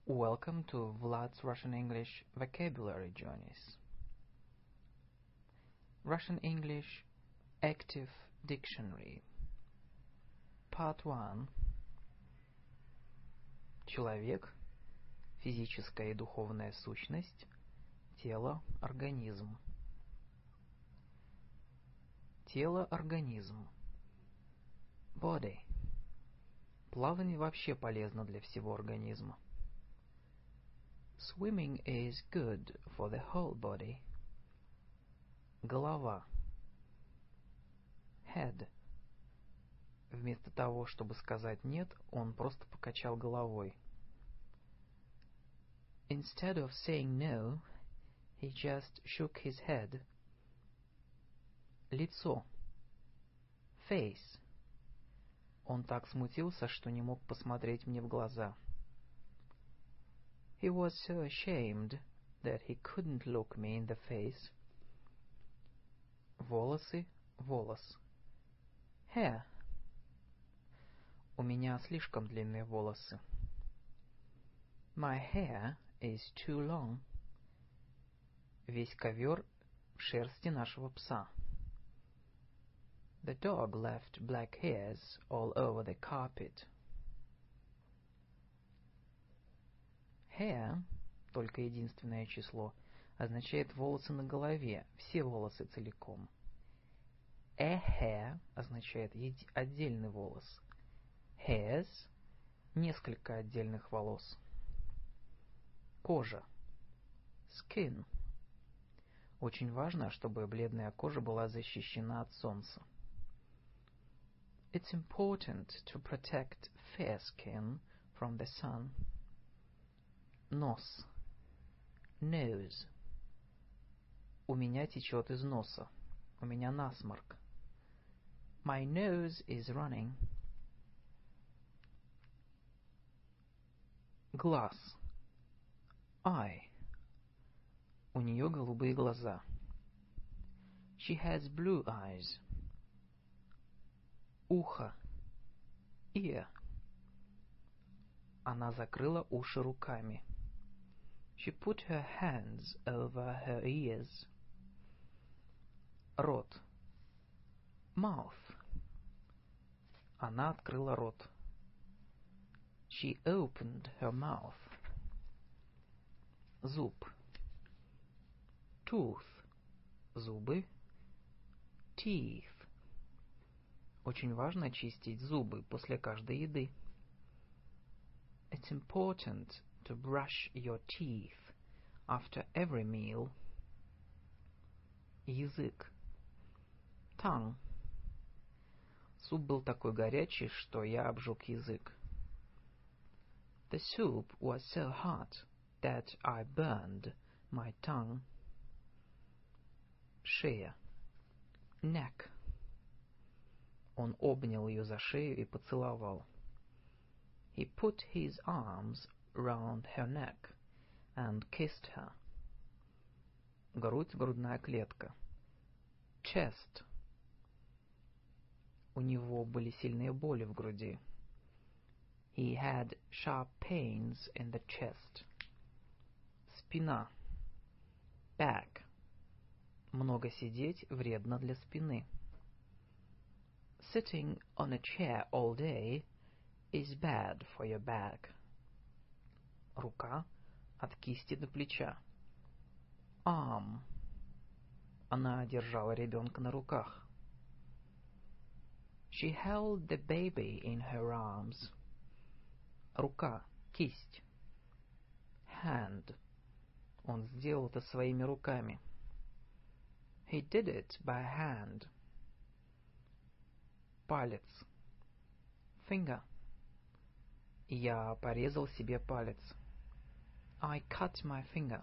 Welcome to Vlad's Russian English Vocabulary Journeys. Russian English Active Dictionary. Part 1. Человек, физическая и духовная сущность, тело, организм. Тело, организм. Body. Плавание вообще полезно для всего организма. Swimming is good for the whole body. Голова. Head. Вместо того, чтобы сказать «нет», он просто покачал головой. Instead of saying no, he just shook his head. Лицо. Face. Он так смутился, что не мог посмотреть мне в глаза. He was so ashamed that he couldn't look me in the face. Волосы, волос. Hair. У меня слишком длинные волосы. My hair is too long. Весь ковер в шерсти нашего пса. The dog left black hairs all over the carpet. Hair, только единственное число, означает волосы на голове, все волосы целиком. A hair означает отдельный волос. Hairs – несколько отдельных волос. Кожа. Skin. Очень важно, чтобы бледная кожа была защищена от солнца. It's important to protect fair skin from the sun. Нос. Nose. У меня течет из носа. У меня насморк. My nose is running. Глаз. Eye. У нее голубые глаза. She has blue eyes. Ухо. Ear. Она закрыла уши руками. She put her hands over her ears. Рот. Mouth. Она открыла рот. She opened her mouth. Зуб. Tooth. Зубы. Teeth. Очень важно чистить зубы после каждой еды. It's important to brush your teeth after every meal. Язык. Tongue. Суп был такой горячий, что я обжег язык. The soup was so hot that I burned my tongue. Шея. Neck. Он обнял ее за шею и поцеловал. He put his arms round her neck and kissed her. Грудь, грудная клетка. Chest. У него были сильные боли в груди. He had sharp pains in the chest. Спина. Back. Много сидеть вредно для спины. Sitting on a chair all day is bad for your back. Рука от кисти до плеча. Arm. Она держала ребенка на руках. She held the baby in her arms. Рука, кисть. Hand. Он сделал это своими руками. He did it by hand. Палец. Finger. Я порезал себе палец. I cut my finger.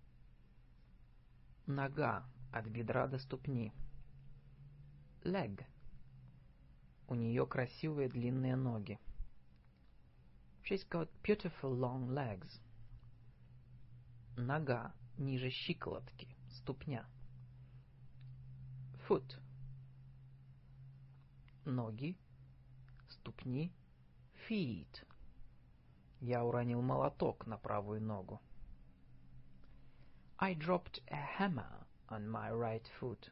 Нога от бедра до ступни. Leg. У нее красивые длинные ноги. She's got beautiful long legs. Нога ниже щиколотки, ступня. Foot. Ноги, ступни, feet. Я уронил молоток на правую ногу. I dropped a hammer on my right foot.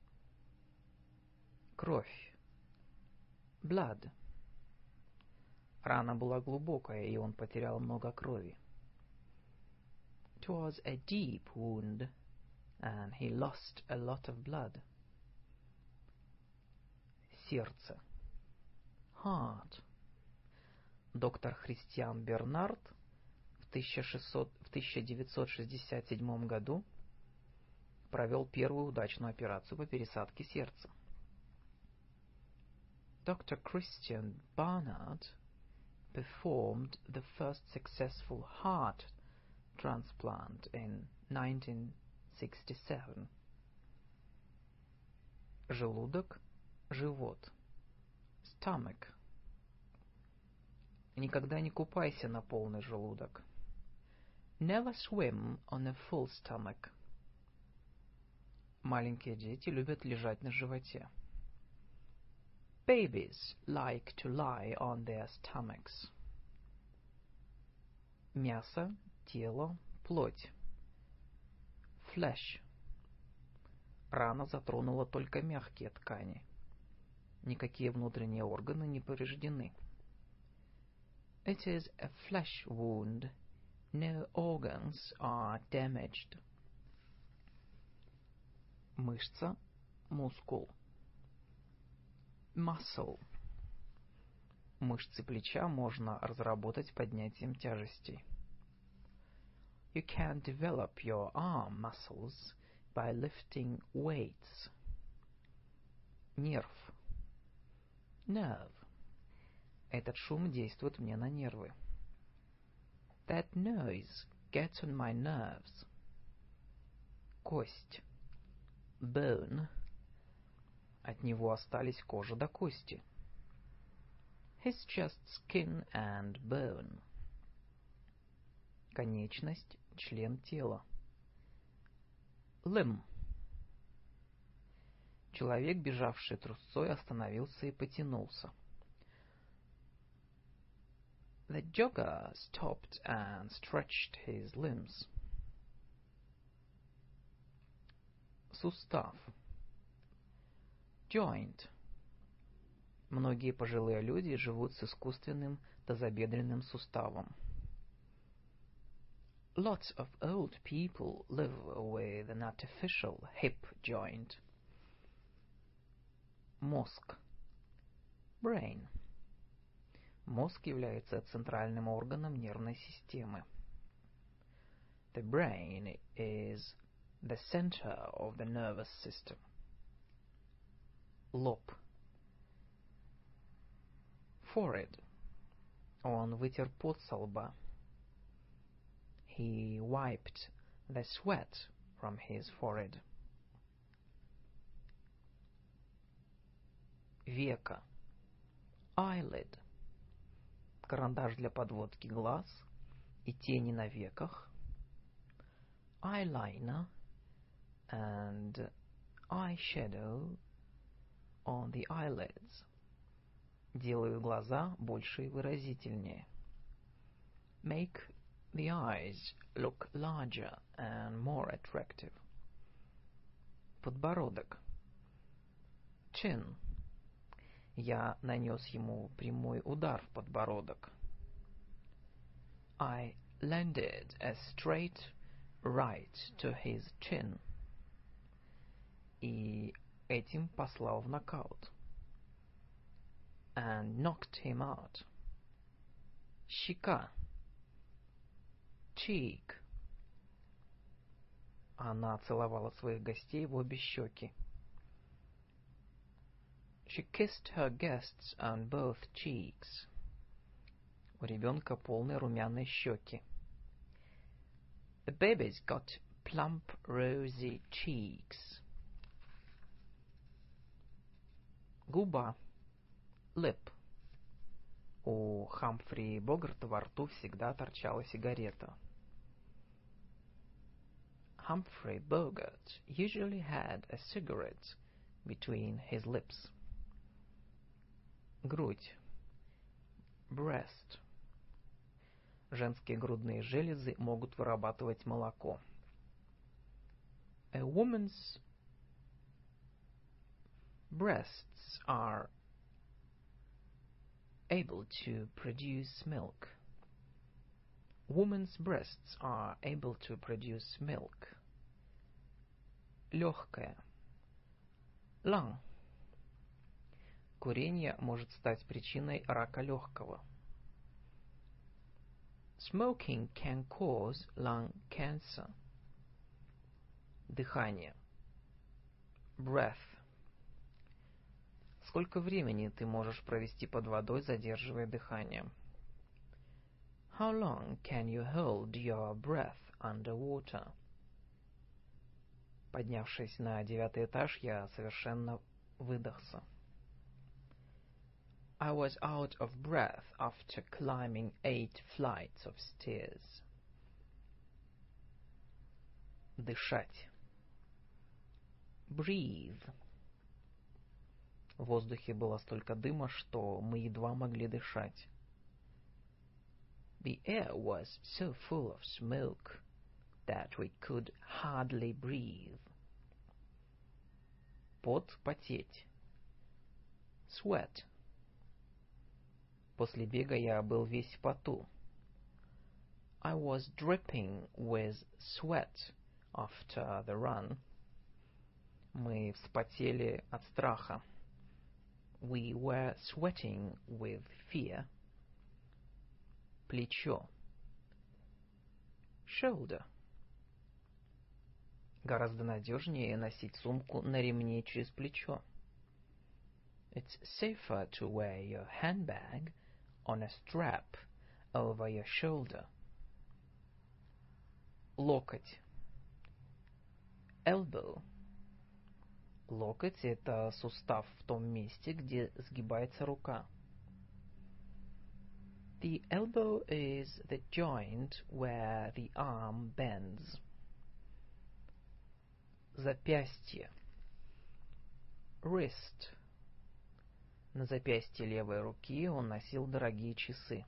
Кровь. Blood. Рана была глубокая, и он потерял много крови. It was a deep wound, and he lost a lot of blood. Сердце. Heart. Доктор Христиан Бернард в 1967 году провел первую удачную операцию по пересадке сердца. Dr. Christian Barnard performed the first successful heart transplant in 1967. Желудок, живот. Stomach. Никогда не купайся на полный желудок. Never swim on a full stomach. Маленькие дети любят лежать на животе. Babies like to lie on their stomachs. Мясо, тело, плоть. Flesh. Рана затронула только мягкие ткани. Никакие внутренние органы не повреждены. It is a flesh wound. No organs are damaged. Мышца, мускул. Muscle. Мышцы плеча можно разработать поднятием тяжестей. You can develop your arm muscles by lifting weights. Нерв. Nerve. Этот шум действует мне на нервы. That noise gets on my nerves. Кость. Bone. От него остались кожа до кости. His just skin and bone. Конечность, член тела. Limb. Человек, бежавший трусцой, остановился и потянулся. The jogger stopped and stretched his limbs. Сустав. Joint. Многие пожилые люди живут с искусственным тазобедренным суставом. Lots of old people live with an artificial hip joint. Мозг. Brain. Мозг является центральным органом нервной системы. The brain is the center of the nervous system. Лоб. Forehead. Он вытер пот со лба. He wiped the sweat from his forehead. Века. Eyelid. Карандаш для подводки глаз и тени на веках. Eyeliner and eyeshadow on the eyelids. Делают глаза больше и выразительнее. Make the eyes look larger and more attractive. Подбородок. Chin. Я нанес ему прямой удар в подбородок. I landed a straight right to his chin. И этим послал в нокаут. And knocked him out. Щека. Cheek. Она целовала своих гостей в обе щеки. She kissed her guests on both cheeks. У ребенка полные румяные щеки. The baby's got plump, rosy cheeks. Губа. Lip. У Хамфри Богарта во рту всегда торчала сигарета. Humphrey Bogart usually had a cigarette between his lips. Грудь. Breast. Женские грудные железы могут вырабатывать молоко. A woman's breasts are able to produce milk. Women's breasts are able to produce milk. Легкое. Lung. Курение может стать причиной рака легкого. Smoking can cause lung cancer. Дыхание. Breath. Сколько времени ты можешь провести под водой, задерживая дыхание? How long can you hold your breath underwater? Поднявшись на 9-й этаж, я совершенно выдохся. I was out of breath after climbing 8 flights of stairs. Дышать. Breathe. В воздухе было столько дыма, что мы едва могли дышать. The air was so full of smoke that we could hardly breathe. Пот, потеть. Sweat. После бега я был весь в поту. I was dripping with sweat after the run. Мы вспотели от страха. We were sweating with fear. Плечо. Shoulder. Гораздо надежнее носить сумку на ремне через плечо. It's safer to wear your handbag on a strap over your shoulder. Локоть. Elbow. Локоть — это сустав в том месте, где сгибается рука. The elbow is the joint where the arm bends. Запястье. Wrist. На запястье левой руки он носил дорогие часы.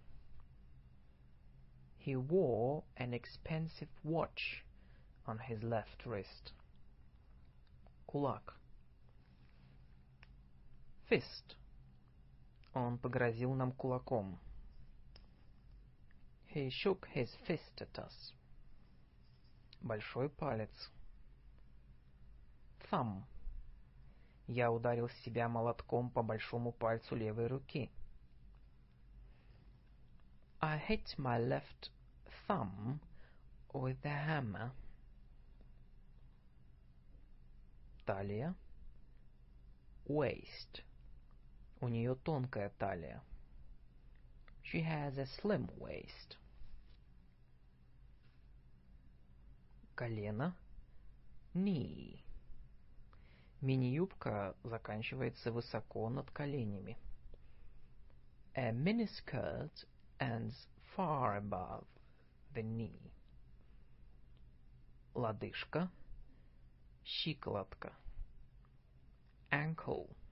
He wore an expensive watch on his left wrist. Кулак. Fist. Он погрозил нам кулаком. He shook his fist at us. Большой палец. Thumb. Я ударил себя молотком по большому пальцу левой руки. I hit my left thumb with the hammer. Талия. Waist. У нее тонкая талия. She has a slim waist. Колено. Knee. Мини-юбка заканчивается высоко над коленями. A miniskirt ends far above the knee. Лодыжка. Щиколотка. Ankle.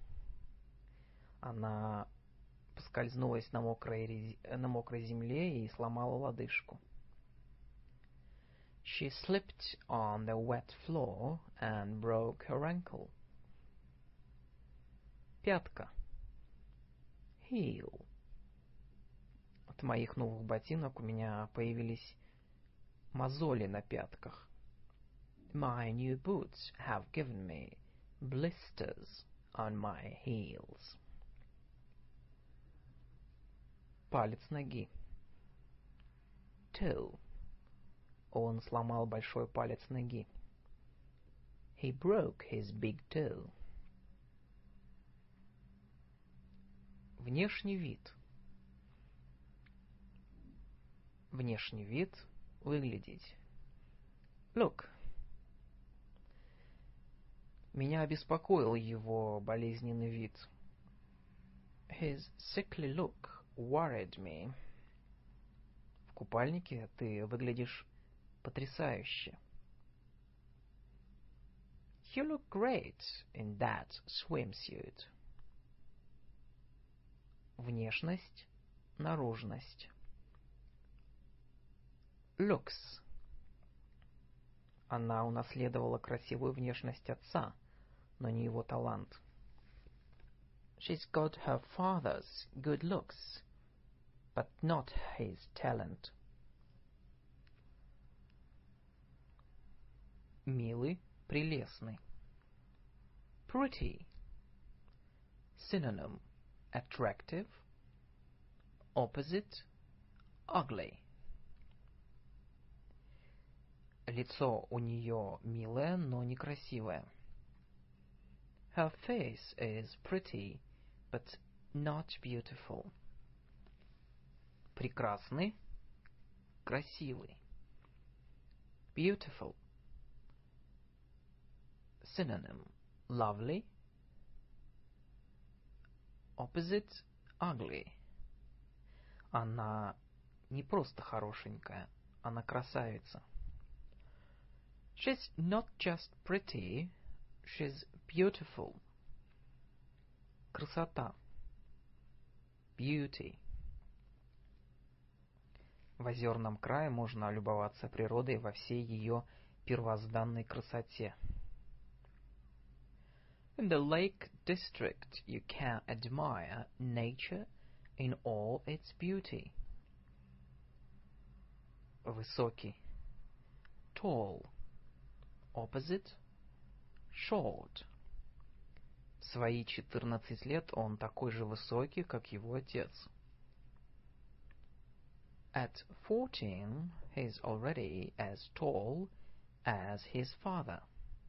Она поскользнулась на мокрой земле и сломала лодыжку. She slipped on the wet floor and broke her ankle. Пятка. Heel. От моих новых ботинок у меня появились мозоли на пятках. My new boots have given me blisters on my heels. Палец ноги. Toe. Он сломал большой палец ноги. He broke his big toe. Внешний вид. Внешний вид — выглядеть. Look. Меня обеспокоил его болезненный вид. His sickly look worried me. В купальнике ты выглядишь потрясающе. You look great in that swimsuit. Внешность, наружность. looks. Она унаследовала красивую внешность отца, но не его талант. She's got her father's good looks, but not his talent. Милый, прелестный. Pretty. Synonym: attractive. Opposite: ugly. Лицо у нее милое, но некрасивое. Her face is pretty, but not beautiful. Прекрасный, красивый. Beautiful. Synonym: lovely. Opposite: ugly. Она не просто хорошенькая, она красавица. She's not just pretty, she's beautiful. Красота. Beauty. В озерном крае можно любоваться природой во всей ее первозданной красоте. In the Lake District, you can admire nature in all its beauty. Высокий. Tall. Opposite: short. В свои 14 лет он такой же высокий, как его отец. At 14, he's already as tall as his father.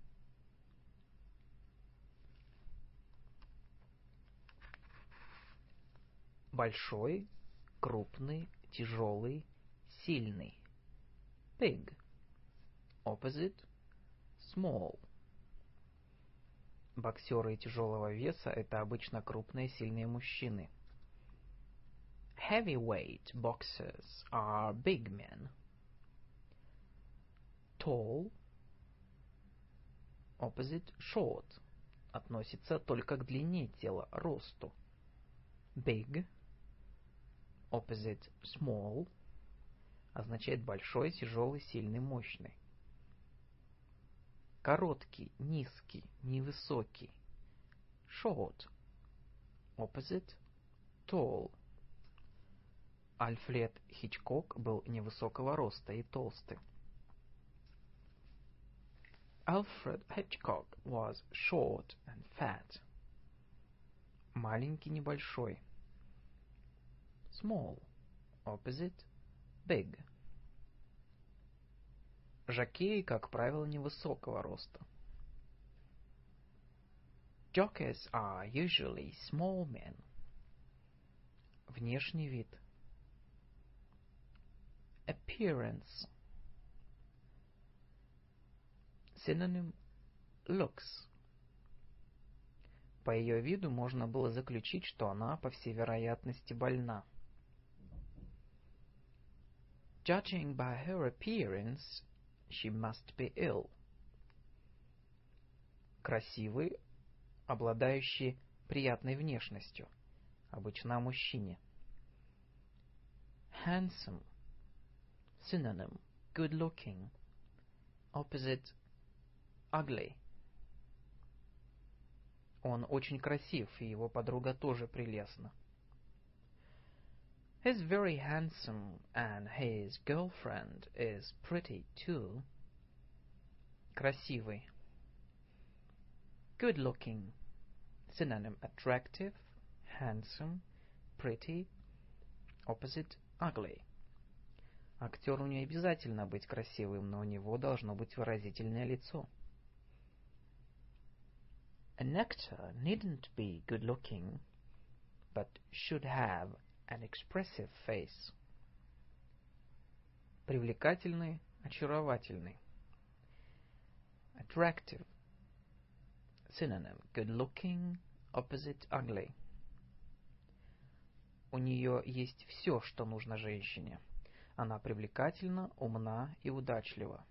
Большой, крупный, тяжелый, сильный. Big. Opposite: small. Боксеры тяжелого веса — это обычно крупные, сильные мужчины. Heavyweight boxers are big men. Tall. Opposite: short. Относится только к длине тела, росту. Big. Opposite: small. Означает большой, тяжелый, сильный, мощный. Короткий, низкий, невысокий. Short. Opposite: tall. Альфред Хичкок был невысокого роста и толстый. Alfred Hitchcock was short and fat. Маленький, небольшой. Small. Opposite: big. Жокеи, как правило, невысокого роста. Jockeys are usually small men. Внешний вид. Appearance. Synonym: looks. По ее виду можно было заключить, что она, по всей вероятности, больна. Judging by her appearance, she must be ill. Красивый, обладающий приятной внешностью, обычно о мужчине. Handsome. Synonym: good looking. Opposite: ugly. Он очень красив, и его подруга тоже прелестна. He's very handsome, and his girlfriend is pretty too. Красивый. Good looking. Synonym: attractive, handsome, pretty. Opposite: ugly. Актеру не обязательно быть красивым, но у него должно быть выразительное лицо. An actor needn't be good looking, but should have an expressive face. Привлекательный, очаровательный. Attractive. Synonym: good looking, opposite: ugly. У нее есть все, что нужно женщине. Она привлекательна, умна и удачлива.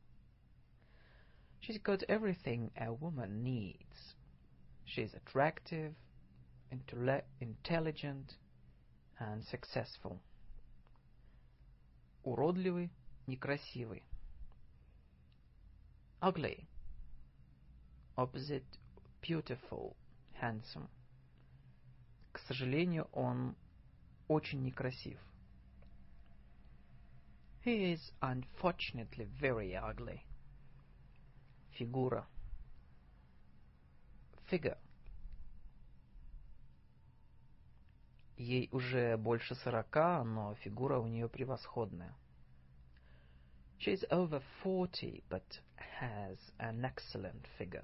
She's got everything a woman needs. She's attractive, intelligent, and successful. Уродливый, некрасивый. Ugly. Opposite beautiful, handsome. К сожалению, он очень некрасив. He is unfortunately very ugly. Фигура. Figure. Ей уже больше 40, но фигура у нее превосходная. She is over 40, but has an excellent figure.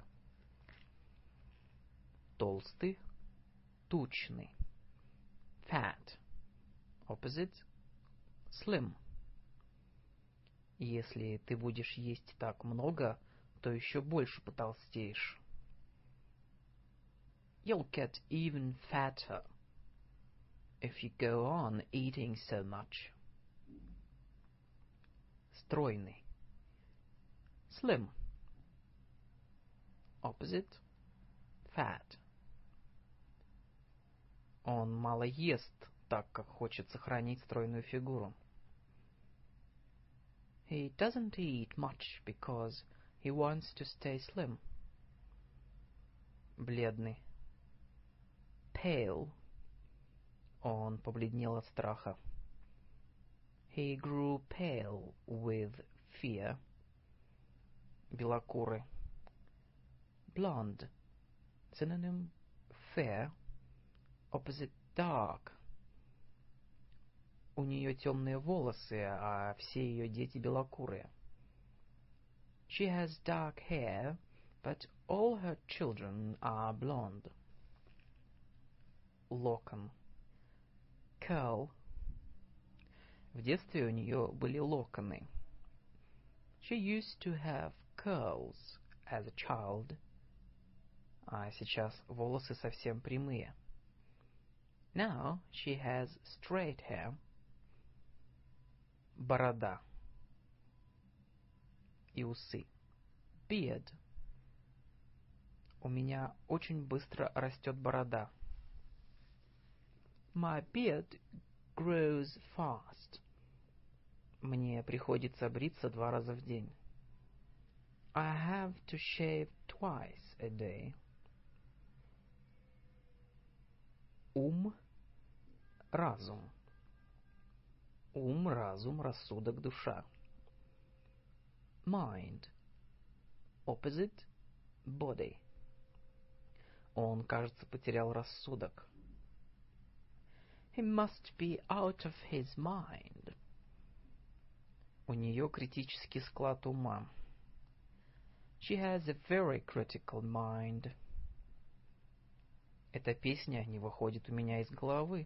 Толстый, тучный. Fat. Opposite slim. Если ты будешь есть так много, то еще больше потолстеешь. You'll get even fatter if you go on eating so much. Стройный. Slim. Opposite Fat. Он мало ест, так как хочет сохранить стройную фигуру. He doesn't eat much because he wants to stay slim. Бледный. Pale. Он побледнел от страха. He grew pale with fear. Белокурый. Blonde. Synonym fair. Opposite dark. У нее темные волосы, а все ее дети белокурые. She has dark hair, but all her children are blonde. Локон. Curl. В детстве у нее были локоны. She used to have curls as a child. А сейчас волосы совсем прямые. Now she has straight hair. Борода. И усы. Beard. У меня очень быстро растет борода. My beard grows fast. Мне приходится бриться 2 раза в день. I have to shave twice a day. Ум, разум. Ум, разум, рассудок, душа. Mind. Opposite body. Он, кажется, потерял рассудок. He must be out of his mind. У нее критический склад ума. She has a very critical mind. Эта песня не выходит у меня из головы.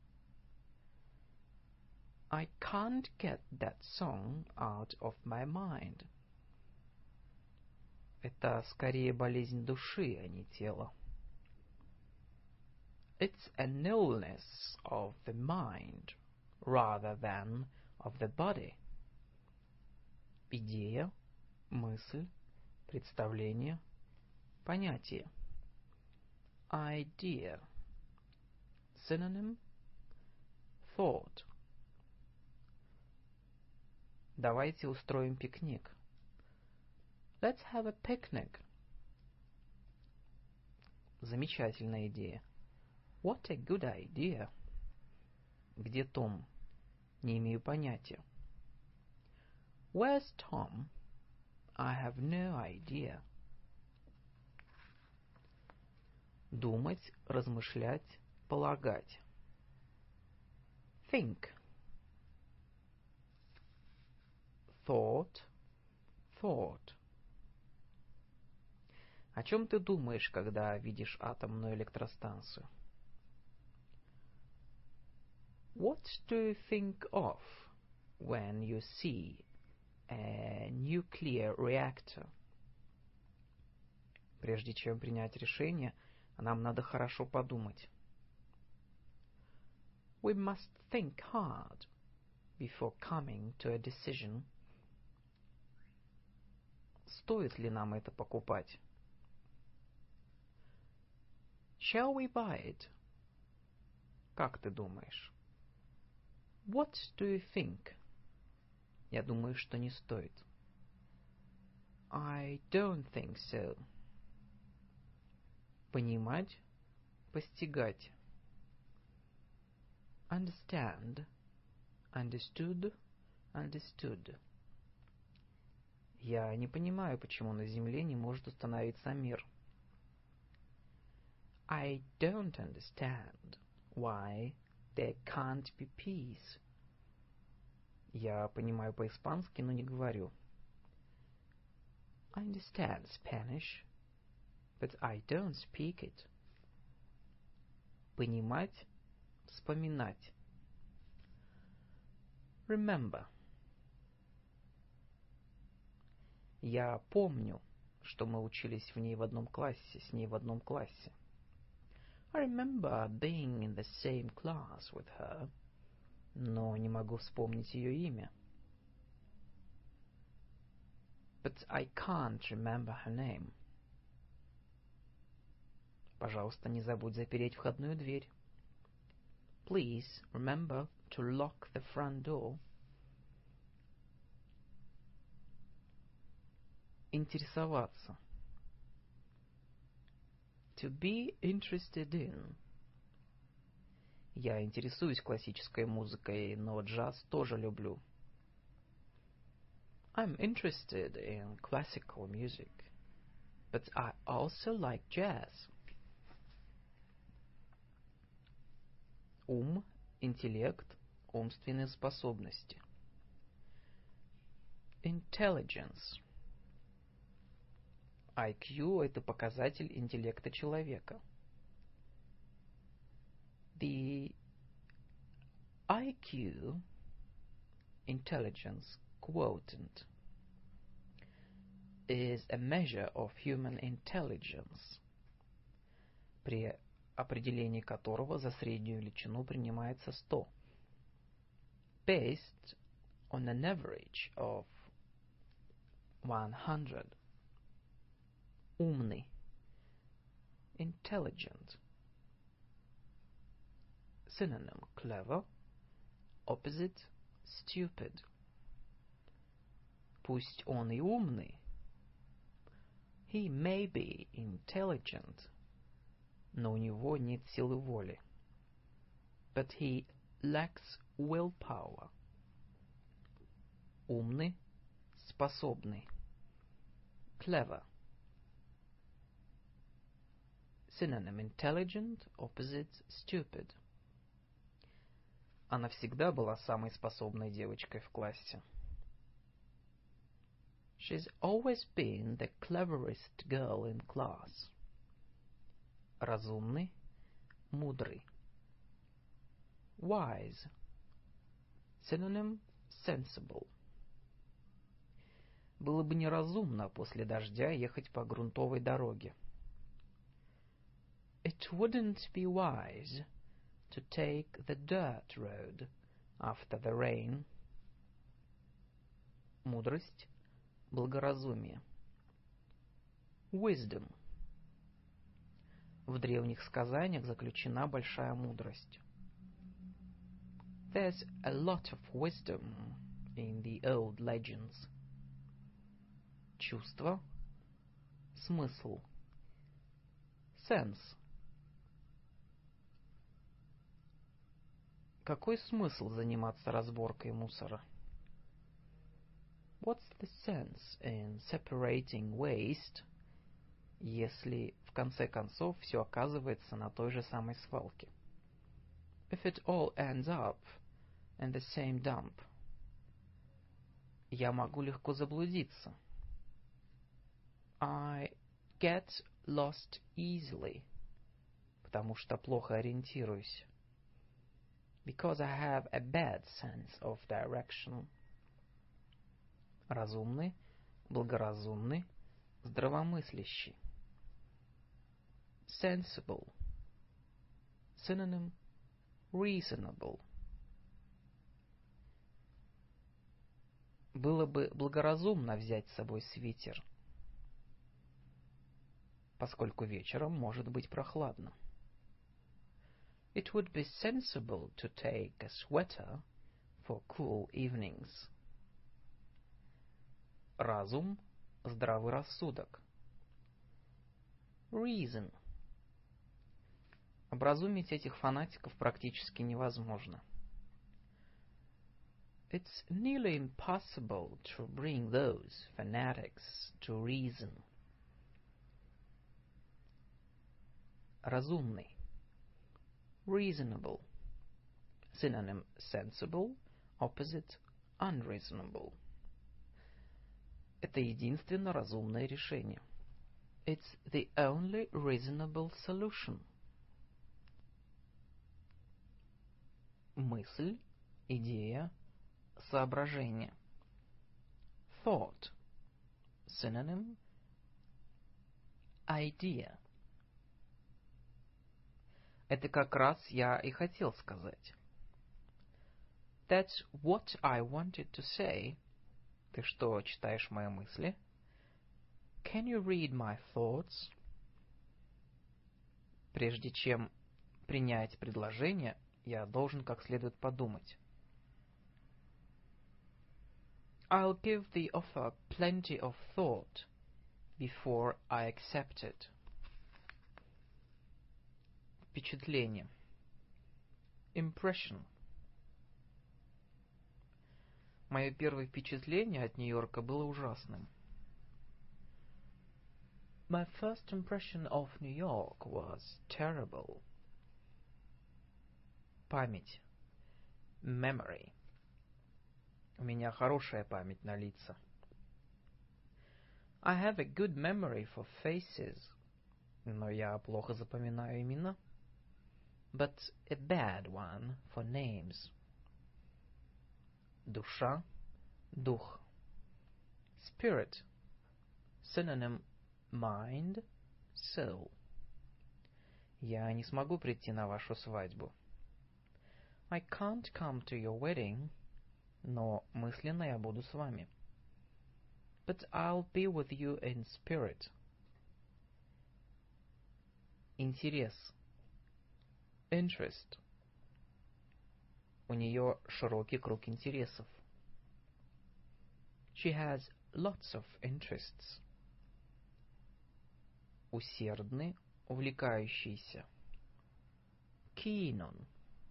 I can't get that song out of my mind. Это скорее болезнь души, а не тела. It's an illness of the mind rather than of the body. Идея, мысль, представление, понятие. Idea. Synonym thought. Давайте устроим пикник. Let's have a picnic. Замечательная идея. What a good idea. Где Том? Не имею понятия. Where's Tom? I have no idea. Думать, размышлять, полагать. Think. Thought. Thought. О чем ты думаешь, когда видишь атомную электростанцию? What do you think of when you see a nuclear reactor? Прежде чем принять решение, нам надо хорошо подумать. We must think hard before coming to a decision. Стоит ли нам это покупать? Shall we buy it? Как ты думаешь? What do you think? Я думаю, что не стоит. I don't think so. Понимать, постигать. Understand, understood, understood. Я не понимаю, почему на Земле не может установиться мир. I don't understand why there can't be peace. Я понимаю по-испански, но не говорю. I understand Spanish, but I don't speak it. Понимать, вспоминать. Remember. Я помню, что мы учились с ней в одном классе. I remember being in the same class with her, но не могу вспомнить ее имя. But I can't remember her name. Пожалуйста, не забудь запереть входную дверь. Please remember to lock the front door. Интересоваться. To be interested in. Я интересуюсь классической музыкой, но джаз тоже люблю. I'm interested in classical music, but I also like jazz. Ум, интеллект, умственные способности. Intelligence. IQ – это показатель интеллекта человека. The IQ, intelligence quotient, is a measure of human intelligence, при определении которого за среднюю величину принимается 100, based on an average of 100. Умный, intelligent. Synonym clever, opposite stupid. Пусть он и умный. He may be intelligent, но у него нет силы воли. But he lacks willpower. Умный, способный. Clever. Synonym intelligent, opposite stupid. Она всегда была самой способной девочкой в классе. She's always been the cleverest girl in class. Разумный, мудрый. Wise. Synonym sensible. Было бы неразумно после дождя ехать по грунтовой дороге. It wouldn't be wise to take the dirt road after the rain. Мудрость, благоразумие. Wisdom. В древних сказаниях заключена большая мудрость. There's a lot of wisdom in the old legends. Чувство, смысл. Sense. Какой смысл заниматься разборкой мусора? What's the sense in separating waste, если в конце концов все оказывается на той же самой свалке? If it all ends up in the same dump. Я могу легко заблудиться. I get lost easily, потому что плохо ориентируюсь. Because I have a bad sense of direction. Разумный, благоразумный, здравомыслящий. Sensible. Synonym reasonable. Было бы благоразумно взять с собой свитер, поскольку вечером может быть прохладно. It would be sensible to take a sweater for cool evenings. Разум, здравый рассудок. Reason. Образумить этих фанатиков практически невозможно. It's nearly impossible to bring those fanatics to reason. Разумный. Reasonable. Synonym sensible, opposite unreasonable. Это единственно разумное решение. It's the only reasonable solution. Мысль, идея, соображение. Thought. Synonym idea. Это как раз я и хотел сказать. That's what I wanted to say. Ты что, читаешь мои мысли? Can you read my thoughts? Прежде чем принять предложение, я должен как следует подумать. I'll give the offer plenty of thought before I accept it. Впечатление. Impression. Мое первое впечатление от Нью-Йорка было ужасным. My first impression of New York was terrible. Память. Memory. У меня хорошая память на лица. I have a good memory for faces. Но я плохо запоминаю имена. But a bad one for names. Душа, дух. Spirit. Synonym mind, soul. Я не смогу прийти на вашу свадьбу. I can't come to your wedding, но мысленно я буду с вами. But I'll be with you in spirit. Интерес. Interest. У нее широкий круг интересов. She has lots of interests. Усердный, увлекающийся. Keen on.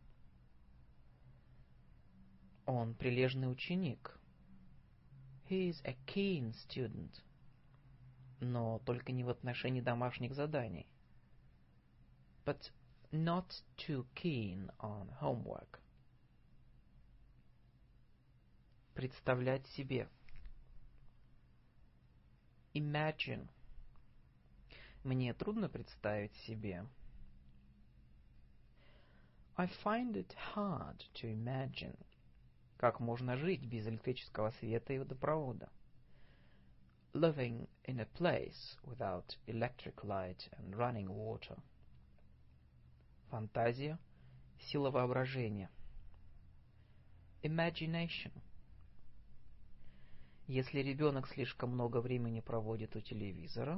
Он прилежный ученик. He is a keen student. Но только не в отношении домашних заданий. But not too keen on homework. Представлять себе. Imagine. Мне трудно представить себе. I find it hard to imagine. Как можно жить без электрического света и водопровода? Living in a place without electric light and running water. Фантазия, сила воображения. Imagination. Если ребенок слишком много времени проводит у телевизора,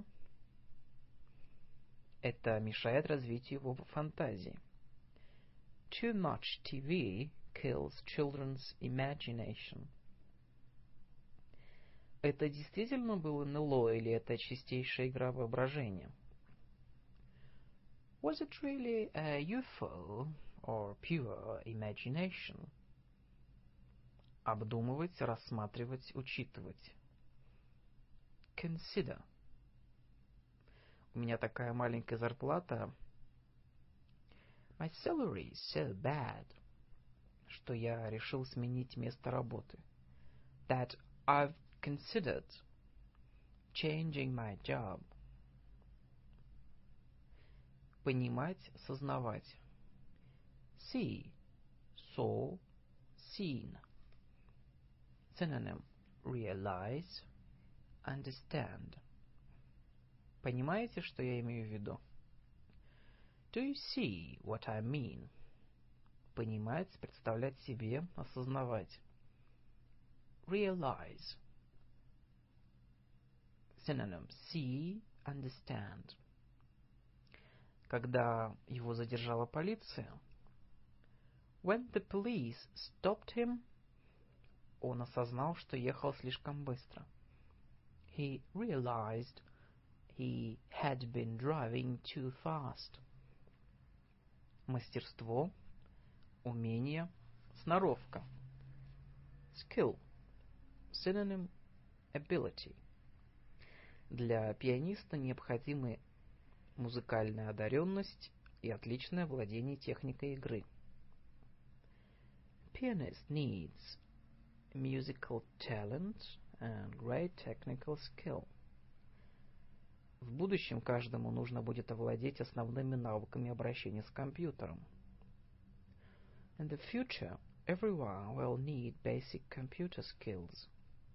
это мешает развитию его фантазии. Too much TV kills children's imagination. Это действительно было НЛО или это чистейшая игра воображения? Was it really a UFO or pure imagination? Обдумывать, рассматривать, учитывать. Consider. У меня такая маленькая зарплата. My salary is so bad, что я решил сменить место работы. That I've considered changing my job. Понимать, сознавать. See, saw, seen. Synonym realize, understand. Понимаете, что я имею в виду? Do you see what I mean? Понимать, представлять себе, осознавать. Realize. Synonym see, understand. Когда его задержала полиция, when the police stopped him, он осознал, что ехал слишком быстро. he realized he had been driving too fast. Мастерство, умение, сноровка. Skill. Synonym ability. Для пианиста необходимы музыкальная одаренность и отличное владение техникой игры. Pianist needs musical talent and great technical skill. В будущем каждому нужно будет овладеть основными навыками обращения с компьютером. In the future, everyone will need basic computer skills.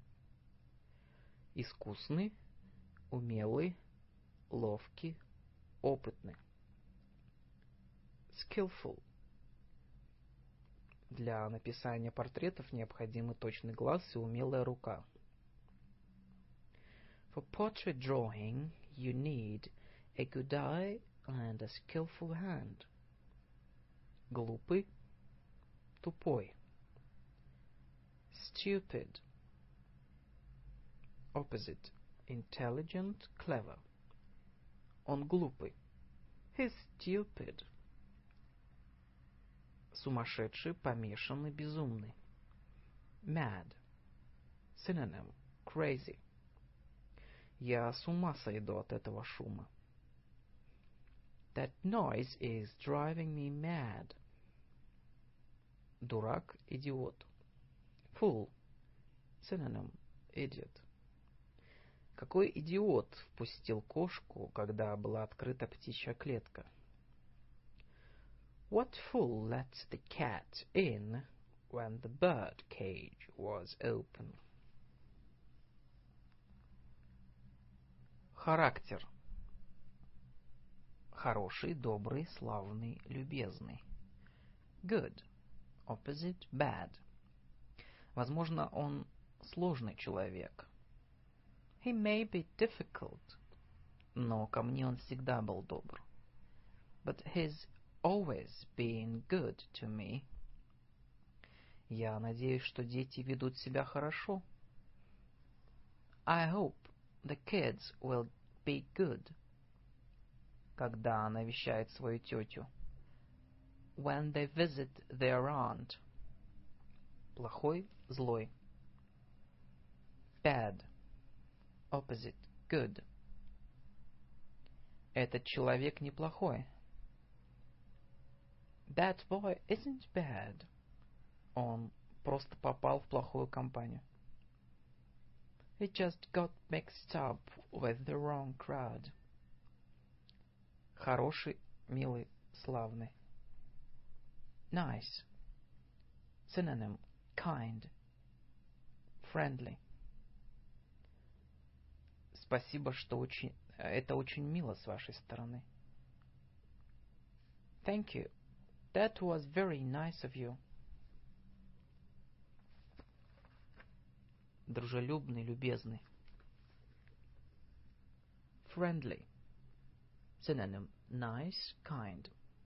Искусный, умелый, ловкий, опытный. Skillful. Для написания портретов необходимы точный глаз и умелая рука. For portrait drawing, you need a good eye and a skillful hand. Глупый, тупой. Stupid. Opposite. Intelligent, clever. Он глупый. He's stupid. Сумасшедший, помешанный, безумный. Mad. Synonym. Crazy. Я с ума сойду от этого шума. That noise is driving me mad. Дурак, идиот. Fool. Synonym. Idiot. Какой идиот впустил кошку, когда была открыта птичья клетка? What fool let the cat in when the bird cage was open? Характер. Хороший, добрый, славный, любезный. Good. Opposite bad. Возможно, он сложный человек. He may be difficult. Но ко мне он всегда был добр. But he's always been good to me. Я надеюсь, что дети ведут себя хорошо. I hope the kids will be good. Когда навещает свою тетю. When they visit their aunt. Плохой, злой. Bad. Opposite. Good. Этот человек неплохой. That boy isn't bad. Он просто попал в плохую компанию. He just got mixed up with the wrong crowd. Хороший, милый, славный. Nice. Synonym. Kind. Friendly. Спасибо, что это очень мило с вашей стороны. Thank you. That was very nice of you. Дружелюбный, любезный. Friendly. Synonym. Nice, kind.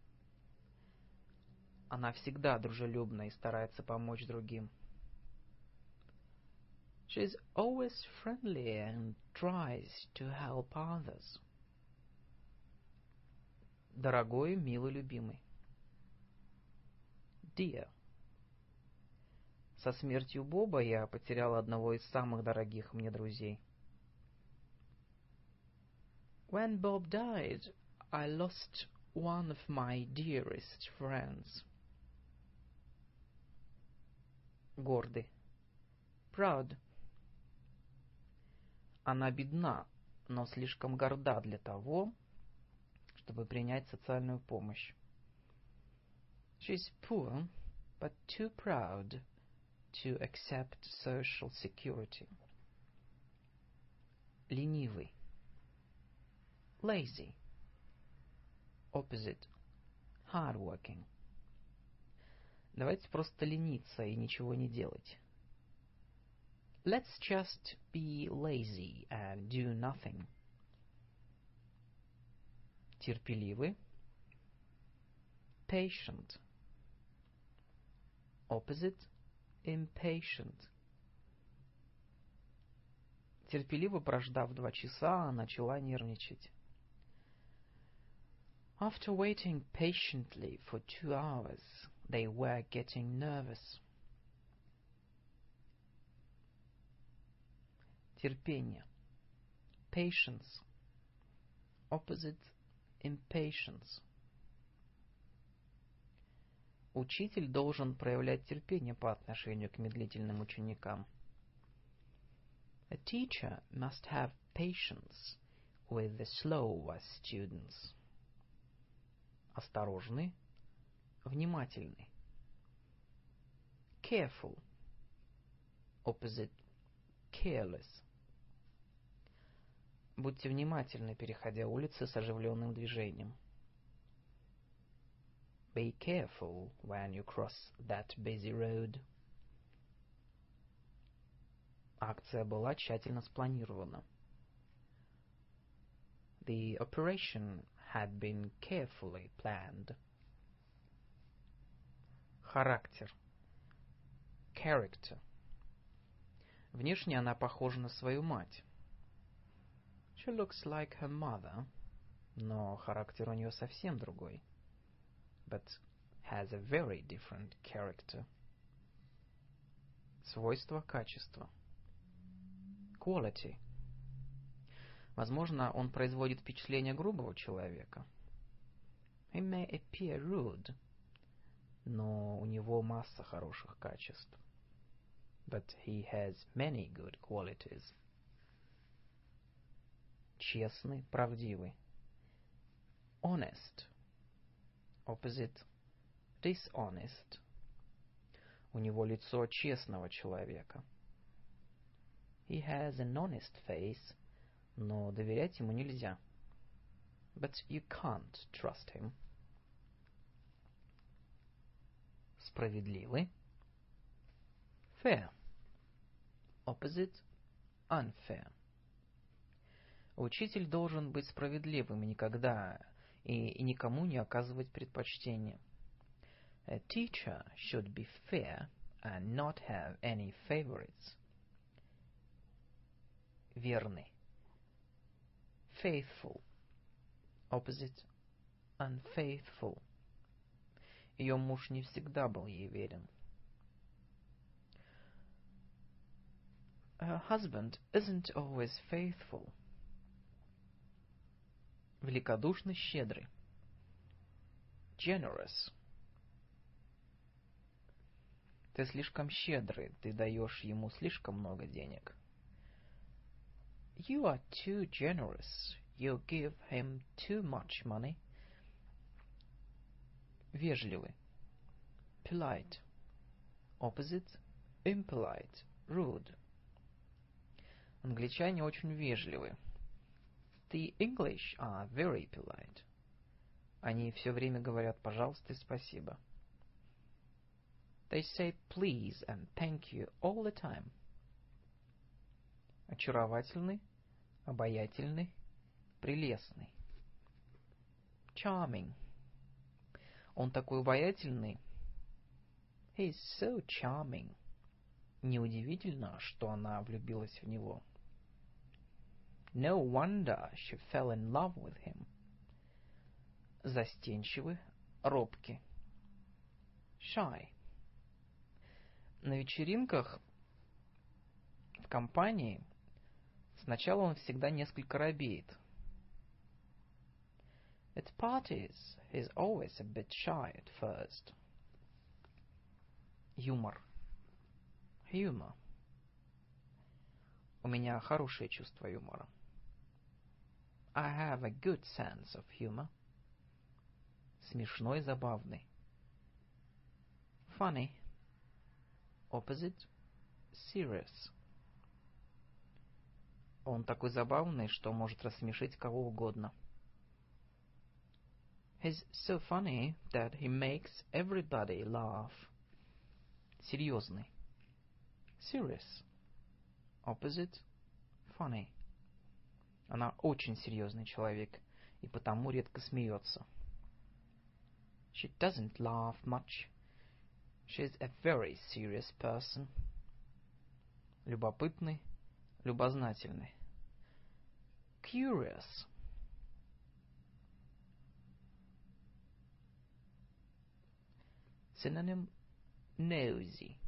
Она всегда дружелюбна и старается помочь другим. She's always friendly and tries to help others. Дорогой, милый, любимый. Dear. Со смертью Боба я потерял одного из самых дорогих мне друзей. When Bob died, I lost one of my dearest friends. Гордый. Proud. Она бедна, но слишком горда для того, чтобы принять социальную помощь. She's poor, but too proud to accept social security. Ленивый. Lazy. Opposite. Hardworking. Давайте просто лениться и ничего не делать. Let's just be lazy and do nothing. Терпеливый. Patient. Opposite. Impatient. Терпеливо прождав 2 часа, начала нервничать. After waiting patiently for 2 hours, they were getting nervous. Терпение. Patience. Opposite impatience. Учитель должен проявлять терпение по отношению к медлительным ученикам. A teacher must have patience with the slow students. Осторожный, внимательный. Careful. Opposite careless. Будьте внимательны, переходя улицы с оживленным движением. Be careful when you cross that busy road. Акция была тщательно спланирована. The operation had been carefully planned. Характер. Character. Внешне она похожа на свою мать. She looks like her mother, но характер у нее совсем другой. but has a very different character. Свойство, качество. Quality. Возможно, он производит впечатление грубого человека. He may appear rude, но у него масса хороших качеств. but he has many good qualities. Честный, правдивый. Honest. Opposite. Dishonest. У него лицо честного человека. He has an honest face, но доверять ему нельзя. but you can't trust him. Справедливый. Fair. Opposite unfair. Учитель должен быть справедливым и никогда и никому не оказывать предпочтения. A teacher should be fair and not have any favorites. Верный. Faithful. Opposite unfaithful. Ее муж не всегда был ей верен. Her husband isn't always faithful. Великодушный, щедрый. Generous. Ты слишком щедрый, ты даешь ему слишком много денег. You are too generous. You give him too much money. Вежливый. Polite. Opposite impolite, rude. Англичане очень вежливы. The English are very polite. Они все время говорят «пожалуйста» и «спасибо». They say please and thank you all the time. Очаровательный, обаятельный, прелестный. Charming. Он такой обаятельный. He is so charming. Неудивительно, что она влюбилась в него. No wonder she fell in love with him. Застенчивый, робкий. Shy. На вечеринках в компании сначала он всегда несколько робеет. At parties, he's always a bit shy at first. Юмор. Humor. У меня хорошее чувство юмора. I have a good sense of humor. Смешной, забавный. Funny. Opposite serious. Он такой забавный, что может рассмешить кого угодно. He's so funny that he makes everybody laugh. Серьезный. Serious. Opposite funny. Она очень серьезный человек и потому редко смеется. She doesn't laugh much. She's a very serious person. Любопытный, любознательный. Curious. Synonym nosy.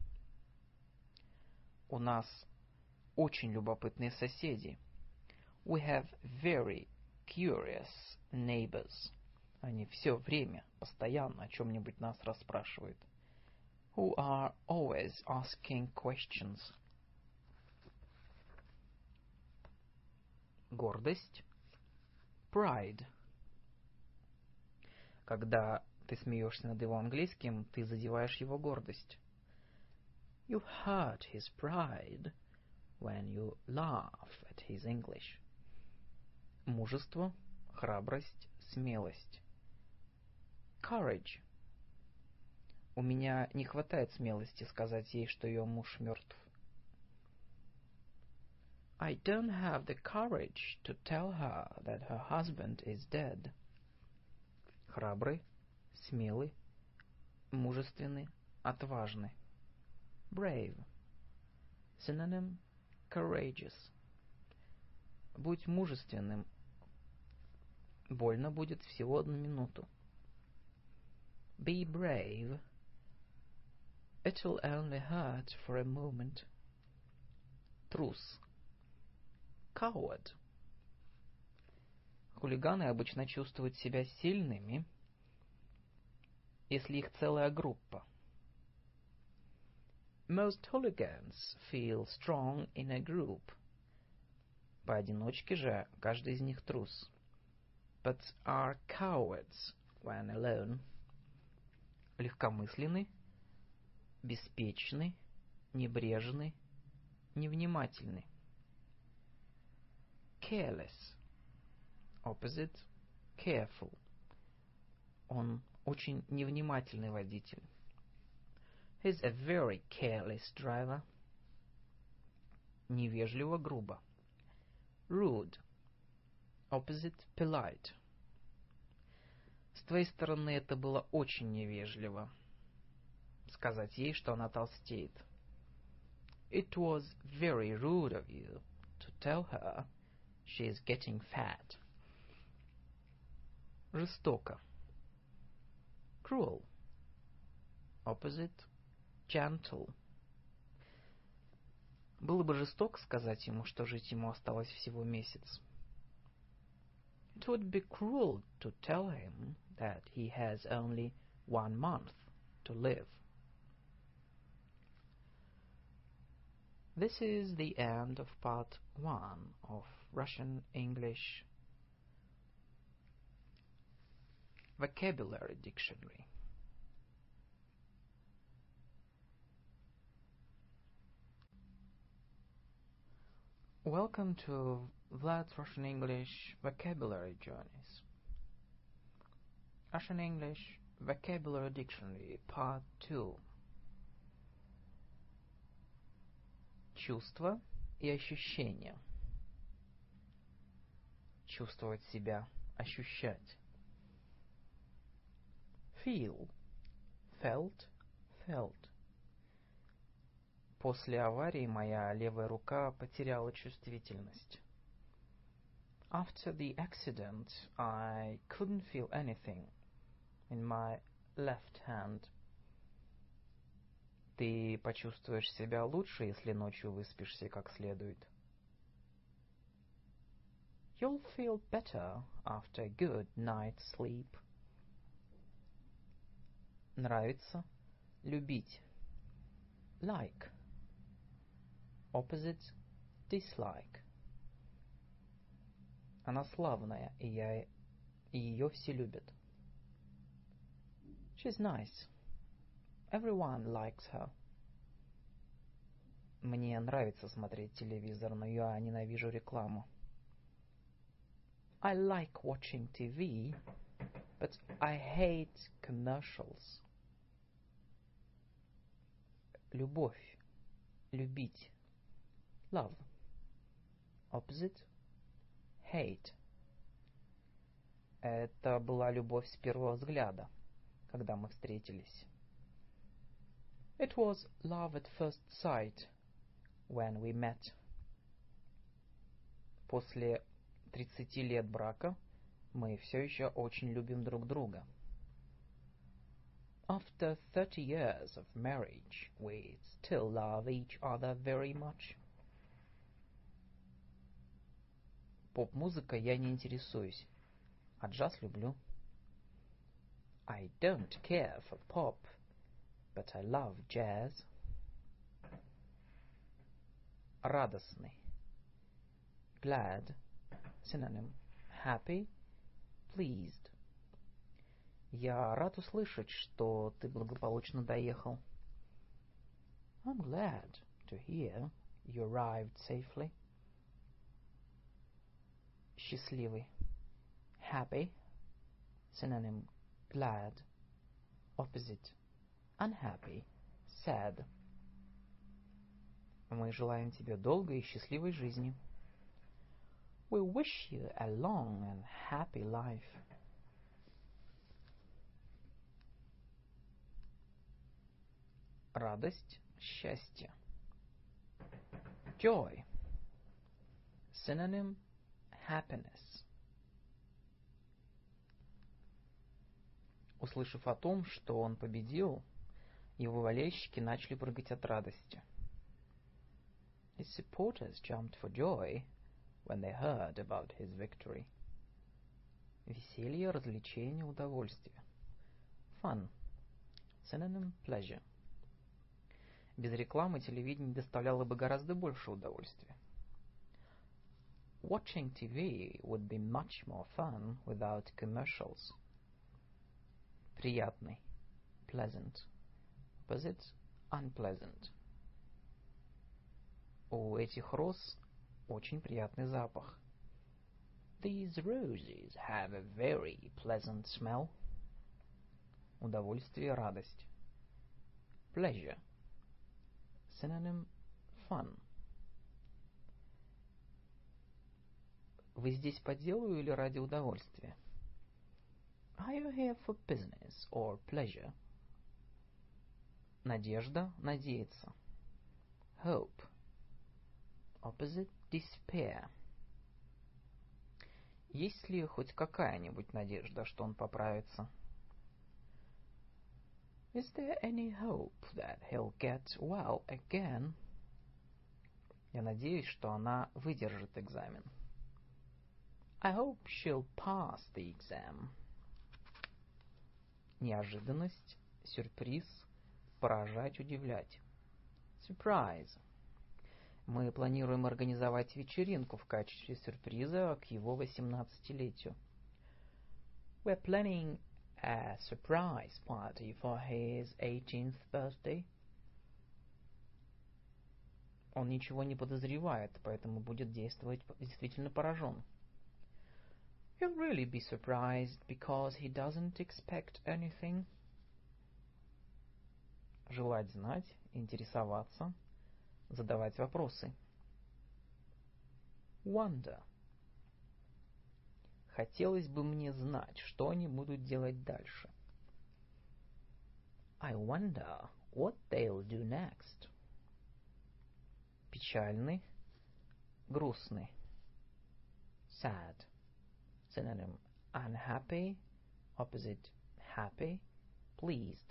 У нас очень любопытные соседи. We have very curious neighbors. Они все время, постоянно о чем-нибудь нас расспрашивают. Who are always asking questions. Гордость. Pride. Когда ты смеешься над его английским, ты задеваешь его гордость. You hurt his pride when you laugh at his English. Мужество, храбрость, смелость. Courage. У меня не хватает смелости сказать ей, что ее муж мертв. I don't have the courage to tell her that her husband is dead. Храбрый, смелый, мужественный, отважный. Brave. Synonym courageous. Будь мужественным. Больно будет всего 1 минуту. Be brave. It'll only hurt for a moment. Трус. Coward. Хулиганы обычно чувствуют себя сильными, если их целая группа. Most hooligans feel strong in a group. Поодиночке же каждый из них трус. But are cowards when alone. Легкомысленный, беспечный, небрежный, невнимательный. Careless. Opposite careful. Он очень невнимательный водитель. He's a very careless driver. Невежливо, грубо. Rude. Opposite polite. С твоей стороны это было очень невежливо. Сказать ей, что она толстеет. It was very rude of you to tell her she is getting fat. Жестоко. Cruel. Opposite gentle. Было бы жестоко сказать ему, что жить ему осталось всего месяц. It would be cruel to tell him that he has only 1 month to live. This is the end of part 1 of Russian English Vocabulary Dictionary. Welcome to Vlad's Russian English Vocabulary Journeys. Russian English Vocabulary Dictionary, Part 2. Чувства и ощущения. Чувствовать себя, ощущать. Feel. Felt, felt. После аварии моя левая рука потеряла чувствительность. After the accident, I couldn't feel anything in my left hand. Ты почувствуешь себя лучше, если ночью выспишься как следует. You'll feel better after a good night's sleep. Нравится, любить. Like. Opposite dislike. Она славная, и ее все любят. She's nice. Everyone likes her. Мне нравится смотреть телевизор, но я ненавижу рекламу. I like watching TV, but I hate commercials. Любовь. Любить. Love. Opposite. Hate. Это была любовь с первого взгляда, когда мы встретились. It was love at first sight when we met. После 30 лет брака мы все еще очень любим друг друга. After 30 years of marriage, we still love each other very much. Поп-музыка я не интересуюсь, а джаз люблю. I don't care for pop, but I love jazz. Радостный. Glad. Synonym. Happy. Pleased. Я рад услышать, что ты благополучно доехал. I'm glad to hear you arrived safely. Счастливый. Happy. Synonym. Glad. Opposite. Unhappy. Sad. Мы желаем тебе долгой и счастливой жизни. We wish you a long and happy life. Радость, счастье. Joy. Synonym. Happiness. Услышав о том, что он победил, его болельщики начали прыгать от радости. His supporters jumped for joy when they heard about his victory. Веселье, развлечение, удовольствие. Fun. Synonym. Pleasure. Без рекламы телевидение доставляло бы гораздо больше удовольствия. Watching TV would be much more fun without commercials. Приятный. Pleasant. Opposite. Unpleasant. У этих роз очень приятный запах. These roses have a very pleasant smell. Удовольствие, радость. Pleasure. Synonym. Fun. Вы здесь по делу или ради удовольствия? Are you here for business or pleasure? Надежда, надеяться. Hope. Opposite. Despair. Есть ли хоть какая-нибудь надежда, что он поправится? Is there any hope that he'll get well again? Я надеюсь, что она выдержит экзамен. I hope she'll pass the exam. Неожиданность, сюрприз, поражать, удивлять. Surprise. Мы планируем организовать вечеринку в качестве сюрприза к его 18-летию. We're planning a surprise party for his 18th birthday. Он ничего не подозревает, поэтому будет действовать действительно поражен. He'll really be surprised because he doesn't expect anything. Желать знать, интересоваться, задавать вопросы. Wonder. Хотелось бы мне знать, что они будут делать дальше. I wonder what they'll do next. Печальный, грустный. Sad. Synonym. Unhappy. Opposite. Happy. Pleased.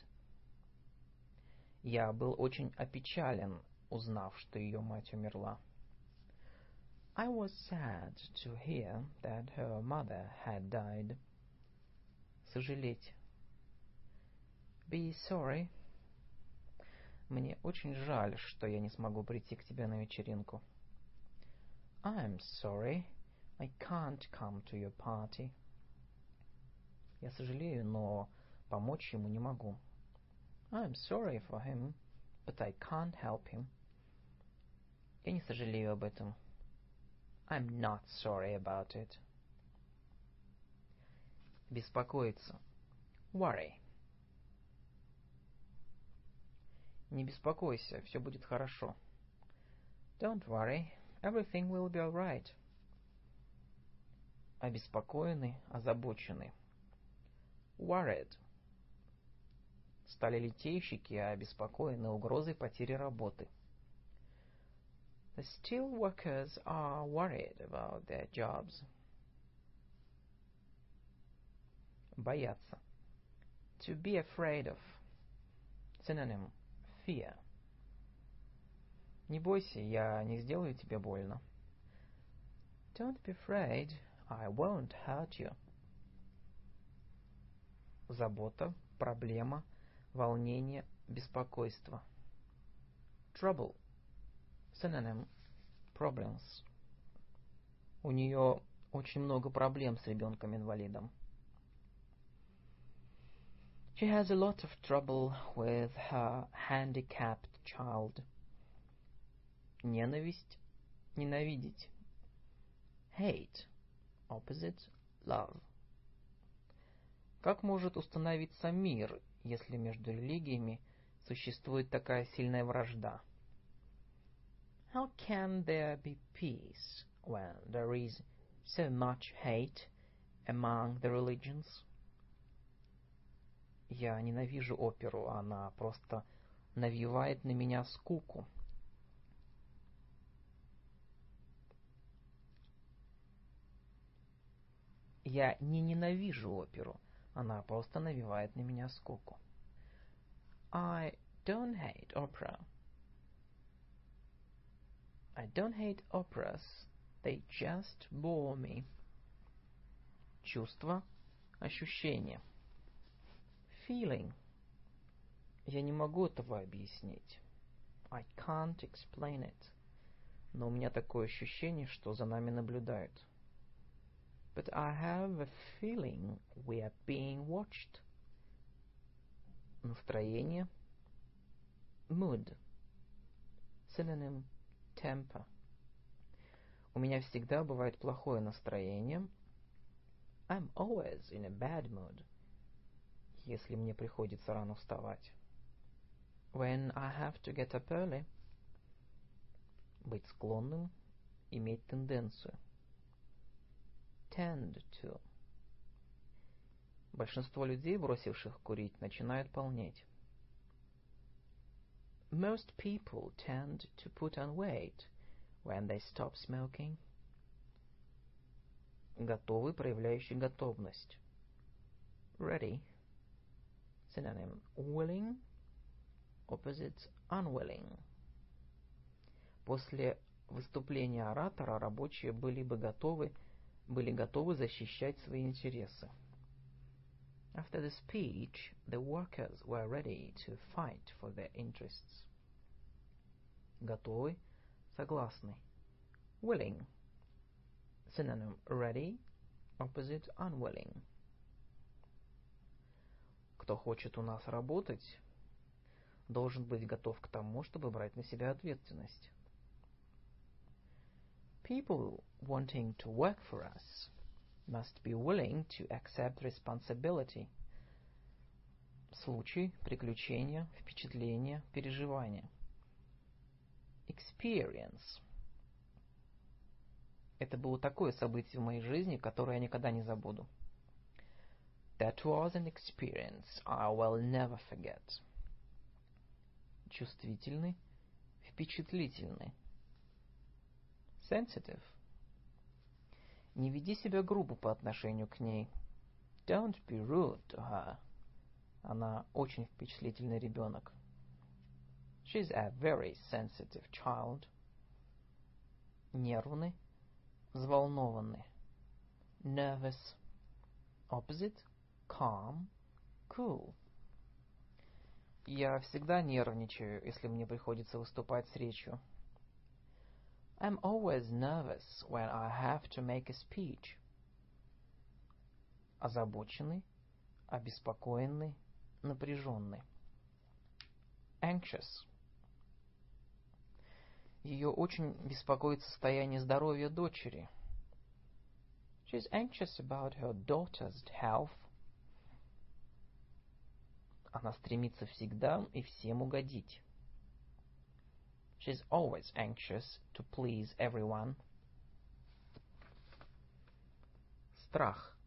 Я был очень опечален, узнав, что ее мать умерла. I was sad to hear that her mother had died. Сожалеть. Be sorry. Мне очень жаль, что я не смогу прийти к тебе на вечеринку. I'm sorry. I can't come to your party. Я сожалею, но помочь ему не могу. I'm sorry for him, but I can't help him. Я не сожалею об этом. I'm not sorry about it. Беспокоиться. Worry. Не беспокойся, все будет хорошо. Don't worry, everything will be all right. Обеспокоенный, озабоченный. Worried. Стали литейщики обеспокоены угрозой потери работы. The steel workers are worried about their jobs. Бояться. To be afraid of. Synonym fear. Не бойся, я не сделаю тебе больно. Don't be afraid, I won't hurt you. Забота, проблема, волнение, беспокойство. Trouble. Synonym problems. У нее очень много проблем с ребенком-инвалидом. She has a lot of trouble with her handicapped child. Ненависть, ненавидеть. Hate. Opposite love. Как может установиться мир, если между религиями существует такая сильная вражда? How can there be peace when there is so much hate among the religions? Я ненавижу оперу, она просто навевает на меня скуку. Я не ненавижу оперу, она просто навевает на меня скуку. I don't hate opera. I don't hate operas, they just bore me. Чувство, ощущение. Feeling. Я не могу этого объяснить. I can't explain it. Но у меня такое ощущение, что за нами наблюдают. But I have a feeling we are being watched. Настроение. Mood. Synonym temper. У меня всегда бывает плохое настроение. I'm always in a bad mood. Если мне приходится рано вставать. When I have to get up early. Быть склонным, иметь тенденцию. Tend to. Большинство людей, бросивших курить, начинают полнеть. Most people tend to put on weight when they stop smoking. Готовый, проявляющий готовность. Ready. Synonym willing. Opposite unwilling. После выступления оратора рабочие были готовы защищать свои интересы. After the speech, the workers were ready to fight for their interests. Готовый, согласный. Willing. Synonym ready. Opposite unwilling. Кто хочет у нас работать, должен быть готов к тому, чтобы брать на себя ответственность. People wanting to work for us must be willing to accept responsibility. Случай, приключение, впечатление, переживание. Experience. Это было такое событие в моей жизни, которое я никогда не забуду. That was an experience I will never forget. Чувствительный, впечатлительный. Sensitive. Не веди себя грубо по отношению к ней. Don't be rude to her. Она очень впечатлительный ребенок. She's a very sensitive child. Нервный, взволнованный. Nervous. Opposite. Calm. Cool. Я всегда нервничаю, если мне приходится выступать с речью. I'm always nervous when I have to make a speech. Озабоченный, обеспокоенный, напряженный. Anxious. Ее очень беспокоит состояние здоровья дочери. She's anxious about her daughter's health. Она стремится всегда и всем угодить. She's always anxious to please everyone. Страх.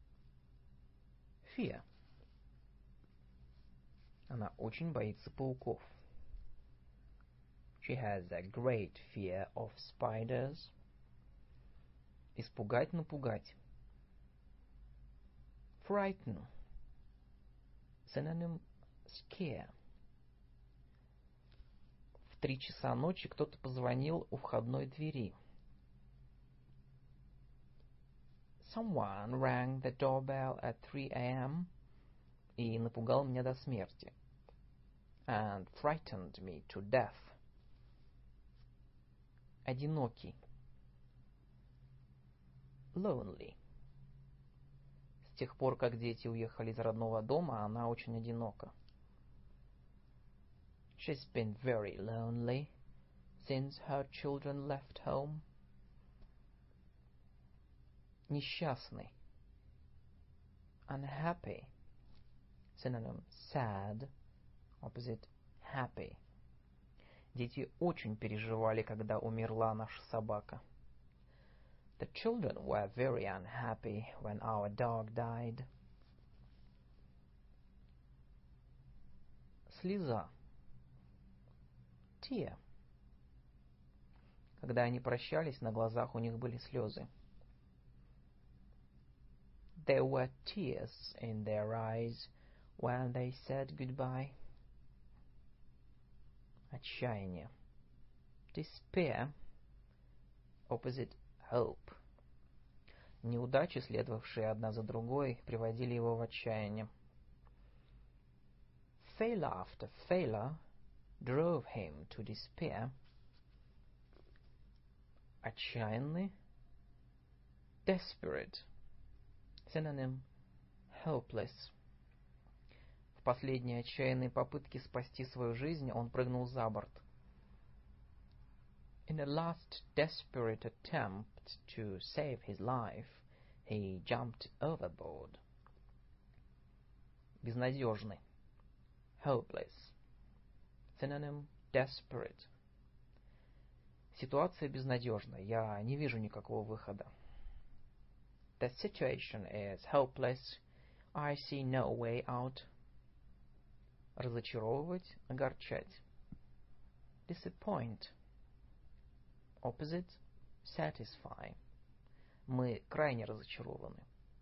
Fear. Она очень боится пауков. She has a great fear of spiders. Испугать, напугать. Frighten. Synonym scare. В 3 часа ночи кто-то позвонил у входной двери. Someone rang the doorbell at 3 a.m. и напугал меня до смерти. And frightened me to death. Одинокий. Lonely. С тех пор, как дети уехали из родного дома, она очень одинока. She's been very lonely since her children left home. Несчастный. Unhappy. Synonym sad. Opposite happy. Дети очень переживали, когда умерла наша собака. The children were very unhappy when our dog died. Слеза. Tear. Когда они прощались, на глазах у них были слезы. There were tears in their eyes when they said goodbye. Отчаяние. Despair. Opposite hope. Неудачи, следовавшие одна за другой, приводили его в отчаяние. Failure after failure drove him to despair. Отчаянный. Desperate. Synonym hopeless. В последней отчаянной попытке спасти свою жизнь он прыгнул за борт. In a last desperate attempt to save his life, he jumped overboard. Безнадежный. Hopeless. Synonym desperate. Ситуация безнадежна. Я не вижу никакого выхода. The situation is hopeless. I see no way out. Разочаровывать, огорчать. Disappoint. Opposite satisfy. Мы крайне разочарованы.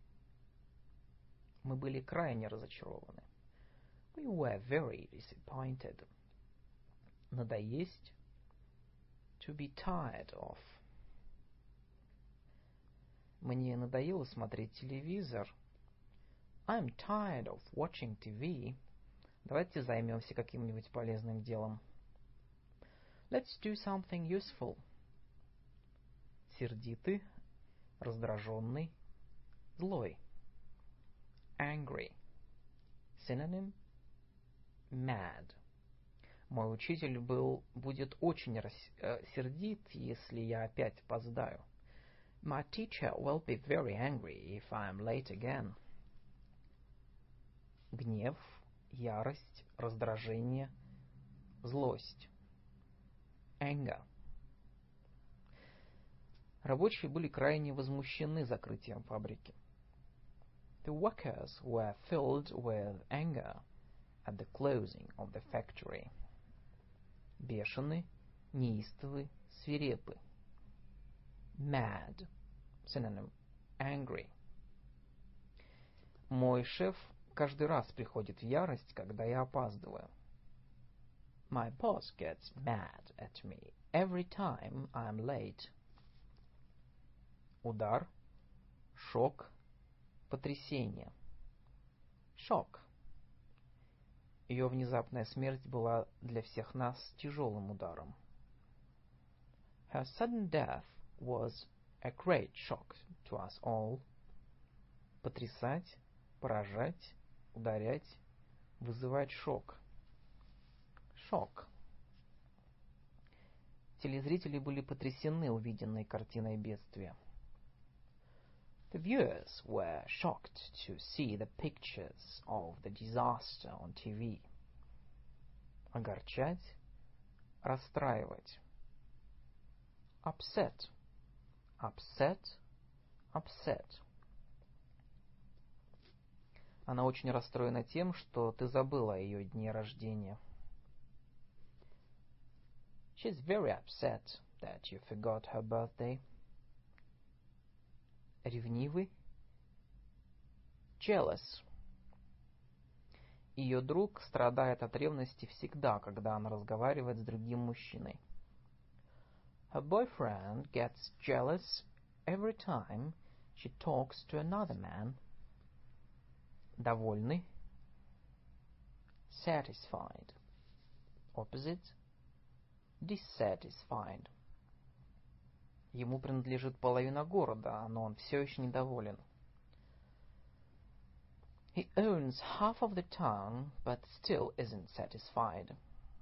Мы были крайне разочарованы. We were very disappointed. Надоесть. To be tired of. Мне надоело смотреть телевизор. I'm tired of watching TV. Давайте займемся каким-нибудь полезным делом. Let's do something useful. Сердитый, раздраженный, злой. Angry. Synonym mad. Мой учитель будет очень сердит, если я опять опоздаю. My teacher will be very angry if I am late again. Гнев, ярость, раздражение, злость. Anger. Рабочие были крайне возмущены закрытием фабрики. The workers were filled with anger at the closing of the factory. Бешеный, неистовый, свирепый. Mad. Synonym angry. Мой шеф каждый раз приходит в ярость, когда я опаздываю. My boss gets mad at me every time I'm late. Удар, шок, потрясение. Shock. Ее внезапная смерть была для всех нас тяжелым ударом. Her sudden death was a great shock to us all. Потрясать, поражать, ударять, вызывать шок. Shock. Телезрители были потрясены увиденной картиной бедствия. The viewers were shocked to see the pictures of the disaster on TV. Огорчать, расстраивать. Upset. Upset. Upset. Она очень расстроена тем, что ты забыла о ее дне рождения. She's very upset that you forgot her birthday. Ревнивый. Jealous. Ее друг страдает от ревности всегда, когда она разговаривает с другим мужчиной. Her boyfriend gets jealous every time she talks to another man. Довольный. Satisfied. Opposite. Dissatisfied. Ему принадлежит половина города, но он все еще недоволен. He owns half of the town, but still isn't satisfied.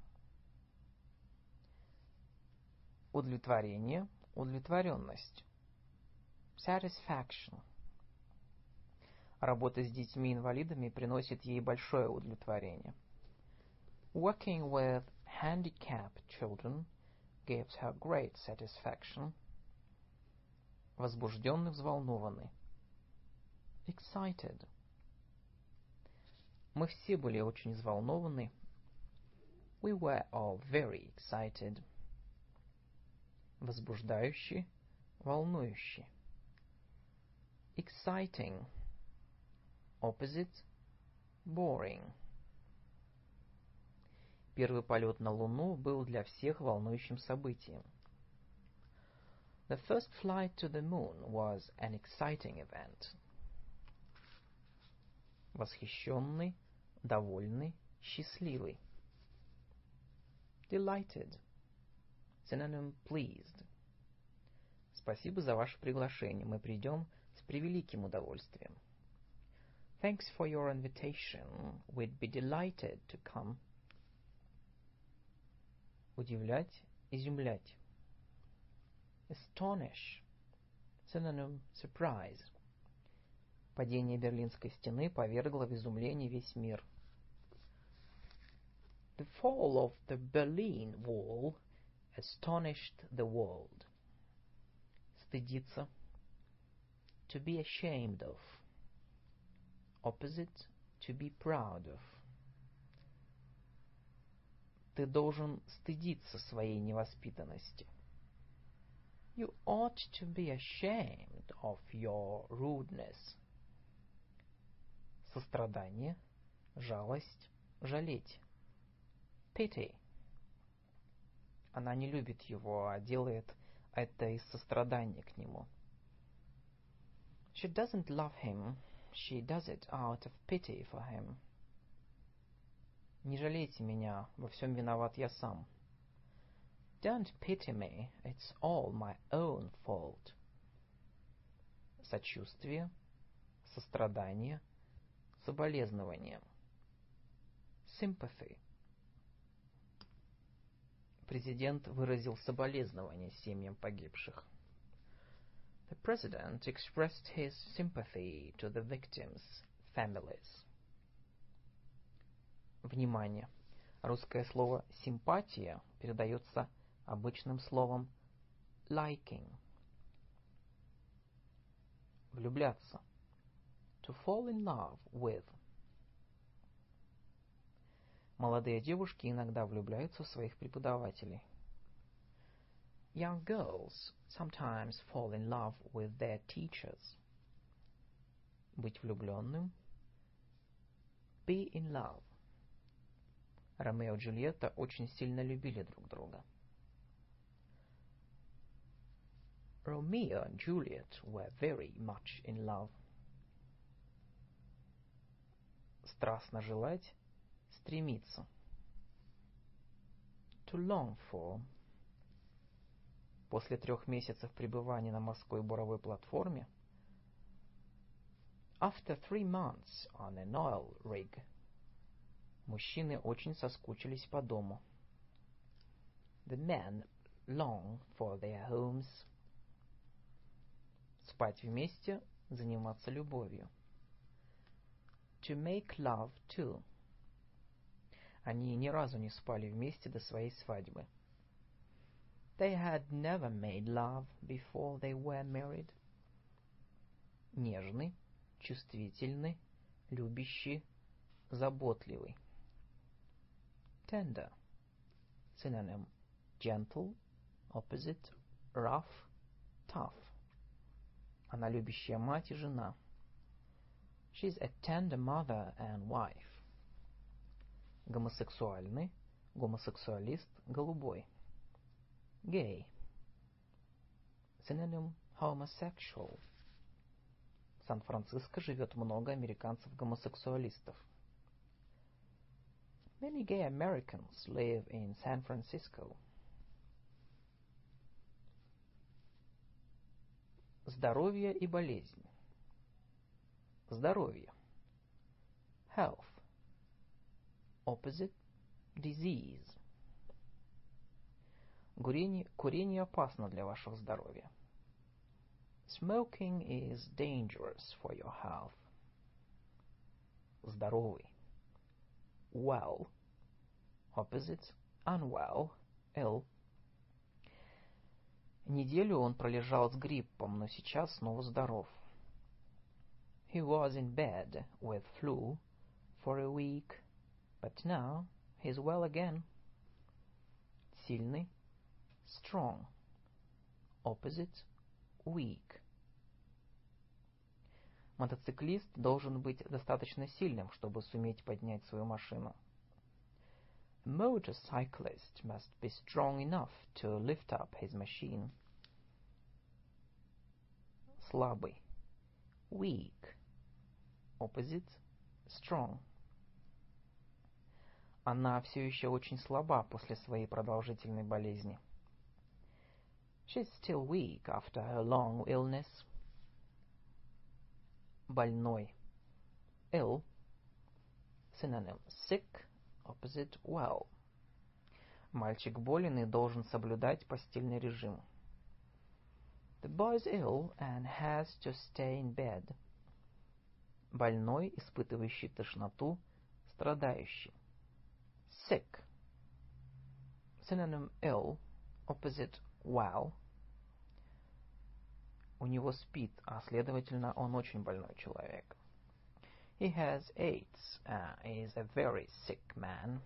Удовлетворение, удовлетворенность. Satisfaction. Работа с детьми-инвалидами приносит ей большое удовлетворение. Working with handicapped children gives her great satisfaction. Возбужденный, взволнованный. Excited. Мы все были очень взволнованы. We were all very excited. Возбуждающий, волнующий. Exciting. Opposite. Boring. Первый полет на Луну был для всех волнующим событием. The first flight to the moon was an exciting event. Восхищенный, довольный, счастливый. Delighted. Synonym pleased. Спасибо за ваше приглашение. Мы придем с превеликим удовольствием. Thanks for your invitation. We'd be delighted to come. Удивлять, изумлять. Astonish. Synonym surprise. Падение Берлинской стены повергло в изумление весь мир. The fall of the Berlin Wall astonished the world. Стыдиться. To be ashamed of. Opposite, to be proud of. Ты должен стыдиться своей невоспитанности. You ought to be ashamed of your rudeness. Сострадание, жалость, жалеть. Pity. Она не любит его, а делает это из сострадания к нему. She doesn't love him. She does it out of pity for him. Не жалейте меня, во всем виноват я сам. Don't pity me. It's all my own fault. Сочувствие, сострадание, соболезнование. Sympathy. Президент выразил соболезнования семьям погибших. The president expressed his sympathy to the victims' families. Внимание! Русское слово «симпатия» передается обычным словом liking. Влюбляться. To fall in love with. Молодые девушки иногда влюбляются в своих преподавателей. Young girls sometimes fall in love with their teachers. Быть влюбленным. Be in love. Ромео и Джульетта очень сильно любили друг друга. Romeo and Juliet were very much in love. Страстно желать, стремиться. To long for. После 3 месяцев пребывания на морской буровой платформе After 3 months on an oil rig, мужчины очень соскучились по дому. The men long for their homes. Спать вместе, заниматься любовью. To make love too. Они ни разу не спали вместе до своей свадьбы. They had never made love before they were married. Нежный, чувствительный, любящий, заботливый. Tender. Synonym gentle, opposite rough, tough. Она любящая мать и жена. She's a tender mother and wife. Гомосексуальный, гомосексуалист, голубой. Gay. Synonym homosexual. В Сан-Франциско живет много американцев-гомосексуалистов. Many gay Americans live in San Francisco. Здоровье и болезнь. Здоровье. Health. Opposite disease. Курение опасно для вашего здоровья. Smoking is dangerous for your health. Здоровый. Well. Opposite unwell. Ill. Неделю он пролежал с гриппом, но сейчас снова здоров. He was in bed with flu for a week, but now he's well again. Сильный. Strong. Opposite weak. Мотоциклист должен быть достаточно сильным, чтобы суметь поднять свою машину. A motorcyclist must be strong enough to lift up his machine. Слабый. Weak. Opposite strong. Она все еще очень слаба после своей продолжительной болезни. She's still weak after her long illness. Больной. Ill. Synonym sick. Opposite well. Мальчик болен и должен соблюдать постельный режим. The boy's ill and has to stay in bed. Больной, испытывающий тошноту, страдающий. Sick. Synonym ill. Opposite well. У него СПИД, а следовательно, он очень больной человек. He has AIDS, is a very sick man.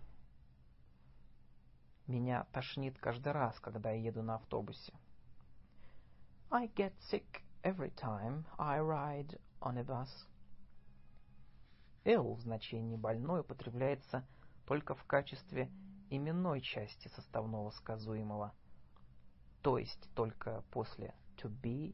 Меня тошнит каждый раз, когда я еду на автобусе. I get sick every time I ride on a bus. Ill в значении больной употребляется только в качестве именной части составного сказуемого, то есть только после to be,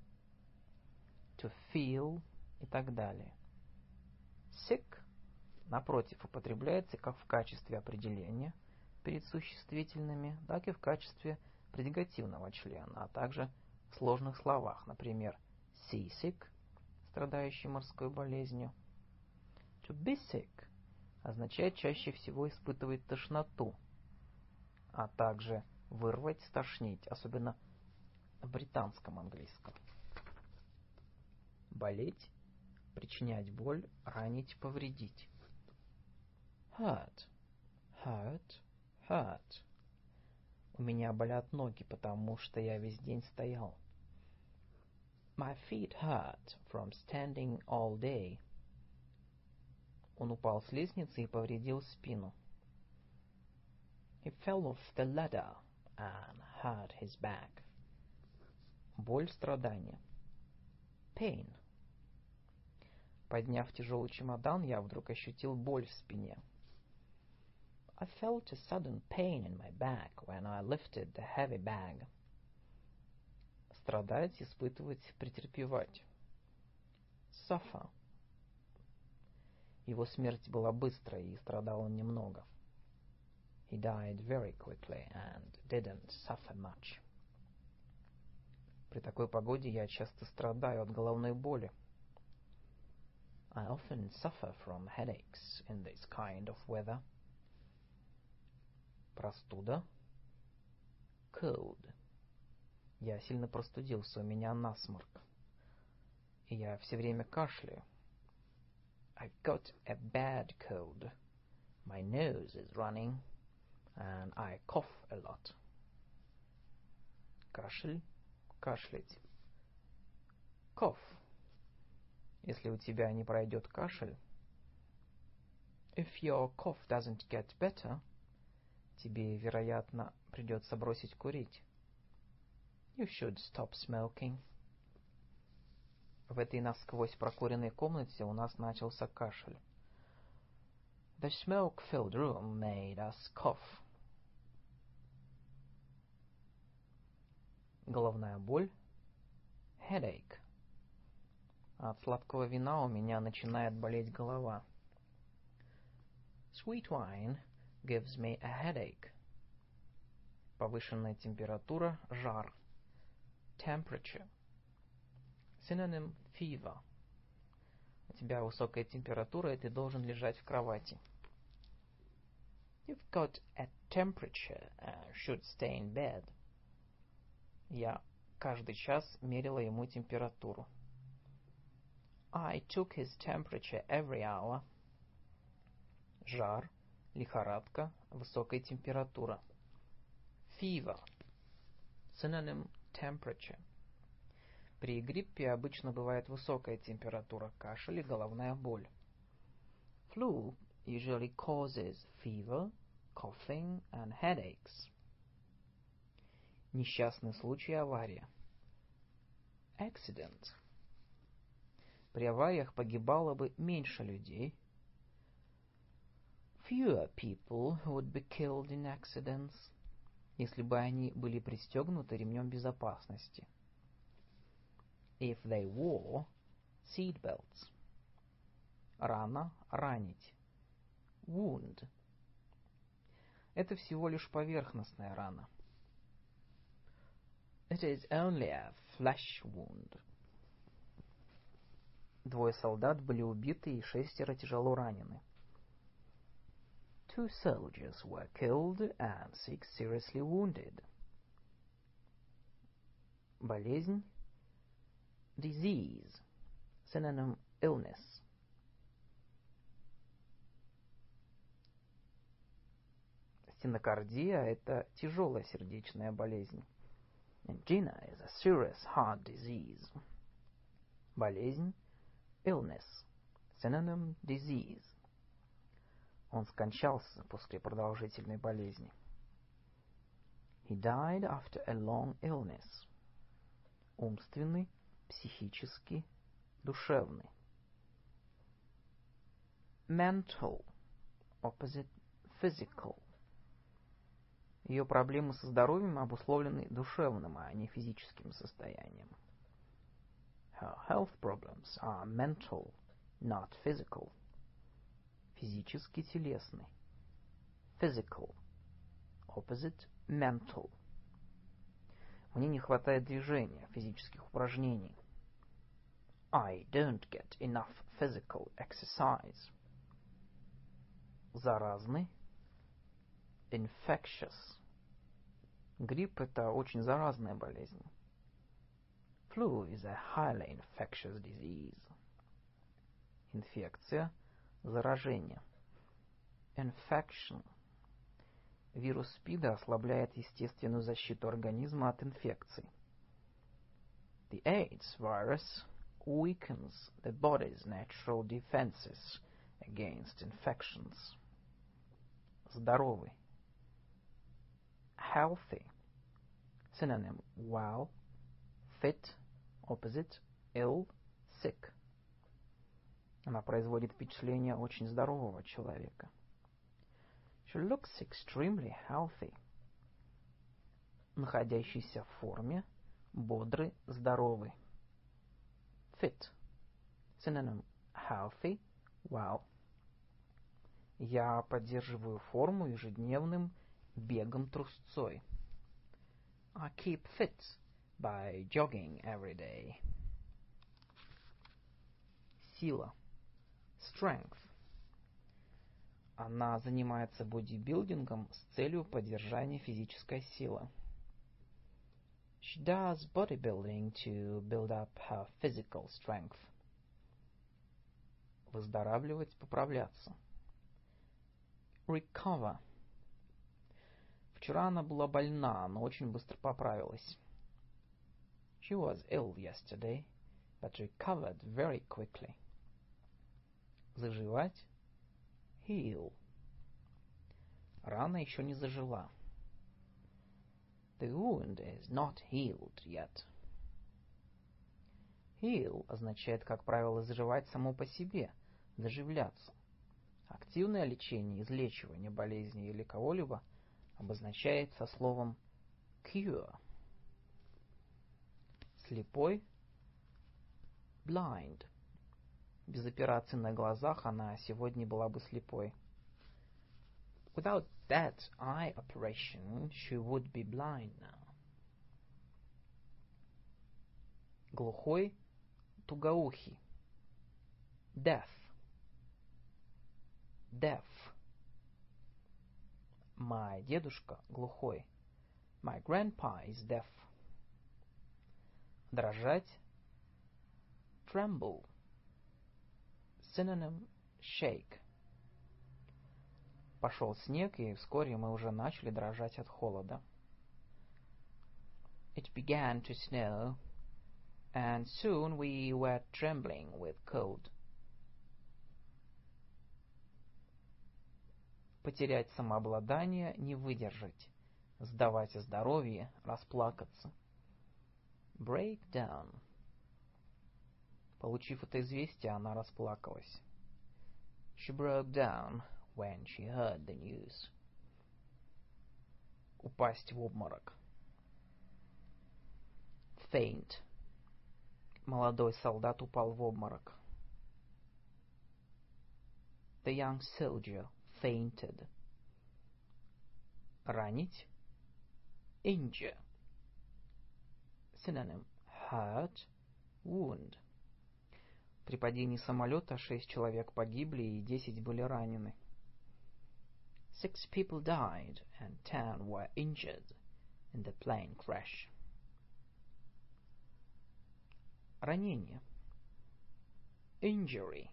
to feel и так далее. Sick, напротив, употребляется как в качестве определения перед существительными, так и в качестве предикативного члена, а также в сложных словах, например, seasick, страдающий морской болезнью. To be sick означает чаще всего испытывать тошноту, а также вырвать, стошнить, особенно в британском английском. Болеть, причинять боль, ранить, повредить. Hurt, hurt, hurt. У меня болят ноги, потому что я весь день стоял. My feet hurt from standing all day. Он упал с лестницы и повредил спину. He fell off the ladder and hurt his back. Боль, страдание. Pain. Подняв тяжелый чемодан, я вдруг ощутил боль в спине. I felt a sudden pain in my back when I lifted the heavy bag. Страдать, испытывать, претерпевать. Suffer. Его смерть была быстрой, и страдал он немного. He died very quickly and didn't suffer much. При такой погоде я часто страдаю от головной боли. I often suffer from headaches in this kind of weather. Простуда. Cold. Я сильно простудился, у меня насморк. И я все время кашляю. I've got a bad cold. My nose is running, and I cough a lot. Кашель. Кашлять. Cough. Если у тебя не пройдет кашель, if your cough doesn't get better, Тебе, вероятно, придется бросить курить. You should stop smoking. В этой насквозь прокуренной комнате у нас начался кашель. The smoke-filled room made us cough. Головная боль. Headache. От сладкого вина у меня начинает болеть голова. Sweet wine gives me a headache. Повышенная температура, жар. Temperature. Synonym fever. У тебя высокая температура, и ты должен лежать в кровати. You've got a temperature and should stay in bed. Я каждый час мерила ему температуру. I took his temperature every hour. Жар, лихорадка, высокая температура. Fever. Synonym temperature. При гриппе обычно бывает высокая температура, кашель и головная боль. Flu usually causes fever, coughing, and headaches. Несчастный случай, авария. Accident. При авариях погибало бы меньше людей. Fewer people would be killed in accidents. Если бы они были пристегнуты ремнем безопасности. If they wore seat belts. Рана, ранить. Wound. Это всего лишь поверхностная рана. It is only a flesh wound. Двое солдат были убиты и 6 тяжело ранены. 2 soldiers were killed and 6 seriously wounded. Болезнь. Disease. Synonym illness. Стенокардия – это тяжелая сердечная болезнь. Angina is a serious heart disease. Болезнь. Illness. Synonym disease. Он скончался после продолжительной болезни. He died after a long illness. Умственный, психический, душевный. Mental. Opposite physical. Ее проблемы со здоровьем обусловлены душевным, а не физическим состоянием. Her health problems are mental, not physical. Физически телесный. Physical. Opposite mental. Мне не хватает движения, физических упражнений. I don't get enough physical exercise. Заразный. Infectious. Грипп – это очень заразная болезнь. Flu is a highly infectious disease. Инфекция, заражение. Infection. Вирус СПИДа ослабляет естественную защиту организма от инфекций. The AIDS virus weakens the body's natural defenses against infections. Здоровый. Healthy. Synonym well, fit, opposite ill, sick. Она производит впечатление очень здорового человека. She looks extremely healthy. Находящийся в форме, бодрый, здоровый. Fit. Synonym healthy, well. Я поддерживаю форму ежедневным бегом трусцой. I keep fit by jogging every day. Сила. Strength. Она занимается бодибилдингом с целью поддержания физической силы. She does bodybuilding to build up her physical strength. Выздоравливать, поправляться. Recover. Вчера она была больна, но очень быстро поправилась. She was ill yesterday, but recovered very quickly. Заживать. Heal. Рана еще не зажила. The wound is not healed yet. Heal означает, как правило, заживать само по себе, заживляться. Активное лечение, излечивание болезни или кого-либо обозначает со словом cure. Слепой – blind. Без операции на глазах она сегодня была бы слепой. Without that eye operation, she would be blind now. Глухой – тугоухий. Deaf. Deaf. My дедушка глухой. My grandpa is deaf. Дрожать. Tremble. Synonym shake. Пошел снег, и вскоре мы уже начали дрожать от холода. It began to snow, and soon we were trembling with cold. Потерять самообладание, не выдержать. Сдавать здоровье, расплакаться. Break down. Получив это известие, она расплакалась. She broke down when she heard the news. Упасть в обморок. Faint. Молодой солдат упал в обморок. The young soldier fainted. Ранить. Injure. Synonym hurt, wound. При падении самолета 6 человек погибли и 10 были ранены. 6 people died and 10 were injured in the plane crash. Ранение. Injury.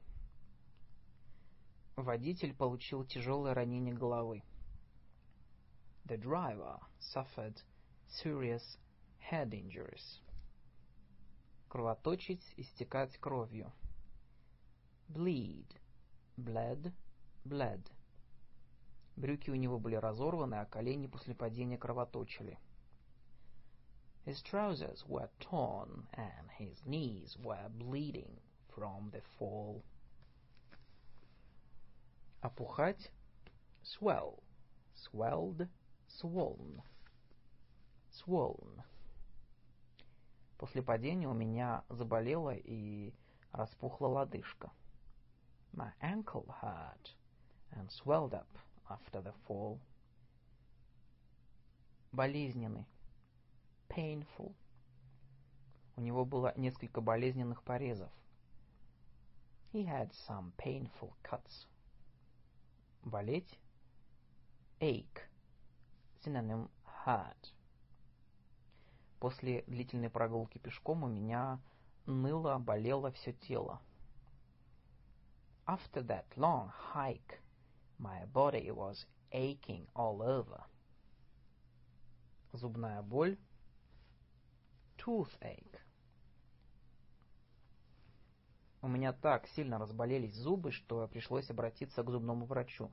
Водитель получил тяжелое ранение головы. The driver suffered serious head injuries. Кровоточить, истекать кровью. Bleed. Bled. Bled. Брюки у него были разорваны, а колени после падения кровоточили. His trousers were torn and his knees were bleeding from the fall. Опухать. Swell. Swelled. Swollen. Swollen. После падения у меня заболела и распухла лодыжка. My ankle hurt and swelled up after the fall. Болезненный. Painful. У него было несколько болезненных порезов. He had some painful cuts. Болеть. Ache. Synonym hurt. После длительной прогулки пешком у меня ныло, болело все тело. After that long hike, my body was aching all over. Зубная боль. Toothache. У меня так сильно разболелись зубы, что пришлось обратиться к зубному врачу.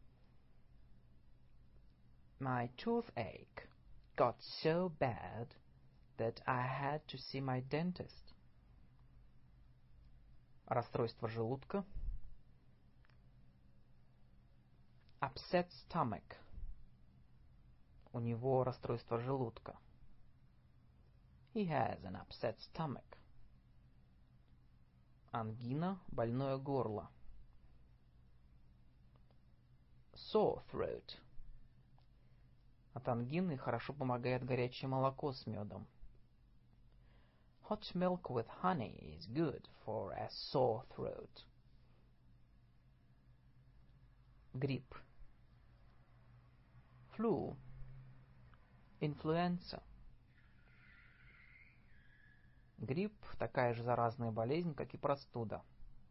My toothache got so bad that I had to see my dentist. Расстройство желудка. Upset stomach. У него расстройство желудка. He has an upset stomach. Ангина, больное горло. Sore throat. От ангины хорошо помогает горячее молоко с медом. Hot milk with honey is good for a sore throat. Грипп. Flu. Influenza. Грипп – такая же заразная болезнь, как и простуда.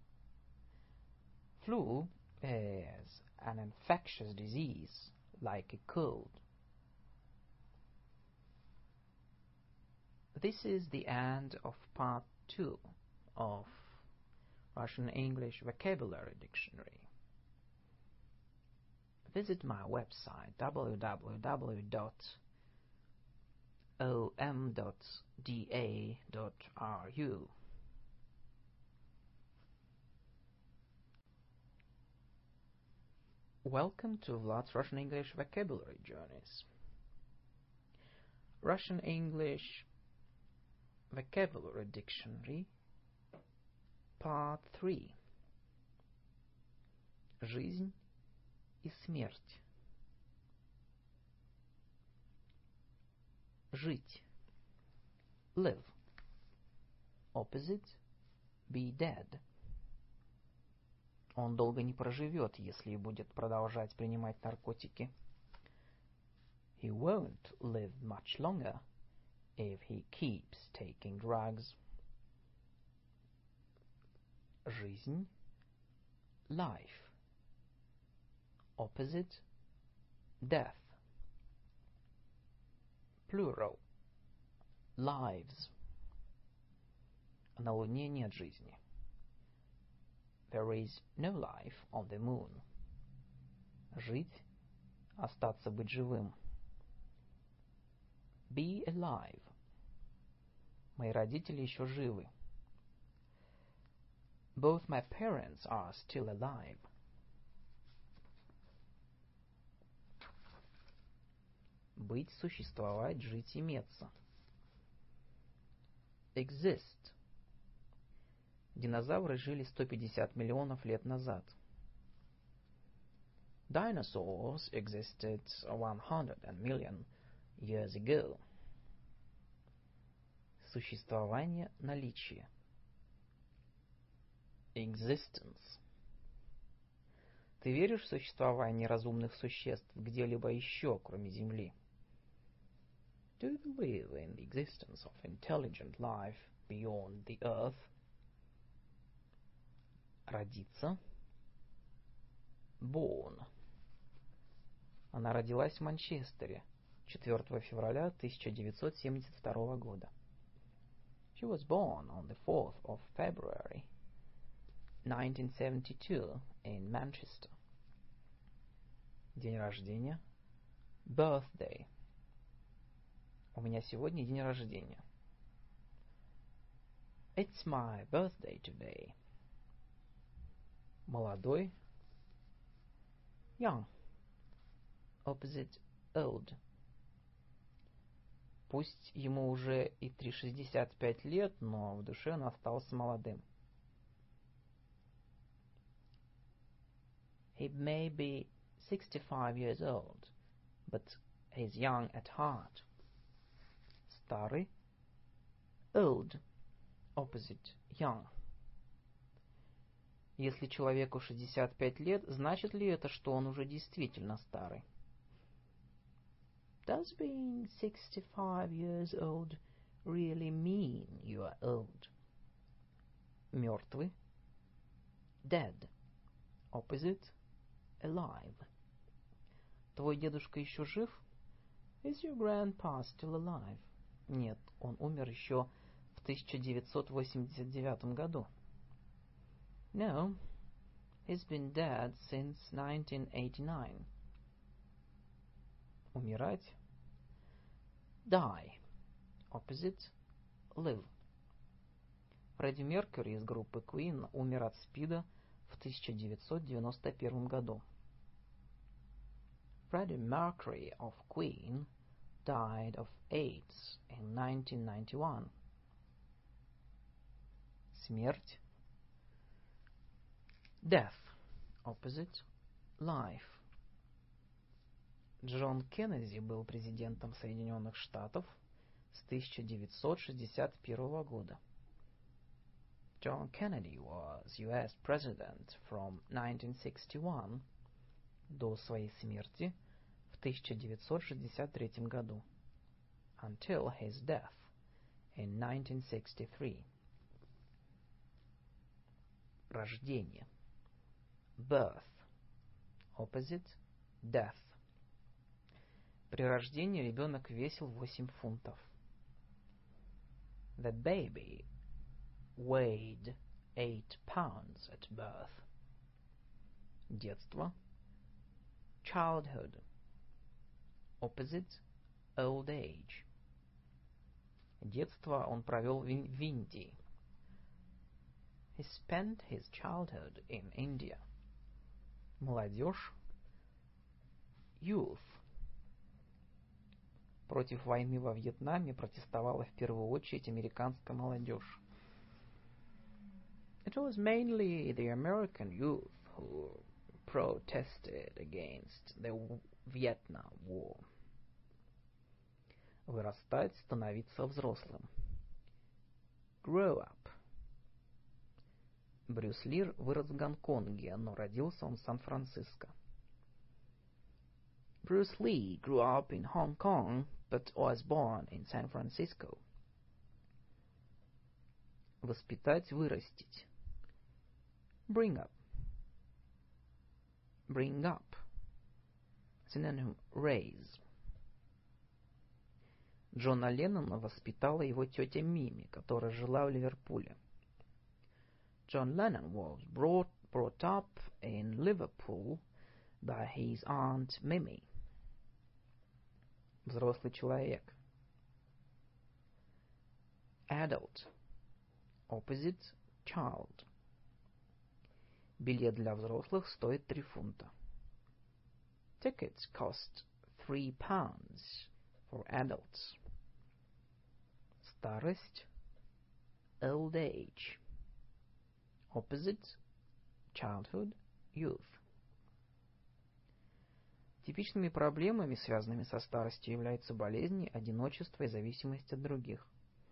Flu is an infectious disease like a cold. This is the end of part 2 of Russian English Vocabulary Dictionary. visit my website www.om.da.ru. Welcome to Vlad's Russian English Vocabulary Journeys. Russian English Vocabulary Dictionary, Part 3. Жизнь и смерть. Жить. Live. Opposite. Be dead. Он долго не проживет, если будет продолжать принимать наркотики. He won't live much longer if he keeps taking drugs. Жизнь. Life. Opposite. Death. Plural. Lives. На Луне нет жизни. There is no life on the moon. Жить. Остаться, быть живым. Be alive. Мои родители еще живы. Both my parents are still alive. Быть, существовать, жить, иметься. Exist. Динозавры жили 150 миллионов лет назад. Dinosaurs existed 100 million years ago. Существование, наличие. Existence. Ты веришь в существование разумных существ где-либо еще, кроме Земли? Do you believe in the existence of intelligent life beyond the Earth? Родиться. Born. Она родилась в Манчестере 4 февраля 1972 года. She was born on the 4th of February 1972 in Manchester. День рождения. Birthday. У меня сегодня день рождения. It's my birthday today. Молодой. Young. Opposite. Old. Пусть ему уже и 65 лет, но в душе он остался молодым. He may be 65 years old, but he's young at heart. Старый. Old. Opposite. Young. Если человеку 65 лет, значит ли это, что он уже действительно старый? Does being 65 years old really mean you are old? Мертвый. Dead. Opposite. Alive. Твой дедушка еще жив? Is your grandpa still alive? Нет, он умер еще в 1989 году. No, he's been dead since 1989. Умирать. Die. Opposite. Live. Фредди Меркьюри из группы Queen умер от СПИДа в 1991 году. Freddie Mercury of Queen died of AIDS in 1991. Смерть. Death. Opposite. Life. Джон Кеннеди был президентом Соединенных Штатов с 1961 года. John Kennedy was U.S. President from 1961 до своей смерти в 1963 году. Until his death in 1963. Рождение. Birth. Opposite. Death. При рождении ребенок весил 8 фунтов. The baby weighed 8 pounds at birth. Детство. childhood. Opposite old age. Детство он провел в Индии. He spent his childhood in India. Молодежь. Youth. Против войны во Вьетнаме протестовала в первую очередь американская молодежь. It was mainly the American youth who protested against the Vietnam War. Вырастать, становиться взрослым. Grow up. Брюс Ли вырос в Гонконге, но родился он в Сан-Франциско. Bruce Lee grew up in Hong Kong, but was born in San Francisco. Воспитать, вырастить. Bring up. Bring up. Synonym raise. Джона Леннона воспитала его тетя Мими, которая жила в Ливерпуле. John Lennon was brought up in Liverpool by his aunt Mimi. Взрослый человек. Adult. Opposite child. Билет для взрослых стоит 3 фунта. Tickets cost £3 for adults. Старость. Old age. Opposite childhood, youth. Типичными проблемами, связанными со старостью, являются болезни, одиночество и зависимость от других.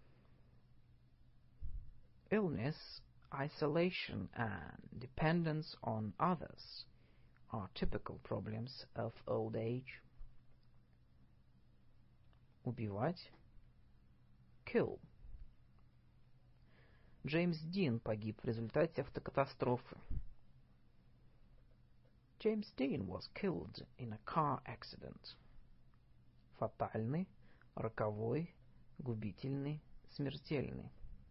Illness, isolation and dependence on others are typical problems of old age. Убивать. Kill. Джеймс Дин погиб в результате автокатастрофы. James Dean was killed in a car accident. Фатальный, роковой, губительный, смертельный.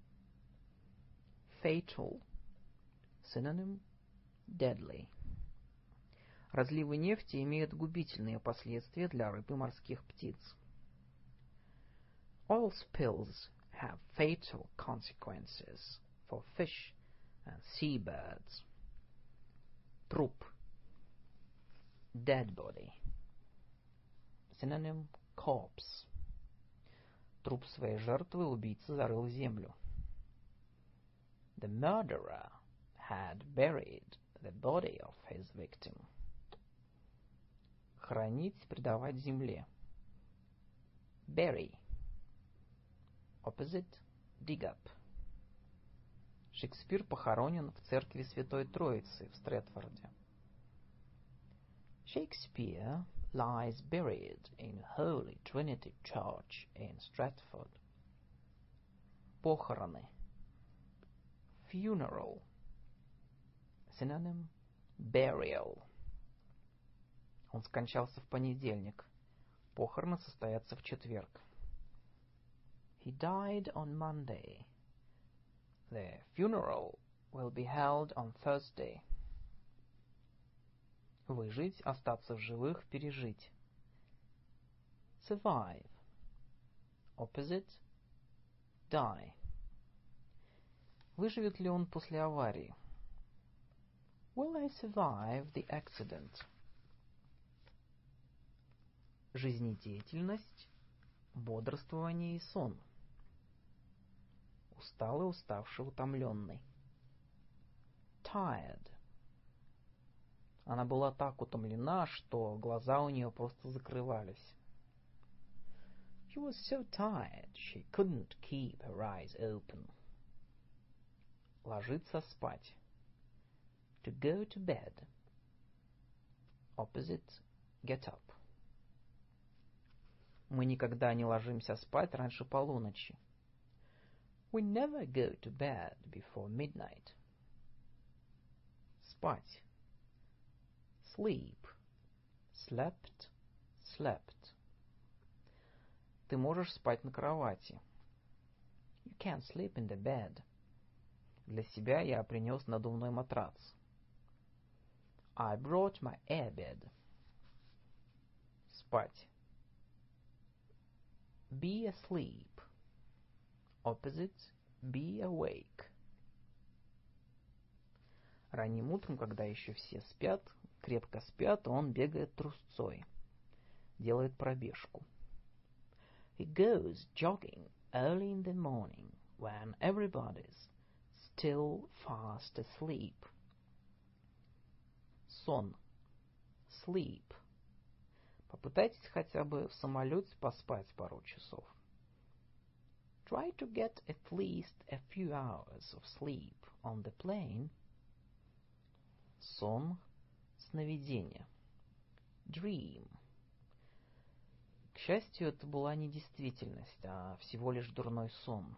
Fatal. Synonym deadly. Разливы нефти имеют губительные последствия для рыб и морских птиц. Oil spills have fatal consequences for fish and seabirds. Труп. Dead body. Synonym corpse. Труп своей жертвы убийца зарыл в землю. The murderer had buried the body of his victim. Хранить, предавать земле. Bury. Opposite dig up. Шекспир похоронен в церкви Святой Троицы в Стрэтфорде. Shakespeare lies buried in Holy Trinity Church in Stratford. Похороны. Funeral. Synonym burial. Он скончался в понедельник. Похороны состоятся в четверг. He died on Monday. The funeral will be held on Thursday. Выжить, остаться в живых, пережить. Survive. Opposite die. Выживет ли он после аварии? Will I survive the accident? Жизнедеятельность, бодрствование и сон. Усталый, уставший, утомленный. Tired. Она была так утомлена, что глаза у нее просто закрывались. She was so tired, she couldn't keep her eyes open. Ложиться спать. To go to bed. Opposite get up. Мы никогда не ложимся спать раньше полуночи. We never go to bed before midnight. Спать. Sleep. Slept. Slept. Ты можешь спать на кровати. You can sleep in the bed. Для себя я принес надувной матрац. I brought my air bed. спать. Be asleep. Opposite be awake. Ранним утром, когда еще все спят, крепко спят, он бегает трусцой, делает пробежку. He goes jogging early in the morning when everybody's still fast asleep. Сон. Sleep. Попытайтесь хотя бы в самолете поспать пару часов. Try to get at least a few hours of sleep on the plane. Сон, сновидение. Dream. К счастью, это была не действительность, а всего лишь дурной сон.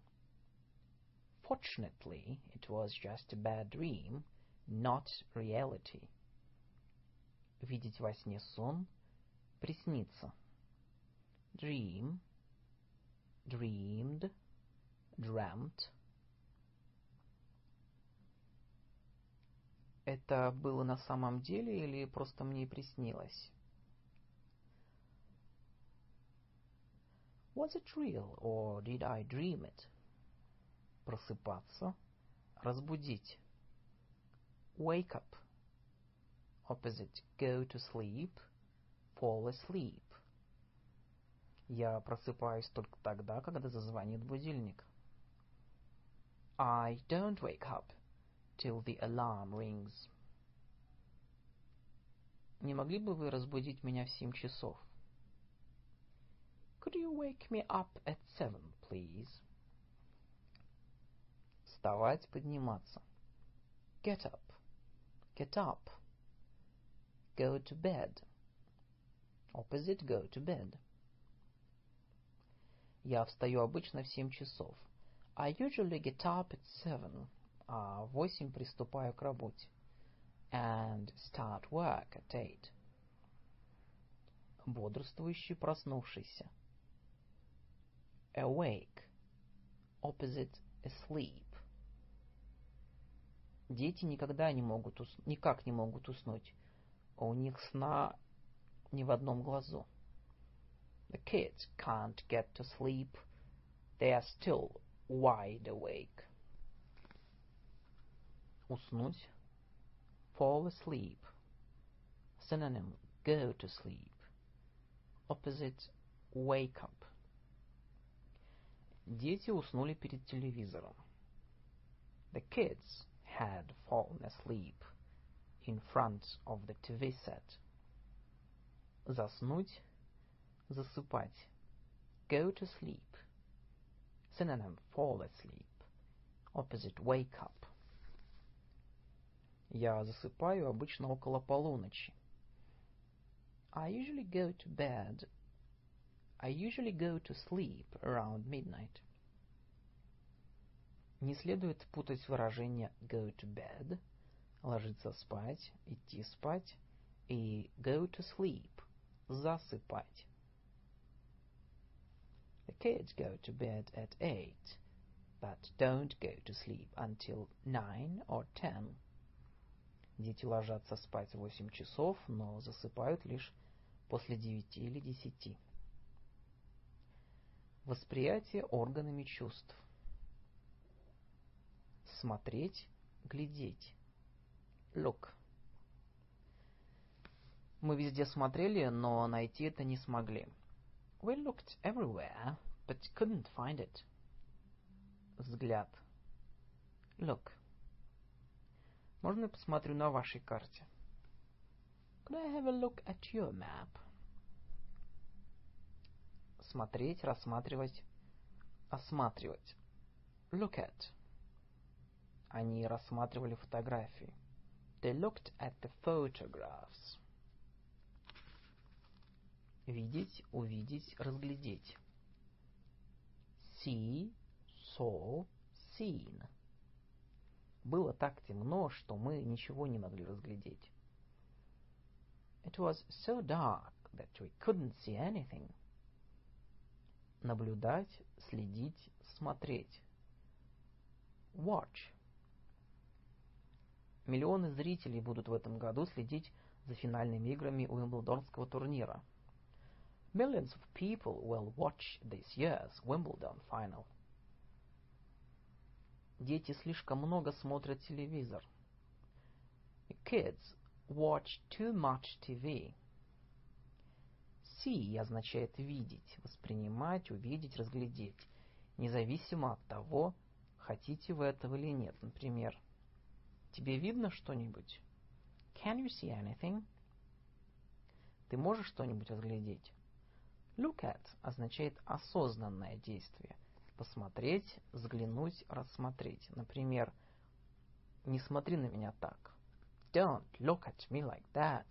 Fortunately, it was just a bad dream, not reality. Видеть во сне сон, присниться. Dream, dreamed, dreamt. Это было на самом деле или просто мне приснилось? Was it real or did I dream it? Просыпаться, разбудить. Wake up. Opposite go to sleep, fall asleep. Я просыпаюсь только тогда, когда зазвонит будильник. I don't wake up till the alarm rings. Не могли бы вы разбудить меня в 7 часов? Could you wake me up at 7, please? Вставать, подниматься. Get up. Get up. Go to bed. Opposite go to bed. Я встаю обычно в 7 часов. I usually get up at 7, а в 8 приступаю к работе. And start work at 8. Бодрствующий, проснувшийся. Awake. Opposite asleep. Дети никак не могут уснуть. У них сна ни в одном глазу. The kids can't get to sleep. They are still wide awake. Уснуть. Fall asleep. Synonym go to sleep. Opposite wake up. Дети уснули перед телевизором. The kids had fallen asleep in front of the TV set. Заснуть, засыпать. Go to sleep. Synonym fall asleep. Opposite wake up. Я засыпаю обычно около полуночи. I usually go to sleep around midnight. Не следует путать выражение go to bed, ложиться спать, идти спать, и go to sleep, засыпать. The kids go to bed at 8, but don't go to sleep until 9 or 10. Дети ложатся спать в 8 часов, но засыпают лишь после 9 или 10. Восприятие органами чувств. Смотреть, глядеть. Look. Мы везде смотрели, но найти это не смогли. We looked everywhere, but couldn't find it. Взгляд. Look. Можно я посмотрю на вашей карте? Could I have a look at your map? Смотреть, рассматривать, осматривать. Look at. Они рассматривали фотографии. They looked at the photographs. Видеть, увидеть, разглядеть. See, saw, seen. Было так темно, что мы ничего не могли разглядеть. It was so dark that we couldn't see anything. Наблюдать, следить, смотреть. Watch. Миллионы зрителей будут в этом году следить за финальными играми Уимблдонского турнира. Millions of people will watch this year's Wimbledon final. Дети слишком много смотрят телевизор. Kids watch too much TV. See означает видеть, воспринимать, увидеть, разглядеть, независимо от того, хотите вы этого или нет. Например, тебе видно что-нибудь? Can you see anything? Ты можешь что-нибудь разглядеть? Look at означает осознанное действие. Посмотреть, взглянуть, рассмотреть. Например, не смотри на меня так. Don't look at me like that.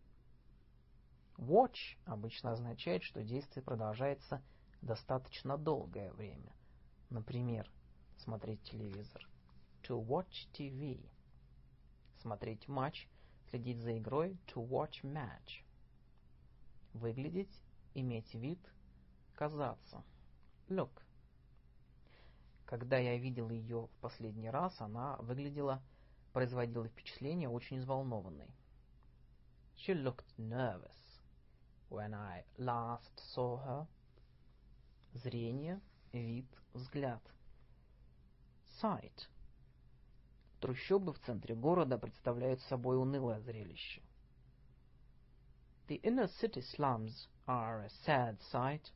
Watch обычно означает, что действие продолжается достаточно долгое время. Например, смотреть телевизор. To watch TV. Смотреть матч, следить за игрой. To watch match. Выглядеть, иметь вид, казаться. Look. Когда я видел ее в последний раз, она производила впечатление очень взволнованной. She looked nervous when I last saw her. Зрение, вид, взгляд. Sight. Трущобы в центре города представляют собой унылое зрелище. The inner city slums are a sad sight.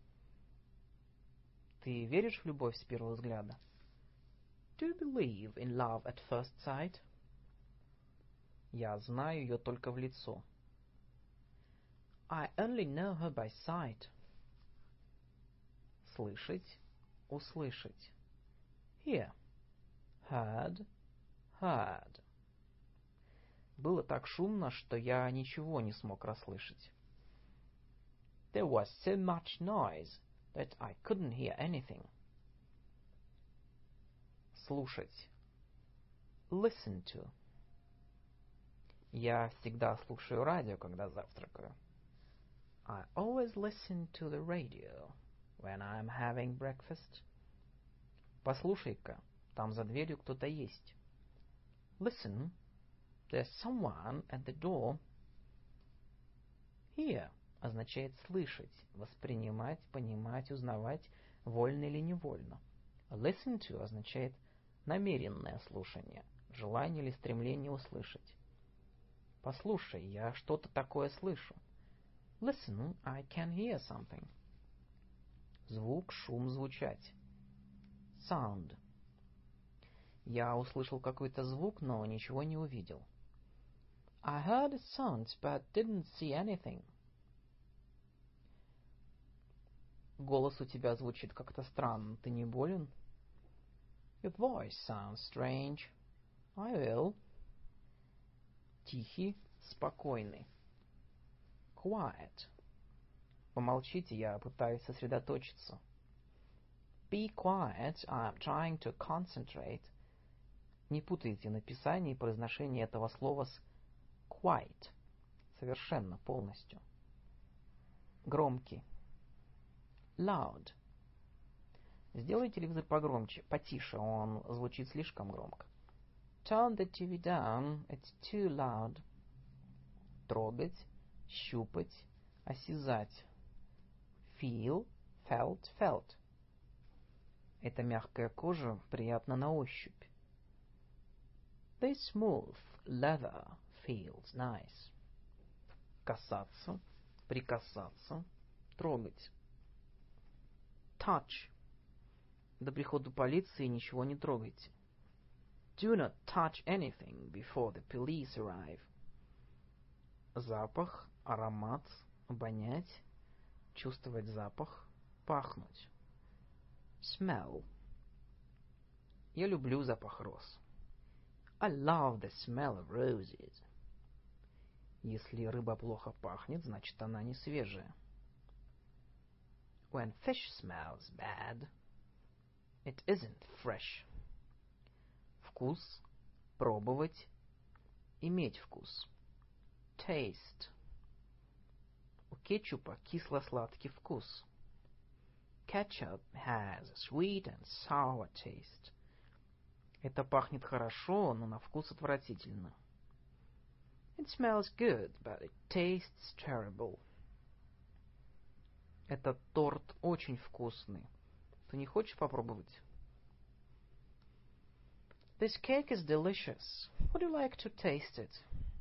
Ты веришь в любовь с первого взгляда? Do you believe in love at first sight? Я знаю ее только в лицо. I only know her by sight. Слышать, услышать. Hear. Heard, heard. Было так шумно, что я ничего не смог расслышать. There was so much noise that I couldn't hear anything. Слушать. Listen to. Я всегда слушаю радио, когда завтракаю. I always listen to the radio when I'm having breakfast. Послушай-ка, там за дверью кто-то есть. Listen, there's someone at the door. Hear означает слышать, воспринимать, понимать, узнавать, вольно или невольно. Listen to означает намеренное слушание, желание или стремление услышать. Послушай, я что-то такое слышу. Listen, I can hear something. Звук, шум, звучать. Sound. Я услышал какой-то звук, но ничего не увидел. I heard a sound, but didn't see anything. Голос у тебя звучит как-то странно. Ты не болен? Your voice sounds strange. Are you ill? Тихий, спокойный. Quiet. Помолчите, я пытаюсь сосредоточиться. Be quiet, I'm trying to concentrate. Не путайте написание и произношение этого слова с quite. Совершенно, полностью. Громкий. Loud. Сделай телевизор погромче, потише, он звучит слишком громко. Turn the TV down, it's too loud. Трогать, щупать, осязать. Feel, felt, felt. Эта мягкая кожа приятна на ощупь. This smooth leather feels nice. Касаться, прикасаться, трогать. Touch. До прихода полиции ничего не трогайте. Do not touch anything before the police arrive. Запах, аромат, обонять, чувствовать запах, пахнуть. Smell. Я люблю запах роз. I love the smell of roses. Если рыба плохо пахнет, значит она не свежая. When fish smells bad, it isn't fresh. Вкус, пробовать, иметь вкус. Taste. У кетчупа кисло-сладкий вкус. Ketchup has a sweet and sour taste. Это пахнет хорошо, но на вкус отвратительно. It smells good, but it tastes terrible. Этот торт очень вкусный. Ты не хочешь попробовать? This cake is delicious. Would you like to taste it?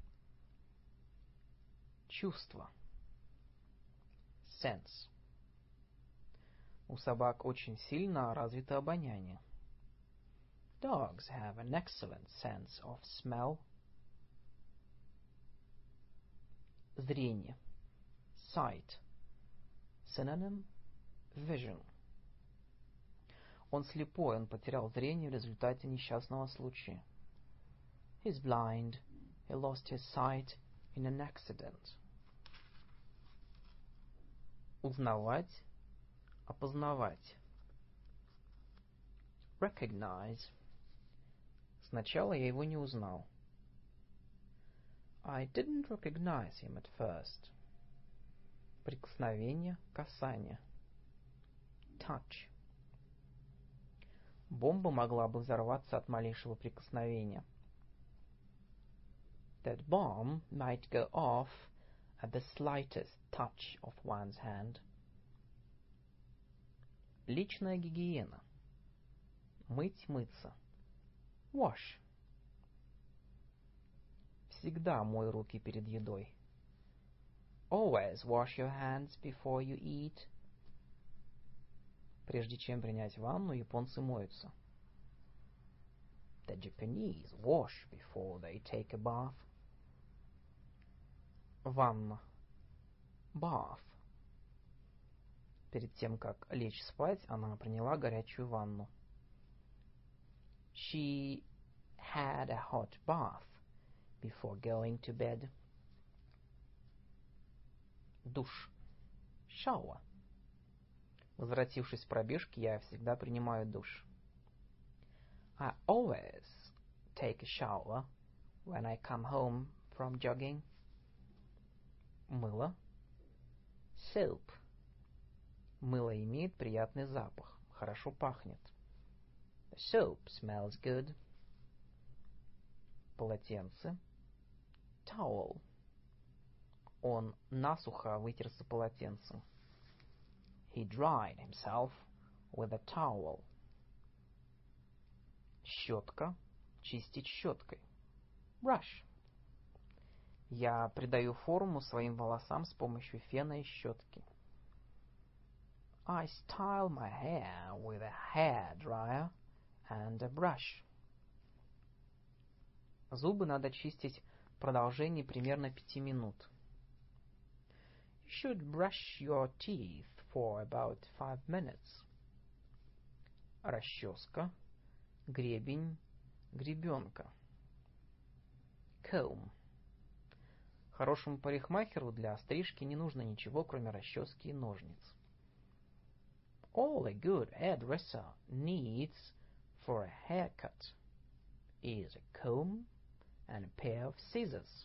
Чувство. Sense. У собак очень сильно развито обоняние. Dogs have an excellent sense of smell. Зрение. Sight. Synonym: vision. Он слепой, он потерял зрение в результате несчастного случая. He's blind. He lost his sight in an accident. Узнавать, опознавать. Recognize. Сначала я его не узнал. I didn't recognize him at first. Прикосновение, касание. Touch. Бомба могла бы взорваться от малейшего прикосновения. That bomb might go off at the slightest touch of one's hand. Личная гигиена. Мыть, мыться. Wash. Всегда мой руки перед едой. Always wash your hands before you eat. Прежде чем принять ванну, японцы моются. The Japanese wash before they take a bath. Ванна. Bath. Перед тем, как лечь спать, она приняла горячую ванну. She had a hot bath before going to bed. Душ. Shower. Возвратившись с пробежки, я всегда принимаю душ. I always take a shower when I come home from jogging. Мыло. Soap. Мыло имеет приятный запах, хорошо пахнет. The soap smells good. Полотенце. Towel. Он насухо вытерся полотенцем. He dried himself with a towel. Щетка. Чистить щеткой. Brush. Я придаю форму своим волосам с помощью фена и щетки. I style my hair with a hair dryer and a brush. Зубы надо чистить в продолжении примерно 5 минут. You should brush your teeth for about 5 minutes. Расческа. Гребень. Гребенка. Comb. Хорошему парикмахеру для стрижки не нужно ничего, кроме расчески и ножниц. All a good hairdresser needs for a haircut is a comb and a pair of scissors.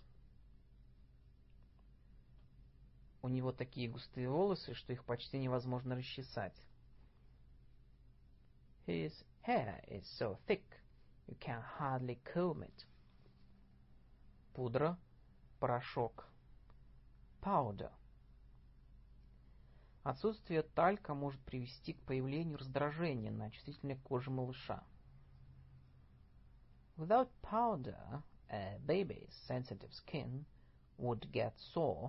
У него такие густые волосы, что их почти невозможно расчесать. His hair is so thick you can hardly comb it. Пудра. Порошок. Powder. Отсутствие талька может привести к появлению раздражения на чувствительной коже малыша. Without powder, a baby's sensitive skin would get sore.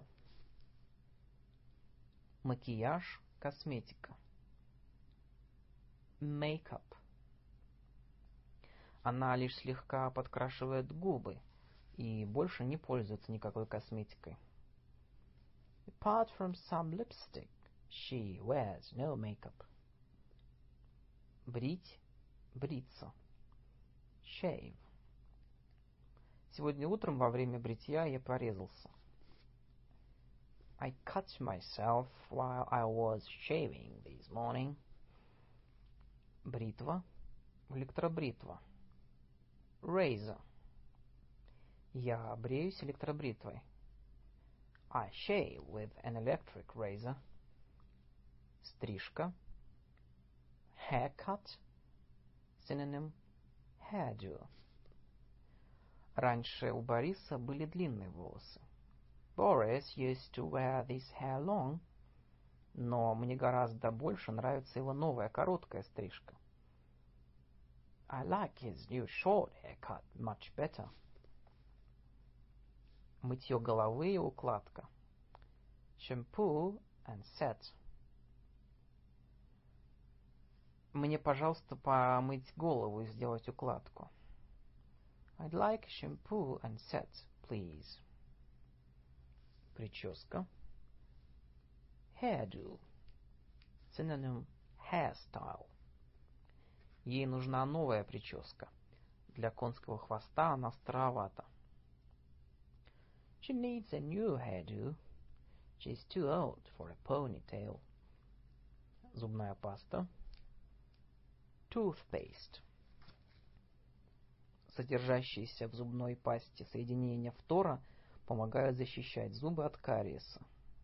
Макияж. Косметика. Makeup. Она лишь слегка подкрашивает губы и больше не пользуется никакой косметикой. Apart from some lipstick, she wears no makeup. Брить. Бриться. Shave. Сегодня утром во время бритья я порезался. I cut myself while I was shaving this morning. Бритва. Электробритва. Razor. Я бреюсь электробритвой. I shave with an electric razor. Стрижка. Haircut. Synonym: hairdo. Раньше у Бориса были длинные волосы. Boris used to wear this hair long. но мне гораздо больше нравится его новая короткая стрижка. I like his new short haircut much better. Мытье головы и укладка. Shampoo and set. Мне, пожалуйста, помыть голову и сделать укладку. I'd like shampoo and set, please. Прическа. Hairdo. Synonym hairstyle. Ей нужна новая прическа. Для конского хвоста она старовата. She needs a new hairdo. She's too old for a ponytail. Зубная паста. Toothpaste. Содержащиеся в зубной пасте соединения фтора помогают защищать зубы от кариеса.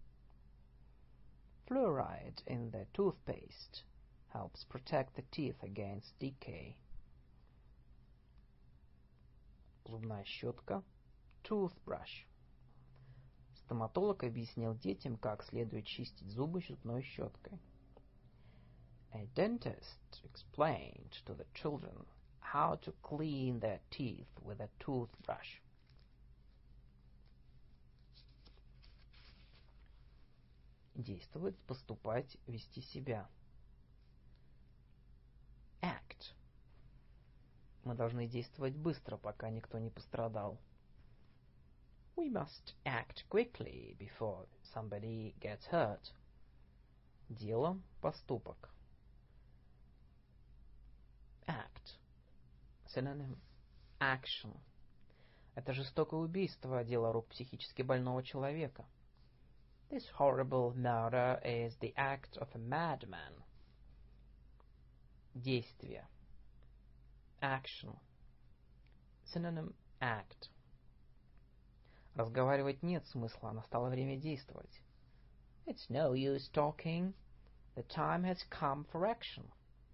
Fluoride in the toothpaste helps protect the teeth against decay. Зубная щетка. Toothbrush. Стоматолог объяснил детям, как следует чистить зубы зубной щеткой. A dentist explained to the children how to clean their teeth with a toothbrush. Действовать, поступать, вести себя. Act. Мы должны действовать быстро, пока никто не пострадал. We must act quickly before somebody gets hurt. Дело, поступок. Act. Synonym action. Это жестокое убийство, дело рук психически больного человека. This horrible murder is the act of a madman. Действие. Action. Synonym act. Разговаривать нет смысла, настало время действовать. It's no use talking. The time has come for action.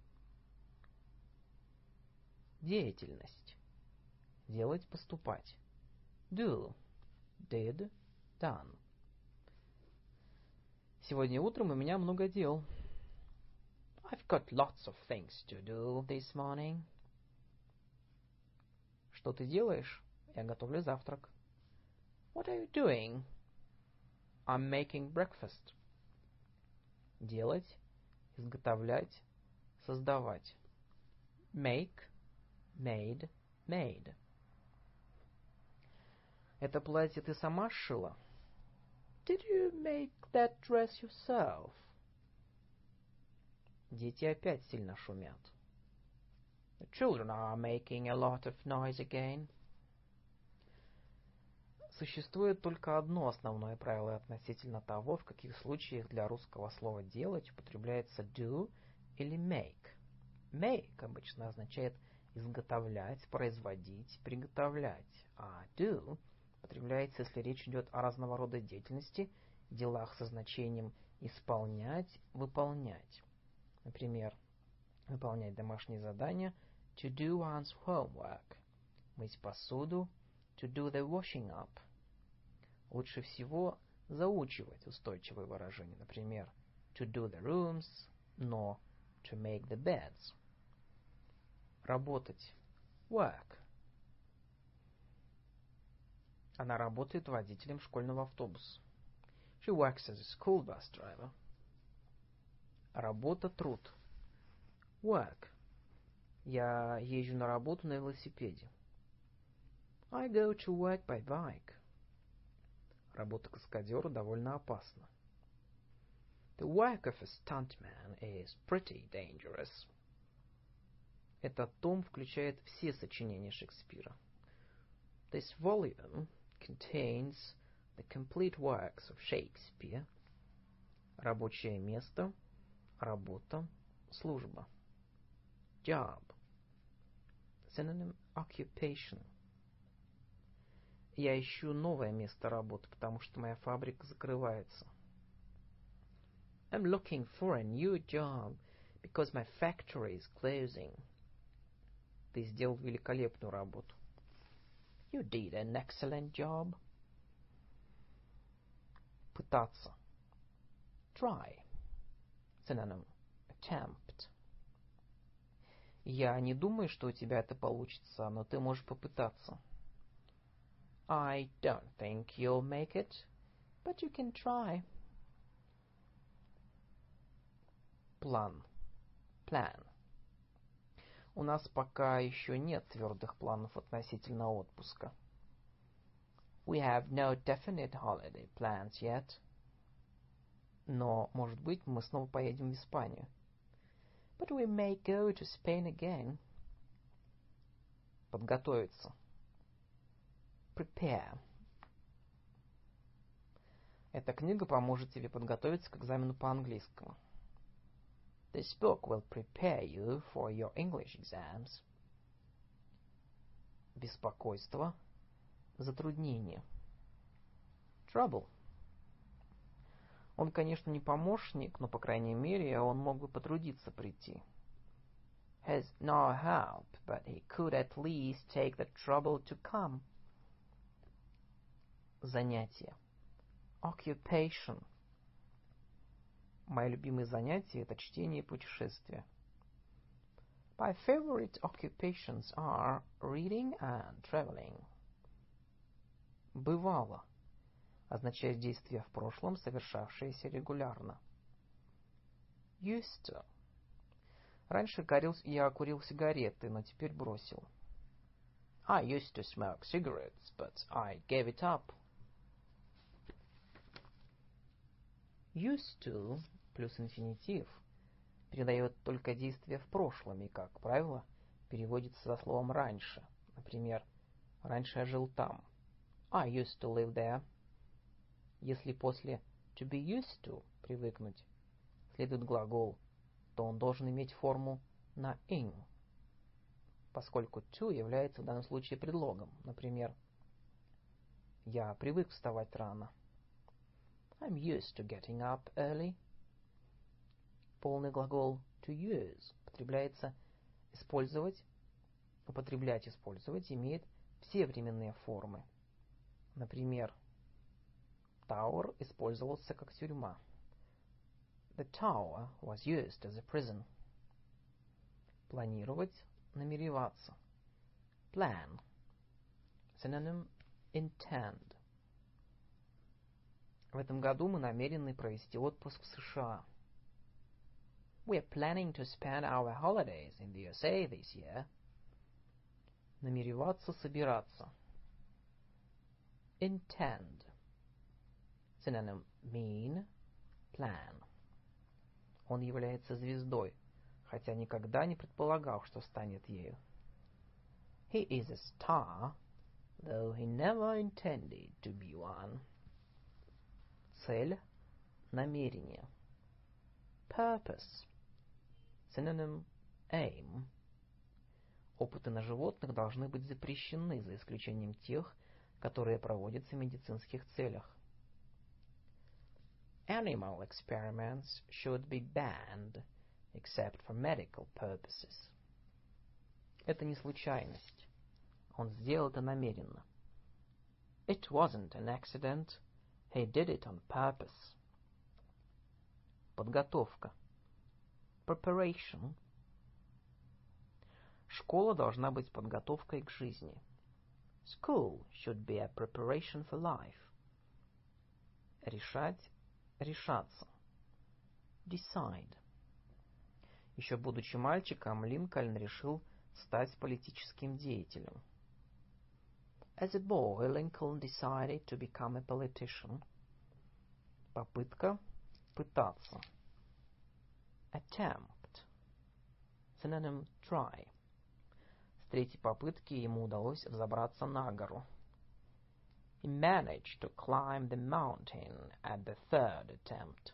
Деятельность. Делать, поступать. Do. Did. Done. Сегодня утром у меня много дел. I've got lots of things to do this morning. Что ты делаешь? Я готовлю завтрак. What are you doing? I'm making breakfast. Делать, изготовлять, создавать. Make. Made. Made. Это платье ты сама сшила? Did you make that dress yourself? Дети опять сильно шумят. The children are making a lot of noise again. Существует только одно основное правило относительно того, в каких случаях для русского слова «делать» употребляется do или make. Make обычно означает изготовлять, производить, приготовлять, а do употребляется, если речь идет о разного рода деятельности, делах со значением исполнять, выполнять. Например, выполнять домашние задания to do one's homework. Мыть посуду to do the washing up. Лучше всего заучивать устойчивые выражения. Например, to do the rooms, но to make the beds. Работать. Work. Она работает водителем школьного автобуса. She works as a school bus driver. Работа, труд. Work. Я езжу на работу на велосипеде. I go to work by bike. Работа каскадера довольно опасна. The work of a stuntman is pretty dangerous. Этот том включает все сочинения Шекспира. This volume contains the complete works of Shakespeare. Рабочее место, работа, служба. Job. Synonym occupation. Я ищу новое место работы, потому что моя фабрика закрывается. I'm looking for a new job because my factory is closing. Ты сделал великолепную работу. You did an excellent job. Пытаться. Try. Synonym attempt. Я не думаю, что у тебя это получится, но ты можешь попытаться. I don't think you'll make it, but you can try. План. Plan. У нас пока еще нет твердых планов относительно отпуска. We have no definite holiday plans yet. Но, может быть, мы снова поедем в Испанию. But we may go to Spain again. Подготовиться. Prepare. Эта книга поможет тебе подготовиться к экзамену по английскому. This book will prepare you for your English exams. Беспокойство. Затруднение. Trouble. Он, конечно, не помощник, но, по крайней мере, он мог бы потрудиться прийти. Has no help, but he could at least take the trouble to come. Занятие. Occupation. Мои любимые занятия — это чтение и путешествия. My favorite occupations are reading and traveling. Бывало означает действие в прошлом, совершавшееся регулярно. Used to. Раньше я курил сигареты, но теперь бросил. I used to smoke cigarettes, but I gave it up. Used to плюс инфинитив передает только действие в прошлом и, как правило, переводится со словом «раньше». Например, «раньше я жил там». I used to live there. Если после to be used to привыкнуть следует глагол, то он должен иметь форму на ing, поскольку to является в данном случае предлогом. Например, я привык вставать рано. I'm used to getting up early. Полный глагол to use употреблять, использовать имеет все временные формы. Например, Tower использовался как тюрьма. The tower was used as a prison. Планировать, намереваться. Plan. Synonym intend. В этом году мы намерены провести отпуск в США. We're planning to spend our holidays in the USA this year. Намереваться, собираться. Intend. Synonym mean, plan. Он является звездой, хотя никогда не предполагал, что станет ею. He is a star, though he never intended to be one. Цель, намерение. Purpose. Synonym aim. Опыты на животных должны быть запрещены, за исключением тех, которые проводятся в медицинских целях. Animal experiments should be banned, except for medical purposes. Это не случайность. Он сделал это намеренно. It wasn't an accident. He did it on purpose. Подготовка. Preparation. Школа должна быть подготовкой к жизни. School should be a preparation for life. Решать, решаться. Decide. Еще будучи мальчиком, Линкольн решил стать политическим деятелем. As a boy, Lincoln decided to become a politician. Попытка, пытаться. Attempt. Synonym try. С третьей попытки ему удалось взобраться на гору. He managed to climb the mountain at the third attempt.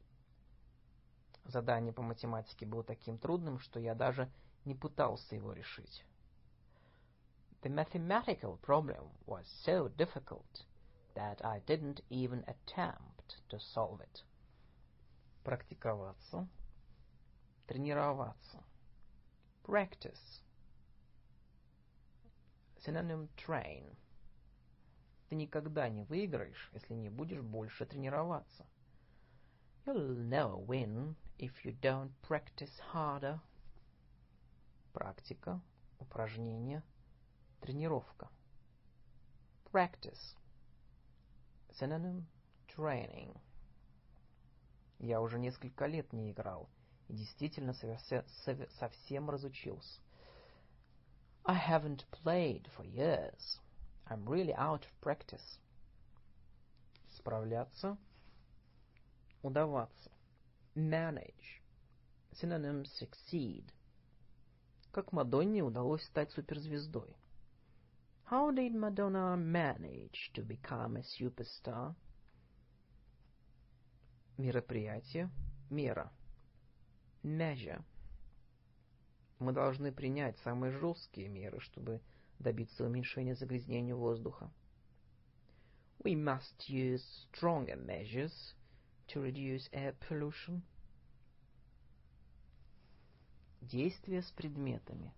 Задание по математике было таким трудным, что я даже не пытался его решить. The mathematical problem was so difficult that I didn't even attempt to solve it. Практиковаться, тренироваться. Practice. Synonym train. Ты никогда не выиграешь, если не будешь больше тренироваться. You'll never win if you don't practice harder. Практика, упражнение, тренировка. Practice. Synonym training. Я уже несколько лет не играл и действительно совсем разучился. I haven't played for years. I'm really out of practice. Справляться, удаваться. Manage. Synonym succeed. Как Мадонне удалось стать суперзвездой? How did Madonna manage to become a superstar? Мероприятие, мера. Measure. Мы должны принять самые жесткие меры, чтобы добиться уменьшения загрязнения воздуха. We must use stronger measures to reduce air pollution. Действия с предметами.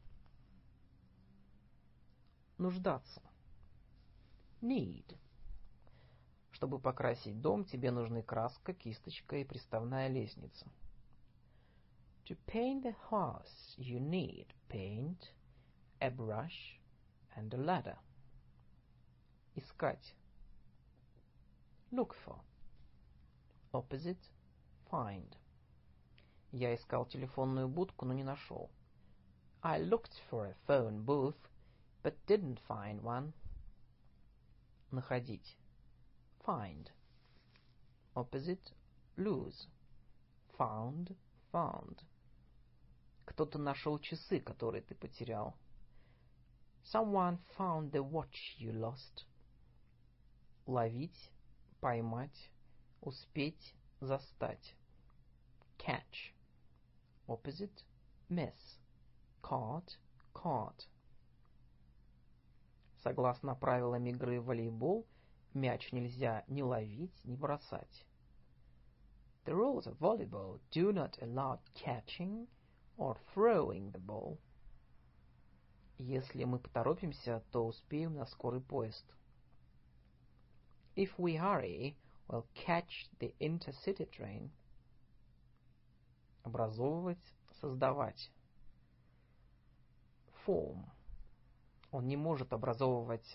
Нуждаться. Need. Чтобы покрасить дом, тебе нужны краска, кисточка и приставная лестница. To paint the house, you need paint, a brush, and a ladder. Искать. Look for. Opposite, find. Я искал телефонную будку, но не нашел. I looked for a phone booth, but didn't find one. Находить. Find. Opposite, lose. Found, found. Кто-то нашел часы, которые ты потерял. Someone found the watch you lost. Ловить, поймать, успеть, застать. Catch. Opposite, miss. Caught, caught. Согласно правилам игры в волейбол, мяч нельзя ни ловить, ни бросать. The rules of volleyball do not allow catching or throwing the ball. Если мы поторопимся, то успеем на скорый поезд. If we hurry, we'll catch the intercity train. Образовывать, создавать. Form. Он не может образовать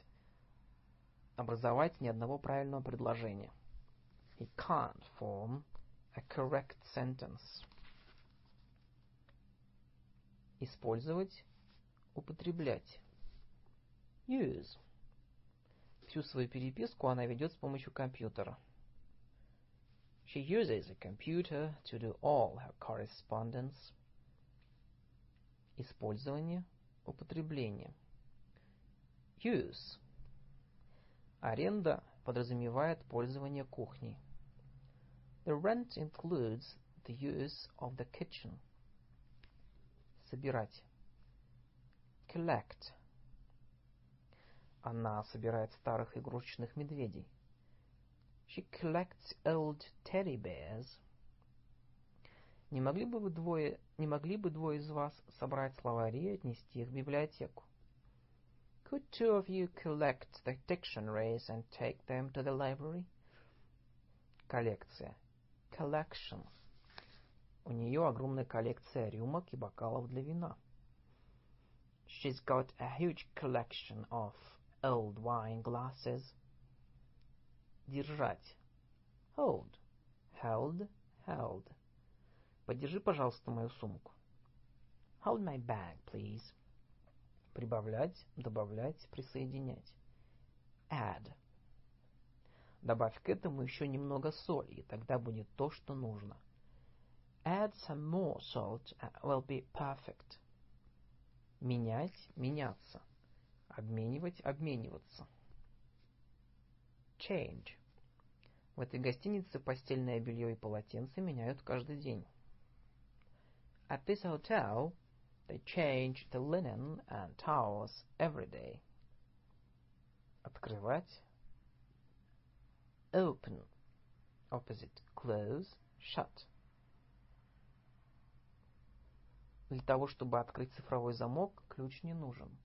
ни одного правильного предложения. He can't form a correct sentence. Использовать, употреблять. Use. Всю свою переписку она ведет с помощью компьютера. She uses a computer to do all her correspondence. Использование, употребление. Use. Аренда подразумевает пользование кухней. The rent includes the use of the kitchen. Собирать. Collect. Она собирает старых игрушечных медведей. She collects old teddy bears. Не могли бы двое из вас собрать словари и отнести их в библиотеку? Could two of you collect the dictionaries and take them to the library? Коллекция. Collection. У нее огромная коллекция рюмок и бокалов для вина. She's got a huge collection of old wine glasses. Держать. Hold. Held, held. Подержи, пожалуйста, мою сумку. Hold my bag, please. Прибавлять, добавлять, присоединять. Add. Добавь к этому еще немного соли, и тогда будет то, что нужно. Add some more salt and it will be perfect. Менять, меняться. Обменивать, обмениваться. Change. В этой гостинице постельное белье и полотенце меняют каждый день. At this hotel, they change the linen and towels every day. Открывать. Open. Opposite, close, shut. Для того, чтобы открыть цифровой замок, ключ не нужен.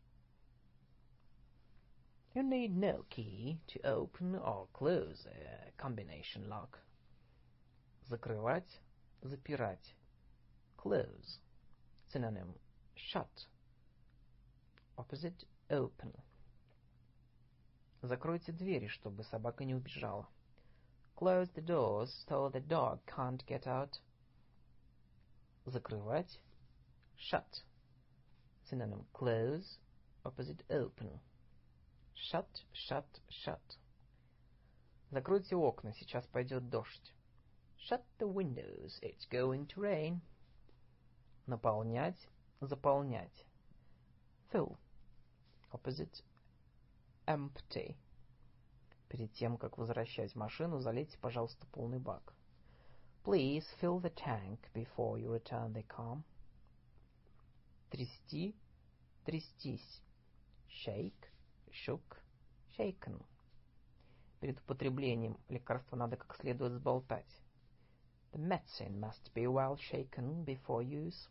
You need no key to open or close a combination lock. Закрывать, запирать. Close. Synonym shut. Opposite open. Закройте двери, чтобы собака не убежала. Close the doors so the dog can't get out. Закрывать, shut. Synonym close, opposite open. Shut, shut, shut. Закройте окна, сейчас пойдет дождь. Shut the windows, it's going to rain. Наполнять, заполнять. Fill. Opposite empty. Перед тем, как возвращать машину, залейте, пожалуйста, полный бак. Please fill the tank before you return the car. Трясти, трястись. Shake, shook, shaken. Перед употреблением лекарства надо как следует сболтать. The medicine must be well shaken before use.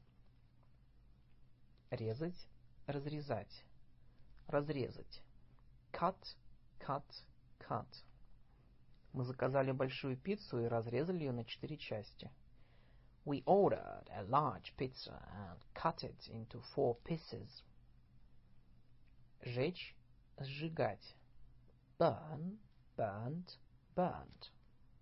Резать, разрезать. Разрезать. Cut, cut, cut. Мы заказали большую пиццу и разрезали ее на 4 части. We ordered a large pizza and cut it into 4 pieces. Жечь, сжигать. Burn, burned, burnt.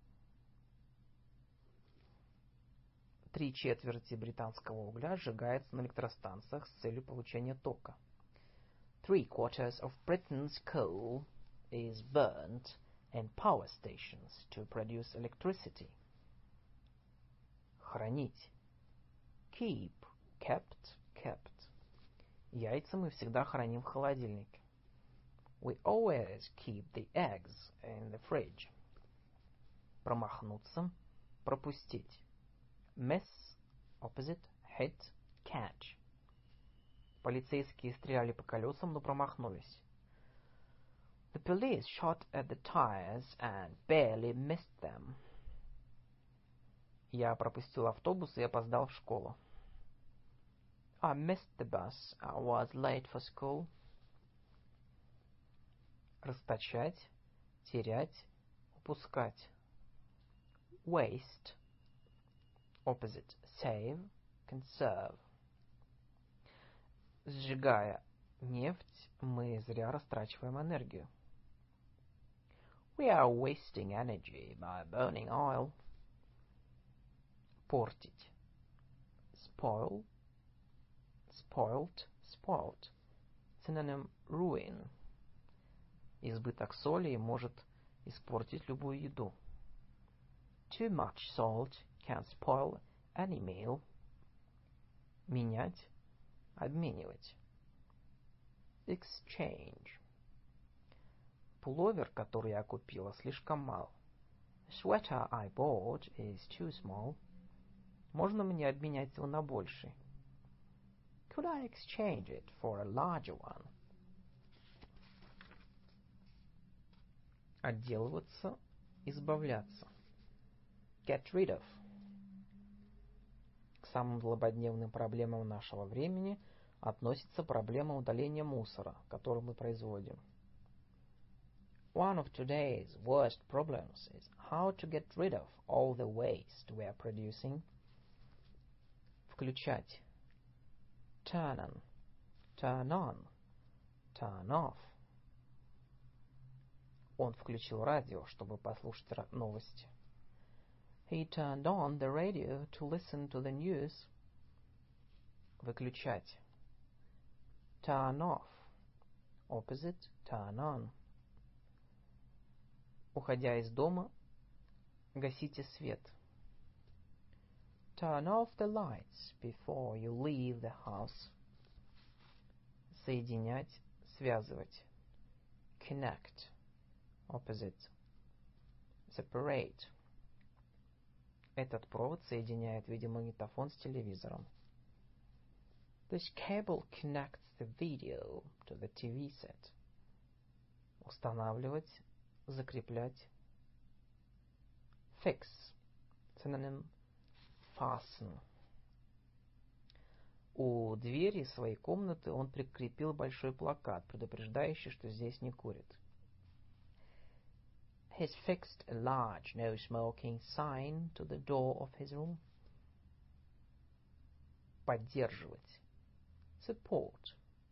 3/4 британского угля сжигается на электростанциях с целью получения тока. 3/4 of Britain's coal is burnt in power stations to produce electricity. Хранить. Keep, kept, kept. Яйца мы всегда храним в холодильнике. We always keep the eggs in the fridge. Промахнуться, пропустить. Miss, opposite, hit, catch. Полицейские стреляли по колесам, но промахнулись. The police shot at the tires and barely missed them. Я пропустил автобус и опоздал в школу. I missed the bus. I was late for school. Расточать, терять, упускать. Waste. Opposite. Save, conserve. Сжигая нефть, мы зря растрачиваем энергию. We are wasting energy by burning oil. Портить. Spoil, spoilt, spoilt. Synonym ruin. Избыток соли может испортить любую еду. Too much salt can spoil any meal. Менять, обменивать. Exchange. Пуловер, который я купила, слишком мал. The sweater I bought is too small. Можно мне обменять его на больший? Could I exchange it for a larger one? Отделываться, избавляться. Get rid of. К самым злободневным проблемам нашего времени относится проблема удаления мусора, который мы производим. One of today's worst problems is how to get rid of all the waste we are producing. Включать. Turn on, turn on, turn off. Он включил радио, чтобы послушать новости. He turned on the radio to listen to the news. Выключать. Turn off. Opposite, turn on. Уходя из дома, гасите свет. Turn off the lights before you leave the house. Соединять, связывать. Connect. Opposite. Separate. Этот провод соединяет видеомагнитофон с телевизором. This cable connects the video to the TV set. Устанавливать, закреплять. Fix. Synonym fasten. У двери своей комнаты он прикрепил большой плакат, предупреждающий, что здесь не курят. He's fixed a large no smoking sign to the door of his room. Поддерживать. Support.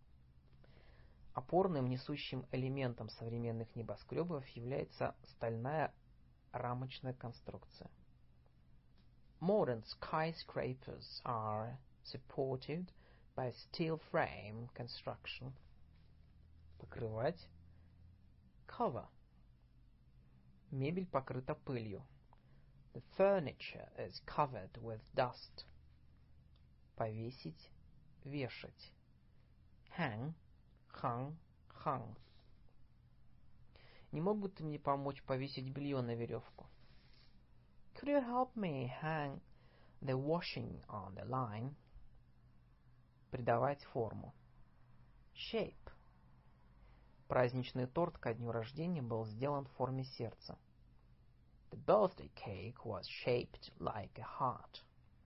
Опорным несущим элементом современных небоскребов является стальная рамочная конструкция. Modern skyscrapers are supported by steel frame construction. Покрывать. Cover. Мебель покрыта пылью. The furniture is covered with dust. Повесить, вешать. Hang, hung, hung. Не мог бы ты мне помочь повесить белье на веревку? Could you help me hang the washing on the line? Придавать форму. Shape. Праздничный торт ко дню рождения был сделан в форме сердца. The birthday cake was shaped like a heart.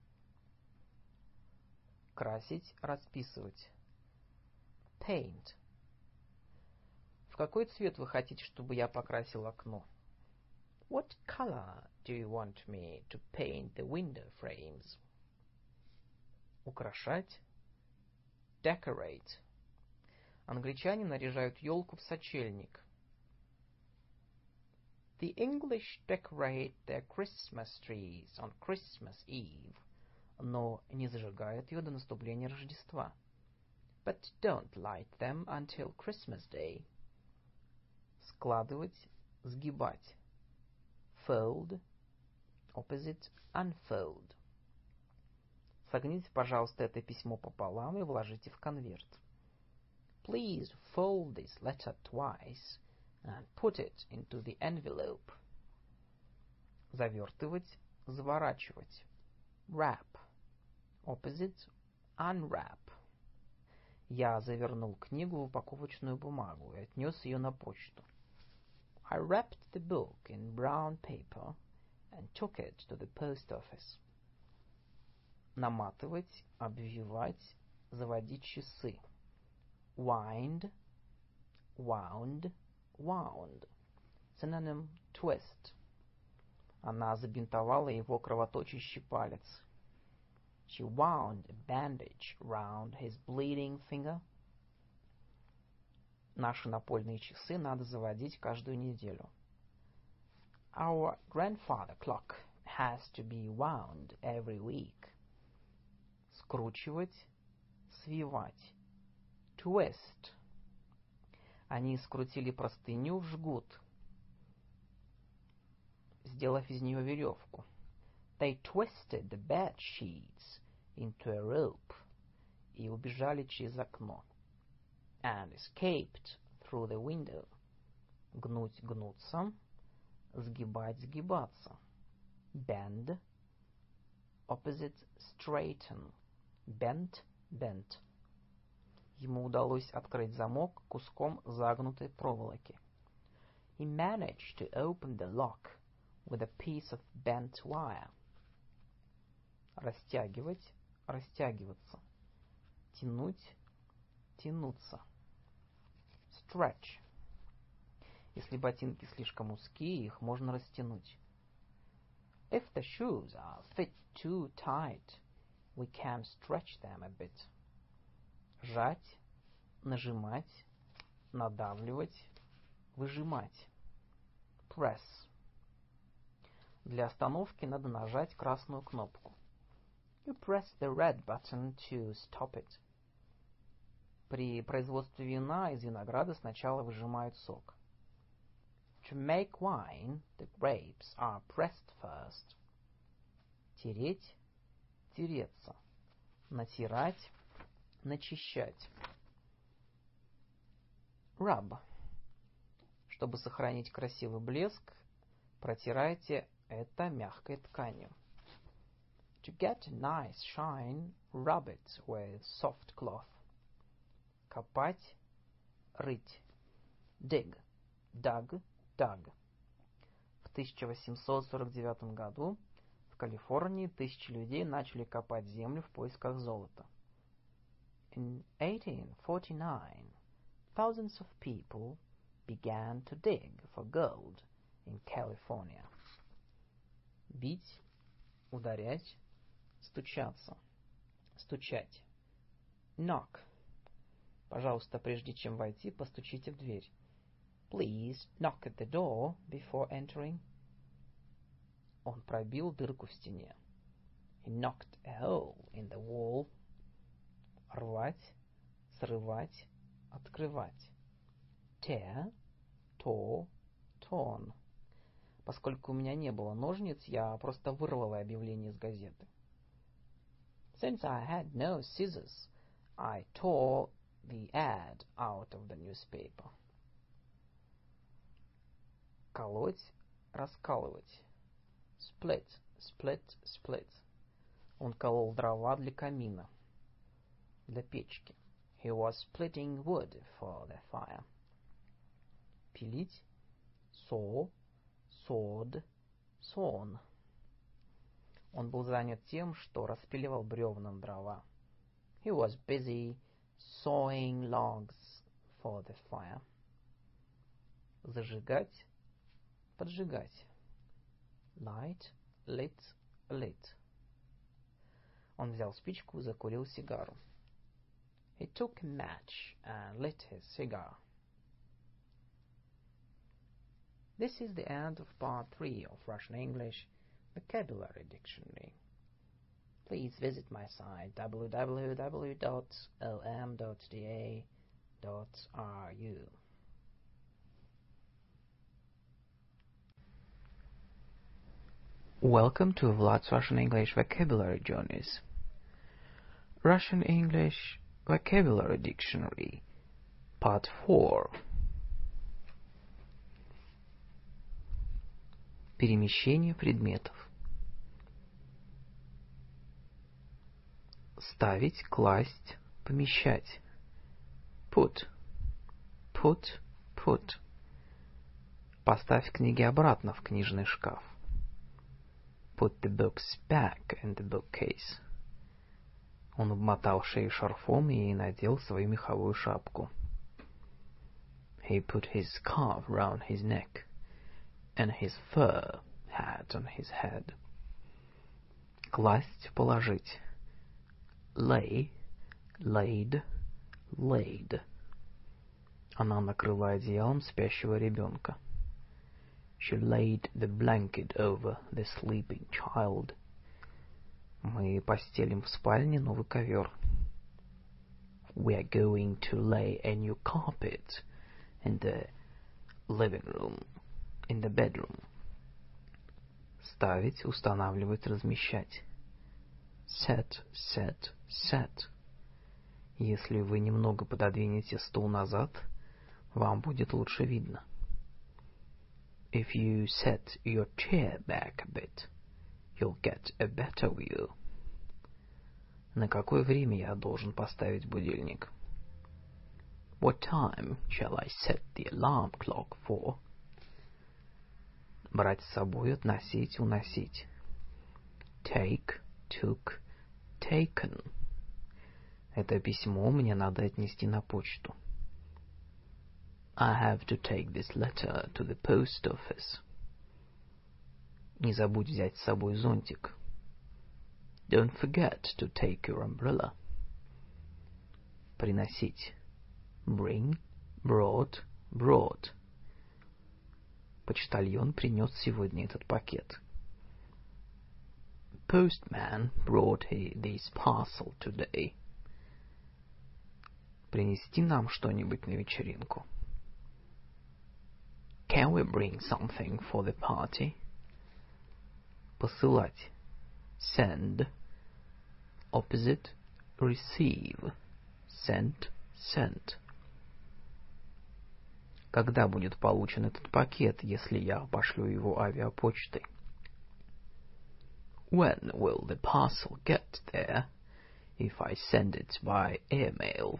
Красить, расписывать. Paint. В какой цвет вы хотите, чтобы я покрасил окно? What color do you want me to paint the window frames? Украшать. Decorate. Англичане наряжают елку в сочельник. The English decorate their Christmas trees on Christmas Eve, но не зажигают ее до наступления Рождества. But don't light them until Christmas Day. Складывать, сгибать. Fold, opposite unfold. Согните, пожалуйста, это письмо пополам и вложите в конверт. Please fold this letter twice and put it into the envelope. Завертывать, заворачивать. Wrap, opposite unwrap. Я завернул книгу в упаковочную бумагу и отнес ее на почту. I wrapped the book in brown paper and took it to the post office. Наматывать, обвивать, заводить часы. Wind, wound, wound. Synonym twist. Она забинтовала его кровоточащий палец. She wound a bandage round his bleeding finger. Наши напольные часы надо заводить каждую неделю. Our grandfather clock has to be wound every week. Скручивать, свивать. Twist. Они скрутили простыню в жгут, сделав из нее веревку. They twisted the bed sheets into a rope и убежали через окно. And escaped through the window. Гнуть, гнуться, сгибать, сгибаться. Bend, opposite straighten. Bent, bent. Ему удалось открыть замок куском загнутой проволоки. He managed to open the lock with a piece of bent wire. Растягивать, растягиваться. Тянуть, тянуться. Stretch. Если ботинки слишком узкие, их можно растянуть. If the shoes are fit too tight, we can stretch them a bit. Жать, нажимать, надавливать, выжимать. Press. Для остановки надо нажать красную кнопку. You press the red button to stop it. При производстве вина из винограда сначала выжимают сок. To make wine, the grapes are pressed first. Тереть, тереться. Натирать, начищать. Rub. Чтобы сохранить красивый блеск, протирайте это мягкой тканью. To get a nice shine, rub it with soft cloth. Копать, рыть. Dig, dug, dug. В 1849 году в Калифорнии тысячи людей начали копать землю в поисках золота. In 1849, thousands of people began to dig for gold in California. Бить, ударять, стучаться, стучать. Knock. Пожалуйста, прежде чем войти, постучите в дверь. Please knock at the door before entering. Он пробил дырку в стене. He knocked a hole in the wall. Рвать, срывать, открывать. Tear, tore, torn. Поскольку у меня не было ножниц, я просто вырвала объявление из газеты. Since I had no scissors, I tore the ad out of the newspaper. Колоть, раскалывать. Split, split, split. Он колол дрова для камина, для печки. He was splitting wood for the fire. Пилить, saw, sawed, sawn. Он был занят тем, что распиливал бревнам дрова. He was busy sawing logs for the fire. Зажигать, поджигать. Light, lit, lit. Он взял спичку и закурил сигару. He took a match and lit his cigar. This is the end of part 3 of Russian English Vocabulary Dictionary. Please visit my site www.lm.da.ru. Welcome to Vlad's Russian English Vocabulary Journeys. Russian English Vocabulary Dictionary, Part 4. Перемещение предметов. Ставить, класть, помещать. Put, put, put. Поставь книги обратно в книжный шкаф. Put the books back in the bookcase. Он обмотал шею шарфом и надел свою меховую шапку. He put his scarf round his neck and his fur hat on his head. Класть, положить. Lay, laid, laid. Она накрыла одеялом спящего ребенка. She laid the blanket over the sleeping child. Мы постелим в спальне новый ковер. We are going to lay a new carpet in the living room, in the bedroom. Ставить, устанавливать, размещать. Set, set, set. Если вы немного пододвинете стул назад, вам будет лучше видно. If you set your chair back a bit, you'll get a better view. На какое время я должен поставить будильник? What time shall I set the alarm clock for? Брать с собой, относить, уносить. Take, took, taken. Это письмо мне надо отнести на почту. I have to take this letter to the post office. Не забудь взять с собой зонтик. Don't forget to take your umbrella. Приносить. Bring, brought, brought. Почтальон принес сегодня этот пакет. Postman brought this parcel today. Принести нам что-нибудь на вечеринку. Can we bring something for the party? Посылать. Send. Opposite. Receive. Sent. Sent. Когда будет получен этот пакет, если я пошлю его авиапочтой? When will the parcel get there if I send it by airmail?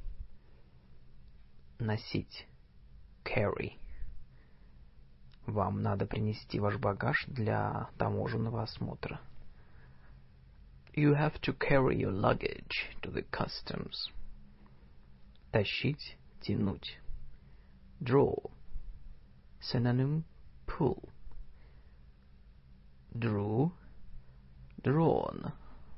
Носить. Carry. Вам надо принести ваш багаж для таможенного осмотра. You have to carry your luggage to the customs. Тащить, тянуть. Draw. Synonym, pull. Drew, drawn.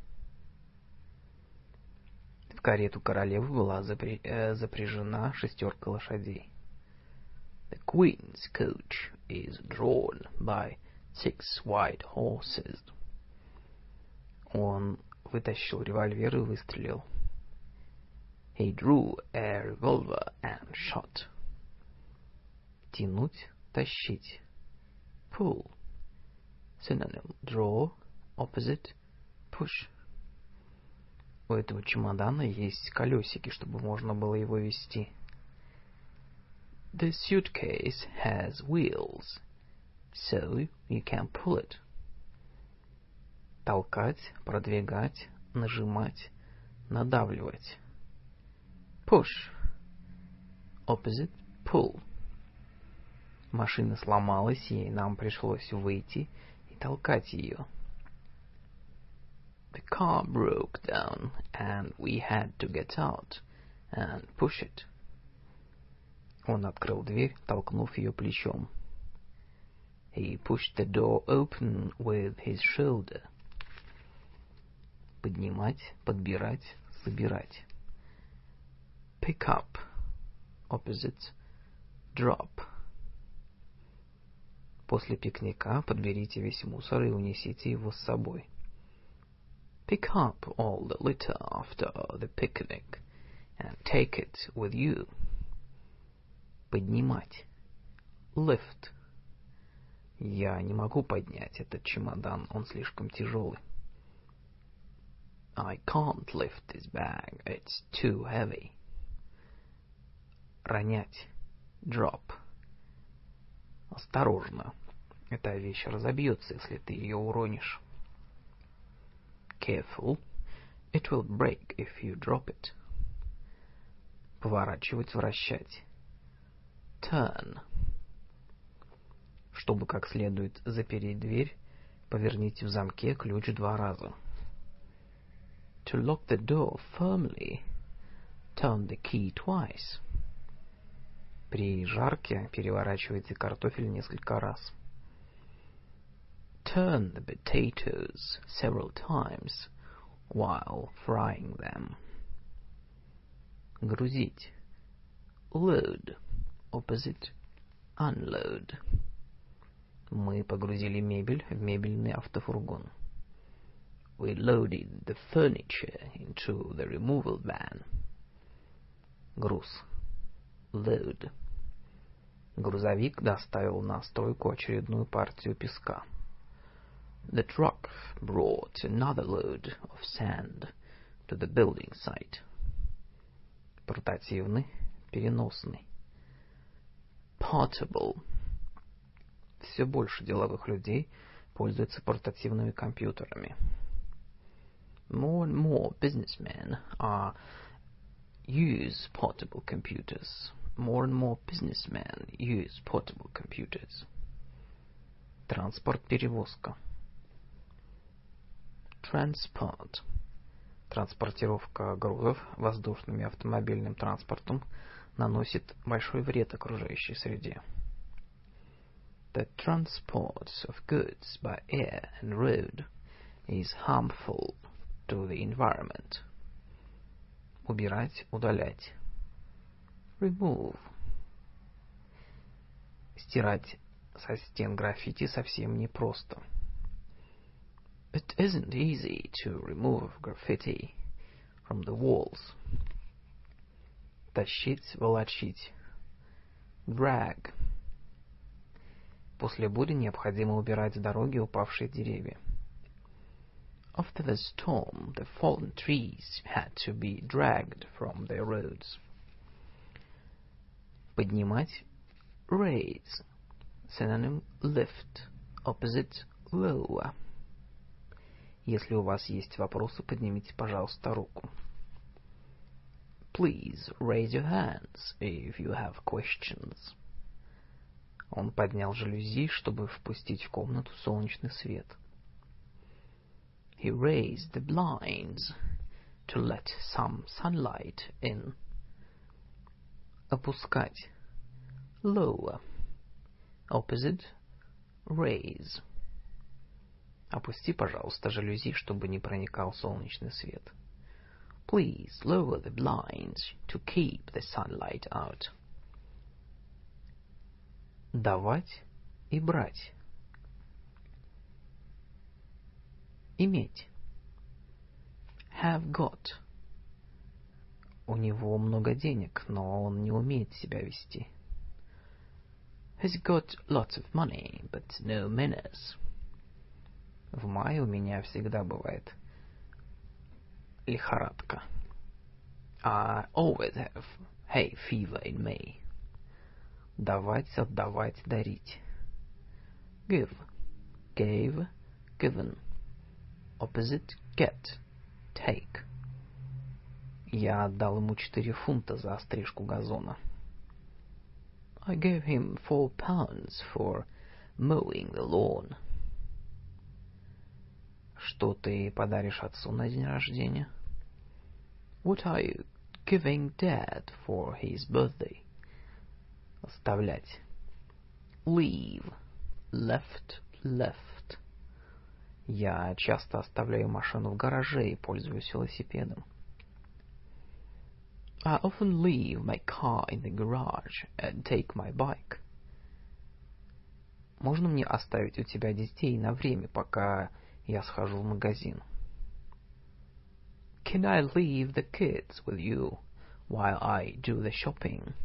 В карету королевы была запряжена 6 лошадей. The queen's coach is drawn by 6 white horses. Он вытащил револьвер и выстрелил. He drew a revolver and shot. Тянуть, тащить. Pull. Synonym: draw, opposite, push. У этого чемодана есть колесики, чтобы можно было его везти. The suitcase has wheels, so you can pull it. Толкать, продвигать, нажимать, надавливать. Push. Opposite, pull. Машина сломалась, и нам пришлось выйти и толкать ее. The car broke down, and we had to get out and push it. Он открыл дверь, толкнув ее плечом. He pushed the door open with his shoulder. Поднимать, подбирать, собирать. Pick up. Opposite, drop. После пикника подберите весь мусор и унесите его с собой. Pick up all the litter after the picnic and take it with you. Поднимать. Lift. Я не могу поднять этот чемодан, он слишком тяжелый. I can't lift this bag, it's too heavy. Ронять. Drop. Осторожно. Эта вещь разобьется, если ты ее уронишь. Careful. It will break if you drop it. Поворачивать, вращать. Turn. Чтобы как следует запереть дверь, поверните в замке ключ 2 раза. To lock the door firmly, turn the key twice. При жарке переворачивайте картофель несколько раз. Turn the potatoes several times while frying them. Грузить. Load. Opposite, unload. Мы погрузили мебель в мебельный автофургон. We loaded the furniture into the removal van. Груз. Load. Грузовик доставил на стройку очередную партию песка. The truck brought another load of sand to the building site. Портативный, переносный. Portable. Все больше деловых людей пользуются портативными компьютерами. More and more businessmen use portable computers. More and more businessmen use portable computers. Транспорт, перевозка. Transport. Транспортировка грузов воздушным и автомобильным транспортом наносит большой вред окружающей среде. The transport of goods by air and road is harmful to the environment. Убирать, удалять. Remove. Стирать со стен граффити совсем непросто. It isn't easy to remove graffiti from the walls. Тащить, волочить. Drag. После бури необходимо убирать с дороги упавшие деревья. After the storm, the fallen trees had to be dragged from their roads. Поднимать. Raise. Synonym: lift. Opposite: lower. Если у вас есть вопросы, поднимите, пожалуйста, руку. Please raise your hands if you have questions. Он поднял жалюзи, чтобы впустить в комнату солнечный свет. He raised the blinds to let some sunlight in. Опускать. Lower. Opposite: Raise. Опусти, пожалуйста, жалюзи, чтобы не проникал солнечный свет. Please lower the blinds to keep the sunlight out. Давать и брать. Иметь. Have got. У него много денег, но он не умеет себя вести. He's got lots of money, but no manners. В мае у меня всегда бывает лихорадка. I always have hay fever in May. Давать, отдавать, дарить. Give, gave, given. Opposite, get, take. Я отдал ему 4 фунта за стрижку газона. I gave him £4 for mowing the lawn. Что ты подаришь отцу на день рождения? What are you giving Dad for his birthday? Оставлять. Leave, left, left. Я часто оставляю машину в гараже и пользуюсь велосипедом. I often leave my car in the garage and take my bike. Можно мне оставить у тебя детей на время, пока я схожу в магазин? Can I leave the kids with you while I do the shopping?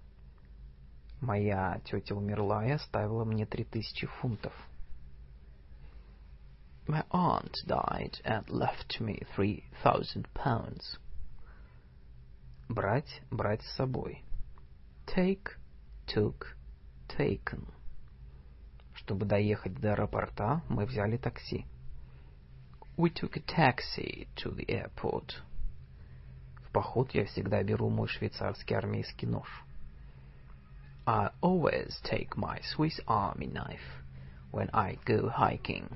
Моя тетя умерла и оставила мне 3000 фунтов. My aunt died and left me £3,000. Брать, брать с собой. Take, took, taken. Чтобы доехать до аэропорта, мы взяли такси. We took a taxi to the airport. В поход я всегда беру мой швейцарский армейский нож. I always take my Swiss Army knife when I go hiking.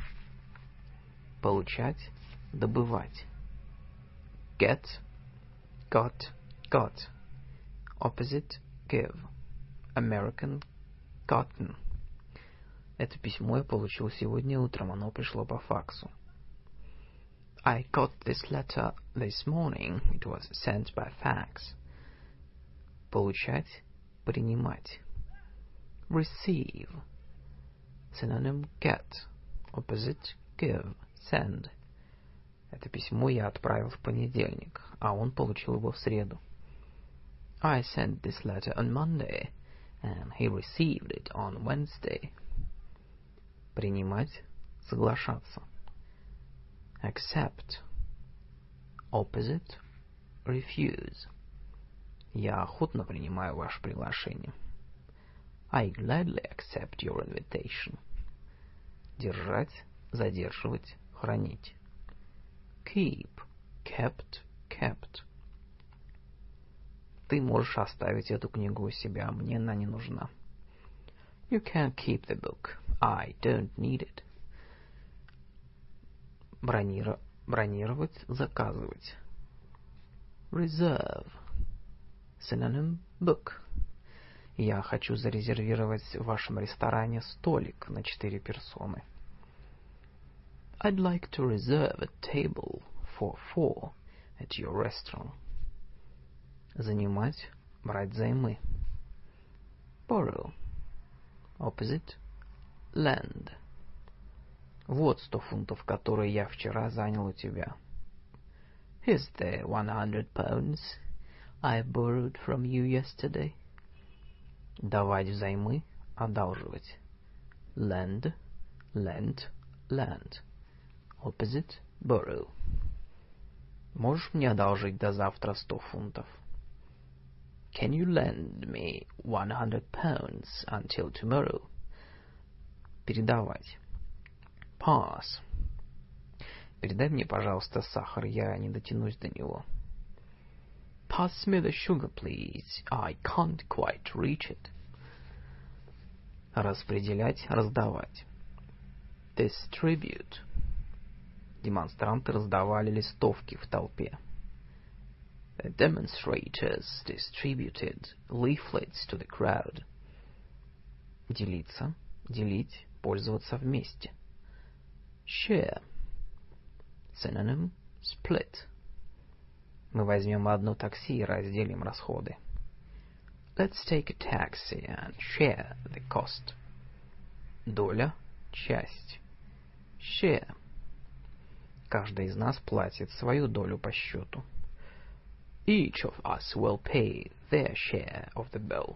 Получать, добывать. Get, Got, got. Opposite, give. American, gotten. Это письмо я получил сегодня утром, оно пришло по факсу. I got this letter this morning. It was sent by fax. Получать, принимать. Receive. Synonym get. Opposite, give. Send. Это письмо я отправил в понедельник, а он получил его в среду. I sent this letter on Monday, and he received it on Wednesday. Принимать, соглашаться. Accept. Opposite, refuse. Я охотно принимаю ваше приглашение. I gladly accept your invitation. Держать, задерживать, хранить. Keep, kept, kept. Ты можешь оставить эту книгу у себя, мне она не нужна. You can keep the book. I don't need it. Бронировать, заказывать. Reserve. Synonym book. Я хочу зарезервировать в вашем ресторане столик на 4 персоны. I'd like to reserve a table for 4 at your restaurant. Занимать, брать займы. Borrow. Opposite, lend. Вот 100 фунтов, которые я вчера занял у тебя. Here's the £100 I borrowed from you yesterday. Давать взаймы, одалживать. Lend, lent, lend. Opposite, borrow. Можешь мне одолжить до завтра 100 фунтов? Can you lend me £100 until tomorrow? Передавать. Pass. Передай мне, пожалуйста, сахар, я не дотянусь до него. Pass me the sugar, please. I can't quite reach it. Распределять, раздавать. Distribute. Демонстранты раздавали листовки в толпе. The demonstrators distributed leaflets to the crowd. Делиться, делить, пользоваться вместе. Share. Synonym split. Мы возьмем одно такси и разделим расходы. Let's take a taxi and share the cost. Доля, часть. Share. Каждый из нас платит свою долю по счету. Each of us will pay their share of the bill.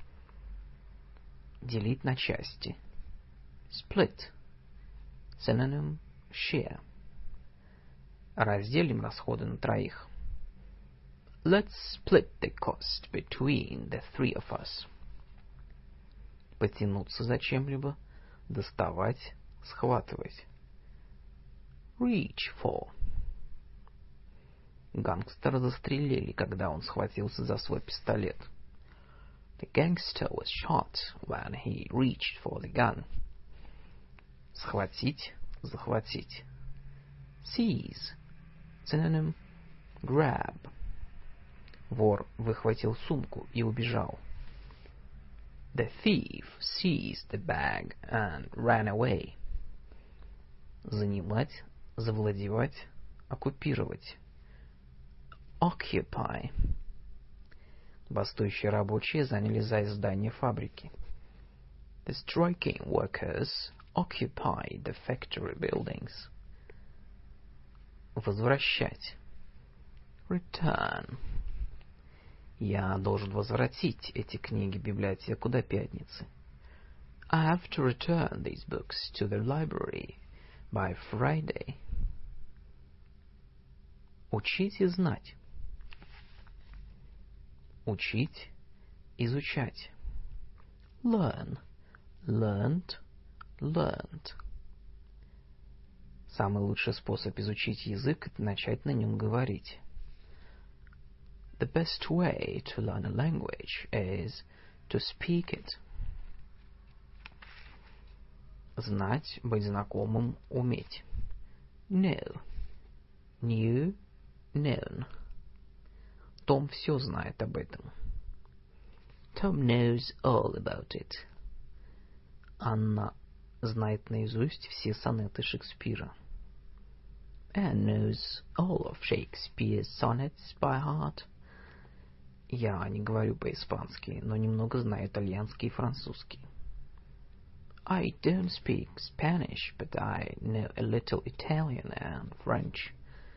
Делить на части. Split. Synonym share. Разделим расходы на троих. Let's split the cost between the three of us. Потянуться за чем-либо, доставать, схватывать. Reach for. Гангстера застрелили, когда он схватился за свой пистолет. The gangster was shot when he reached for the gun. Схватить, захватить. Seize. Synonym grab. Вор выхватил сумку и убежал. The thief seized the bag and ran away. Занимать, завладевать, оккупировать. Occupy. Бастующие рабочие занялись за здание фабрики. The striking workers occupied the factory buildings. Возвращать. Return. Я должен возвратить эти книги в библиотеку до пятницы. I have to return these books to the library by Friday. Учить и знать. Учить, изучать. Learn, learned, learned. Самый лучший способ изучить язык — это начать на нем говорить. The best way to learn a language is to speak it. Знать, быть знакомым, уметь. Know. Knew, known. Том все знает об этом. Tom knows all about it. Анна знает наизусть все сонеты Шекспира. Anne knows all of Shakespeare's sonnets by heart. Я не говорю по-испански, но немного знаю итальянский и французский. I don't speak Spanish, but I know a little Italian and French.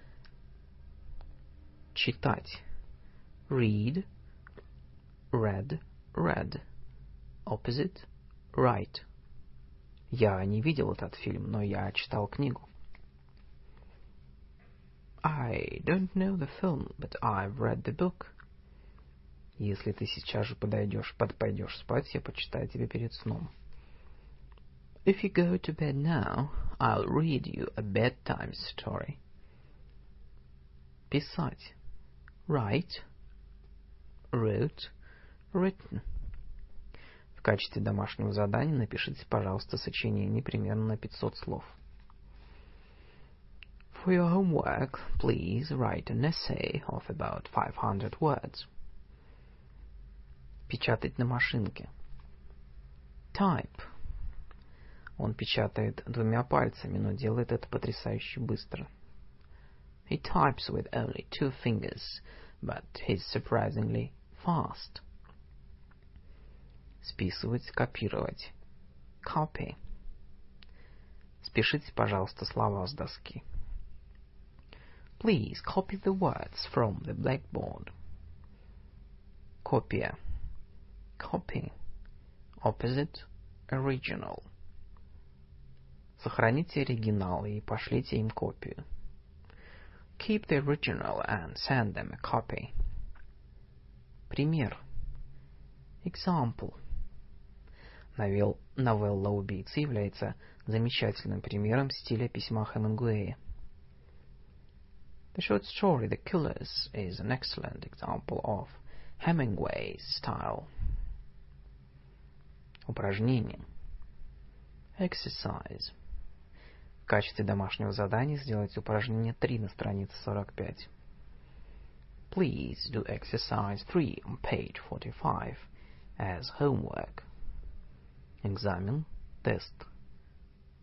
Читать. Read, read, read. Opposite, write. Я не видел этот фильм, но я читал книгу. I don't know the film, but I've read the book. Если ты сейчас же пойдешь спать, я почитаю тебе перед сном. If you go to bed now, I'll read you a bedtime story. Писать. Write, wrote, written. В качестве домашнего задания напишите, пожалуйста, сочинение примерно на 500 слов. For your homework, please write an essay of about 500 words. Печатать на машинке. Type. Он печатает двумя пальцами, но делает это потрясающе быстро. He types with only 2 fingers, but he's surprisingly fast. Списывать, копировать. Copy. Спишите, пожалуйста, слова с доски. Please copy the words from the blackboard. Копия. Copy. Opposite, original. Сохраните оригинал и пошлите им копию. Keep the original and send them a copy. Пример. Example. Новелла «Убийца» является замечательным примером стиля письма Хемингуэя. The short story The Killers is an excellent example of Hemingway's style. Упражнение. Exercise. В качестве домашнего задания сделайте упражнение 3 на странице 45. Please do exercise 3 on page 45 as homework. Экзамен, тест.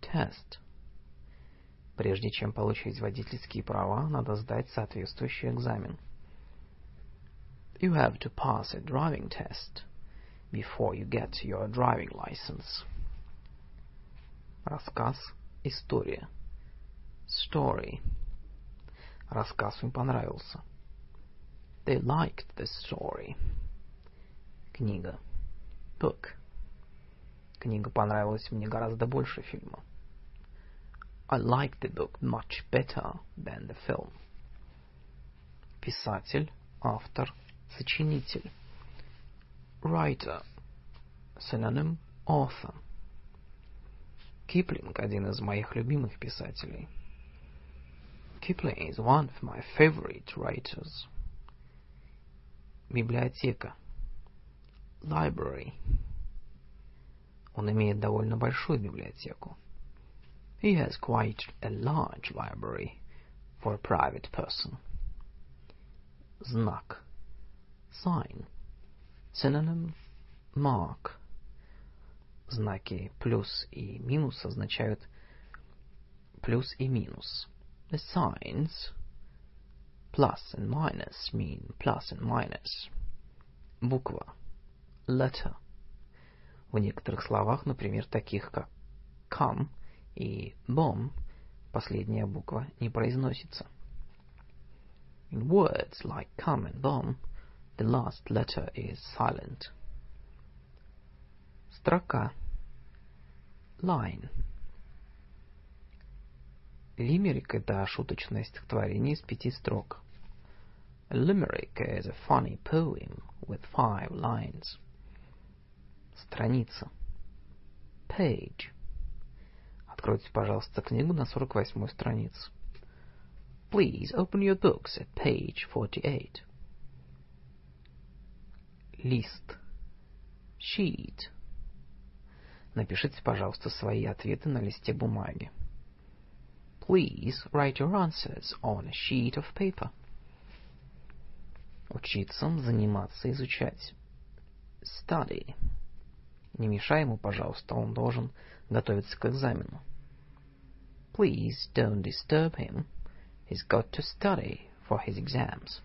test. Прежде чем получить водительские права, надо сдать соответствующий экзамен. You have to pass a driving test before you get your driving license. Рассказ, история. Story. Рассказ им понравился. They liked the story. Книга. Book. Книга понравилась мне гораздо больше фильма. I liked the book much better than the film. Писатель, автор, сочинитель. Writer. Synonym, author. Киплинг — один из моих любимых писателей. Kipling is one of my favorite writers. Библиотека. Library. Он имеет довольно большую библиотеку. He has quite a large library for a private person. Знак. Sign. Synonym, mark. Знаки плюс и минус означают плюс и минус. The signs plus and minus mean plus and minus. Буква. Letter. В некоторых словах, например, таких как come и bomb, последняя буква не произносится. In words like come and bomb, the last letter is silent. Строка. Line. Лимерик — это шуточное стихотворение из 5 строк. A limerick is a funny poem with 5 lines. Страница. Page. Откройте, пожалуйста, книгу на 48-й странице. Please open your books at page 48. Лист. Sheet. Напишите, пожалуйста, свои ответы на листе бумаги. Please write your answers on a sheet of paper. Учиться, заниматься, изучать. Study. Не мешай ему, пожалуйста, он должен готовиться к экзамену. Please don't disturb him. He's got to study for his exams.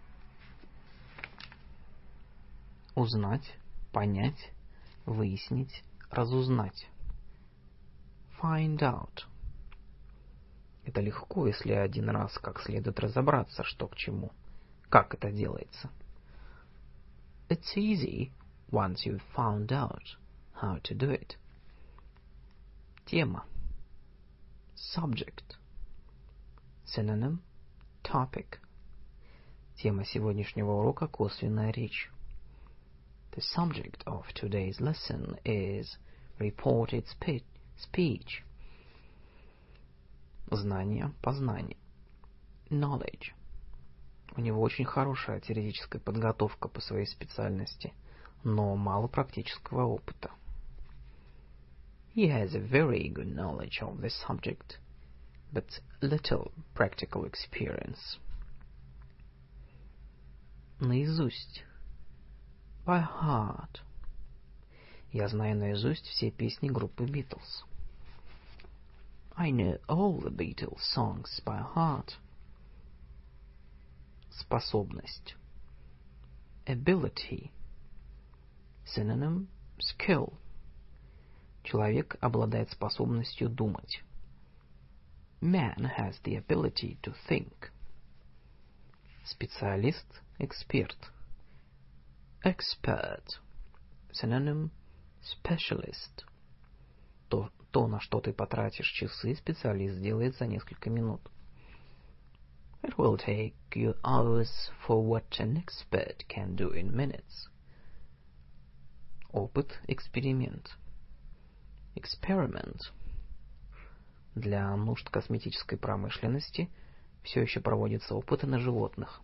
Узнать, понять, выяснить, разузнать. Find out. Это легко, если один раз как следует разобраться, что к чему, как это делается. It's easy once you've found out how to do it. Тема. Subject. Synonym, topic. Тема сегодняшнего урока — косвенная речь. The subject of today's lesson is reported speech. Знание, познание. Knowledge. У него очень хорошая теоретическая подготовка по своей специальности, но мало практического опыта. He has a very good knowledge of the subject, but little practical experience. Наизусть. By heart. Я знаю наизусть все песни группы Beatles. I know all the Beatles songs by heart. Способность. Ability. Synonym, skill. Человек обладает способностью думать. Man has the ability to think. Специалист, эксперт. Expert. Synonym, specialist. То, на что ты потратишь часы, специалист сделает за несколько минут. It will take you hours for what an expert can do in minutes. Опыт, эксперимент. Experiment. Для нужд косметической промышленности все еще проводятся опыты на животных.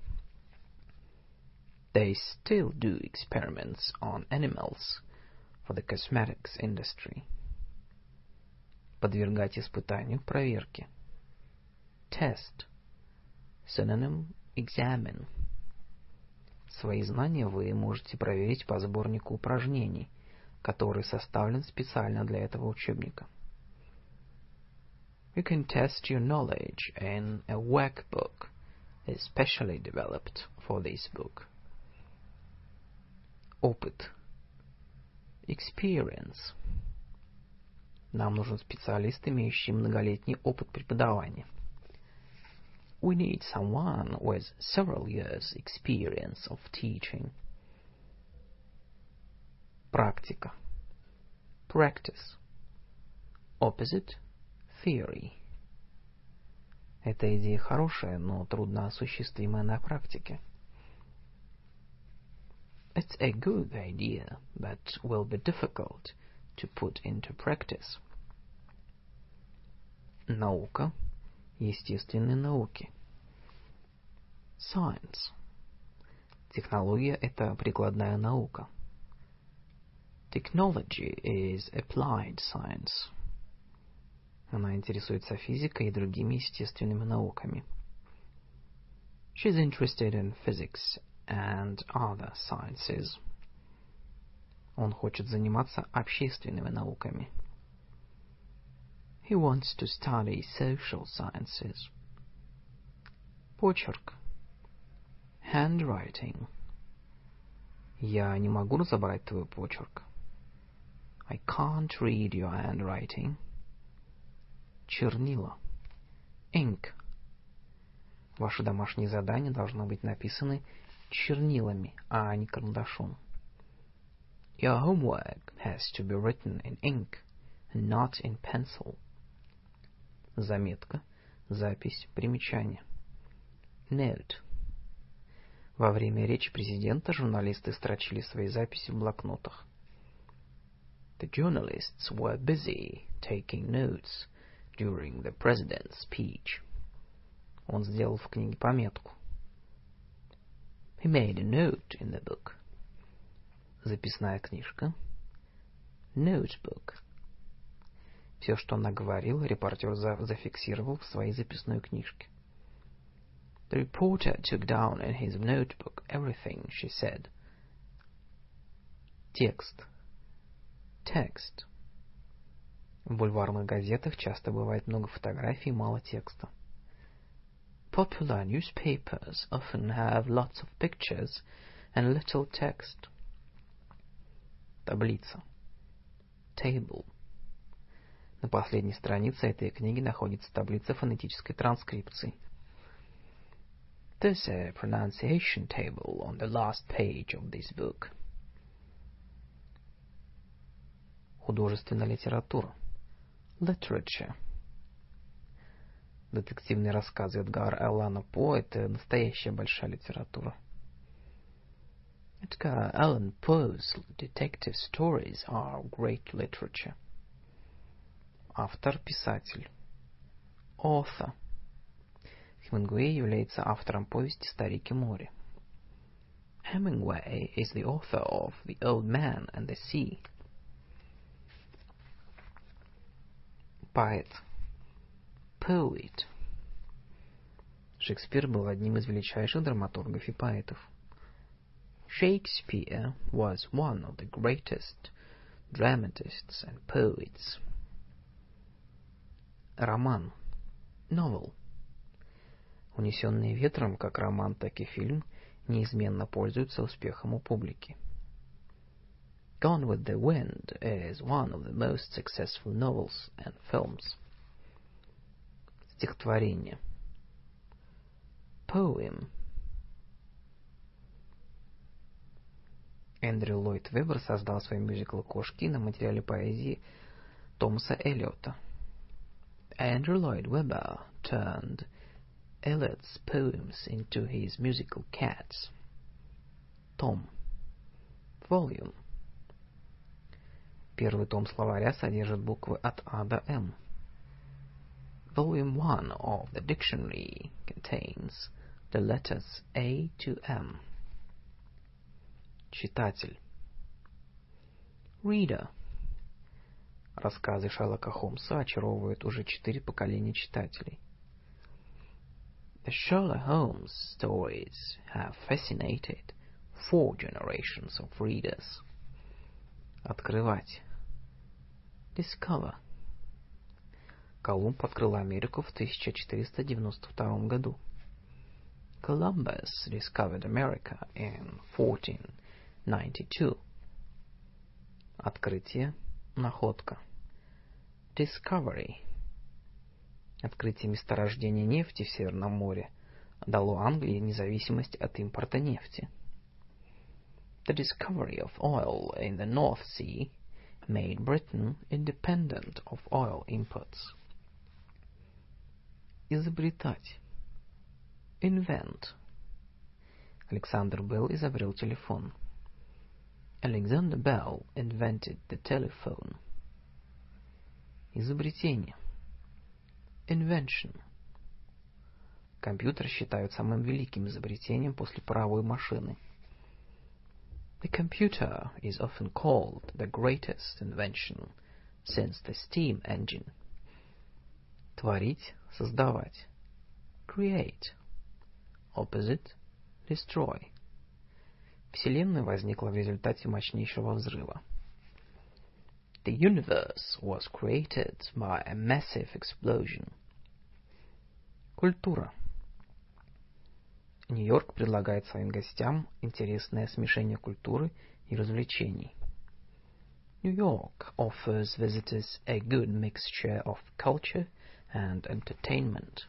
They still do experiments on animals for the cosmetics industry. Подвергать испытанию, проверке. Test. Synonym, examine. Свои знания вы можете проверить по сборнику упражнений, который составлен специально для этого учебника. You can test your knowledge in a workbook especially developed for this book. Опыт. Experience. Нам нужен специалист, имеющий многолетний опыт преподавания. We need someone with several years' experience of teaching. Практика. Practice. Opposite. Theory. Эта идея хорошая, но трудно осуществимая на практике. It's a good idea, but will be difficult to put into practice. Наука. Естественные науки. Science. Технология – это прикладная наука. Technology is applied science. Она интересуется физикой и другими естественными науками. She's interested in physics and other sciences. Он хочет заниматься общественными науками. He wants to study social sciences. Почерк. Handwriting. Я не могу разобрать твой почерк. I can't read your handwriting. Чернила. Ink. Ваши домашние задания должны быть написаны чернилами, а не карандашом. Your homework has to be written in ink and not in pencil. Заметка, запись, примечание. Note. Во время речи президента журналисты строчили свои записи в блокнотах. The journalists were busy taking notes during the president's speech. Он сделал в книге пометку. He made a note in the book. Записная книжка. Notebook. Все, что она говорила, репортер зафиксировал в своей записной книжке. The reporter took down in his notebook everything she said. Текст. Text. В бульварных газетах часто бывает много фотографий и мало текста. Popular newspapers often have lots of pictures and little text. Таблица. Table. На последней странице этой книги находится таблица фонетической транскрипции. There's a pronunciation table on the last page of this book. Художественная литература. Literature. Детективные рассказы Эдгара Аллана По – это настоящая большая литература. Edgar Allan Poe's detective stories are great literature. Автор, писатель. Author. Хемингуэй является автором повести «Старик и море». Hemingway is the author of The Old Man and the Sea. Поэт. Poet. Шекспир был одним из величайших драматургов и поэтов. Shakespeare was one of the greatest dramatists and poets. Роман. Novel. «Унесенные ветром», как роман, так и фильм, неизменно пользуются успехом у публики. Gone with the Wind is one of the most successful novels and films. Стихотворение. Poem. Эндрю Ллойд Веббер создал свой мюзикл «Кошки» на материале поэзии Томаса Эллиота. Andrew Lloyd Webber turned Eliot's poems into his musical Cats. Том. Volume. Первый том словаря содержит буквы от А до М. Volume 1 of the dictionary contains the letters A to M. Читатель. Reader. Рассказы Шерлока Холмса очаровывают уже 4 поколения читателей. The Sherlock Holmes stories have fascinated 4 generations of readers. Открывать. Discover. Колумб открыл Америку в 1492 году. Columbus discovered America in 1492. Открытие, находка. Discovery. Открытие месторождения нефти в Северном море дало Англии независимость от импорта нефти. The discovery of oil in the North Sea made Britain independent of oil imports. Изобретать. Invent. Александр Белл изобрел телефон. Alexander Bell invented the telephone. Изобретение. Invention. Компьютер считают самым великим изобретением после паровой машины. The computer is often called the greatest invention since the steam engine. Творить, создавать. Create. Opposite, destroy. Вселенная возникла в результате мощнейшего взрыва. The universe was created by a massive explosion. Культура. Нью-Йорк предлагает своим гостям интересное смешение культуры и развлечений. New York offers visitors a good mixture of culture and entertainment.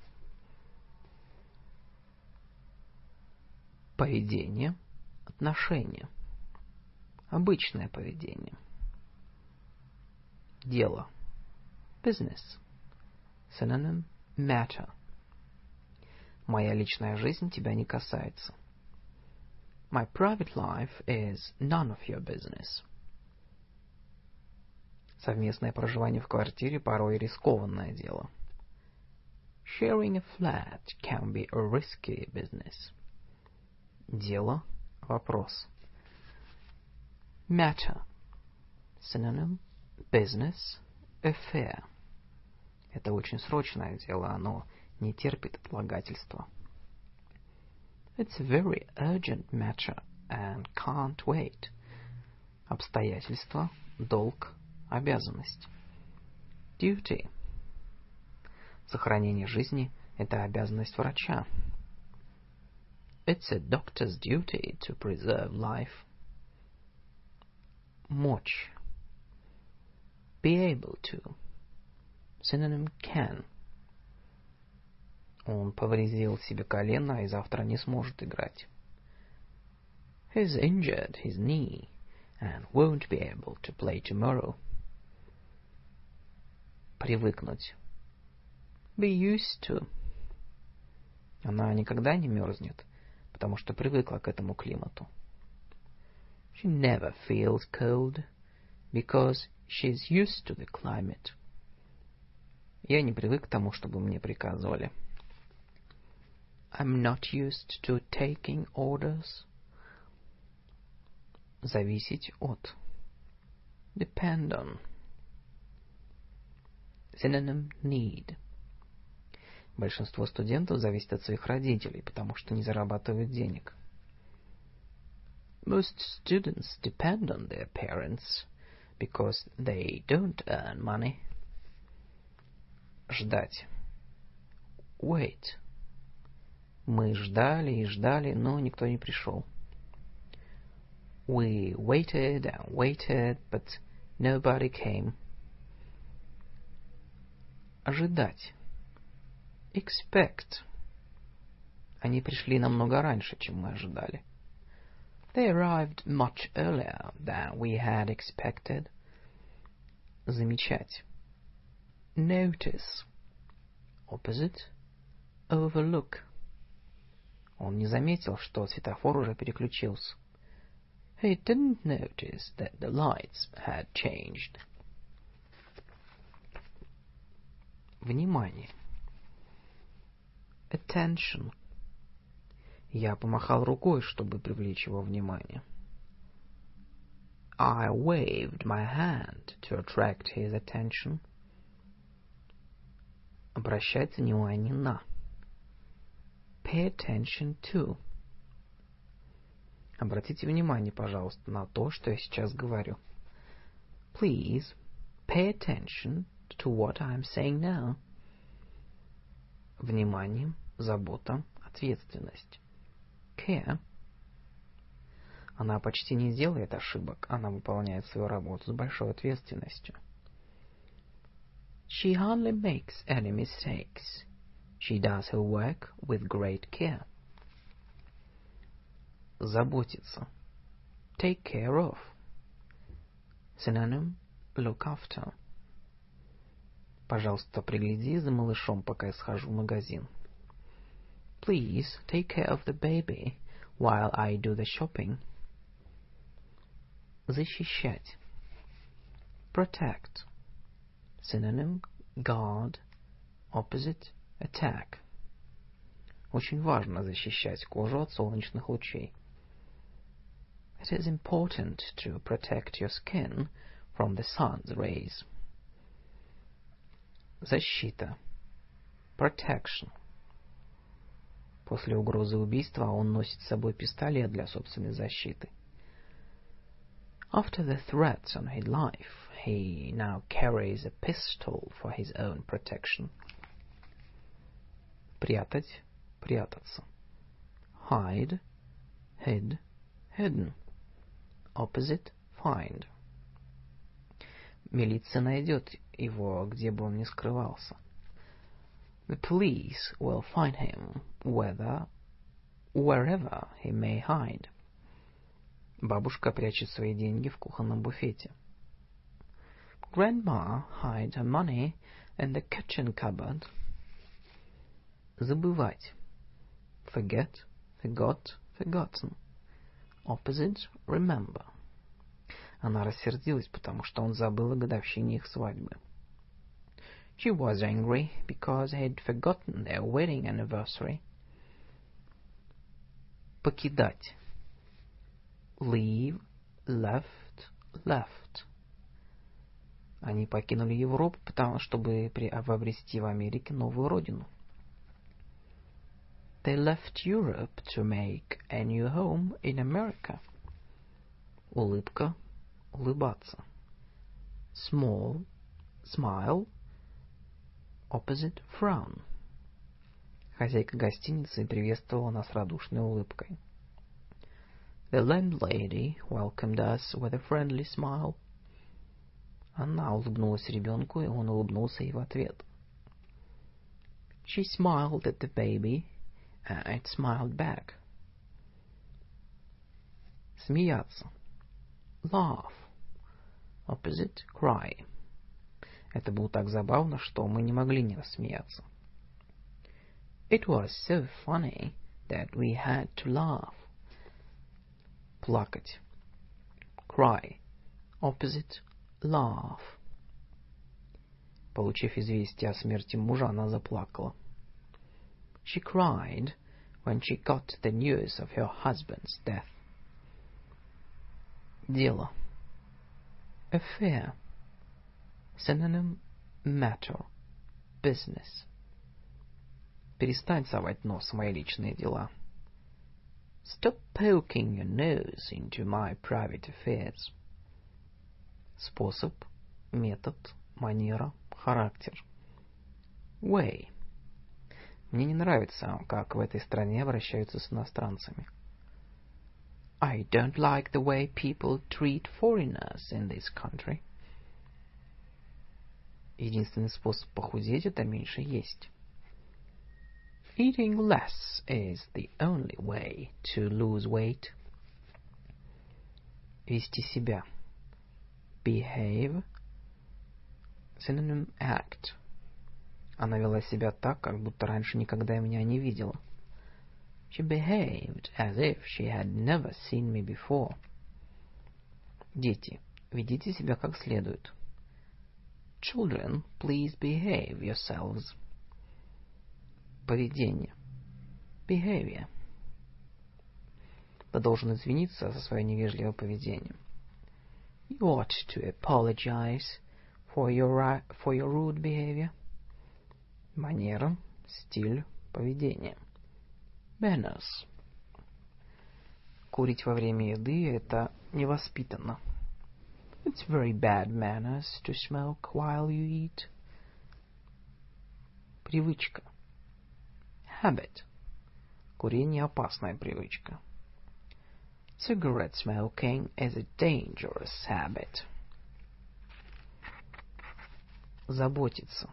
Поведение, отношение. Обычное поведение. Дело. Business. Synonym, matter. Моя личная жизнь тебя не касается. My private life is none of your business. Совместное проживание в квартире порой рискованное дело. Sharing a flat can be a risky business. Дело, вопрос. Matter. Synonym, business, affair. Это очень срочное дело, оно не терпит отлагательства. It's a very urgent matter and can't wait. Обстоятельства, долг, обязанность. Duty. Сохранение жизни – это обязанность врача. It's a doctor's duty to preserve life. Мочь. Be able to. Synonym, can. Он повредил себе колено и завтра не сможет играть. He's injured his knee and won't be able to play tomorrow. Привыкнуть. Be used to. Она никогда не мерзнет, потому что привыкла к этому климату. She never feels cold because she's used to the climate. Я не привык к тому, чтобы мне приказывали. I'm not used to taking orders. Зависеть от. Depend on. Synonym, need. Большинство студентов зависит от своих родителей, потому что не зарабатывают денег. Most students depend on their parents because they don't earn money. Ждать. Wait. Мы ждали и ждали, но никто не пришел. We waited and waited, but nobody came. Ожидать. Expect. Они пришли намного раньше, чем мы ожидали. They arrived much earlier than we had expected. Замечать. Notice. Opposite, overlook. Он не заметил, что светофор уже переключился. He didn't notice that the lights had changed. Внимание. Attention. Я помахал рукой, чтобы привлечь его внимание. I waved my hand to attract his attention. Обращать внимание на. Pay attention to. Обратите внимание, пожалуйста, на то, что я сейчас говорю. Please pay attention to what I'm saying now. Внимание, забота, ответственность. Care. Она почти не делает ошибок, она выполняет свою работу с большой ответственностью. She hardly makes any mistakes. She does her work with great care. Заботиться. Take care of. Synonym look after. Пожалуйста, пригляди за малышом, пока я схожу в магазин. Please take care of the baby while I do the shopping. Защищать. Protect. Synonym guard, opposite attack. Очень важно защищать кожу от солнечных лучей. It is important to protect your skin from the sun's rays. Защита. Protection. После угрозы убийства он носит с собой пистолет для собственной защиты. After the threats on his life, he now carries a pistol for his own protection. Прятать, прятаться. Hide, hid, hidden. Opposite, find. Милиция найдет его, где бы он ни скрывался. The police will find him wherever he may hide. Бабушка прячет свои деньги в кухонном буфете. Grandma hides her money in the kitchen cupboard. Забывать. Forget, forgot, forgotten. Opposite, remember. Она рассердилась, потому что он забыл о годовщине их свадьбы. She was angry because he'd forgotten their wedding anniversary. Покидать. Leave, left, left. Они покинули Европу, чтобы обрести в Америке новую родину. They left Europe to make a new home in America. Улыбка, улыбаться. Small, smile. Opposite, frown. Хозяйка гостиницы приветствовала нас радушной улыбкой. The landlady welcomed us with a friendly smile. Она улыбнулась ребенку, и он улыбнулся ей в ответ. She smiled at the baby, and it smiled back. Смеяться. Laugh. Opposite, cry. Это было так забавно, что мы не могли не рассмеяться. It was so funny that we had to laugh. Плакать. Cry. Opposite, laugh. Получив известие о смерти мужа, она заплакала. She cried when she got the news of her husband's death. Дело. Affair. Synonym matter, business. Перестань совать нос в мои личные дела. Stop poking your nose into my private affairs. Способ, метод, манера, характер. Way. Мне не нравится, как в этой стране обращаются с иностранцами. I don't like the way people treat foreigners in this country. Единственный способ похудеть — это меньше есть. Eating less is the only way to lose weight. Вести себя. Behave. Synonym act. Она вела себя так, как будто раньше никогда меня не видела. She behaved as if she had never seen me before. Дети, ведите себя как следует. Children, please behave yourselves. Поведение. Behavior. Ты должен извиниться за свое невежливое поведение. You ought to apologize for your rude behavior. Манера, стиль, поведение. Manners. Курить во время еды — это невоспитанно. It's very bad manners to smoke while you eat. Привычка. habit. Курение опасная привычка. Cigarette smoking is a dangerous habit. Заботиться.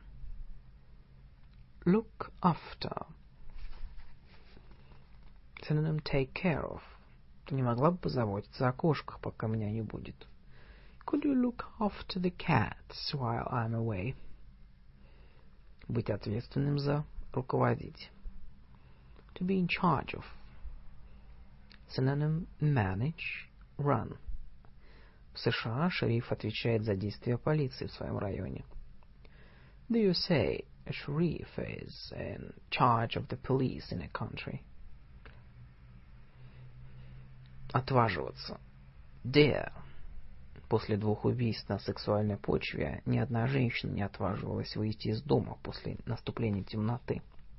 Look after. Synonym take care of. Ты не могла бы позаботиться о кошках, пока меня не будет? Could you look after the cats while I'm away? Быть ответственным за, руководить. To be in charge of. Synonym manage, run. В США шериф отвечает за действия полиции в своем районе. The USA, a sheriff is in charge of the police in a country. Отваживаться. Dare. После 2 убийств на сексуальной почве ни одна женщина не отваживалась выйти из дома после наступления темноты.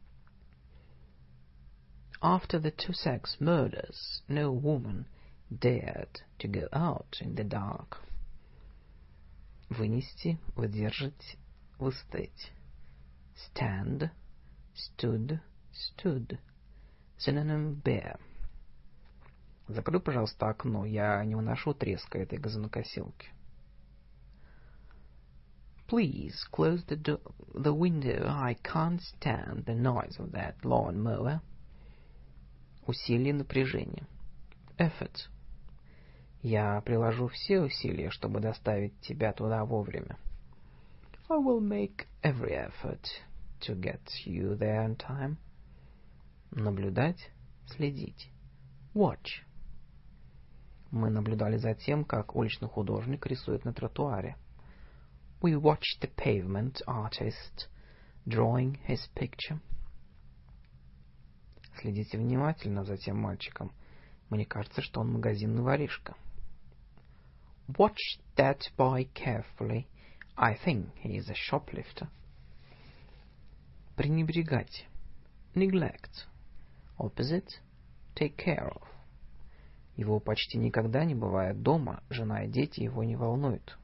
After the 2 sex murders, no woman dared to go out in the dark. Вынести, выдержать, выстоять. Stand, stood, stood. Synonym bear. Закрой, пожалуйста, окно. Я не выношу треска этой газонокосилки. Please close the window. I can't stand the noise of that lawn mower. Усилие, напряжение. Effort. Я приложу все усилия, чтобы доставить тебя туда вовремя. I will make every effort to get you there in time. Наблюдать, следить. Watch. Мы наблюдали за тем, как уличный художник рисует на тротуаре. We watched the pavement artist drawing his picture. Следите внимательно за тем мальчиком. Мне кажется, что он магазинный воришка. Watch that boy carefully. I think he is a shoplifter. Пренебрегать. Neglect. Opposite. Take care of. Его почти никогда не бывает дома, жена и дети его не волнуют.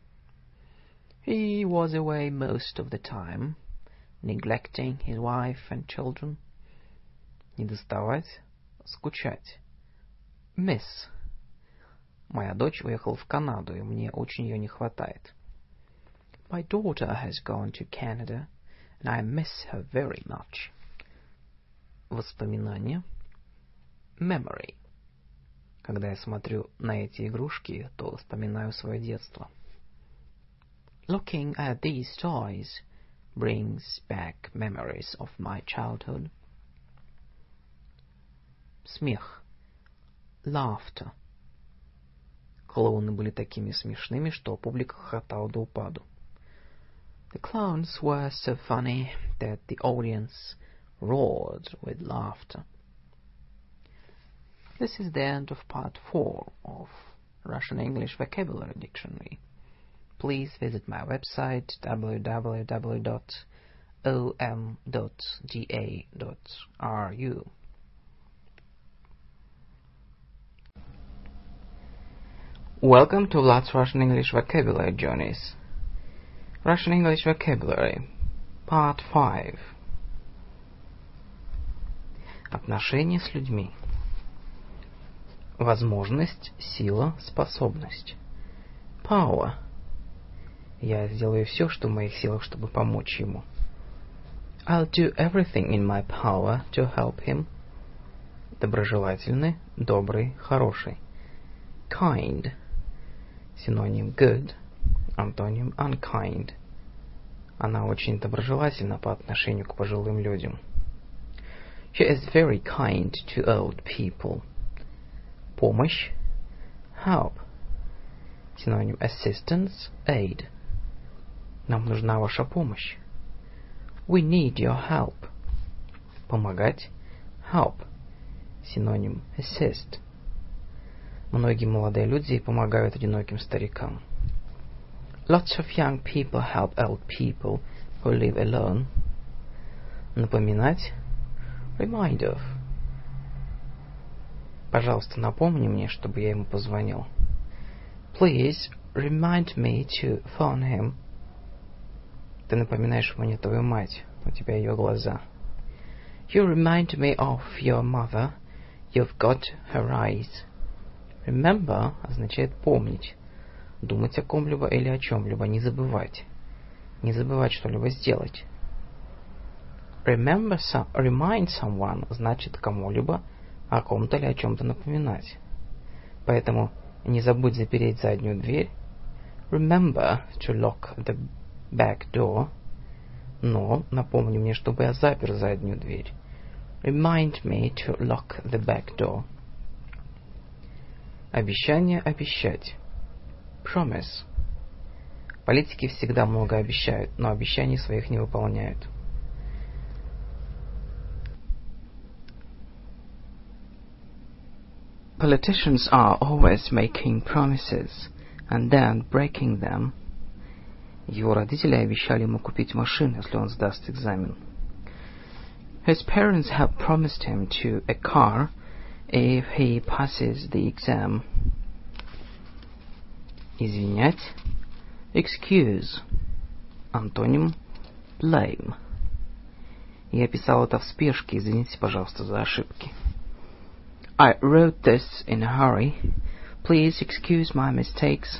He was away most of the time, neglecting his wife and children. Недоставать, скучать. Miss. Моя дочь уехала в Канаду, и мне очень ее не хватает. My daughter has gone to Canada, and I miss her very much. Воспоминания. Memory. Когда я смотрю на эти игрушки, то вспоминаю свое детство. Looking at these toys brings back memories of my childhood. Смех. Laughter. Клоуны были такими смешными, что публика хохотала до упаду. The clowns were so funny that the audience roared with laughter. This is the end of part 4 of Russian English Vocabulary Dictionary. Please visit my website www.om.ga.ru. Welcome to Vlad's Russian English Vocabulary Journeys. Russian English Vocabulary, Part 5. Отношения с людьми. Возможность, сила, способность. Power. Я сделаю все, что в моих силах, чтобы помочь ему. I'll do everything in my power to help him. Доброжелательный, добрый, хороший. Kind. Синоним good. Антоним unkind. Она очень доброжелательна по отношению к пожилым людям. She is very kind to old people. Помощь. Help. Синоним assistance, aid. Нам нужна ваша помощь. We need your help. Помогать. Help. Синоним assist. Многие молодые люди помогают одиноким старикам. Lots of young people help old people who live alone. Напоминать. Remind of. Пожалуйста, напомни мне, чтобы я ему позвонил. Please remind me to phone him. Ты напоминаешь мне твою мать. У тебя ее глаза. You remind me of your mother. You've got her eyes. Remember означает помнить, думать о ком-либо или о чем-либо, не забывать. Не забывать что-либо сделать. Remind someone значит кому-либо о ком-то или о чем-то напоминать. Поэтому не забудь запереть заднюю дверь. Remember to lock the back door. Но напомни мне, чтобы я запер заднюю дверь. Remind me to lock the back door. Обещание обещать. Promise. Политики всегда много обещают, но обещаний своих не выполняют. Politicians are always making promises and then breaking them. Его родители обещали ему купить машину, если он сдаст экзамен. His parents have promised him a car if he passes the exam. Извинять. Excuse. Антоним blame. Я писал это в спешке, извините, пожалуйста, за ошибки. I wrote this in a hurry. Please excuse my mistakes.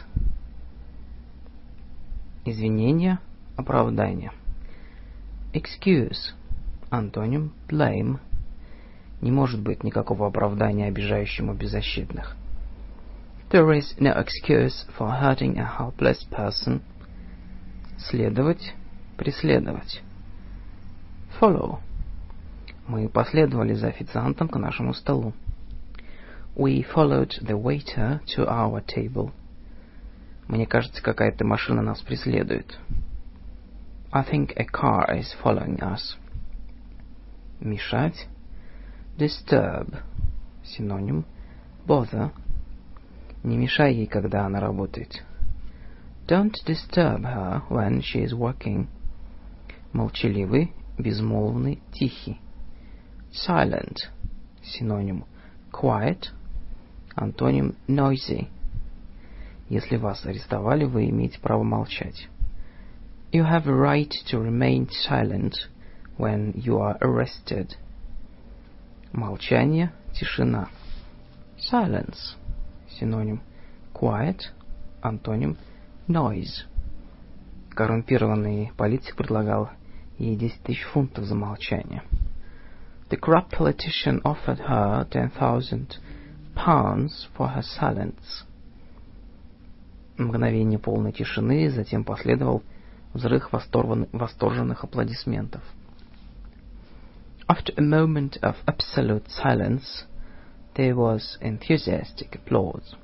Извинения, оправдание. Excuse. Антоним blame. Не может быть никакого оправдания обижающему беззащитных. There is no excuse for hurting a helpless person. Следовать, преследовать. Follow. Мы последовали за официантом к нашему столу. We followed the waiter to our table. Мне кажется, какая-то машина нас преследует. I think a car is following us. Мешать. Disturb. Синоним bother. Не мешай ей, когда она работает. Don't disturb her when she is working. Молчаливый, безмолвный, тихий. Silent. Синоним quiet. Антоним noisy. Если вас арестовали, вы имеете право молчать. You have a right to remain silent when you are arrested. Молчание, тишина. Silence. Синоним quiet. Антоним noise. Коррумпированный политик предлагал ей 10 000 фунтов за молчание. The corrupt politician offered her 10,000 pounds for her silence. Мгновение полной тишины, затем последовал взрыв восторженных аплодисментов. After a moment of absolute silence, there was enthusiastic applause.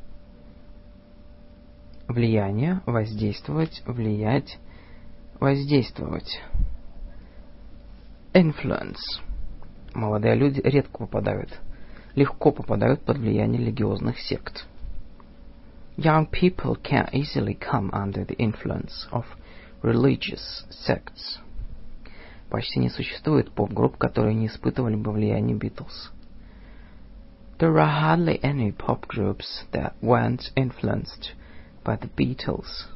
Влияние, воздействовать, влиять, воздействовать. Influence. Молодые люди легко попадают под влияние религиозных сект. Young people can easily come under the influence of religious sects. Почти не существует поп-групп, которые не испытывали бы влияние Beatles. There are hardly any pop groups that weren't influenced by the Beatles.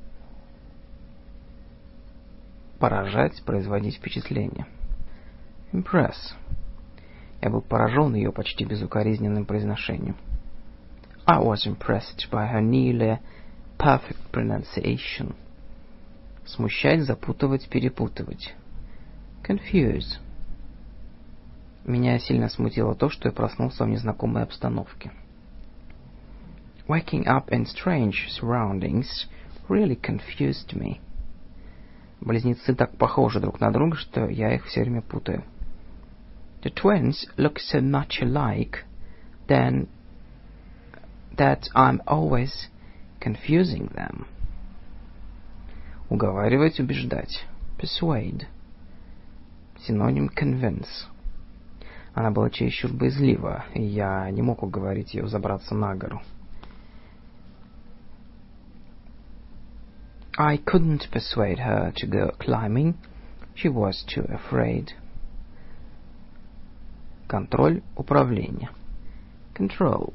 Поражать, производить впечатление. Impress. Я был поражен ее почти безукоризненным произношением. I was impressed by her nearly perfect pronunciation. Смущать, запутывать, перепутывать. Confuse. Меня сильно смутило то, что я проснулся в незнакомой обстановке. Waking up in strange surroundings really confused me. Близнецы так похожи друг на друга, что я их все время путаю. The twins look so much alike, then that I'm always confusing them. Уговаривать, убеждать. Persuade. Синоним convince. Она была чересчур боязлива, и я не мог уговорить ее забраться на гору. I couldn't persuade her to go climbing. She was too afraid. Контроль, управление. Control.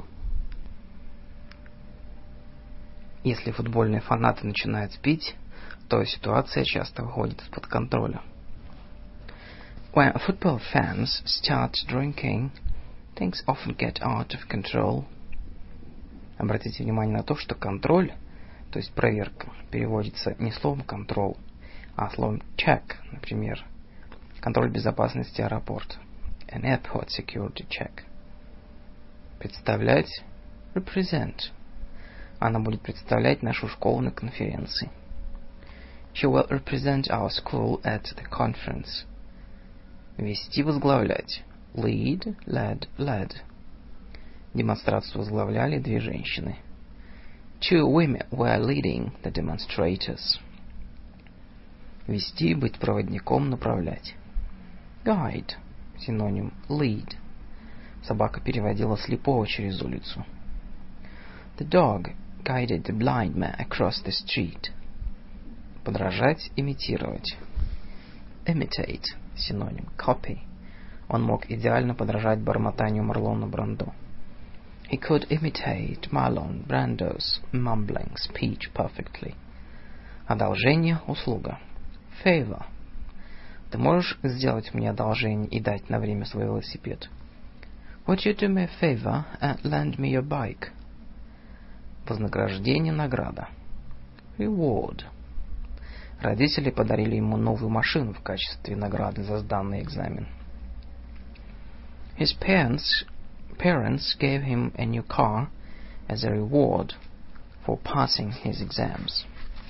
Если футбольные фанаты начинают пить, то ситуация часто выходит из-под контроля. When football fans start drinking, things often get out of control. Обратите внимание на то, что контроль, то есть проверка, переводится не словом control, а словом check, например, контроль безопасности аэропорта. An airport security check. Представлять, represent. Она будет представлять нашу школу на конференции. She will represent our school at the conference. Вести, возглавлять. Lead, led, led. Демонстрацию возглавляли две женщины. Two women were leading the demonstrators. Вести, быть проводником, направлять. Guide. Синоним lead. Собака переводила слепого через улицу. The dog guided the blind man across the street. Подражать, имитировать. Imitate. Синоним copy. Он мог идеально подражать бормотанию Марлона Брандо. He could imitate Marlon Brando's mumbling speech perfectly. Одолжение, услуга. Favor. Ты можешь сделать мне одолжение и дать на время свой велосипед? Would you do me a favor and lend me your bike? Вознаграждение, награда. Reward. Родители подарили ему новую машину в качестве награды за сданный экзамен. His parents gave him a new car as a reward for passing his exams.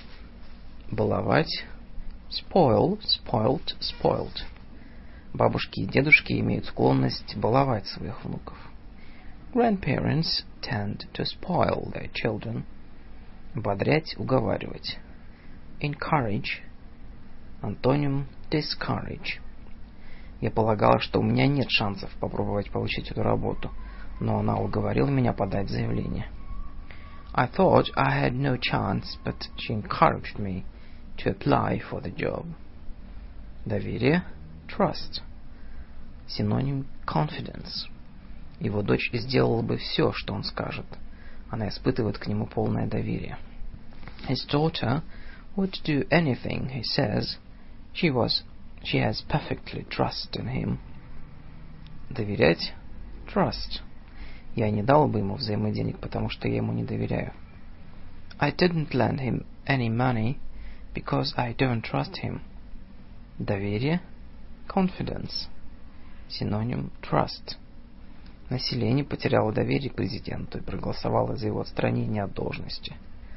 Баловать. Spoil, spoilt, spoiled. Бабушки и дедушки имеют склонность баловать своих внуков. Grandparents tend to spoil their children. Ободрять, уговаривать. Encourage. Антоним discourage. Я полагала, что у меня нет шансов попробовать получить эту работу, но она уговорила меня подать заявление. I thought I had no chance, but she encouraged me to apply for the job. Доверие. Trust. Синоним confidence. Его дочь сделала бы все, что он скажет. Она испытывает к нему полное доверие. His daughter would do anything he says. She has perfectly trust in him. Доверять. Trust. Я не дал бы ему взаймы денег, потому что я ему не доверяю. I didn't lend him any money because I don't trust him. Доверие. Confidence. Синоним trust. Население потеряло доверие к президенту и проголосовало за его отстранение от должности.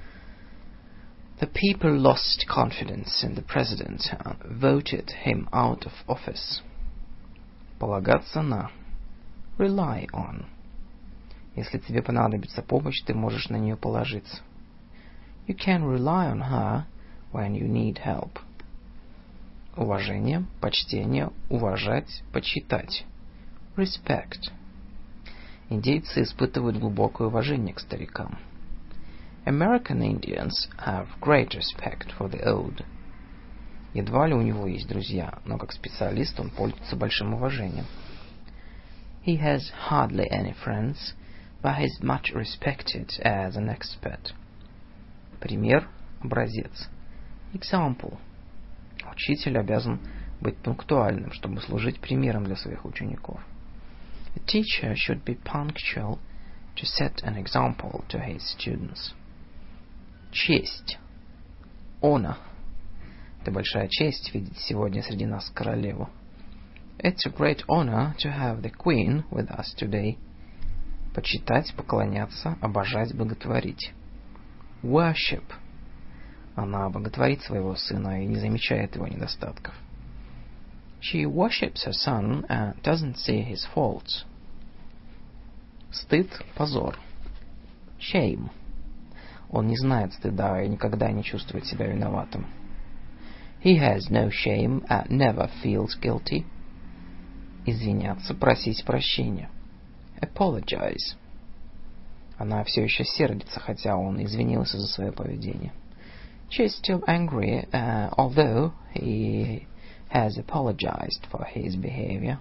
The people lost confidence in the president and voted him out of office. Полагаться на. Rely on. Если тебе понадобится помощь, ты можешь на нее положиться. You can rely on her when you need help. Уважение, почтение, уважать, почитать. Respect. Индейцы испытывают глубокое уважение к старикам. American Indians have great respect for the old. Едва ли у него есть друзья, но как специалист он пользуется большим уважением. He has hardly any friends, but he is much respected as an expert. Пример, образец. Example. Учитель обязан быть пунктуальным, чтобы служить примером для своих учеников. A teacher should be punctual to set an example to his students. Честь. Honor. Это большая честь видеть сегодня среди нас королеву. It's a great honor to have the Queen with us today. Почитать, поклоняться, обожать, боготворить. Worship. Она боготворит своего сына и не замечает его недостатков. She worships her son and doesn't see his faults. Стыд, позор. Shame. Он не знает стыда и никогда не чувствует себя виноватым. He has no shame and never feels guilty. Извиняться, просить прощения. Apologize. Она все еще сердится, хотя он извинился за свое поведение. She is still angry, although he has apologized for his behavior.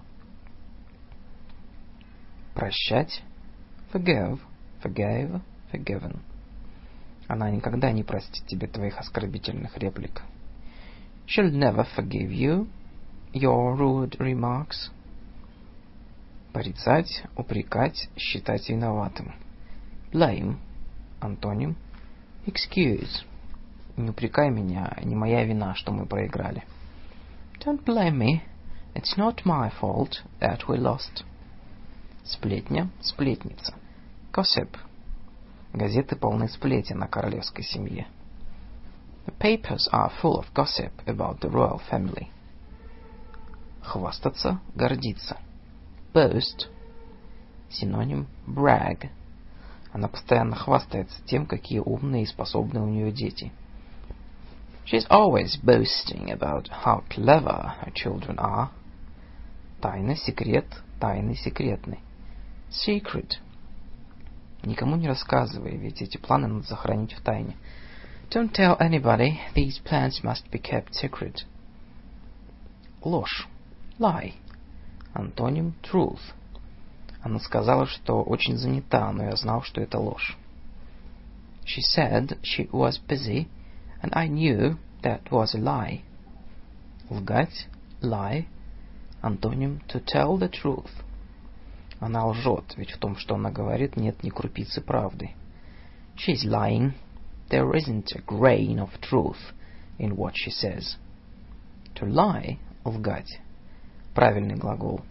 Прощать. Forgive, forgave, forgiven. Она никогда не простит тебе твоих оскорбительных реплик. She'll never forgive you your rude remarks. Порицать, упрекать, считать виноватым. Blame. Антоним. Excuse. Не упрекай меня, не моя вина, что мы проиграли. Don't blame me. It's not my fault that we lost. Сплетня, сплетница. Gossip. Газеты полны сплетен о королевской семье. The papers are full of gossip about the royal family. Хвастаться, гордиться. Boast. Синоним brag. Она постоянно хвастается тем, какие умные и способные у нее дети. She's always boasting about how clever her children are. Тайна, секрет, тайный, секретный. Secret. Никому не рассказывай, ведь эти планы надо сохранить в тайне. Don't tell anybody, these plans must be kept secret. Ложь. Lie. Антоним truth. Она сказала, что очень занята, но я знал, что это ложь. She said she was busy, and I knew that was a lie. Лгать. Lie. Антоним to tell the truth. Она лжет, ведь в том, что она говорит, нет ни крупицы правды. She's lying. There isn't a grain of truth in what she says. To lie — лгать. Правильный глагол.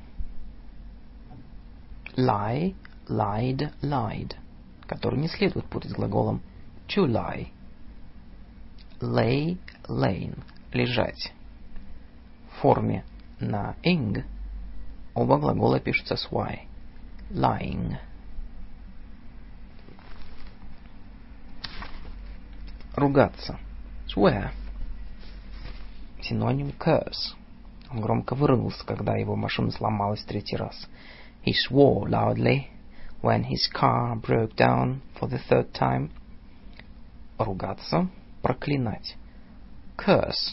Lie, lied, lied, который не следует путать с глаголом to lie. Lay, lain, лежать. В форме на ing оба глагола пишутся с y. Lying. Ругаться. Swear. Синоним curse. Он громко выругался, когда его машина сломалась в третий раз. He swore loudly when his car broke down for the third time. Ругаться. Проклинать. Curse.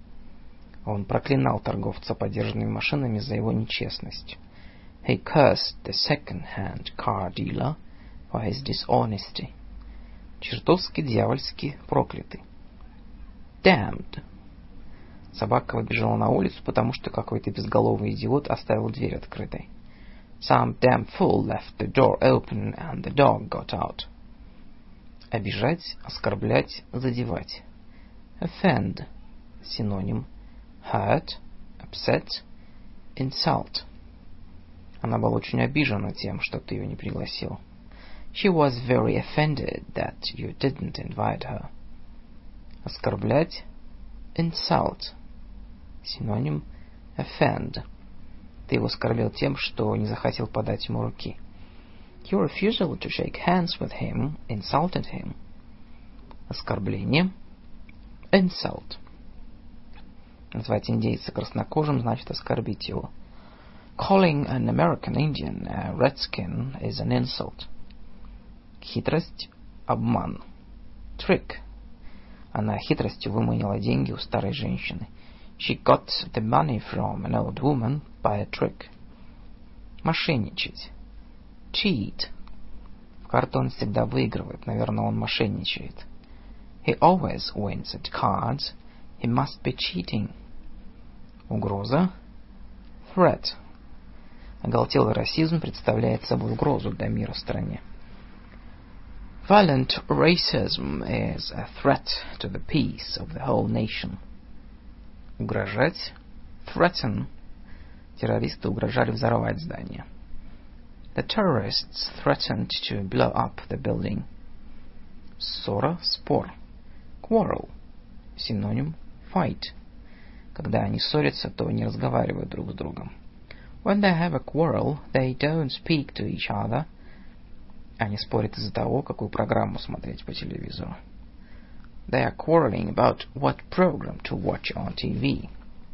Он проклинал торговца подержанными машинами за его нечестность. He cursed the second-hand car dealer for his dishonesty. Чертовски дьявольски проклятый. Damned. Собака выбежала на улицу, потому что какой-то безголовый идиот оставил дверь открытой. Some damn fool left the door open and the dog got out. Обижать, оскорблять, задевать. Offend. Синоним hurt, upset, insult. Она была очень обижена тем, что ты ее не пригласил. She was very offended that you didn't invite her. Оскорблять. Insult. Синоним offend. Ты его оскорбил тем, что не захотел подать ему руки. Your refusal to shake hands with him insulted him. Оскорбление. Insult. Назвать индейца краснокожим значит оскорбить его. Calling an American Indian a redskin is an insult. Хитрость, обман. Trick. Она хитростью выманила деньги у старой женщины. She got the money from an old woman by a trick. Мошенничать. Cheat. В карты он всегда выигрывает. Наверное, он мошенничает. He always wins at cards. He must be cheating. Угроза. Threat. Оголтелый расизм представляет собой угрозу для мира в стране. Violent racism is a threat to the peace of the whole nation. Угрожать. Threaten. Террористы угрожали взорвать здание. The terrorists threatened to blow up the building. Ссора, спор. Quarrel. Синоним fight. Когда они ссорятся, то не разговаривают друг с другом. When they have a quarrel, they don't speak to each other. Они спорят из-за того, какую программу смотреть по телевизору. They are quarreling about what program to watch on TV.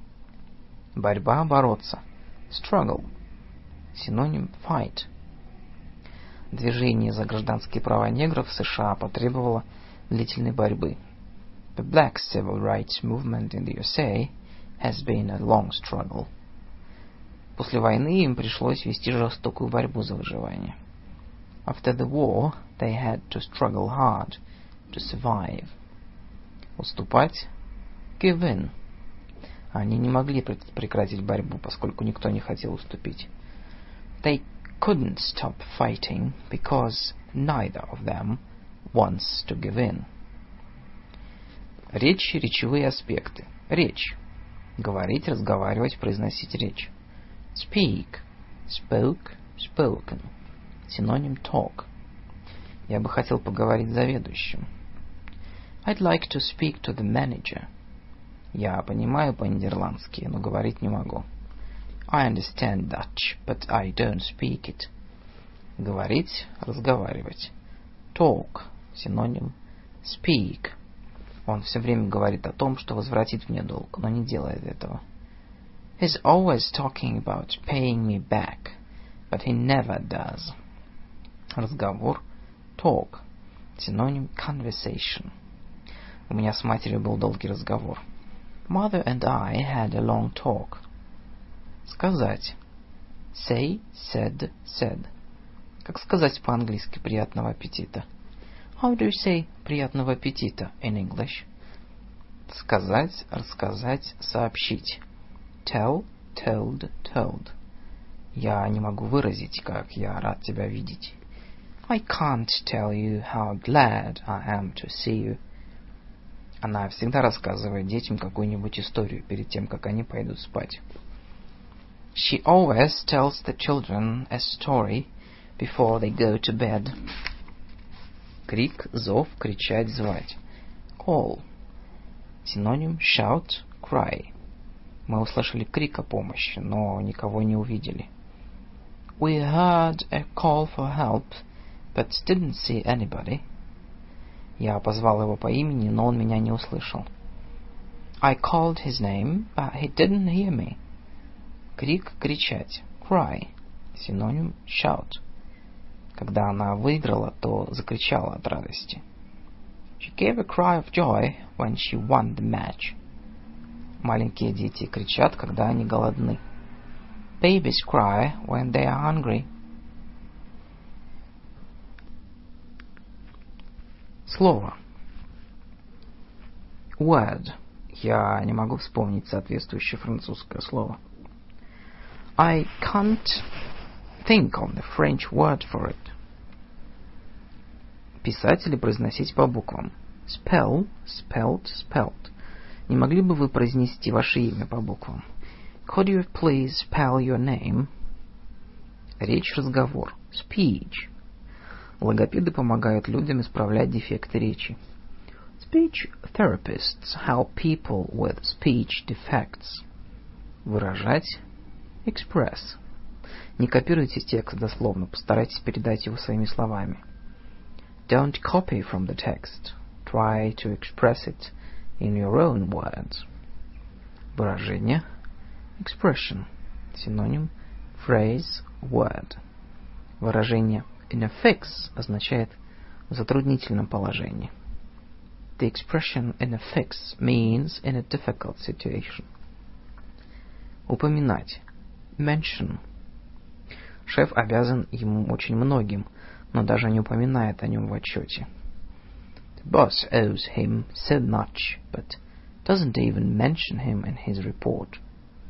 Борьба, бороться. Struggle. Синоним fight. Движение за гражданские права негров в США потребовало длительной борьбы. The black civil rights movement in the USA has been a long struggle. После войны им пришлось вести жестокую борьбу за выживание. After the war, they had to struggle hard to survive. Уступать. Give in. Они не могли прекратить борьбу, поскольку никто не хотел уступить. They couldn't stop fighting because neither of them wants to give in. Речь, речевые аспекты. Речь. Говорить, разговаривать, произносить речь. Speak. Spoke, spoken. Синоним talk. Я бы хотел поговорить с заведующим. I'd like to speak to the manager. Я понимаю по-нидерландски, но говорить не могу. I understand Dutch, but I don't speak it. Говорить, разговаривать. Talk. Синоним speak. Он все время говорит о том, что возвратит мне долг, но не делает этого. He's always talking about paying me back, but he never does. Разговор. Talk. Синоним conversation. У меня с матерью был долгий разговор. Mother and I had a long talk. Сказать. Say, said, said. Как сказать по-английски «приятного аппетита»? How do you say «приятного аппетита» in English? Сказать, рассказать, сообщить. Tell, told, told. Я не могу выразить, как я рад тебя видеть. I can't tell you how glad I am to see you. Она всегда рассказывает детям какую-нибудь историю перед тем, как они пойдут спать. She always tells the children a story before they go to bed. Крик, зов, кричать, звать. Call. Синоним shout, cry. Мы услышали крик о помощи, но никого не увидели. We heard a call for help, but didn't see anybody. Я позвал его по имени, но он меня не услышал. I called his name, but he didn't hear me. Крик, кричать. Cry. Синоним shout. Когда она выиграла, то закричала от радости. She gave a cry of joy when she won the match. Маленькие дети кричат, когда они голодны. Babies cry when they are hungry. Слово. Word. Я не могу вспомнить соответствующее французское слово. I can't think of the French word for it. Писать или произносить по буквам. Spell, spelled, spelled. Не могли бы вы произнести ваше имя по буквам? Could you please spell your name? Речь, разговор. Speech. Логопеды помогают людям исправлять дефекты речи. Speech therapists help people with speech defects. Выражать. Express. Не копируйте текст дословно, постарайтесь передать его своими словами. Don't copy from the text. Try to express it in your own words. Выражение. Expression. Синоним phrase, word. Выражение in a fix означает в затруднительном положении. The expression in a fix means in a difficult situation. Упоминать. Mention. Шеф обязан ему очень многим, но даже не упоминает о нем в отчете. The boss owes him so much, but doesn't even mention him in his report.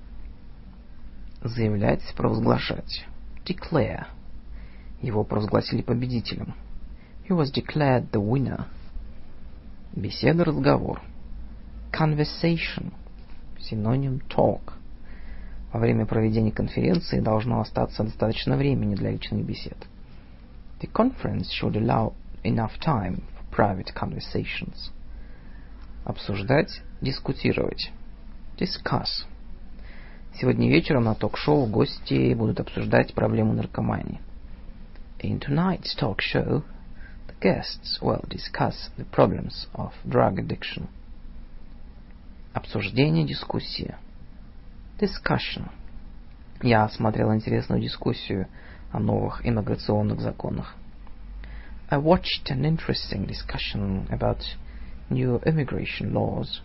Заявлять, провозглашать. Declare. Его провозгласили победителем. He was declared the winner. Беседа, разговор. Conversation. Синоним talk. Во время проведения конференции должно остаться достаточно времени для личных бесед. The conference should allow enough time for private conversations. Обсуждать, дискутировать. Discuss. Сегодня вечером на ток-шоу гости будут обсуждать проблему наркомании. In tonight's talk show, the guests will discuss the problems of drug addiction. Обсуждение, дискуссия. Discussion. Я смотрел интересную дискуссию о новых иммиграционных законах. I watched an interesting discussion about new immigration laws.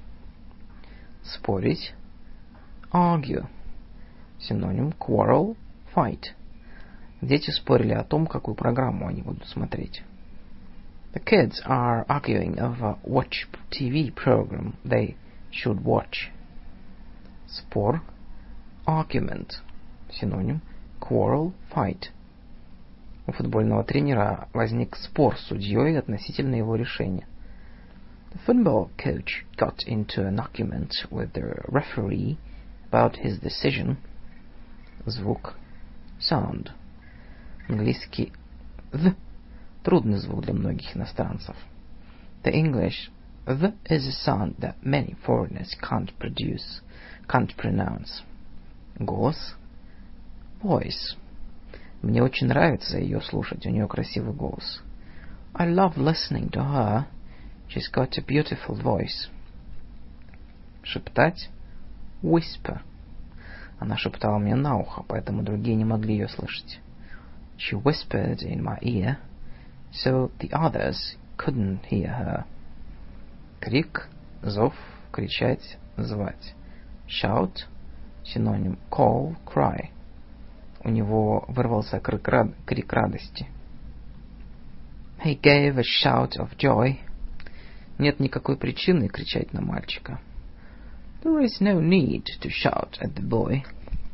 Спорить. Argue. Синоним quarrel, fight. Дети спорили о том, какую программу они будут смотреть. The kids are arguing over which TV program they should watch. спор, argument, синоним quarrel, fight. У футбольного тренера возник спор с судьей относительно его решения. The football coach got into an argument with the referee about his decision. Звук sound. Английский the трудный звук для многих иностранцев. The English the is a sound that many foreigners can't pronounce. Голос voice. Мне очень нравится ее слушать, у нее красивый голос. I love listening to her. She's got a beautiful voice. Шептать whisper. Она шептала мне на ухо, поэтому другие не могли ее слышать. She whispered in my ear, so the others couldn't hear her. Крик, зов, кричать, звать. Shout, синоним call, cry. У него вырвался крик радости. He gave a shout of joy. Нет никакой причины кричать на мальчика. There is no need to shout at the boy.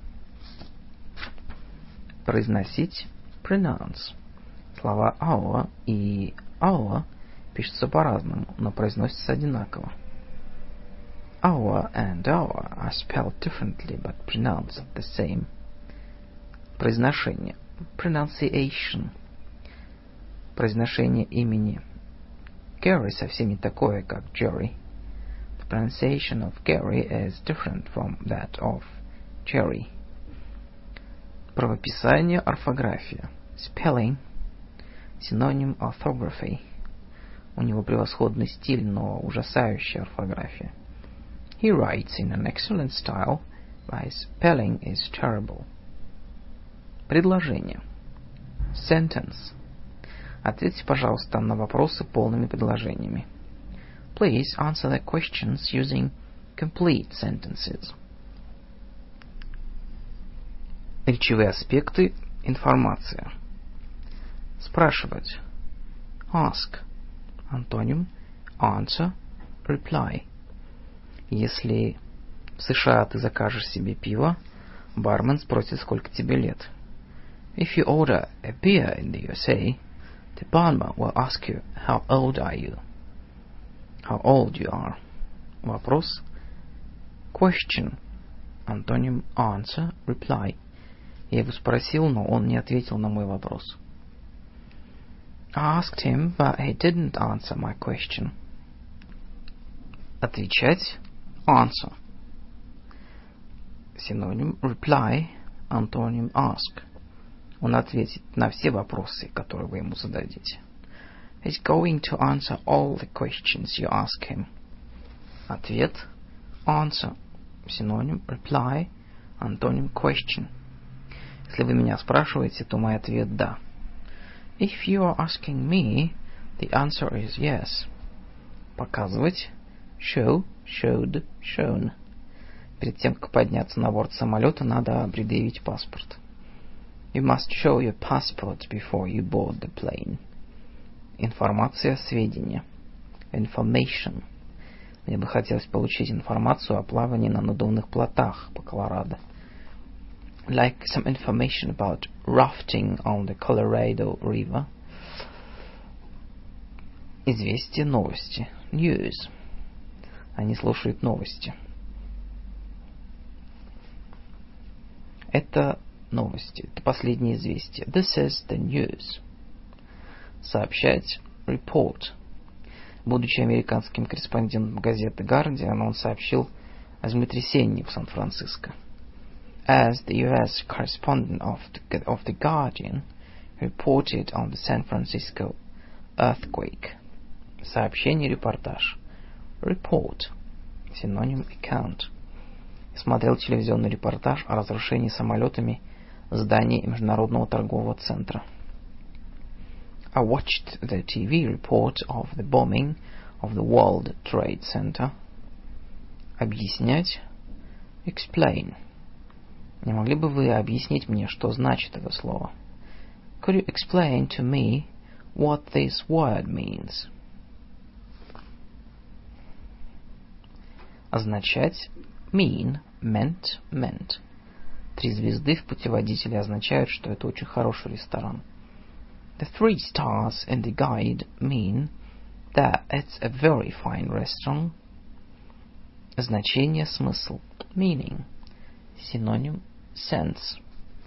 Произносить pronounce. Слова our и our пишутся по-разному, но произносятся одинаково. Our and our are spelled differently, but pronounced the same. Произношение pronunciation. Произношение имени Gary совсем не такое, как Jerry. The pronunciation of Gary is different from that of Jerry. Правописание, орфография. Spelling, синоним orthography. У него превосходный стиль, но ужасающая орфография. He writes in an excellent style, but his spelling is terrible. Предложение. Sentence. Ответьте, пожалуйста, на вопросы полными предложениями. Please answer the questions using complete sentences. Речевые аспекты, информация. Спрашивать. Ask. Антоним answer, reply. Если в США ты закажешь себе пиво, бармен спросит, сколько тебе лет. If you order a beer in the USA, the barman will ask you, how old are you? How old you are. Вопрос. Question. Антоним answer, reply. Я его спросил, но он не ответил на мой вопрос. I asked him, but he didn't answer my question. Отвечать. Answer. Синоним reply, антоним ask. Он ответит на все вопросы, которые вы ему зададите. He's going to answer all the questions you ask him. Ответ. Answer. Синоним reply, антоним question. Если вы меня спрашиваете, то мой ответ да. If you are asking me, the answer is yes. Показывать. Show, showed, shown. Перед тем, как подняться на борт самолета, надо предъявить паспорт. You must show your passport before you board the plane. Информация, сведения. Information. Мне бы хотелось получить информацию о плавании на надувных плотах по Колорадо. Like some information about rafting on the Colorado River. Известия, новости. News. Они слушают новости. Это новости. Это последнее известие. This is the news. Сообщать. Report. Будучи американским корреспондентом газеты Guardian, он сообщил о землетрясении в Сан-Франциско. As the U.S. correspondent of the Guardian, reported on the San Francisco earthquake. Сообщение, репортаж. Report. Синоним account. Смотрел телевизионный репортаж о разрушении самолетами зданий Международного торгового центра. I watched the TV report of the bombing of the World Trade Center. Объяснять. Explain. Не могли бы вы объяснить мне, что значит это слово? Could you explain to me what this word means? Означать Mean, meant, meant. 3 звезды в путеводителе означают, что это очень хороший ресторан. The 3 stars in the guide mean that it's a very fine restaurant. Значение, смысл. Meaning. Синоним sense.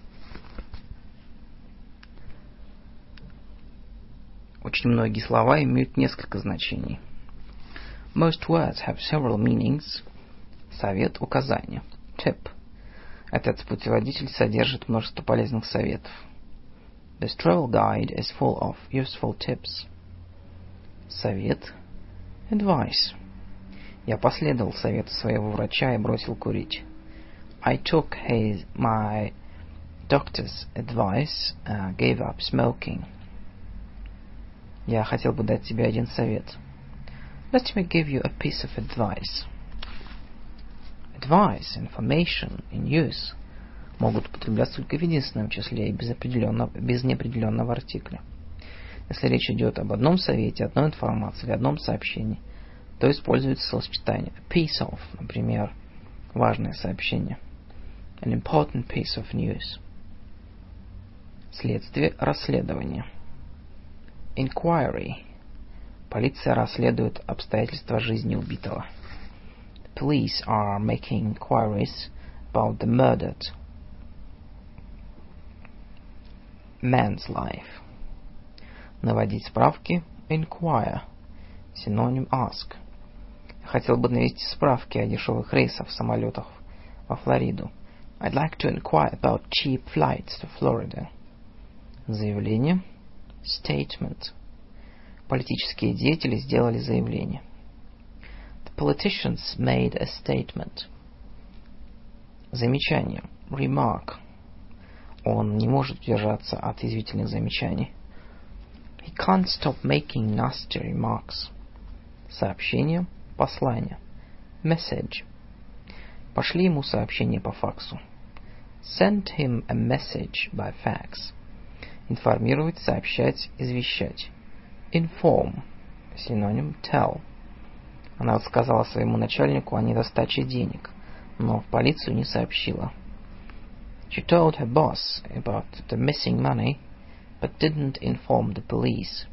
Очень многие слова имеют несколько значений. Most words have several meanings. Совет, указание. Tip. Этот путеводитель содержит множество полезных советов. This travel guide is full of useful tips. Совет. Advice. Я последовал совету своего врача и бросил курить. I took my doctor's advice, gave up smoking. Я хотел бы дать тебе один совет. Let me give you a piece of advice. Advice, information, in use могут употребляться только в единственном числе и без неопределенного артикля. Если речь идет об одном совете, одной информации или одном сообщении, то используется словосочетание a piece of, например, важное сообщение. An important piece of news. Следствие, расследование. Inquiry. Полиция расследует обстоятельства жизни убитого. The police are making inquiries about the murdered man's life. Наводить справки. Inquire. Синоним ask. Я хотел бы навести справки о дешевых рейсах в самолетах во Флориду. I'd like to inquire about cheap flights to Florida. Заявление. Statement. Политические деятели сделали заявление. The politicians made a statement. Замечание. Remark. Он не может удержаться от язвительных замечаний. He can't stop making nasty remarks. Сообщение. Послание. Message. Пошли ему сообщение по факсу. Send him a message by fax. Информировать, сообщать, извещать. Inform. Синоним tell. Она рассказала своему начальнику о недостаче денег, но в полицию не сообщила. She told her boss about the missing money, but didn't inform the police.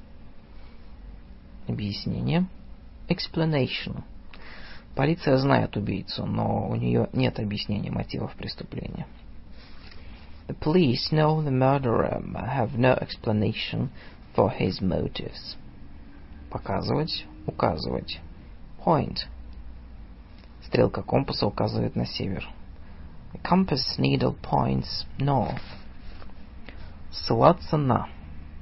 Объяснение. Explanation. Полиция знает убийцу, но у нее нет объяснения мотивов преступления. The police know the murderer, but have no explanation for his motives. Показывать, указывать. Point. Стрелка компаса указывает на север. The compass needle points north. Ссылаться на.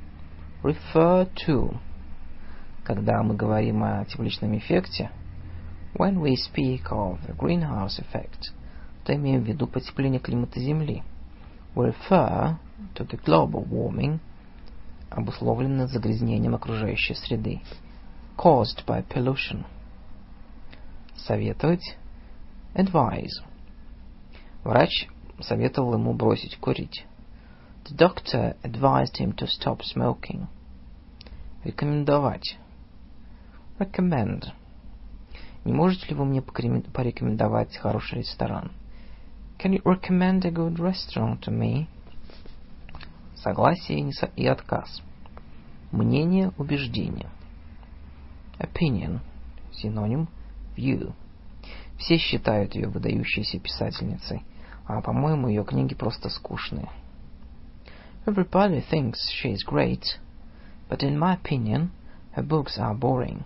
Refer to. Когда мы говорим о тепличном эффекте, when we speak of the greenhouse effect, то имеем в виду потепление климата Земли. We refer to the global warming, обусловленное загрязнением окружающей среды, caused by pollution. Советовать. Advise. Врач советовал ему бросить курить. The doctor advised him to stop smoking. Рекомендовать. Recommend. Не можете ли вы мне порекомендовать хороший ресторан? Can you recommend a good restaurant to me? Согласие и отказ. Мнение, убеждение. Opinion. Синоним view. Все считают ее выдающейся писательницей, а, по-моему, ее книги просто скучные. Everybody thinks she is great, but in my opinion, her books are boring.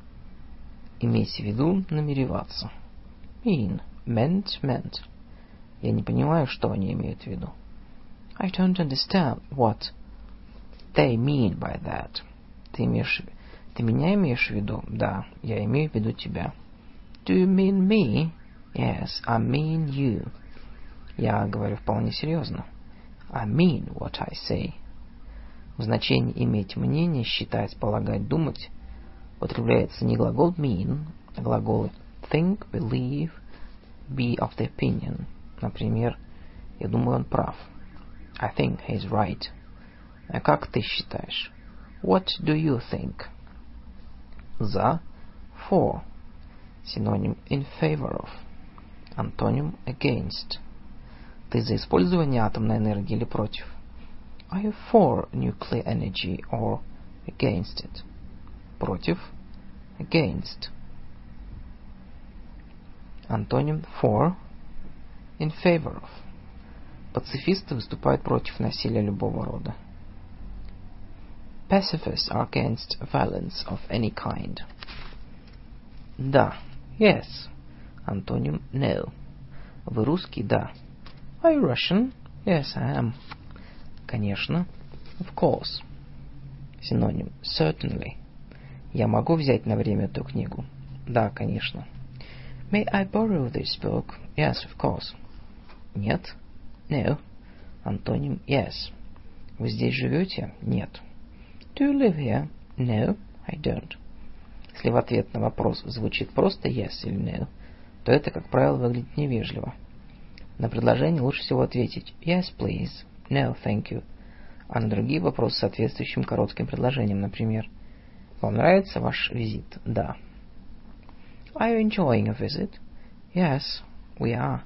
Имейте в виду, намереваться. Mean, meant. Я не понимаю, что они имеют в виду. I don't understand what they mean by that. Ты меня имеешь в виду? Да, я имею в виду тебя. Do you mean me? Yes, I mean you. Я говорю вполне серьезно. I mean what I say. В значении иметь мнение, считать, полагать, думать употребляется не глагол mean, а глаголы think, believe, be of the opinion. Например, я думаю, он прав. I think he's right. А как ты считаешь? What do you think? За, for. Синоним in favor of. Антоним against. Ты за использование атомной энергии или против? Are you for nuclear energy or against it? Против. Against. Антоним for. In favor of. Пацифисты выступают против насилия любого рода. Pacifists are against violence of any kind. Да. Yes. Антоним no. Вы русский? Да. Are you Russian? Yes, I am. Конечно. Of course. Синоним certainly. Я могу взять на время эту книгу? Да, конечно. May I borrow this book? Yes, of course. Нет. No. Антоним yes. Вы здесь живете? Нет. Do you live here? No, I don't. Если в ответ на вопрос звучит просто yes или no, то это, как правило, выглядит невежливо. На предложение лучше всего ответить yes, please, no, thank you, а на другие вопросы с соответствующим коротким предложением, например, вам нравится ваш визит? Да. Are you enjoying a visit? Yes, we are.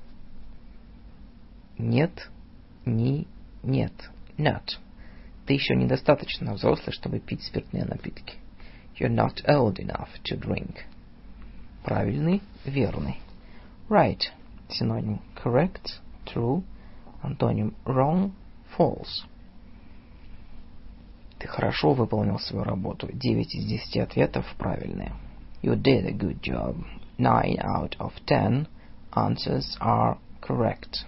Нет, нет, not. Ты еще недостаточно взрослый, чтобы пить спиртные напитки. You're not old enough to drink. Правильный, верный. Right. Синоним correct, true. Антоним wrong, false. Ты хорошо выполнил свою работу. 9 из 10 ответов правильные. You did a good job. 9 out of 10 answers are correct.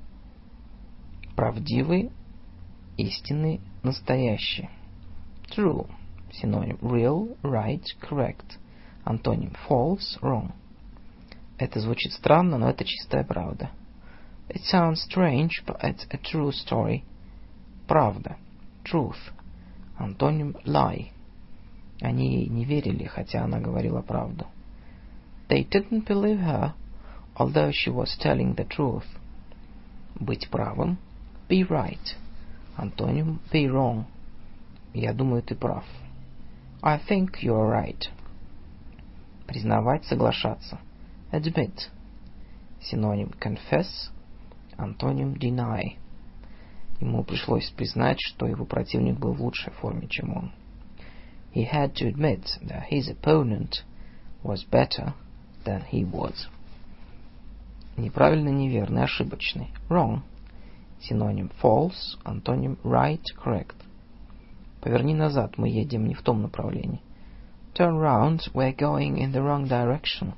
Правдивый, истинный, настоящий. True. Синоним real, right, correct. Антоним false, wrong. Это звучит странно, но это чистая правда. It sounds strange, but it's a true story. Правда. Truth. Антоним lie. Они ей не верили, хотя она говорила правду. They didn't believe her, although she was telling the truth. Быть правым. Be right. Антоним be wrong. Я думаю, ты прав. I think you are right. Признавать, соглашаться. Admit. Синоним confess. Антоним deny. Ему пришлось признать, что его противник был в лучшей форме, чем он. He had to admit that his opponent was better than he was. Неправильный, неверный, ошибочный. Wrong. Синоним false. Антоним right, correct. Поверни назад, мы едем не в том направлении. Turn round, we're going in the wrong direction.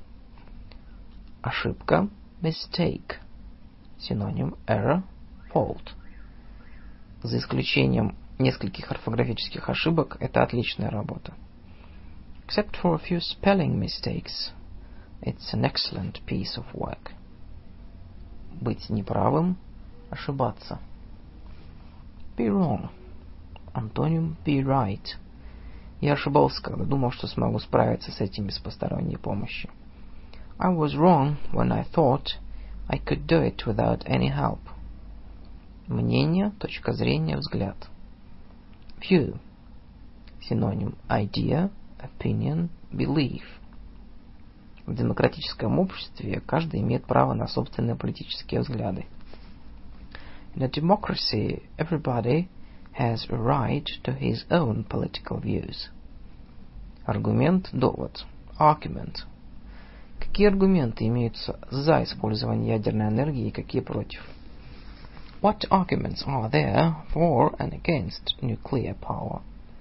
Ошибка. Mistake. Синоним error, fault. За исключением нескольких орфографических ошибок, это отличная работа. Except for a few spelling mistakes, it's an excellent piece of work. Быть неправым, ошибаться. Be wrong. Антоним be right. Я ошибался, когда думал, что смогу справиться с этим без посторонней помощи. I was wrong when I thought I could do it without any help. Мнение, точка зрения, взгляд. View. Синоним idea, opinion, belief. В демократическом обществе каждый имеет право на собственные политические взгляды. In a democracy, everybody has a right to his own political views. Аргумент, довод. Argument. Какие аргументы имеются за использование ядерной энергии и какие против? What arguments are there for and against nuclear power?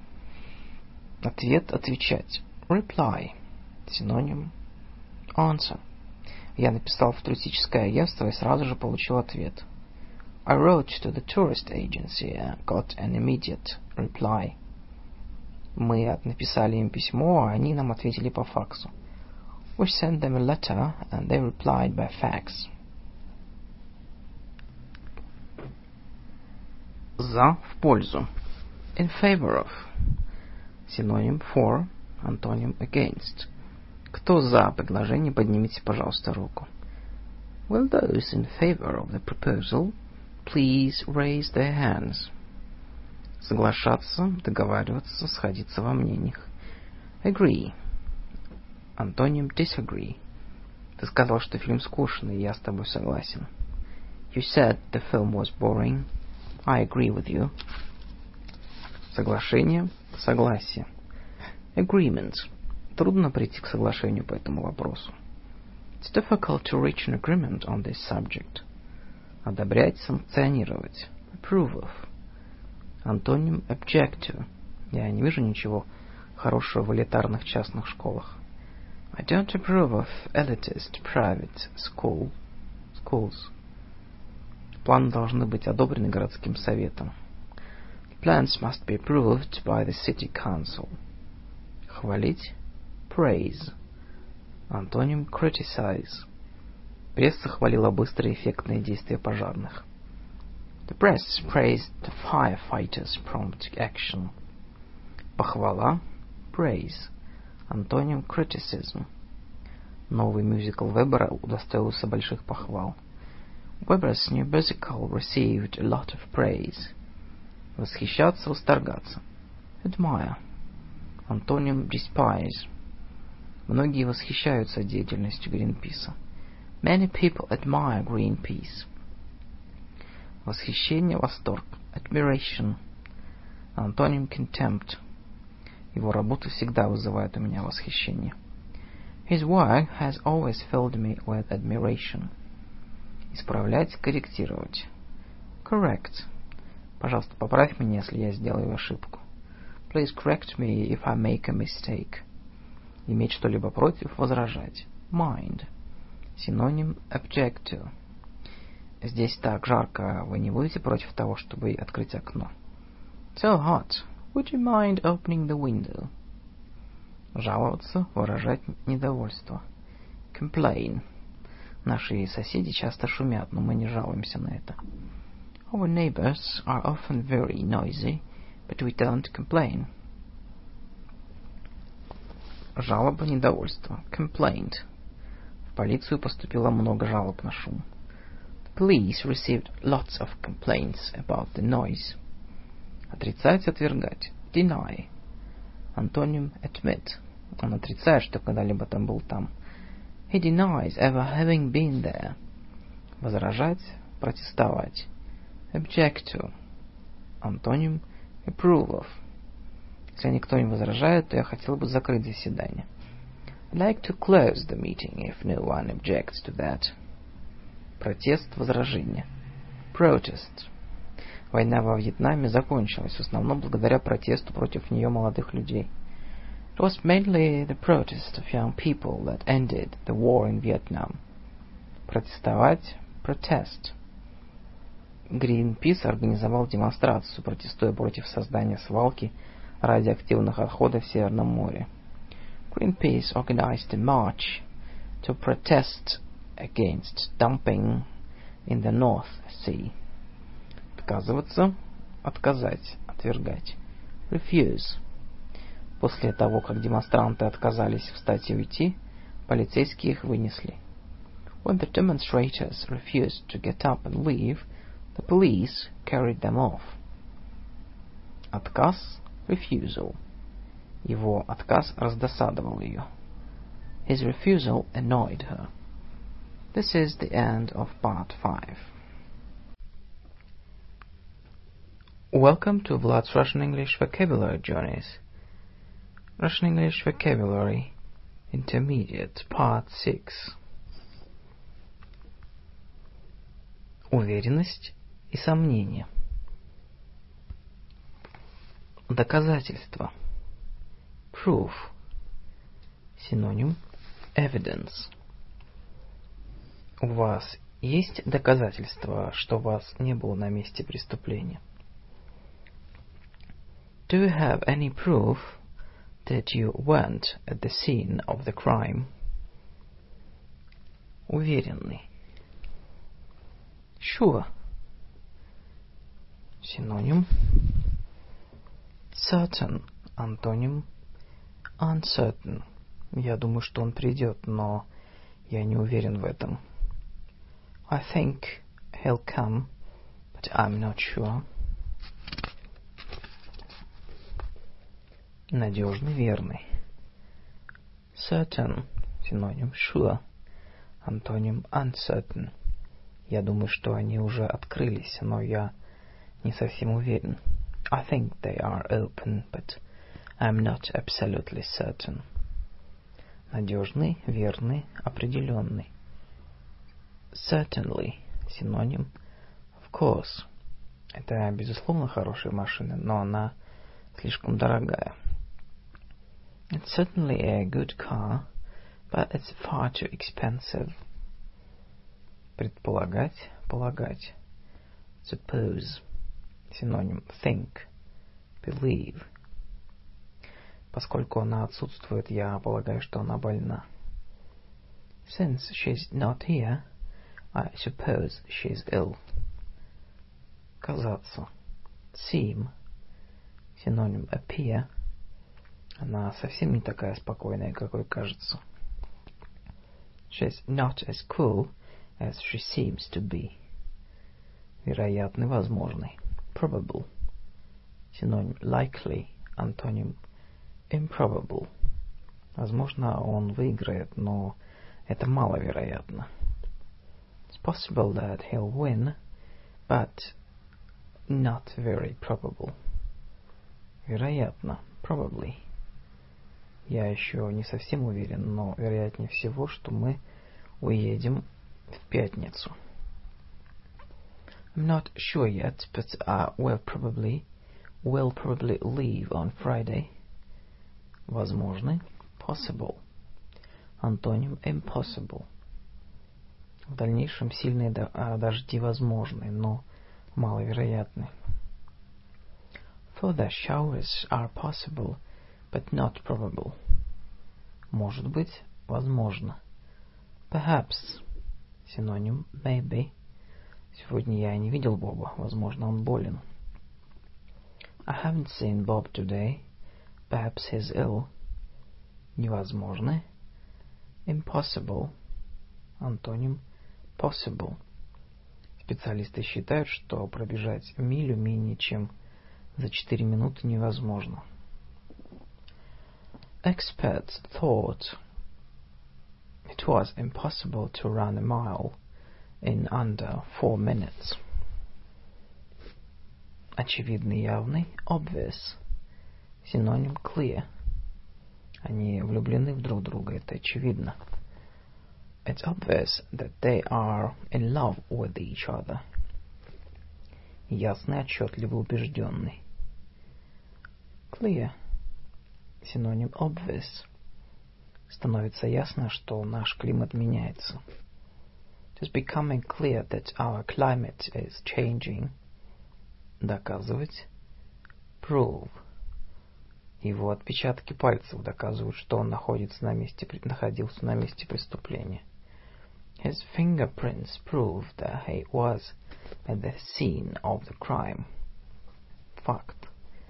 Ответ, отвечать. Reply. Синоним answer. Я написал в туристическое агентство и сразу же получил ответ. I wrote to the tourist agency and got an immediate reply. Мы написали им письмо, а они нам ответили по факсу. We sent them a letter and they replied by fax. За, в пользу. In favor of. Синоним for, антоним against. Кто за предложение, поднимите, пожалуйста, руку. Will those in favor of the proposal please raise their hands? Соглашаться, договариваться, сходиться во мнениях. Agree. Антоним disagree. Ты сказал, что фильм скучный, и я с тобой согласен. You said the film was boring. I agree with you. Соглашение, согласие. Agreement. Трудно прийти к соглашению по этому вопросу. It's difficult to reach an agreement on this subject. Одобрять, санкционировать. Approve of. Антоним object to. Я не вижу ничего хорошего в элитарных частных школах. I don't approve of elitist private schools. Планы должны быть одобрены городским советом. Plans must be approved by the city council. Хвалить. Praise. Антоним criticize. Пресса хвалила быстрые эффектные действия пожарных. The press praised the firefighters' prompt action. Похвала. Praise. Антоним criticism. Новый мюзикл Вебера удостоился больших похвал. Weber's new musical received a lot of praise. Восхищаться, восторгаться. Admire. Антоним despise. Многие восхищаются деятельностью Гринписа. Many people admire Greenpeace. Восхищение, восторг. Admiration. Антоним contempt. Его работы всегда вызывают у меня восхищение. His work has always filled me with admiration. Исправлять, корректировать. Correct. Пожалуйста, поправь меня, если я сделаю ошибку. Please correct me if I make a mistake. Иметь что-либо против, возражать. Mind. Синоним object to. Здесь так жарко, вы не будете против того, чтобы открыть окно? So hot. Would you mind opening the window? Жаловаться, выражать недовольство. Complain. Наши соседи часто шумят, но мы не жалуемся на это. Our neighbors are often very noisy, but we don't complain. Жалоба, недовольство. Complaint. В полицию поступило много жалоб на шум. The police received lots of complaints about the noise. Отрицать, отвергать. Deny. Антоним admit. Он отрицает, что когда-либо там был там. He denies ever having been there. Возражать, протестовать. Object to. Антоним approve of. Если никто не возражает, то я хотел бы закрыть заседание. I'd like to close the meeting if no one objects to that. Протест, возражение. Protest. Война во Вьетнаме закончилась в основном благодаря протесту против нее молодых людей. It was mainly the protest of young people that ended the war in Vietnam. Протестовать, protest. Greenpeace организовал демонстрацию, протестуя против создания свалки радиоактивных отходов в Северном море. Greenpeace organized a march to protest against dumping in the North Sea. Отказываться, отказать, отвергать. Refuse. После того, как демонстранты отказались встать и уйти, полицейские их вынесли. When the demonstrators refused to get up and leave, the police carried them off. Отказ, refusal. Его отказ раздосадовал ее. His refusal annoyed her. This is the end of part 5. Welcome to Vlad's Russian English Vocabulary Journeys. Russian English Vocabulary Intermediate Part 6. Уверенность и сомнение. Доказательство. Proof. Синоним evidence. У вас есть доказательства, что вас не было на месте преступления? Do you have any proof that you weren't at the scene of the crime? Уверенный. Sure. Синоним certain. Антоним uncertain. Я думаю, что он придет, но я не уверен в этом. I think he'll come, but I'm not sure. Надежный, верный. Certain. Синоним sure. Антоним uncertain. Я думаю, что они уже открылись, но я не совсем уверен. I think they are open, but I'm not absolutely certain. Надежный, верный, определенный. Certainly. Синоним of course. Это, безусловно, хорошая машина, но она слишком дорогая. It's certainly a good car, but it's far too expensive. Предполагать, полагать. Suppose. Синоним think, believe. Поскольку она отсутствует, я полагаю, что она больна. Since she's not here, I suppose she's ill. Казаться. Seem. Синоним appear. Она совсем не такая спокойная, какой кажется. She's not as cool as she seems to be. Вероятный, возможный. Probable. Синоним likely. Антоним improbable. Возможно, он выиграет, но это маловероятно. It's possible that he'll win, but not very probable. Вероятно. Probably. Я еще не совсем уверен, но вероятнее всего, что мы уедем в пятницу. I'm not sure yet, but we'll probably leave on Friday. Возможный. Possible. Антоним impossible. В дальнейшем сильные дожди возможны, но маловероятны. Further showers are possible, but not probable. Может быть, возможно. Perhaps. Синоним maybe. Сегодня я не видел Боба. Возможно, он болен. I haven't seen Bob today. Perhaps he's ill. Невозможно. Impossible. Антоним possible. Специалисты считают, что пробежать милю менее чем за 4 минуты невозможно. Experts thought it was impossible to run a mile in under 4 minutes. Очевидный, явный, obvious. Синоним clear. Они влюблены в друг друга, это очевидно. It's obvious that they are in love with each other. Ясный, отчетливый, убежденный. Clear. Синоним obvious. Становится ясно, что наш климат меняется. It is becoming clear that our climate is changing. Доказывать. Prove. Его отпечатки пальцев доказывают, что он находился находился на месте преступления. His fingerprints prove that he was at the scene of the crime. Fact.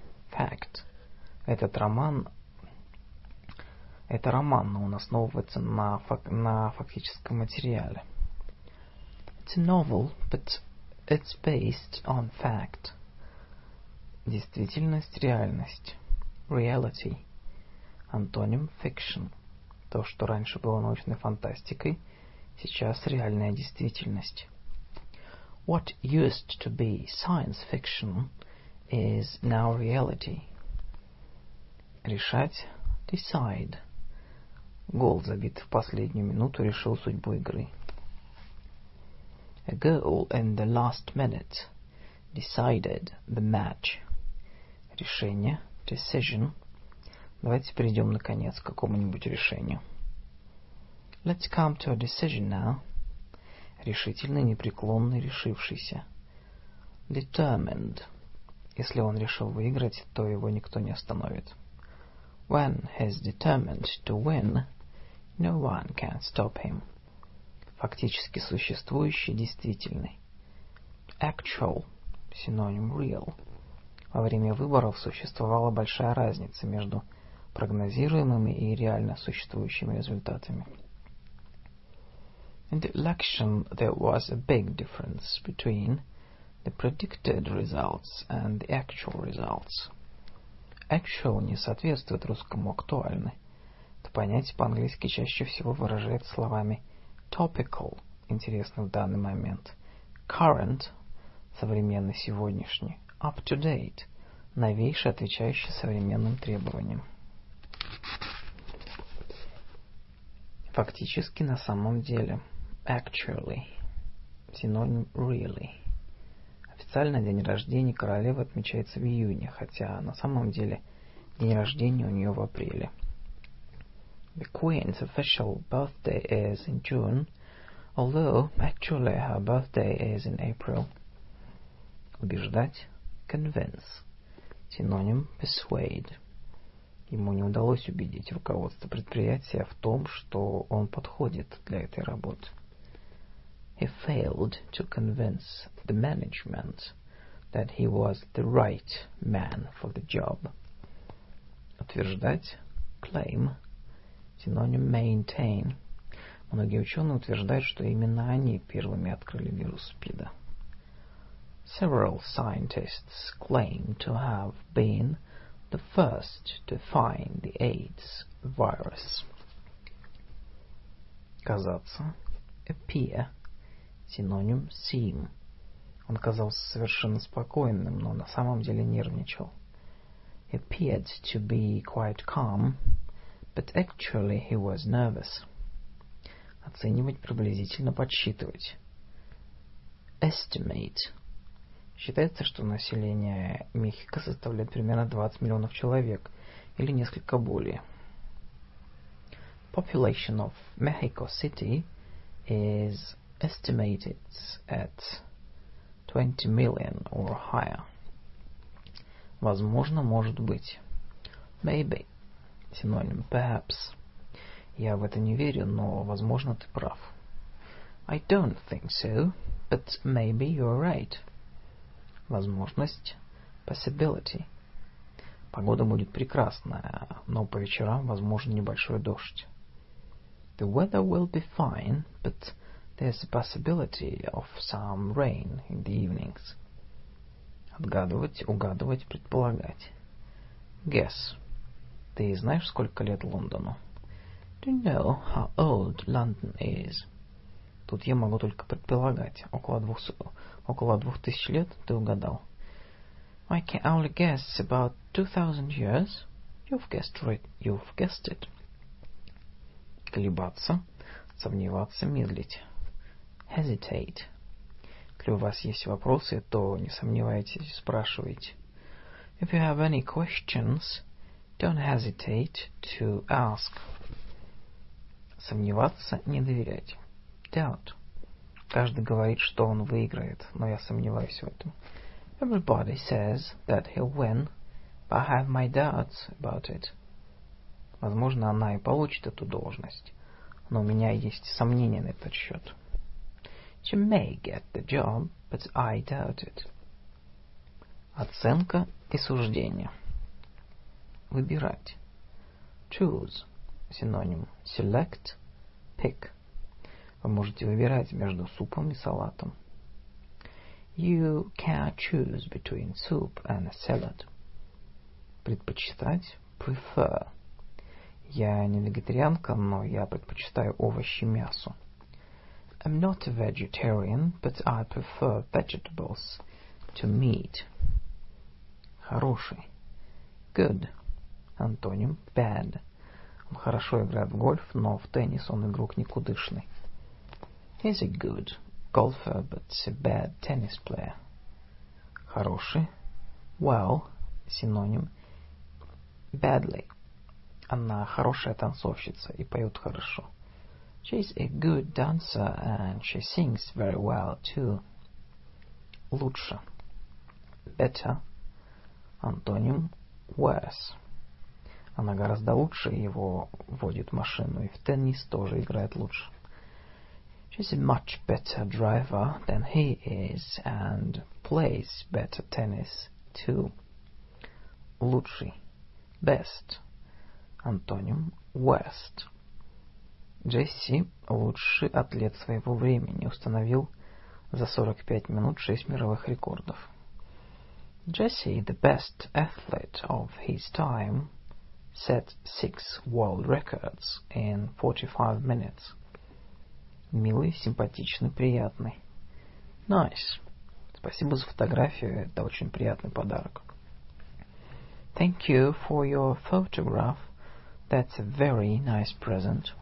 Этот роман, но он основывается на фактическом материале. It's a novel, but it's based on fact. Действительность, реальность. Reality. Антоним fiction. То, что раньше было научной фантастикой, сейчас реальная действительность. What used to be science fiction is now reality. Решать. Decide. Гол, забитый в последнюю минуту, решил судьбу игры. A goal in the last minute decided the match. Решение. Decision. Давайте перейдем, наконец, к какому-нибудь решению. Let's come to a decision now. Решительный, непреклонный, решившийся. Determined. Если он решил выиграть, то его никто не остановит. When he's determined to win, no one can stop him. Фактически существующий, действительный. Actual. Синоним real. Во время выборов существовала большая разница между прогнозируемыми и реально существующими результатами. In the election, there was a big difference between the predicted results and the actual results. Actual не соответствует русскому актуальный. Это понятие по-английски чаще всего выражается словами Topical – интересно в данный момент. Current – современный, сегодняшний. Up to date – новейший, отвечающий современным требованиям. Фактически, на самом деле. Actually. Синоним really. Официально день рождения королевы отмечается в июне, хотя на самом деле день рождения у нее в апреле. The Queen's official birthday is in June, although actually her birthday is in April. Убеждать. Convince. Синоним persuade. Ему не удалось убедить руководство предприятия в том, что он подходит для этой работы. He failed to convince the management that he was the right man for the job. Утверждать. Claim. Синоним maintain. Многие ученые утверждают, что именно они первыми открыли вирус СПИДа. Several scientists claim to have been the first to find the AIDS virus. Казаться. Appear. Синоним seem. Он казался совершенно спокойным, но на самом деле нервничал. He appeared to be quite calm, but actually he was nervous. Оценивать, приблизительно подсчитывать. Estimate. Считается, что население Мехико составляет примерно 20 миллионов человек, или несколько более. Population of Mexico City is estimated at 20 million or higher. Возможно, может быть. Maybe. Синоним perhaps. Я в это не верю, но, возможно, ты прав. I don't think so, but maybe you're right. Возможность. Possibility. Погода будет прекрасная, но по вечерам возможен небольшой дождь. The weather will be fine, but there's a possibility of some rain in the evenings. Отгадывать, угадывать, предполагать. Guess. Ты знаешь, сколько лет Лондону? Do you know how old London is? Тут я могу только предполагать. Около 2000 лет ты угадал. I can only guess about 2000 years. You've guessed it. Колебаться, сомневаться, медлить. Hesitate. Если у вас есть вопросы, то не сомневайтесь, спрашивайте. If you have any questions, don't hesitate to ask. Сомневаться, не доверять. Doubt. Каждый говорит, что он выиграет, но я сомневаюсь в этом. Everybody says that he'll win, but I have my doubts about it. Возможно, она и получит эту должность, но у меня есть сомнения на этот счет. She may get the job, but I doubt it. Оценка и суждение. Выбирать. Choose. Синоним. Select. Pick. Вы можете выбирать между супом и салатом. You can choose between soup and a salad. Предпочитать. Prefer. Я не вегетарианка, но я предпочитаю овощи мясу. I'm not a vegetarian, but I prefer vegetables to meat. Хороший. Good. Антоним. Bad. Он хорошо играет в гольф, но в теннис он игрок никудышный. He's a good golfer, but a bad tennis player. Хороший. Well. Синоним. Badly. Она хорошая танцовщица и поет хорошо. She's a good dancer and she sings very well too. Лучше. Better. Антоним. Worse. Она гораздо лучше его водит машину, и в теннис тоже играет лучше. She's a much better driver than he is and plays better tennis too. Лучший. Best. Антоним. Worst. Джесси, лучший атлет своего времени, установил за 45 минут 6 мировых рекордов. Jesse, the best athlete of his time, set 6 world records in 45 minutes. Милый, симпатичный, приятный. Nice. Спасибо за фотографию, это очень приятный подарок. Thank you for your photograph. That's a very nice present.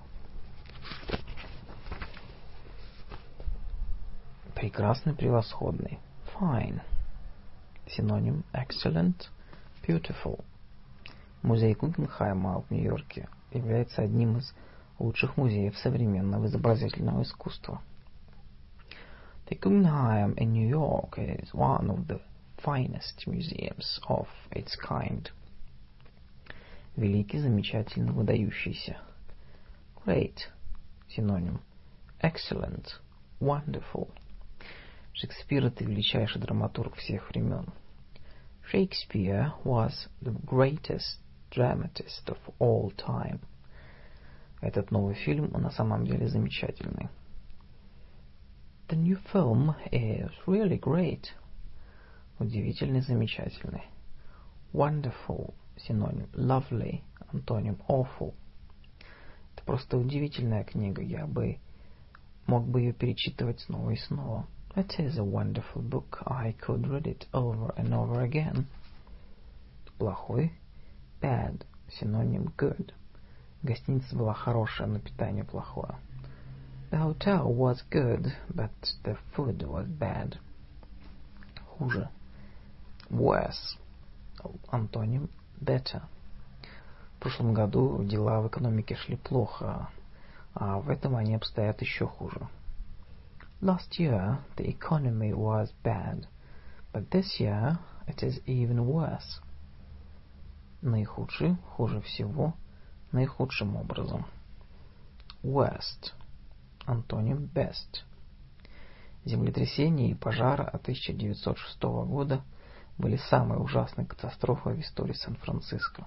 Прекрасный, превосходный. Fine. Синоним excellent, beautiful. Музей Гугенхайма в Нью-Йорке является одним из лучших музеев современного изобразительного искусства. The Guggenheim in New York is one of the finest museums of its kind. Великий, замечательный, выдающийся. Great. Синоним Excellent. Wonderful. Шекспир — это величайший драматург всех времен. Shakespeare was the greatest dramatist of all time. Этот новый фильм на самом деле замечательный. The new film is really great. Удивительный, замечательный. Wonderful. Синоним Lovely. антоним awful. Это просто удивительная книга, я мог бы ее перечитывать снова и снова. It is a wonderful book. I could read it over and over again. Плохой. Bad. Синоним good. Гостиница была хорошая, но питание плохое. The hotel was good, but the food was bad. Хуже. Worse. Антоним better. В прошлом году дела в экономике шли плохо, а в этом они обстоят еще хуже. Last year the economy was bad, but this year it is even worse. Наихудший, хуже всего, наихудшим образом. Worst. Антоним best. Землетрясения и пожары 1906 года были самой ужасной катастрофой в истории Сан-Франциско.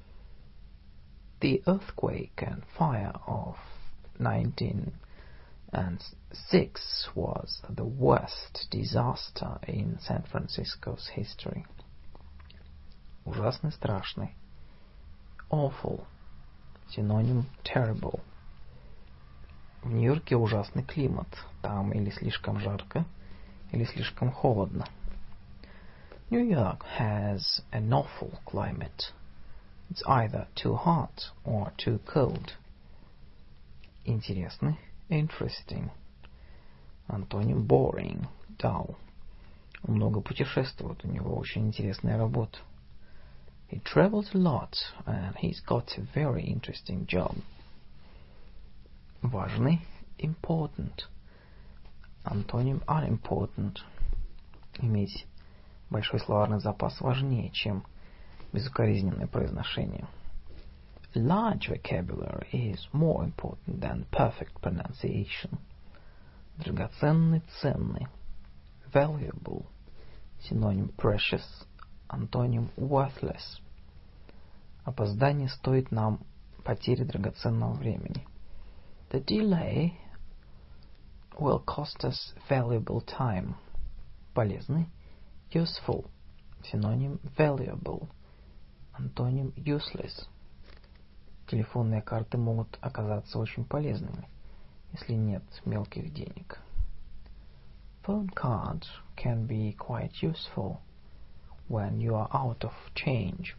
The earthquake and fire of 1906 was the worst disaster in San Francisco's history. Ужасный, страшный. Awful. Синоним terrible. В Нью-Йорке ужасный климат. Там или слишком жарко, или слишком холодно. New York has an awful climate. It's either too hot or too cold. Интересный. Interesting. Антоним boring, dull. Он много путешествует, у него очень интересная работа. He travels a lot and he's got a very interesting job. Важный. Important. Антоним unimportant. Иметь большой словарный запас важнее, чем безукоризненное произношение. Large vocabulary is more important than perfect pronunciation. Драгоценный, ценный. Valuable. Синоним precious. Антоним worthless. Опоздание стоит нам потери драгоценного времени. The delay will cost us valuable time. Полезный. Useful. Синоним valuable. Антоним useless. Телефонные карты могут оказаться очень полезными, если нет мелких денег. Phone cards can be quite useful when you are out of change.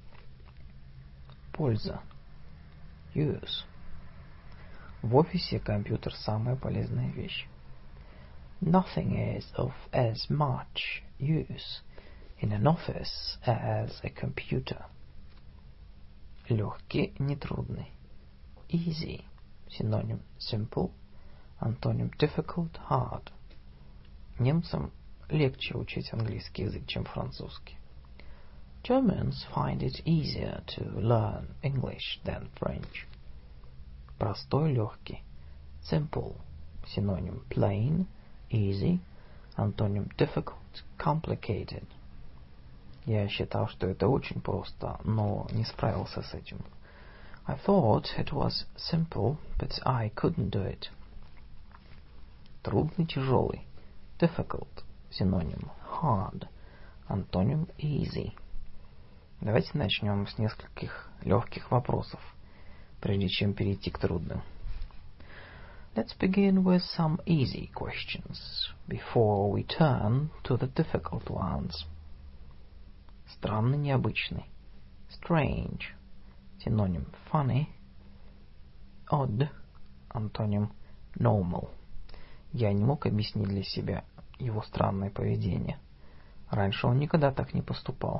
Польза. Use. В офисе компьютер самая полезная вещь. Nothing is of as much use in an office as a computer. Легкий, нетрудный. Easy. Синоним simple. Антоним difficult, hard. Немцам легче учить английский язык, чем французский. Germans find it easier to learn English than French. Простой, легкий. Simple. Синоним plain, easy. Антоним difficult, complicated. Я считал, что это очень просто, но не справился с этим. I thought it was simple, but I couldn't do it. Трудный, тяжелый. Difficult. Синоним hard. Антоним easy. Давайте начнем с нескольких легких вопросов, прежде чем перейти к трудным. Let's begin with some easy questions before we turn to the difficult ones. Странный, необычный. Strange. Синоним funny. Odd. Антоним normal. Я не мог объяснить для себя его странное поведение. Раньше он никогда так не поступал.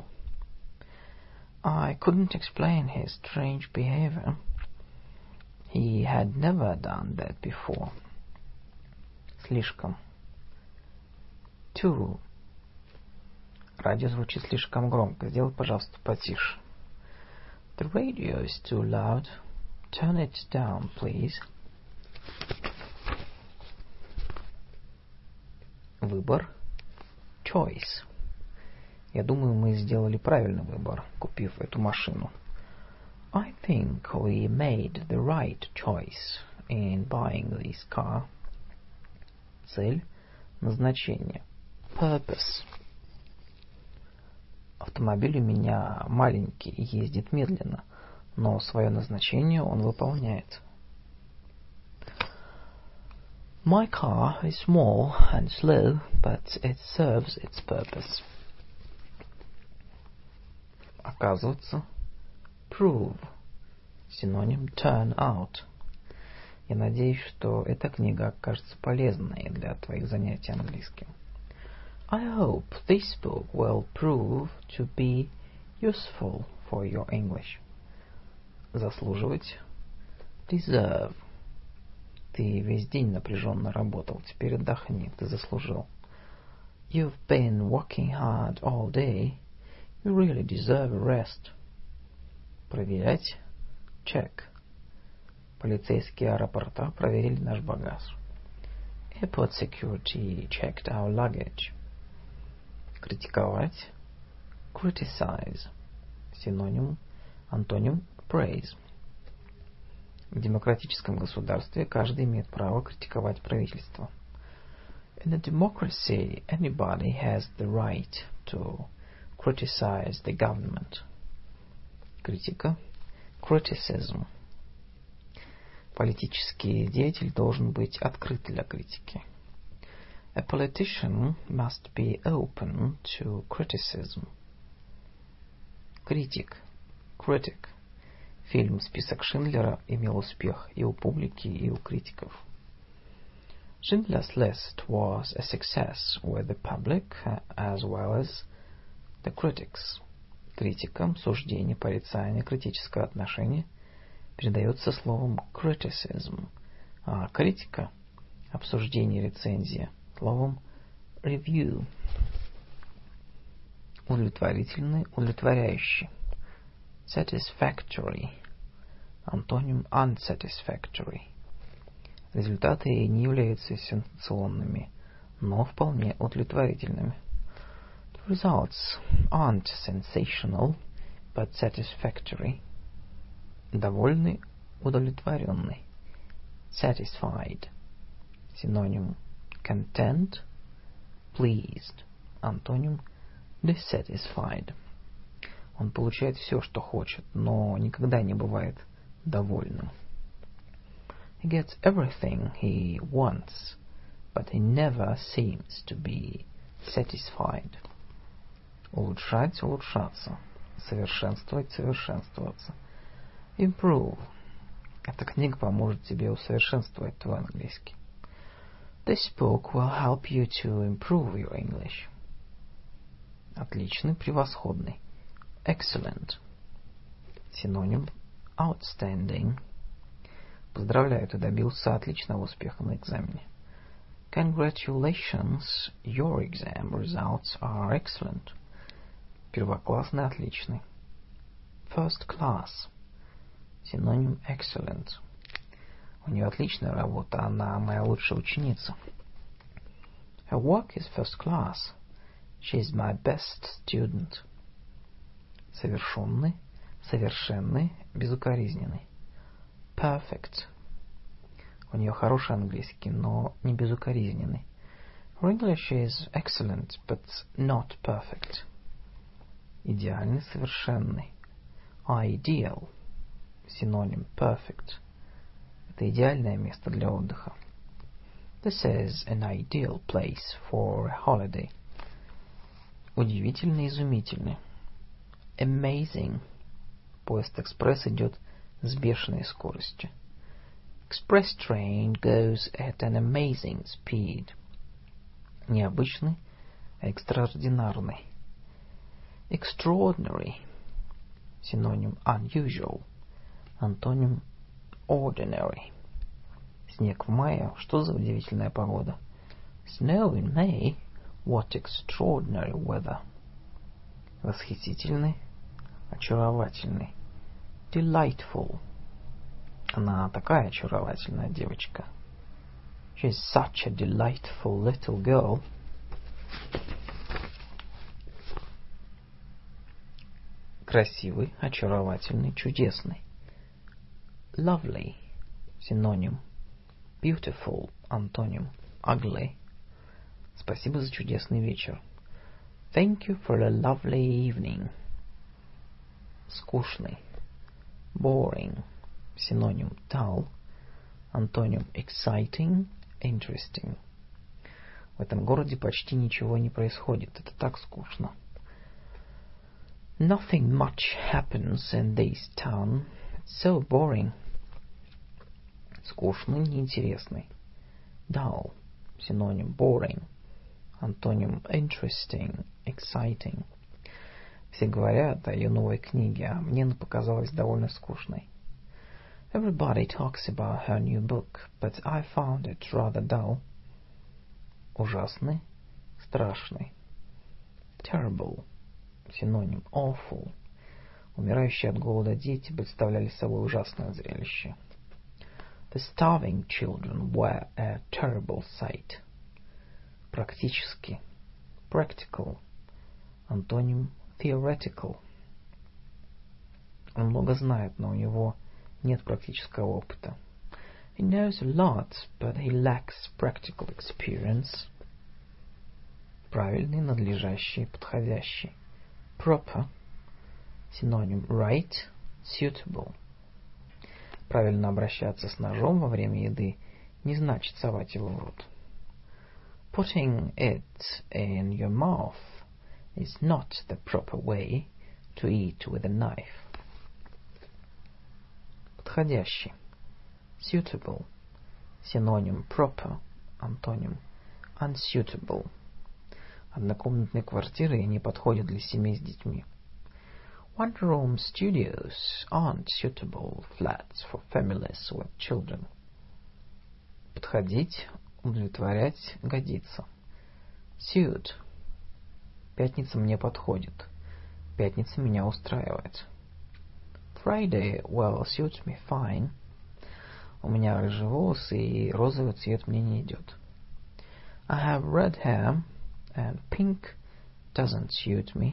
I couldn't explain his strange behavior. He had never done that before. Слишком. Too. Радио звучит слишком громко. Сделай, пожалуйста, потише. The radio is too loud. Turn it down, please. Выбор. Choice. Я думаю, мы сделали правильный выбор, купив эту машину. I think we made the right choice in buying this car. Цель. Назначение. Purpose. Автомобиль у меня маленький и ездит медленно, но свое назначение он выполняет. My car is small and slow, but it serves its purpose. Оказывается. Prove. Синоним turn out. Я надеюсь, что эта книга окажется полезной для твоих занятий английским. I hope this book will prove to be useful for your English. Заслуживать. Deserve. Ты весь день напряженно работал, теперь отдохни, ты заслужил. You've been working hard all day. You really deserve a rest. Проверять. Check. Полицейские аэропорта проверили наш багаж. Airport security checked our luggage. Критиковать. Criticize. Синоним. Антоним. Praise. В демократическом государстве каждый имеет право критиковать правительство. In a democracy, anybody has the right to criticize the government. Критика. Criticism. Политический деятель должен быть открыт для критики. A politician must be open to criticism. Критик. Critic. Фильм «Список Шиндлера» имел успех и у публики, и у критиков. Schindler's List was a success with the public as well as the critics. Критика, суждение, порицание, критическое отношение передается словом criticism, а критика, обсуждение, рецензия, словом review. Удовлетворительный, удовлетворяющий. Satisfactory. Антоним unsatisfactory. Результаты не являются сенсационными, но вполне удовлетворительными. The results aren't sensational, but satisfactory. Довольный, удовлетворенный. Satisfied. Синоним content, pleased. Антоним dissatisfied. Он получает все, что хочет, но никогда не бывает довольным. He gets everything he wants, but he never seems to be satisfied. Улучшать, улучшаться. Совершенствовать, совершенствоваться. Improve. Эта книга поможет тебе усовершенствовать твой английский. This book will help you to improve your English. Отличный, превосходный. Excellent. Синоним outstanding. Поздравляю, ты добился отличного успеха на экзамене. Congratulations, your exam results are excellent. Первоклассный, отличный. First class. Синоним excellent. У нее отличная работа, она моя лучшая ученица. Her work is first class. She is my best student. Совершенный, совершенный, безукоризненный. Perfect. У нее хороший английский, но не безукоризненный. Her English is excellent, but not perfect. Идеальный, совершенный. Ideal. Синоним perfect. Это идеальное место для отдыха. This is an ideal place for a holiday. Удивительно изумительно. Amazing. Поезд экспресс идет с бешеной скоростью. Express train goes at an amazing speed. Необычный, экстраординарный. Extraordinary. Синоним unusual. Антоним ordinary. Снег в мае. Что за удивительная погода? Snow in May. What extraordinary weather. Восхитительный, очаровательный. Delightful. Она такая очаровательная девочка. She is such a delightful little girl. Красивый, очаровательный, чудесный. Lovely. Синоним. Beautiful. Антоним. Ugly. Спасибо за чудесный вечер. Thank you for a lovely evening. Скучный. Boring. Синоним. Dull. Антоним. Exciting. Interesting. В этом городе почти ничего не происходит. Это так скучно. Nothing much happens in this town. It's so boring. Скучный, неинтересный. Dull. Синоним. Boring. Антоним. Interesting. Exciting. Все говорят о ее новой книге, а мне она показалась довольно скучной. Everybody talks about her new book, but I found it rather dull. Ужасный, страшный. Terrible. Синоним. Awful. Умирающие от голода дети представляли собой ужасное зрелище. The starving children were a terrible sight. Практически. Practical. Антоним. Theoretical. Он много знает, но у него нет практического опыта. He knows a lot, but he lacks practical experience. Правильный, надлежащий, подходящий. Proper. Синоним. Right. Suitable. Правильно обращаться с ножом во время еды не значит совать его в рот. Putting it in your mouth is not the proper way to eat with a knife. Подходящий. Suitable. Синоним. Proper. Антоним. Unsuitable. Однокомнатные квартиры не подходят для семей с детьми. One-room studios aren't suitable flats for families with children. Подходить, удовлетворять, годиться. Suit. Пятница мне подходит. Пятница меня устраивает. Friday will suit me fine. У меня рыжие волосы, и розовый цвет мне не идет. I have red hair, and pink doesn't suit me.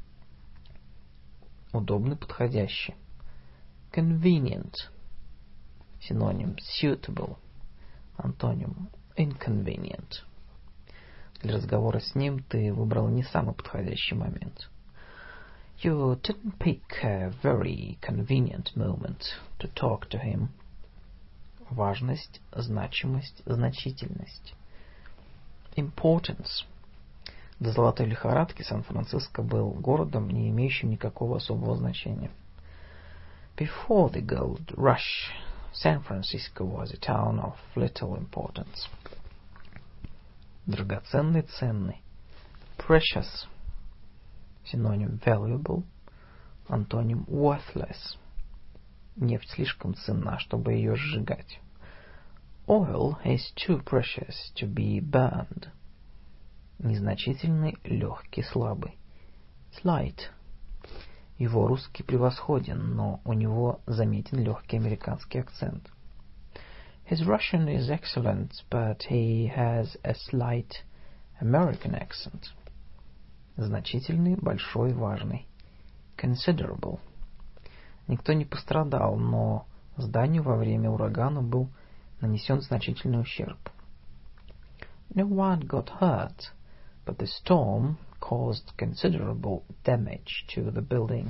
Удобный, подходящий. Convenient. Синоним. Suitable. Антоним. Inconvenient. Для разговора с ним ты выбрал не самый подходящий момент. You didn't pick a very convenient moment to talk to him. Важность, значимость, значительность. Importance. До золотой лихорадки Сан-Франциско был городом, не имеющим никакого особого значения. Before the gold rush, San Francisco was a town of little importance. Драгоценный, ценный. Precious. Синоним. Valuable. Антоним. Worthless. Нефть слишком ценна, чтобы ее сжигать. Oil is too precious to be burned. Незначительный, легкий, слабый. Slight. Его русский превосходен, но у него заметен легкий американский акцент. His Russian is excellent, but he has a slight American accent. Значительный, большой, важный. Considerable. Никто не пострадал, но зданию во время урагана был нанесен значительный ущерб. No one got hurt, but the storm caused considerable damage to the building.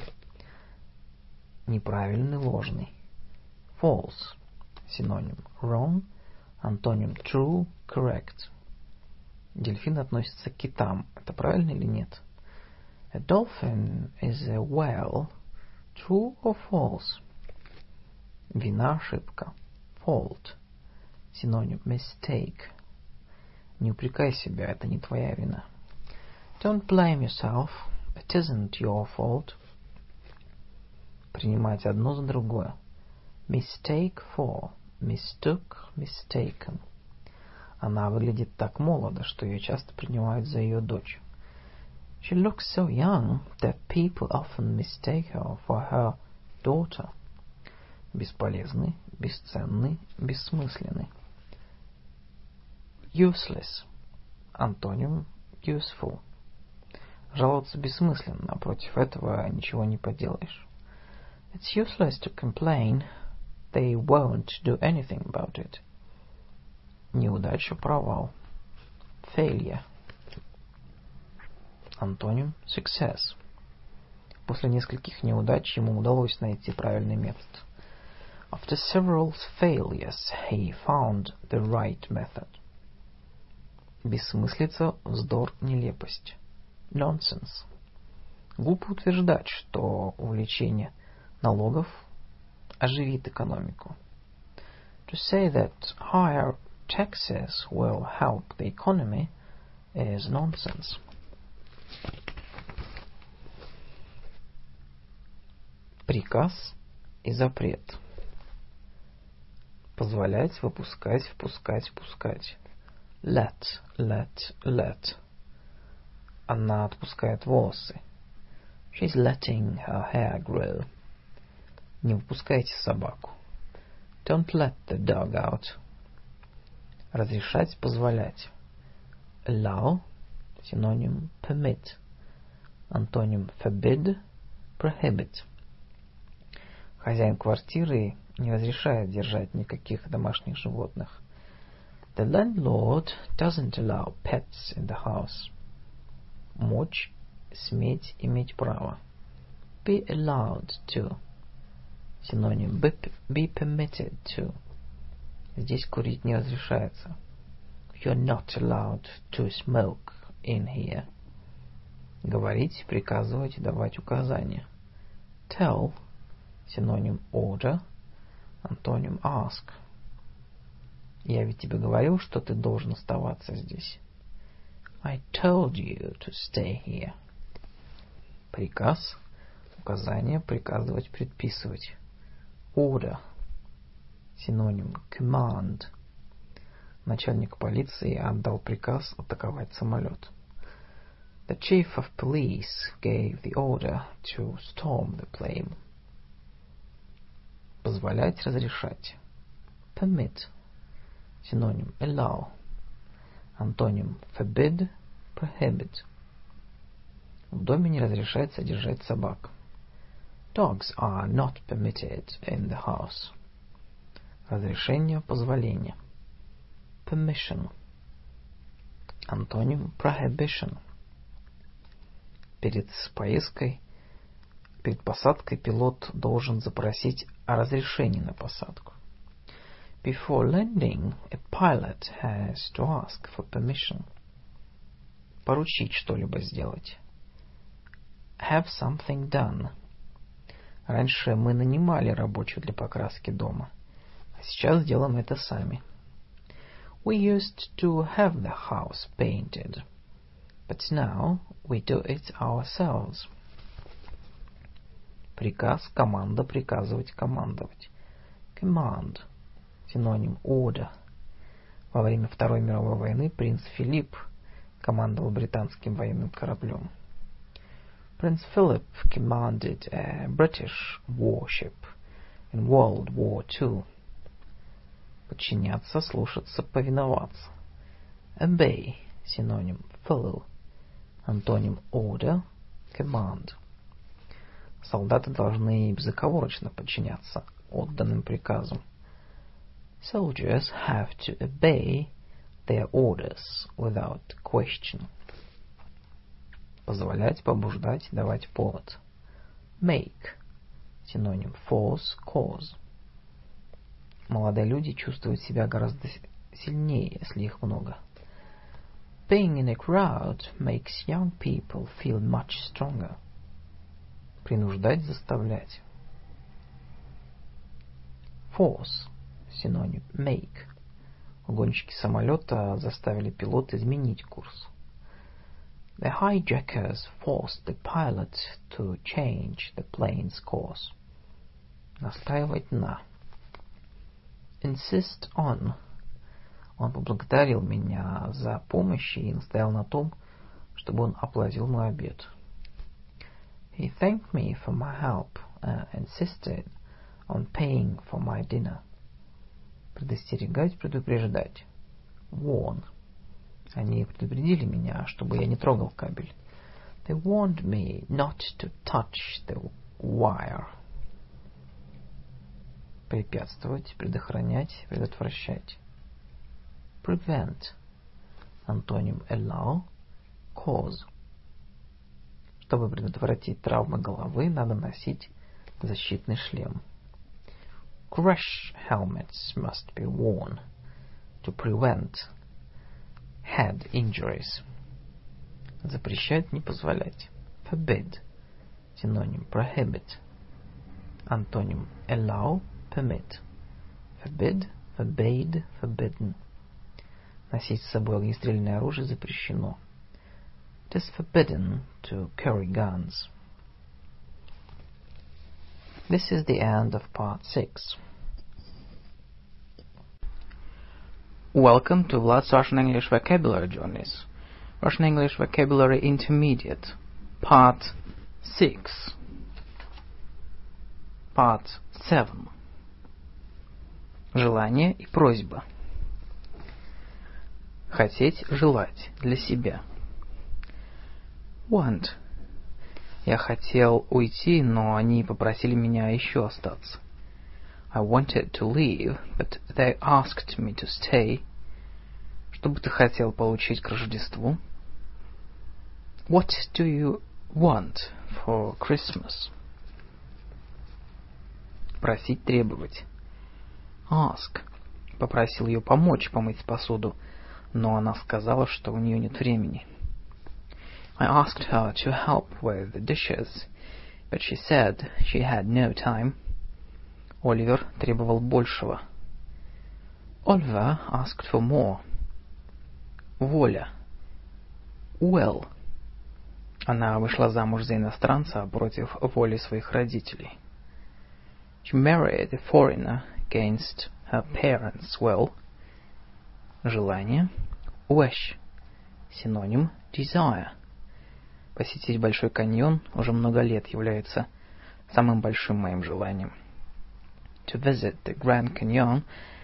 Неправильный, ложный. False. Синоним. Wrong. Антоним true, correct. Дельфин относится к китам. Это правильно или нет? A dolphin is a whale. True or false? Вина, ошибка. Fault. Синоним mistake. Не упрекай себя, это не твоя вина. Don't blame yourself. It isn't your fault. Принимать одно за другое. Mistake for. Mistook, mistaken. Она выглядит так молодо, что ее часто принимают за ее дочь. She looks so young that people often mistake her for her daughter. Бесполезный, бесценный, бессмысленный. Useless. Антоним useful. Жаловаться бессмысленно, а против этого ничего не поделаешь. It's useless to complain. They won't do anything about it. Неудача, провал. Failure. Антоним success. После нескольких неудач ему удалось найти правильный метод. After several failures, he found the right method. Бессмыслица, вздор, нелепость. Nonsense. Глупо утверждать, что увеличение налогов оживит экономику. To say that higher taxes will help the economy is nonsense. Приказ и запрет. Позволять, выпускать, впускать, впускать. Let, let, let. Она отпускает волосы. She's letting her hair grow. Не выпускайте собаку. Don't let the dog out. Разрешать, позволять. Allow. Синоним permit. Антоним forbid, prohibit. Хозяин квартиры не разрешает держать никаких домашних животных. The landlord doesn't allow pets in the house. Мочь, сметь, иметь право. Be allowed to. Синоним be permitted to. Здесь курить не разрешается. You're not allowed to smoke in here. Говорить, приказывать, давать указания. Tell. Синоним order. Антоним ask. Я ведь тебе говорил, что ты должен оставаться здесь. I told you to stay here. Приказ. Указание, приказывать, предписывать. Order. Синоним command. Начальник полиции отдал приказ атаковать самолет. The chief of police gave the order to storm the plane. Позволять, разрешать. Permit. Синоним allow. Антоним forbid, prohibit. В доме не разрешается держать собак. Dogs are not permitted in the house. Разрешение, позволение. Permission. Антоним prohibition. Перед посадкой пилот должен запросить о разрешении на посадку. Before landing, a pilot has to ask for permission. Поручить что-либо сделать. Have something done. Раньше мы нанимали рабочих для покраски дома, а сейчас делаем это сами. We used to have the house painted, but now we do it ourselves. Приказ, команда, приказывать, командовать. Command. Синоним order. Во время Второй мировой войны принц Филипп командовал британским военным кораблем. Prince Philip commanded a British warship in World War II. Подчиняться, слушаться, повиноваться. Obey. Синоним follow. Антоним order, command. Солдаты должны безоговорочно подчиняться отданным приказам. Soldiers have to obey their orders without question. Позволять, побуждать, давать повод. Make. Синоним force, cause. Молодые люди чувствуют себя гораздо сильнее, если их много. Being in a crowd makes young people feel much stronger. Принуждать, заставлять. Force. Синоним make. Угонщики самолета заставили пилота изменить курс. The hijackers forced the pilot to change the plane's course. Настаивать на. Insist on. Он поблагодарил меня за помощь и настоял на том, чтобы он оплатил мой обед. He thanked me for my help and insisted on paying for my dinner. Предостерегать, предупреждать. Warn. Они предупредили меня, чтобы я не трогал кабель. They warned me not to touch the wire. Препятствовать, предохранять, предотвращать. Prevent. Антоним allow. Cause. Чтобы предотвратить травмы головы, надо носить защитный шлем. Crash helmets must be worn to prevent head injuries. Запрещать, не позволять. Forbid. Синоним prohibit. Антоним allow, permit. Forbid, forbade, forbidden. Носить с собой огнестрельное оружие запрещено. It is forbidden to carry guns. This is the end of part 6. Welcome to Vlad's Russian English Vocabulary Journeys. Russian English Vocabulary Intermediate. Part 6. Part 7. Желание и просьба. Хотеть, желать, для себя. Want. Я хотел уйти, но они попросили меня еще остаться. I wanted to leave, but they asked me to stay. Что бы ты хотел получить к Рождеству? What do you want for Christmas? Просить, требовать. Ask. Попросил ее помочь помыть посуду, но она сказала, что у нее нет времени. I asked her to help with the dishes, but she said she had no time. Оливер требовал большего. Oliver asked for more. Воля. Will. Она вышла замуж за иностранца против воли своих родителей. She married a foreigner against her parents' will. Желание. Wish. Синоним desire. Посетить Большой каньон уже много лет является самым большим моим желанием. To visit the Grand Canyon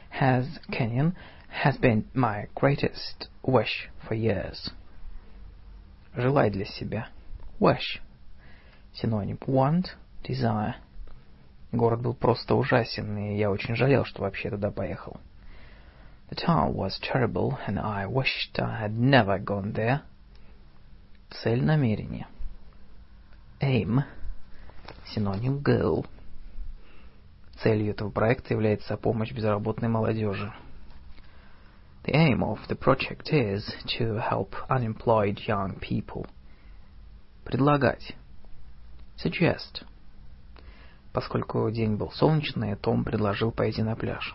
has been my greatest wish for years. Желать для себя. Wish. Синоним want, desire. Город был просто ужасен, и я очень жалел, что вообще туда поехал. The town was terrible, and I wished I had never gone there. Цель, намерение. Aim. Синоним goal. Целью этого проекта является помощь безработной молодежи. The aim of the project is to help unemployed young people. Предлагать. Suggest. Поскольку день был солнечный, Том предложил пойти на пляж.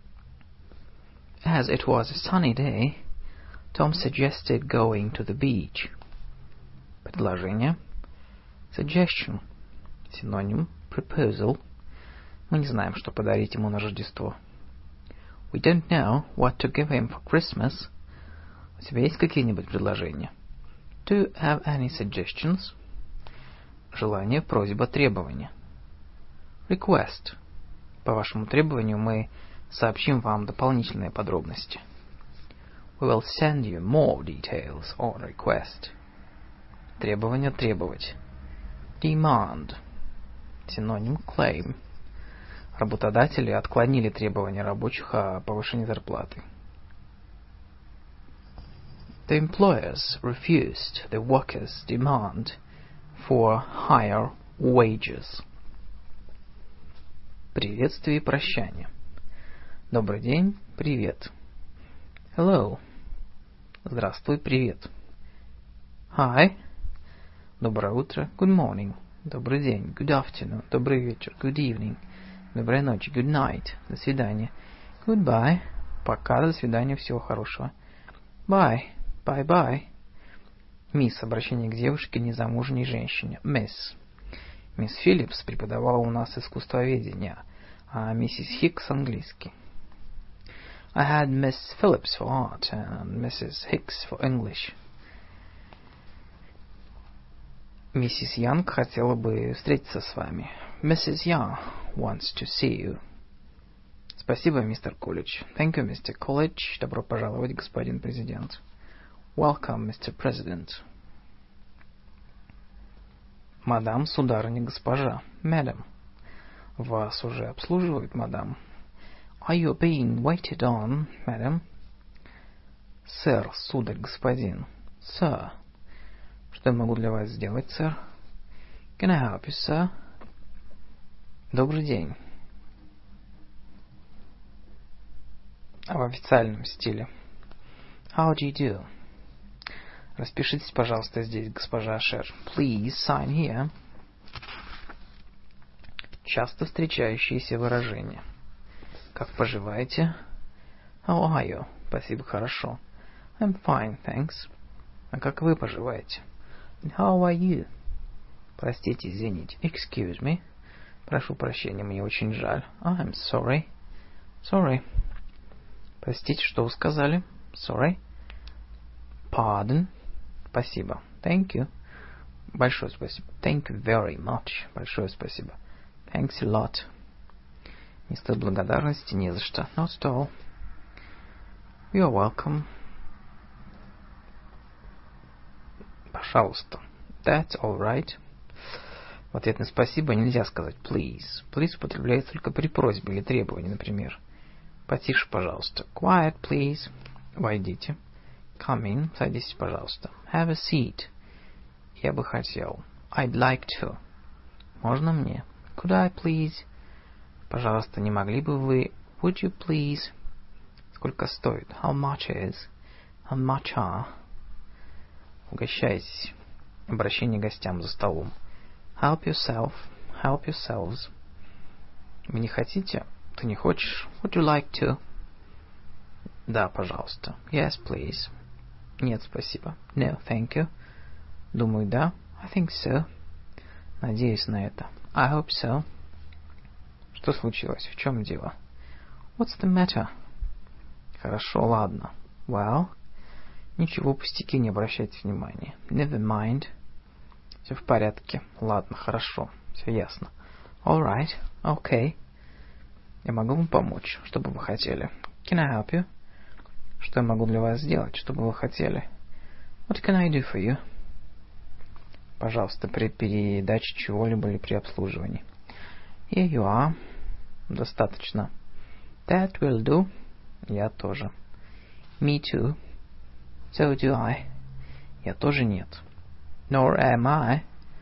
As it was a sunny day, Tom suggested going to the beach. Предложение. Suggestion. Синоним proposal. Мы не знаем, что подарить ему на Рождество. We don't know what to give him for Christmas. У тебя есть какие-нибудь предложения? Do you have any suggestions? Желание, просьба, требование. Request. По вашему требованию мы сообщим вам дополнительные подробности. We will send you more details on request. Требование, требовать. Demand. Синоним claim. Работодатели отклонили требования рабочих о повышении зарплаты. The employers refused the workers' demand for higher wages. Приветствие и прощание. Добрый день, привет. Hello. Здравствуй, привет. Hi. Доброе утро. Good morning. Добрый день. Good afternoon. Добрый вечер. Good evening. Доброй ночи. Good night. До свидания. Goodbye. Пока, до свидания, всего хорошего. Bye. Bye-bye. Мисс, обращение к девушке, незамужней женщине. Miss. Мисс Филлипс преподавала у нас искусствоведение, а миссис Хикс английский. I had Miss Phillips for art and Mrs. Hicks for English. Миссис Янг хотела бы встретиться с вами. Mrs. Young wants to see you. Спасибо, мистер Колледж. Thank you, Mr. Coolidge. Добро пожаловать, господин президент. Welcome, Mr. President. Мадам, сударыня, госпожа. Madam. Вас уже обслуживают, мадам. Are you being waited on, madam? Сэр, сударь, господин. Sir. Что я могу для вас сделать, сэр? Can I help you, sir? Добрый день. В официальном стиле. How do you do? Распишитесь, пожалуйста, здесь, госпожа Ашер. Please sign here. Часто встречающиеся выражения. Как поживаете? How are you? Спасибо, хорошо. I'm fine, thanks. А как вы поживаете? And how are you? Простите, извините. Excuse me. Прошу прощения, мне очень жаль. I'm sorry. Sorry. Простите, что вы сказали? Sorry. Pardon. Спасибо. Thank you. Большое спасибо. Thank you very much. Большое спасибо. Thanks a lot. Не стоит благодарности, не за что. Not at all. You're welcome. Пожалуйста. That's all right. В ответ на спасибо нельзя сказать please. Please употребляется только при просьбе или требовании, например. Потише, пожалуйста. Quiet, please. Войдите. Come in. Садитесь, пожалуйста. Have a seat. Я бы хотел. I'd like to. Можно мне? Could I please? Пожалуйста, не могли бы вы... Would you please? Сколько стоит? How much is? How much are? Угощайтесь. Обращение к гостям за столом. Help yourself. Help yourselves. Вы не хотите? Ты не хочешь? Would you like to? Да, пожалуйста. Yes, please. Нет, спасибо. No, thank you. Думаю, да. I think so. Надеюсь на это. I hope so. Что случилось? В чем дело? What's the matter? Хорошо, ладно. Well? Ничего, пустяки, не обращайте внимания. Never mind. Все в порядке. Ладно, хорошо. Все ясно. All right. Okay. Я могу вам помочь. Что бы вы хотели? Can I help you? Что я могу для вас сделать? Что бы вы хотели? What can I do for you? Пожалуйста, при передаче чего-либо или при обслуживании. Here you are. Достаточно. That will do. Я тоже. Me too. So do I. Я тоже нет. Nor am I.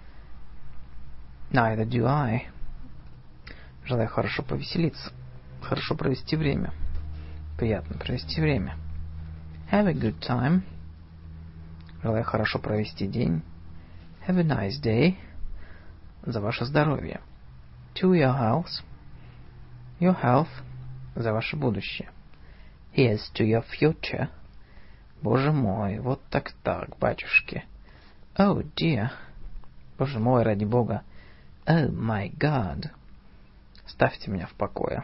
Neither do I. Желаю хорошо повеселиться. Хорошо провести время. Приятно провести время. Have a good time. Желаю хорошо провести день. Have a nice day. За ваше здоровье. To your health. Your health. За ваше будущее. Here's to your future. Боже мой, вот так, батюшки. Oh dear. Боже мой, ради Бога. Oh my God. Ставьте меня в покое.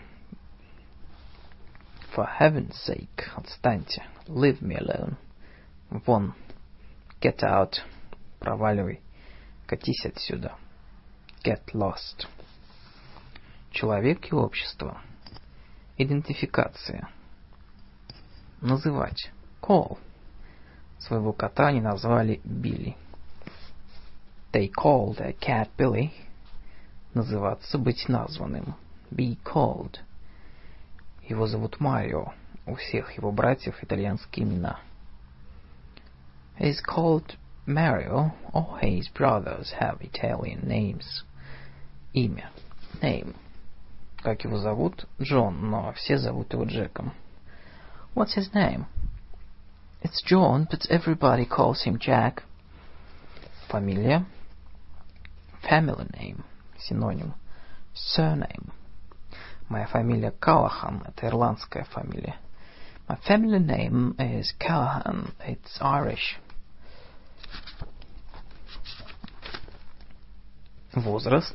For heaven's sake. Отстаньте. Leave me alone. Вон. Get out. Проваливай. Катись отсюда. Get lost. Человек и общество. Идентификация. Называть. Call. Своего кота они назвали Билли. They called their cat Billy. Называться, быть названным. Be called. Его зовут Марио. У всех его братьев итальянские имена. He is called Mario. All his brothers have Italian names. Имя. Name. Как его зовут? Джон, но все зовут его Джеком. What's his name? It's John, but everybody calls him Jack. Фамилия. Family name. Синоним. Surname. Моя фамилия Калахан. Это ирландская фамилия. My family name is Callahan. It's Irish. Возраст.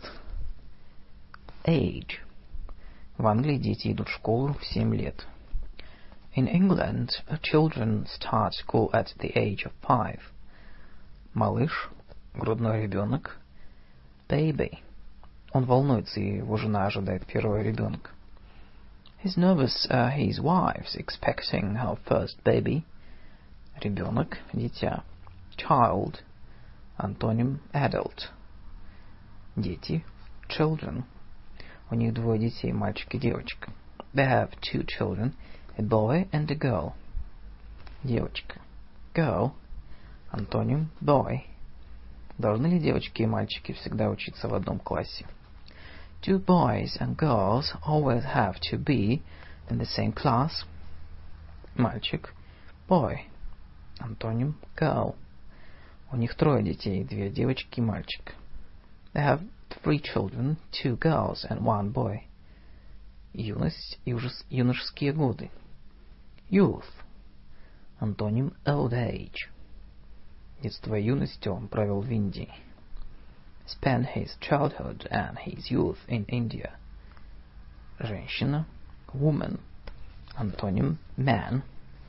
Age. В Англии дети идут в школу в 7 лет. In England, children start school at the age of 5. Малыш. Грудной ребенок. Baby. Он волнуется, и его жена ожидает первого ребенка. He's nervous, his wife's expecting her first baby. Ребенок, дитя. Child. Антоним adult. Дети. Children. У них двое детей, мальчик и девочка. They have 2 children, a boy and a girl. Девочка. Girl. Антоним boy. Должны ли девочки и мальчики всегда учиться в одном классе? Do boys and girls always have to be in the same class? Мальчик. Boy. Антоним girl. У них 3 детей, 2 девочки и мальчик. They have 3 children, 2 girls and 1 boy. Юность и юношеские годы. Youth. Антоним old age. Детство и юность он провел в Индии. Spent his childhood and his youth in India. Женщина. Woman. Антоним man.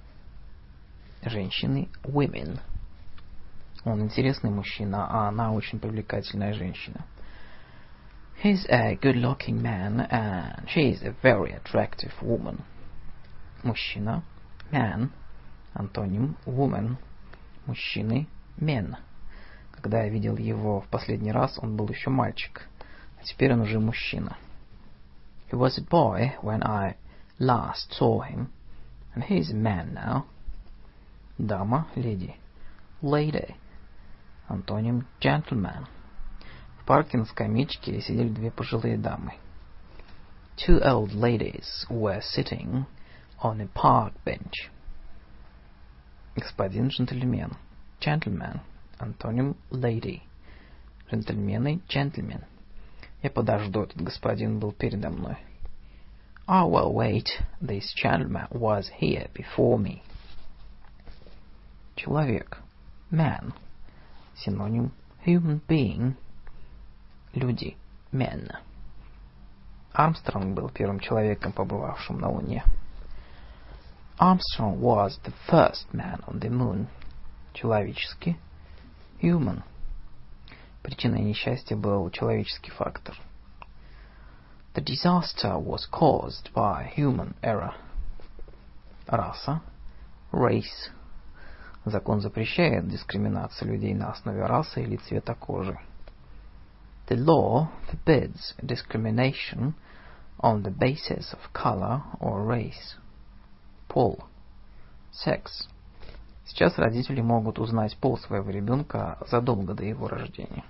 Женщины. Women. Он интересный мужчина, а она очень привлекательная женщина. He's a good-looking man, and she is a very attractive woman. Мужчина. Man. Антоним woman. Мужчины. Men. Когда я видел его в последний раз, он был еще мальчик, а теперь он уже мужчина. He was a boy when I last saw him, and he is a man now. Дама, lady. Lady. Антоним gentleman. В парке на скамеечке сидели 2 пожилые дамы. 2 old ladies were sitting on a park bench. Господин джентльмен. Gentleman. Антоним lady. Джентльмены. Gentlemen. Я подожду, этот господин был передо мной. I will wait, this gentleman was here before me. Человек. Man. Синоним human being. Люди. Men. Армстронг был первым человеком, побывавшим на Луне. Armstrong was the first man on the moon. Человеческий. Human. Причиной несчастья был человеческий фактор. The disaster was caused by human error. Раса. Race. Закон запрещает дискриминацию людей на основе расы или цвета кожи. The law forbids discrimination on the basis of color or race. Пол. Sex. Сейчас родители могут узнать пол своего ребенка задолго до его рождения.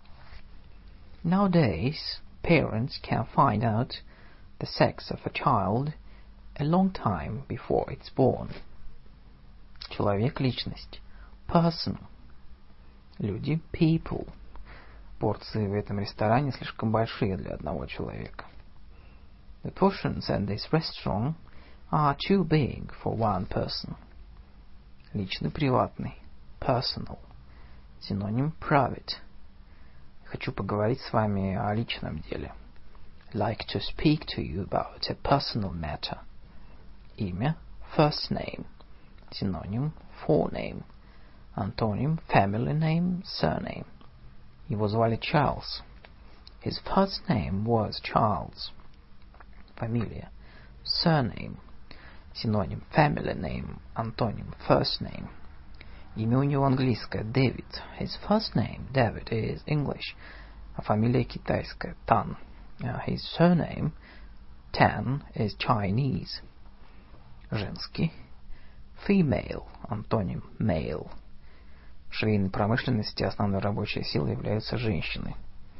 Nowadays, parents can find out the sex of a child a long time before it's born. Человек, личность. Person. Люди, people. Порции в этом ресторане слишком большие для одного человека. The portions in this restaurant are too big for one person. Личный, приватный. Personal. Синоним private. Хочу поговорить с вами о личном деле. Like to speak to you about a personal matter. Имя. First name. Синоним forename. Антоним family name, surname. Его звали Чарльз. His first name was Charles. Фамилия. Surname. Синоним family name, антоним first name. Имя у него английское. Дэвид. His first name, David, is English. А фамилия китайская. Tan. His surname, Tan, is Chinese. Женский. Female. Антоним male. В швейной промышленности основной рабочей силой являются женщины.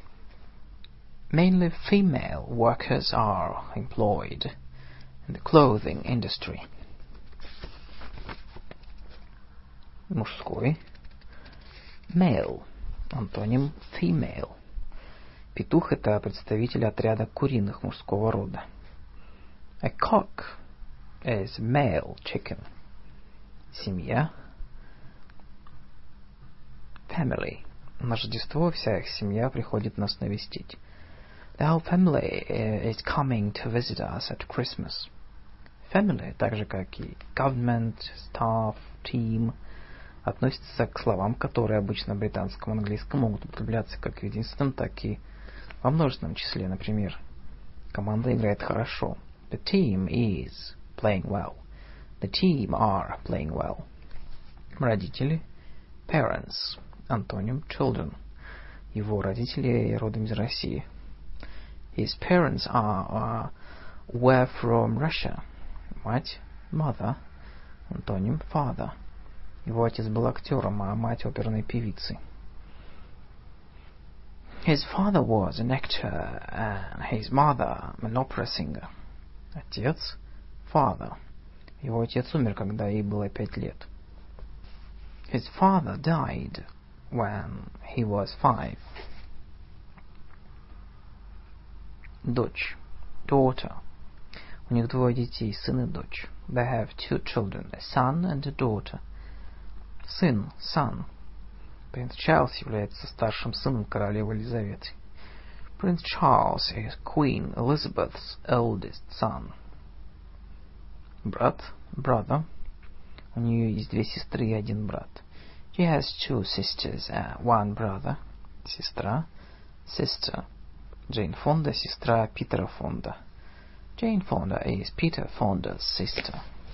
Mainly female workers are employed in the clothing industry. Мужской. Male. Антоним female. Петух — это представитель отряда куриных мужского рода. A cock is male chicken. Семья. Family. На Рождество вся их семья приходит нас навестить. The whole family is coming to visit us at Christmas. Family, так же как и government, staff, team, относится к словам, которые обычно в британском английском могут употребляться как в единственном, так и во множественном числе. Например, команда играет хорошо. The team is playing well. The team are playing well. Родители. Parents. Антоним children. Его родители родом из России. His parents were from Russia. Мать. Mother. Антоним father. Его отец был актером, а мать оперной певицей. His father was an actor and his mother an opera singer. Отец. Father. Его отец умер, когда ей было 5 лет. His father died when he was 5. Дочь. Daughter. У них 2 детей, сын и дочь. They have 2 children, a son and a daughter. Сын, son. Принц Чарльз является старшим сыном королевы Елизаветы. Prince Charles is Queen Elizabeth's eldest son. Брат, brother. У нее есть 2 сестры и 1 брат. She has 2 sisters and 1 brother. Сестра, sister. Джейн Фонда, сестра Питера Фонда. Jane Fonda is Peter Fonda's sister.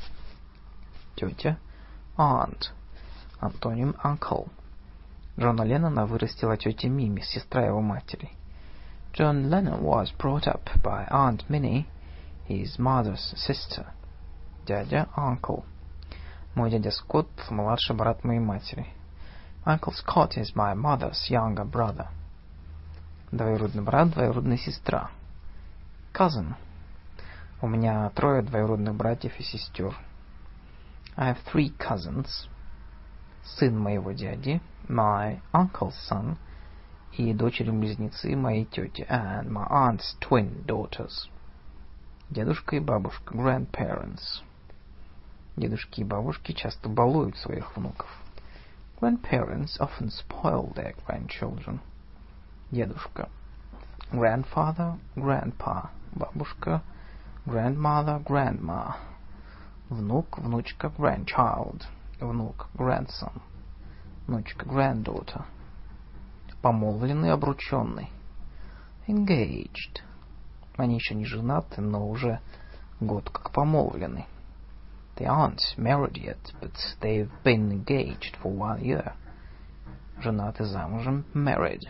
Тетя, aunt. Антоним uncle. Джона Леннона вырастила тетя Мими, сестра его матери. John Lennon was brought up by Aunt Minnie, his mother's sister. Дядя, uncle. Мой дядя Скотт — младший брат моей матери. Uncle Scott is my mother's younger brother. Двоюродный брат, двоюродная сестра. Cousin. У меня 3 двоюродных братьев и сестер. I have 3 cousins. Сын моего дяди, my uncle's son, и дочери-близнецы моей тети, and my aunt's twin daughters. Дедушка и бабушка, grandparents. Дедушки и бабушки часто балуют своих внуков. Grandparents often spoil their grandchildren. Дедушка. Grandfather, grandpa. Бабушка. Grandmother, grandma. Внук, внучка, grandchild. Внук, grandson. Внучка, granddaughter. Помолвленный, обрученный. Engaged. Они еще не женаты, но уже год как помолвлены. They aren't married yet, but they've been engaged for 1 year. Женаты, замужем, married.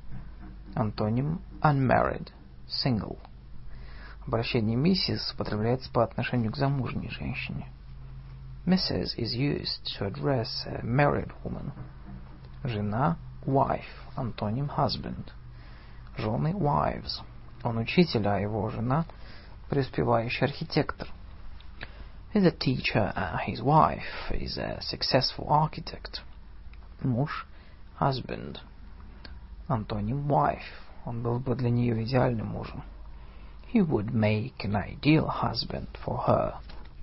Антоним unmarried, single. Обращение миссис употребляется по отношению к замужней женщине. Mrs. is used to address a married woman. Жена, wife, антоним husband. Жены, wives. Он учитель, а его жена преуспевающий архитектор. He's a teacher, and his wife is a successful architect. Муж, husband. Антоним wife. Он был бы для нее идеальным мужем. He would make an ideal husband for her.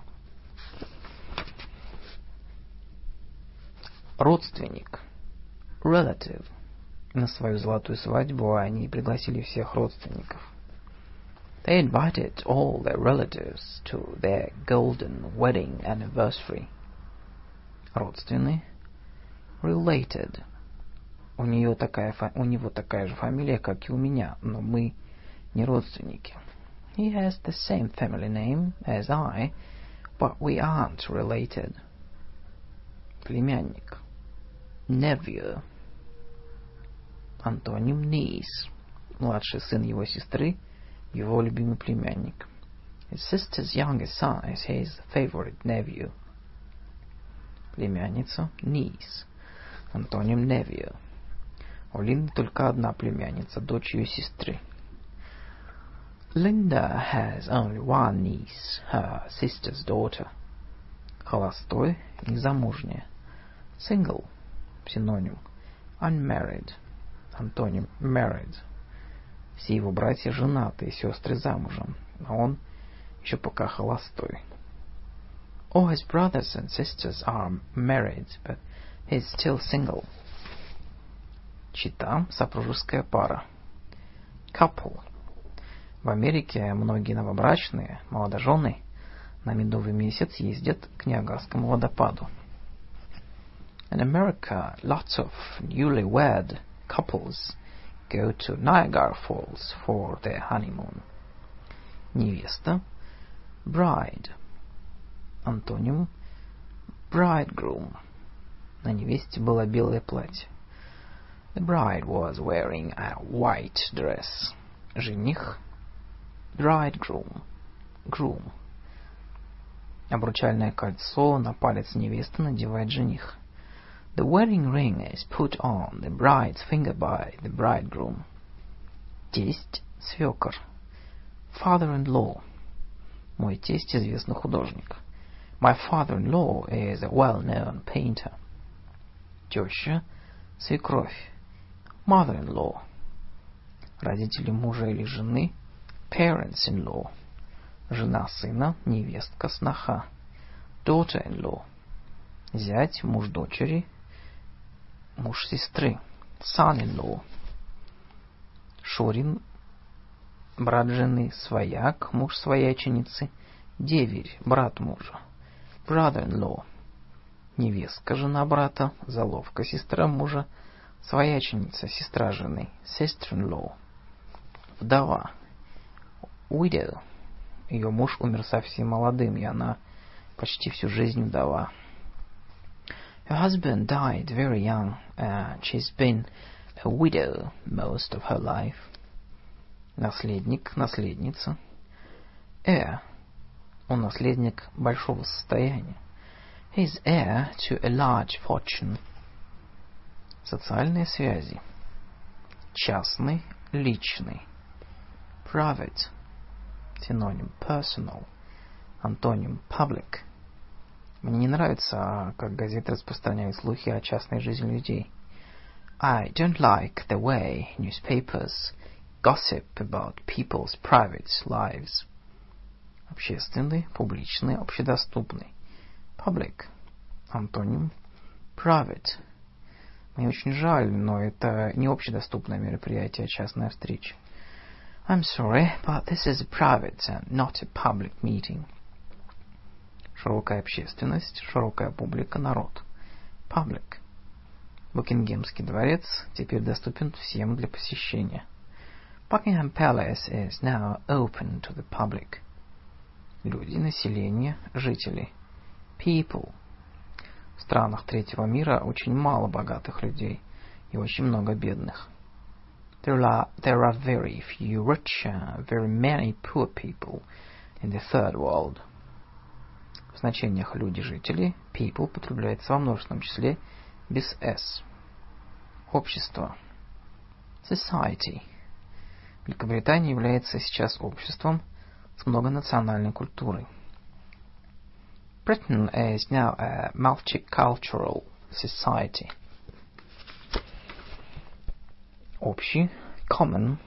Родственник. Relative. На свою золотую свадьбу они пригласили всех родственников. They invited all their relatives to their golden wedding anniversary. Родственный. Related. У него такая же фамилия, как и у меня, но мы не родственники. He has the same family name as I, but we aren't related. Племянник. Nephew. Антоним niece. Младший сын его сестры, его любимый племянник. His sister's youngest son is his favorite nephew. Племянница, niece. Антоним nephew. У Линды только одна племянница, дочь ее сестры. Linda has only one niece, her sister's daughter. Холостой, незамужняя. Single — синоним. Unmarried — антоним married. Все его братья женаты и сестры замужем, а он еще пока холостой. All his brothers and sisters are married, but he's still single. Чета — супружеская пара. Couple. В Америке многие новобрачные, молодожены, на медовый месяц ездят к Ниагарскому водопаду. In America, lots of newlywed couples go to Niagara Falls for their honeymoon. Невеста — bride. Антоним — bridegroom. На невесте было белое платье. The bride was wearing a white dress. Жених — bridegroom. Groom. Обручальное кольцо на палец невесты надевает жених. The wedding ring is put on the bride's finger by the bridegroom. Тесть — свекор. Father-in-law. Мой тесть — известный художник. My father-in-law is a well-known painter. Теща — свекровь. Mother-in-law. Родители мужа или жены — parents-in-law. Жена сына, невестка, сноха. Daughter-in-law. Зять — муж дочери, муж сестры. Son-in-law. Шурин — брат жены. Свояк — муж свояченицы. Деверь — брат мужа. Brother-in-law. Невестка — жена брата. Заловка — сестра мужа. Свояченица — сестра жены. Sister-in-law. Вдова. Widow. Ее муж умер совсем молодым, и она почти всю жизнь вдова. Her husband died very young, and she's been a widow most of her life. Наследник, наследница. Heir. Он наследник большого состояния. He's heir to a large fortune. Социальные связи. Частный, личный. Private. Синоним personal. Антоним public. Мне не нравится, как газеты распространяют слухи о частной жизни людей. I don't like the way newspapers gossip about people's private lives. Общественный, публичный, общедоступный. Public. Антоним private. Мне очень жаль, но это не общедоступное мероприятие, а частная встреча. I'm sorry, but this is a private and not a public meeting. Широкая общественность, широкая публика, народ. Public. Букингемский дворец теперь доступен всем для посещения. Buckingham Palace is now open to the public. Люди, население, жители. People. В странах третьего мира очень мало богатых людей и очень много бедных. There are very few rich and very many poor people in the third world. В значениях люди, жители, people употребляется во множественном числе без s. Общество. Society. Великобритания является сейчас обществом с многонациональной культурой. Britain is now a multicultural society. Общий, common,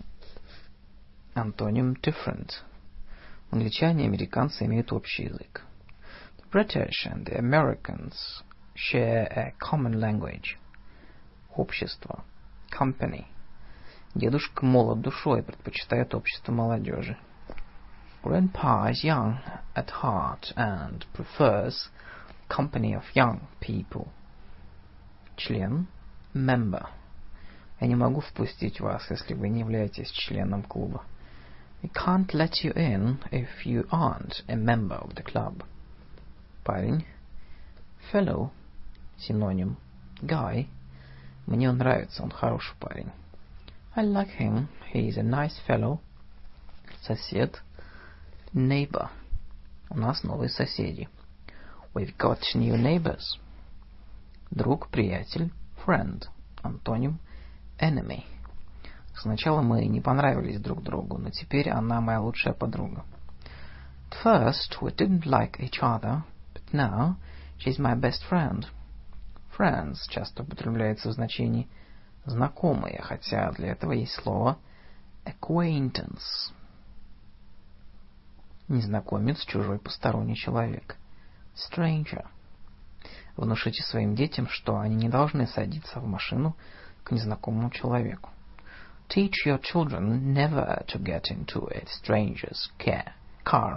антоним different. Англичане и американцы имеют общий язык. The British and the Americans share a common language. Общество, company. Дедушка молод душой, предпочитает общество молодежи. Grandpa is young at heart and prefers company of young people. Член, member. Я не могу впустить вас, если вы не являетесь членом клуба. I can't let you in if you aren't a member of the club. Парень, fellow, синоним, guy. Мне он нравится, он хороший парень. I like him, he is a nice fellow. Сосед, neighbor. У нас новые соседи. We've got new neighbors. Друг, приятель, friend. Антоним, enemy. Сначала мы не понравились друг другу, но теперь она моя лучшая подруга. At first we didn't like each other, but now she's my best friend. Friends часто употребляется в значении знакомые, хотя для этого есть слово acquaintance. Незнакомец, чужой, посторонний человек. Stranger. Внушите своим детям, что они не должны садиться в машину к незнакомому человеку. Teach your children never to get into a stranger's car.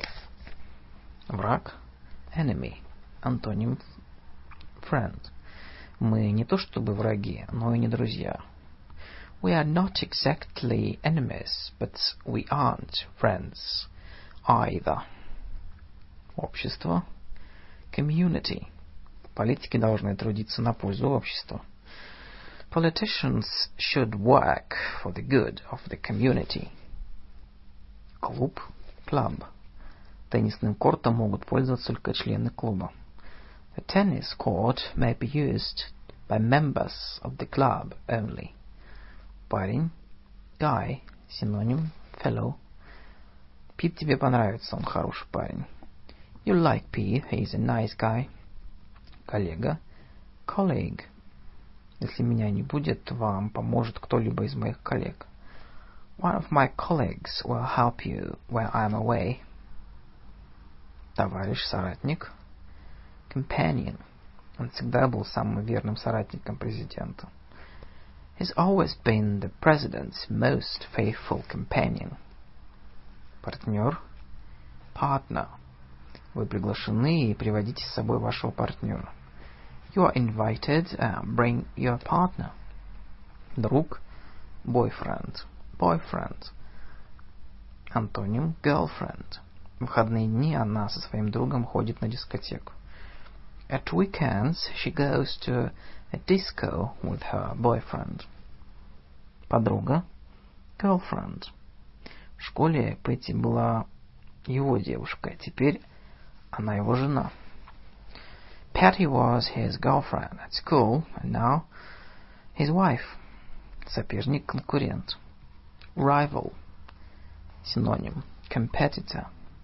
Враг. Enemy. Антоним friend. Мы не то чтобы враги, но и не друзья. We are not exactly enemies, but we aren't friends either. Общество. Community. Политики должны трудиться на пользу общества. Politicians should work for the good of the community. Клуб. Club. Теннисным кортом могут пользоваться только члены клуба. A tennis court may be used by members of the club only. Парень. Guy. Синоним. Fellow. Пит тебе понравится, он хороший парень. You'll like Pete, he's a nice guy. Коллега. Colleague. Если меня не будет, вам поможет кто-либо из моих коллег. One of my colleagues will help you when I'm away. Товарищ, соратник. Companion. Он всегда был самым верным соратником президента. He's always been the president's most faithful companion. Партнер. Partner. Вы приглашены и приводите с собой вашего партнера. You are invited, bring your partner. Друг. Boyfriend. Boyfriend. Антоним. Girlfriend. В выходные дни она со своим другом ходит на дискотеку. At weekends she goes to a disco with her boyfriend. Подруга. Girlfriend. В школе Пэтти была его девушкой, теперь она его жена. Patty was his girlfriend at school, and now his wife. Соперник, конкурент. Rival. Синоним. Competitor.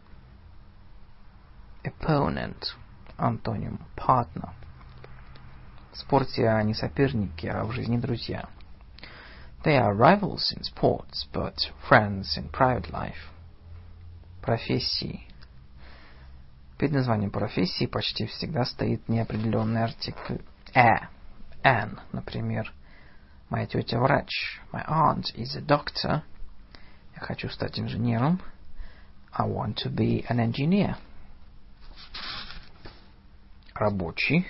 Opponent. Антоним. Partner. В спорте они соперники, а в жизни друзья. They are rivals in sports, but friends in private life. Профессии. Перед названием профессии почти всегда стоит неопределенный артикль an. Например, моя тетя врач. My aunt is a doctor. Я хочу стать инженером. I want to be an engineer. Рабочий.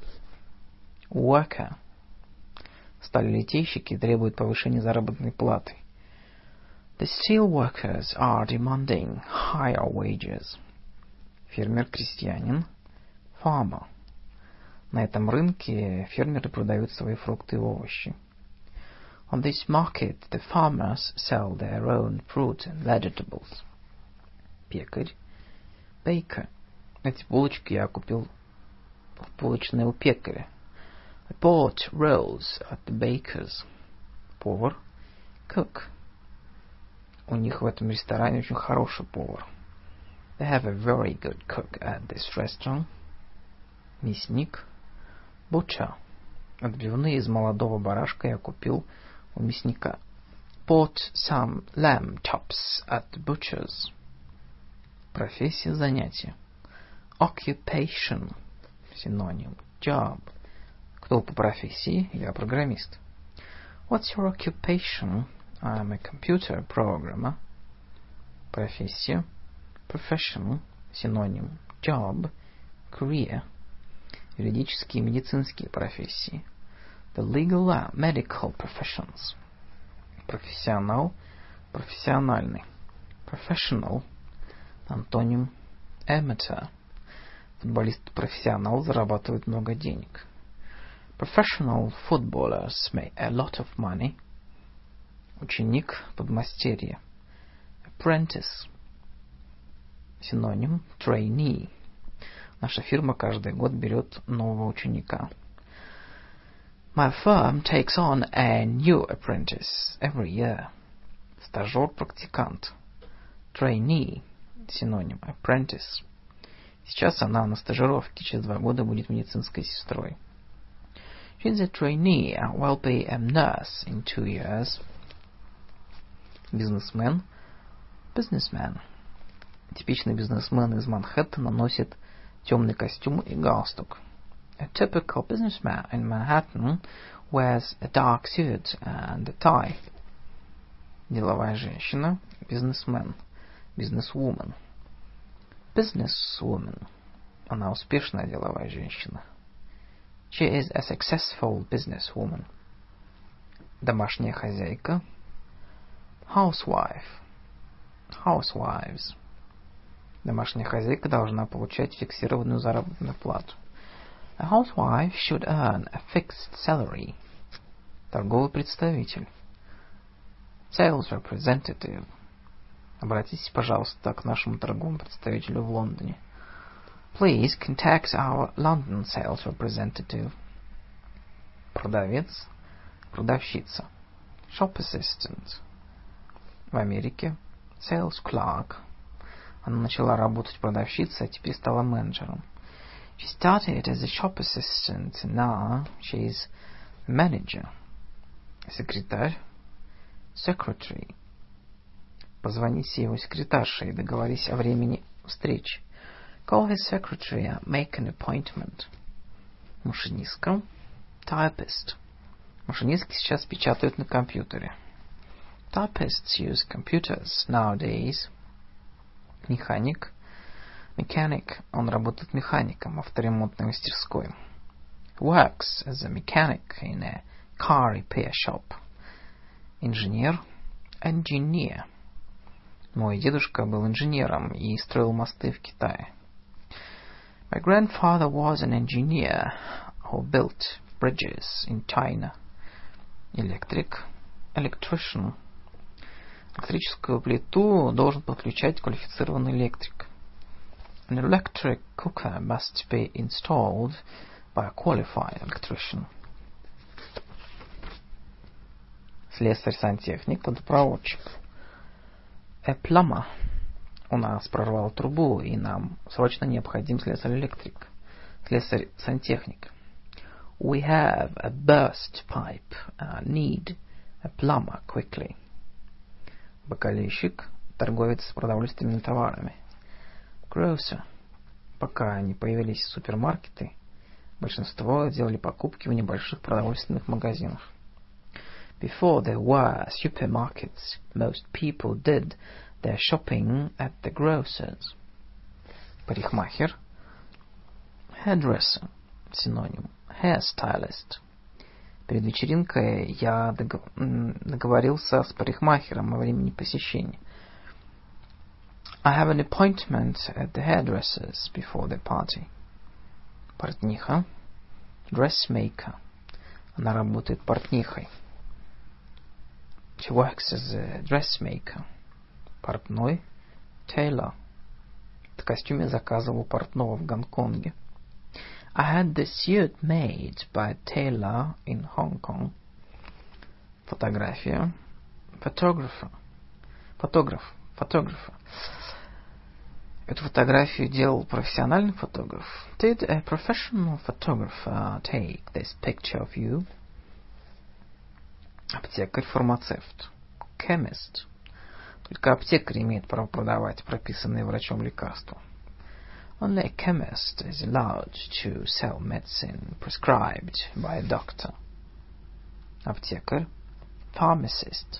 Worker. Сталелитейщики требуют повышения заработной платы. The steel workers are demanding higher wages. Фермер-крестьянин. Farmer. На этом рынке фермеры продают свои фрукты и овощи. On this market, the farmers sell their own fruit and vegetables. Пекарь. Baker. Эти булочки я купил в булочной у пекаря. I bought rolls at the baker's. Повар. Cook. У них в этом ресторане очень хороший повар. They have a very good cook at this restaurant. Мясник. Butcher. Отбивные из молодого барашка я купил у мясника. Bought some lamb chops at the butcher's. Профессия, занятие. Occupation. Синоним. Job. Кто по профессии? Я программист. What's your occupation? I'm a computer programmer. Профессия. Profession. Синоним. Job. Career. Юридические и медицинские профессии. The legal and medical professions. Профессионал. Профессиональный. Professional. Антоним. Amateur. Футболист-профессионал зарабатывает много денег. Professional footballers make a lot of money. Ученик, подмастерье. Apprentice. Синоним. Trainee. Наша фирма каждый год берет нового ученика. My firm takes on a new apprentice every year. Стажер-практикант. Trainee. Синоним. Apprentice. Сейчас она на стажировке, через 2 года будет медицинской сестрой. She's a trainee and will be a nurse in 2 years. Бизнесмен. Businessman. Типичный бизнесмен из Манхэттена носит темный костюм и галстук. A typical businessman in Manhattan wears a dark suit and a tie. Деловая женщина. Businessman. Businesswoman. Businesswoman. Она успешная деловая женщина. She is a successful businesswoman. Домашняя хозяйка. Housewife. Housewives. Домашняя хозяйка должна получать фиксированную заработную плату. A housewife should earn a fixed salary. Торговый представитель. Sales representative. Обратитесь, пожалуйста, к нашему торговому представителю в Лондоне. Please contact our London sales representative. Продавец. Продавщица. Shop assistant. В Америке. Sales clerk. Она начала работать продавщицей, а теперь стала менеджером. She started as a shop assistant, and now she's a manager. Секретарь. Secretary. Позвоните его секретарше и договорись о времени встречи. Call his secretary and make an appointment. Машинистка. Typist. Машинистки сейчас печатают на компьютере. Typists use computers nowadays. Механик. Mechanic. Он работает механиком в авторемонтной мастерской. Works as a mechanic in a car repair shop. Инженер. Engineer. Мой дедушка был инженером и строил мосты в Китае. My grandfather was an engineer who built bridges in China. Электрик. Electrician. Электрическую плиту должен подключать квалифицированный электрик. An electric cooker must be installed by a qualified electrician. Слесарь-сантехник, водопроводчик. A plumber. У нас прорвало трубу, и нам срочно необходим слесарь-электрик. Слесарь-сантехник. We have a burst pipe and need a plumber quickly. Бакалейщик, торговец с продовольственными товарами. Grocer. Пока не появились супермаркеты, большинство делали покупки в небольших продовольственных магазинах. Before there were supermarkets, most people did their shopping at the grocers. Парикмахер. Hairdresser. Синоним. Hairstylist. Перед вечеринкой я договорился с парикмахером о времени посещения. I have an appointment at the hairdresser's before the party. Портниха. Dressmaker. Она работает портнихой. She works as a dressmaker. Портной. Tailor. В костюме заказывал портного в Гонконге. I had the suit made by a tailor in Hong Kong. Фотография. Photographer. Photographer. Эту фотографию делал профессиональный фотограф. Did a professional photographer take this picture of you? Аптекарь-фармацевт. Chemist. Только аптекарь имеет право продавать прописанные врачом лекарства. Only a chemist is allowed to sell medicine prescribed by a doctor. Аптекарь. Pharmacist.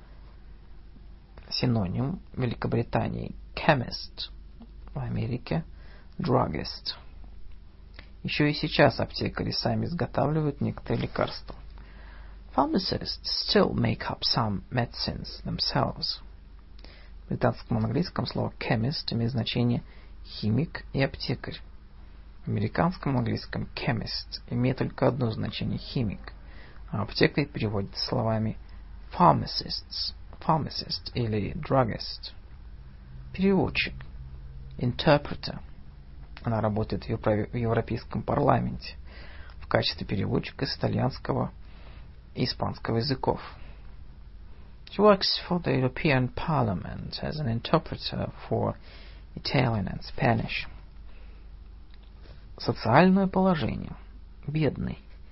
Синоним в Великобритании. Chemist. В Америке. Druggist. Еще и сейчас аптекари сами изготавливают некоторые лекарства. Pharmacists still make up some medicines themselves. В британском английском слово chemist имеет значение химик и аптекарь. В американском английском chemist имеет только одно значение химик, а аптекарь переводится словами pharmacist или druggist. Переводчик. Interpreter. Она работает в Европейском парламенте в качестве переводчика с итальянского и испанского языков. She works for the European Parliament as an interpreter for Italian and Spanish. Социальное положение. Бедный.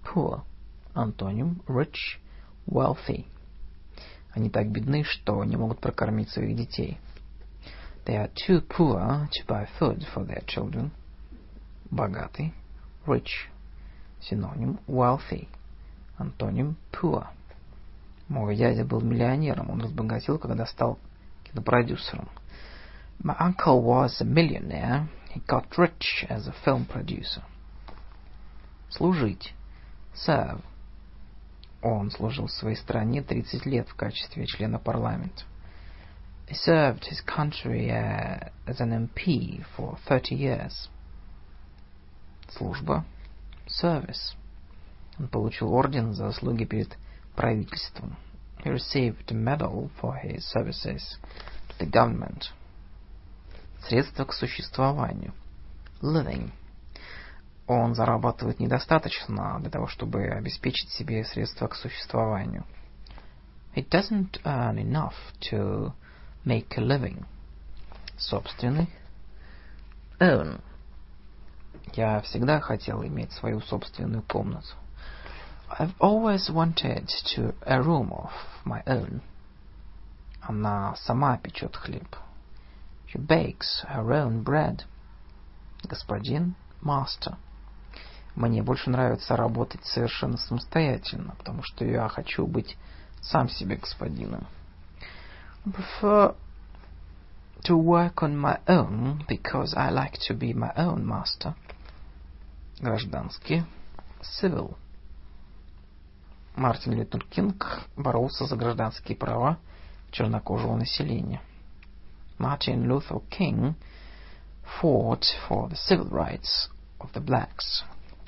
poor. Антоним rich, wealthy. Они так бедны, что не могут прокормить своих детей. They are too poor to buy food for their children. Богатый, rich. Синоним wealthy. Антоним poor. Мой дядя был миллионером. Он разбогател, когда стал кинопродюсером. My uncle was a millionaire. He got rich as a film producer. Служить. Serve. Он служил своей стране 30 лет в качестве члена парламента. He served his country as an MP for 30 years. Служба. Service. Он получил орден за заслуги перед правительством. He received a medal for his services to the government. Средства к существованию. Living. Он зарабатывает недостаточно для того, чтобы обеспечить себе средства к существованию. He doesn't earn enough to make a living. Собственный. Own. Я всегда хотел иметь свою собственную комнату. I've always wanted a room of my own. Она сама печет хлеб. She bakes her own bread. Господин, master. Мне больше нравится работать совершенно самостоятельно, потому что я хочу быть сам себе господином. I prefer to work on my own because I like to be my own master. Гражданский. Civil. Мартин Лютер Кинг боролся за гражданские права чернокожего населения. Martin Luther King fought for the civil rights of the blacks.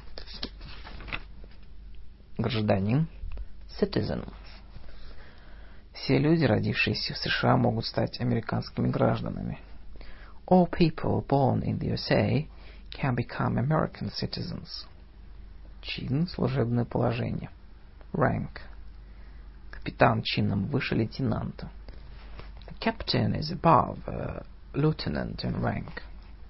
Гражданин. Citizen. Все люди, родившиеся в США, могут стать американскими гражданами. All people born in the USA can become American citizens. Чин, служебное положение. Rank. Капитан чином выше лейтенанта. The captain is above a lieutenant in rank.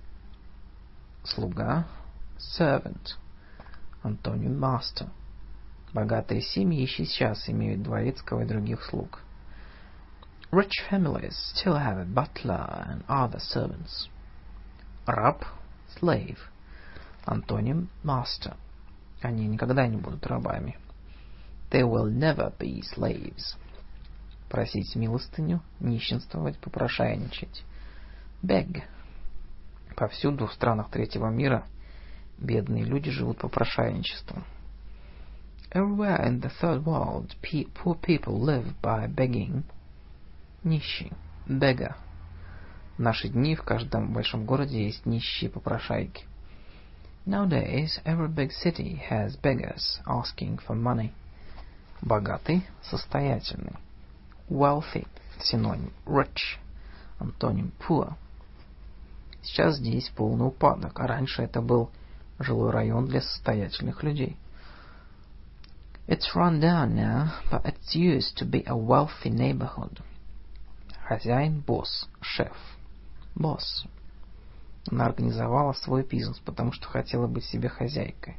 Слуга. Servant. Антоним master. Богатые семьи сейчас имеют дворецкого и других слуг. Rich families still have a butler and other servants. Раб. Slave. Антоним master. Они никогда не будут рабами. They will never be slaves. Просить милостыню, нищенствовать, попрошайничать. Beg. Повсюду в странах третьего мира бедные люди живут попрошайничеством. Everywhere in the third world, poor people live by begging. Нищий. Beggar. В наши дни в каждом большом городе есть нищие попрошайки. Nowadays, every big city has beggars asking for money. Богатый, состоятельный. Wealthy. Синоним. Rich. Антоним. Poor. Сейчас здесь полный упадок, а раньше это был жилой район для состоятельных людей. It's run down now, but it used to be a wealthy neighborhood. Хозяин, босс, шеф. Boss. Она организовала свой бизнес, потому что хотела быть себе хозяйкой.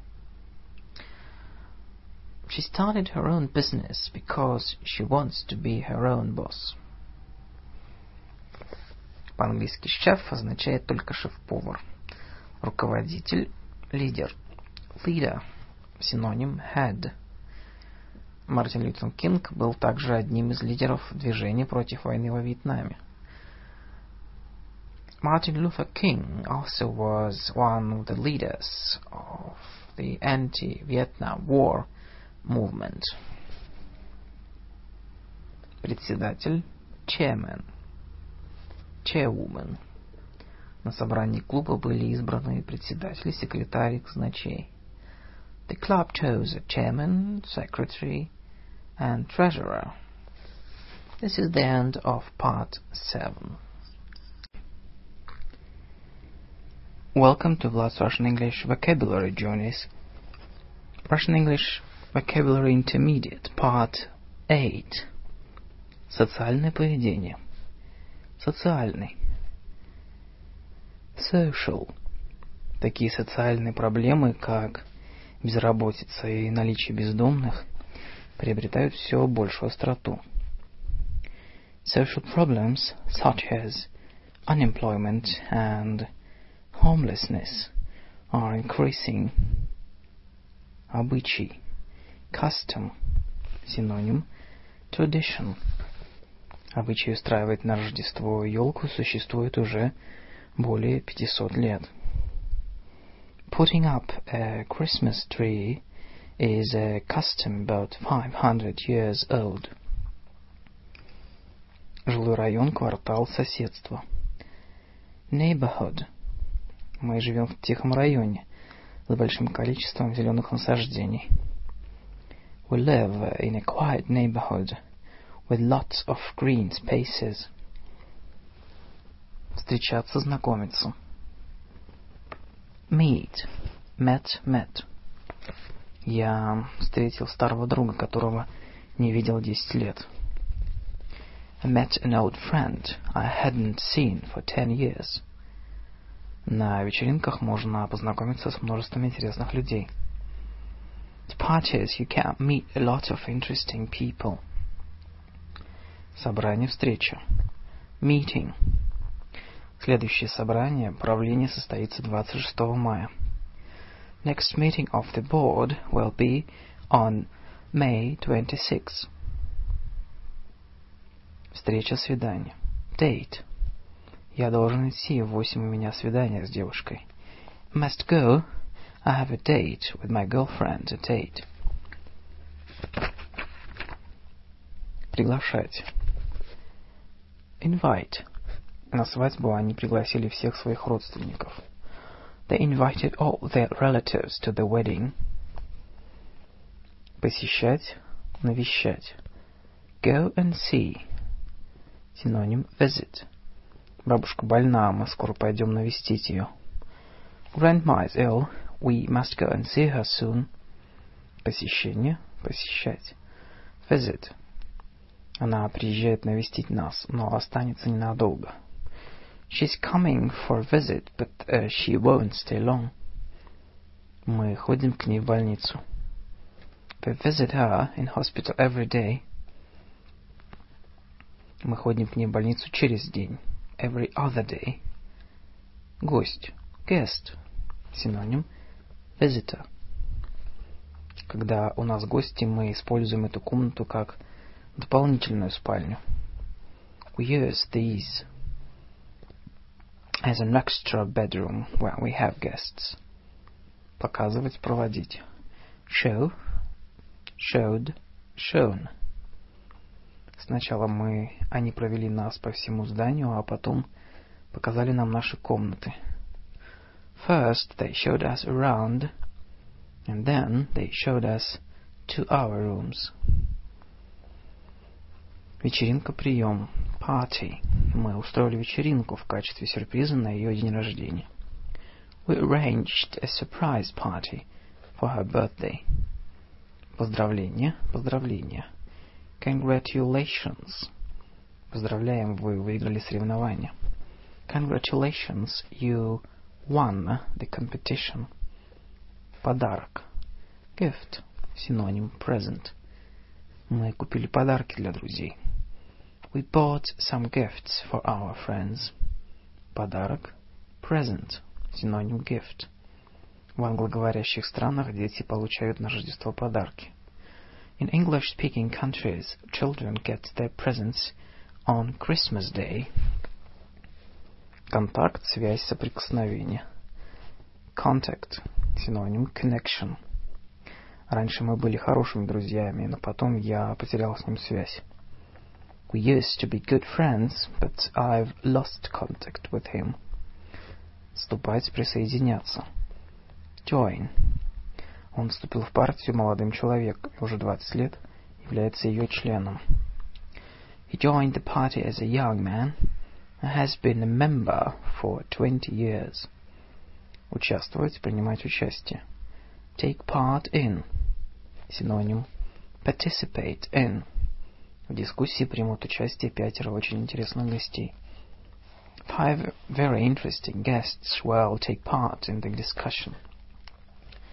She started her own business because she wants to be her own boss. По-английски шеф означает только шеф-повар. Руководитель, лидер. Leader. Синоним head. Мартин Лютер Кинг был также одним из лидеров движения против войны во Вьетнаме. Martin Luther King also was one of the leaders of the anti-Vietnam War movement. Председатель, chairman, chairwoman. На собрании клуба были избраны председатели, секретарь и казначей. The club chose a chairman, secretary, and treasurer. This is the end of part 7. Welcome to Vlad's Russian English Vocabulary Journeys. Russian English Vocabulary Intermediate, Part 8. Социальное поведение. Социальный. Social. Такие социальные проблемы, как безработица и наличие бездомных приобретают все большую остроту. Social problems such as unemployment and homelessness are increasing. Обычай. Custom. Синоним. Tradition. Обычай устраивать на Рождество елку существует уже более 500 лет. Putting up a Christmas tree is a custom about 500 years old. Жилой район, квартал, соседство. Neighborhood. Мы живем в тихом районе с большим количеством зеленых насаждений. We live in a quiet neighborhood with lots of green spaces. Встречаться, знакомиться. Meet. Met. Я встретил старого друга, которого не видел 10 лет. I met an old friend I hadn't seen for 10 years. На вечеринках можно познакомиться с множеством интересных людей. At parties you can meet a lot of interesting people. Собрание, встреча. Meeting. Следующее собрание правления состоится 26 мая. Next meeting of the board will be on May 26. Встреча, свидание. Date. Я должен идти, в 8 у меня свидание с девушкой. Must go. I have a date with my girlfriend at 8. Приглашать. Invite. На свадьбу они пригласили всех своих родственников. They invited all their relatives to the wedding. Посещать, навещать. Go and see. Синоним. Visit. Бабушка больна, мы скоро пойдем навестить ее. Grandma is ill. We must go and see her soon. Посещение, посещать. Visit. Она приезжает навестить нас, но останется ненадолго. She's coming for a visit, but she won't stay long. Мы ходим к ней в больницу. We visit her in hospital every day. Мы ходим к ней в больницу через день. Every other day. Гость. Guest. Синоним. Visitor. Когда у нас гости, мы используем эту комнату как дополнительную спальню. We use these as an extra bedroom when we have guests. Показывать, проводить. Show. Showed. Shown. Сначала они провели нас по всему зданию, а потом показали нам наши комнаты. First they showed us around, and then they showed us to our rooms. Вечеринка, прием. Party. Мы устроили вечеринку в качестве сюрприза на ее день рождения. We arranged a surprise party for her birthday. Поздравление, поздравления. Congratulations. Поздравляем, вы выиграли соревнование. Congratulations, you won the competition. Подарок. Gift. Синоним. Present. Мы купили подарки для друзей. We bought some gifts for our friends. Подарок. Present. Синоним. Gift. В англоговорящих странах дети получают на Рождество подарки. In English-speaking countries, children get their presents on Christmas Day. Контакт, связь, соприкосновение. Contact. Синоним. Connection. Раньше мы были хорошими друзьями, но потом я потерял с ним связь. We used to be good friends, but I've lost contact with him. Вступать, присоединяться. Join. Он вступил в партию молодым человеком и уже 20 лет является ее членом. He joined the party as a young man and has been a member for 20 years. Участвовать, принимать участие. Take part in. Синоним. Participate in. В дискуссии примут участие 5 очень интересных гостей. 5 very interesting guests will take part in the discussion.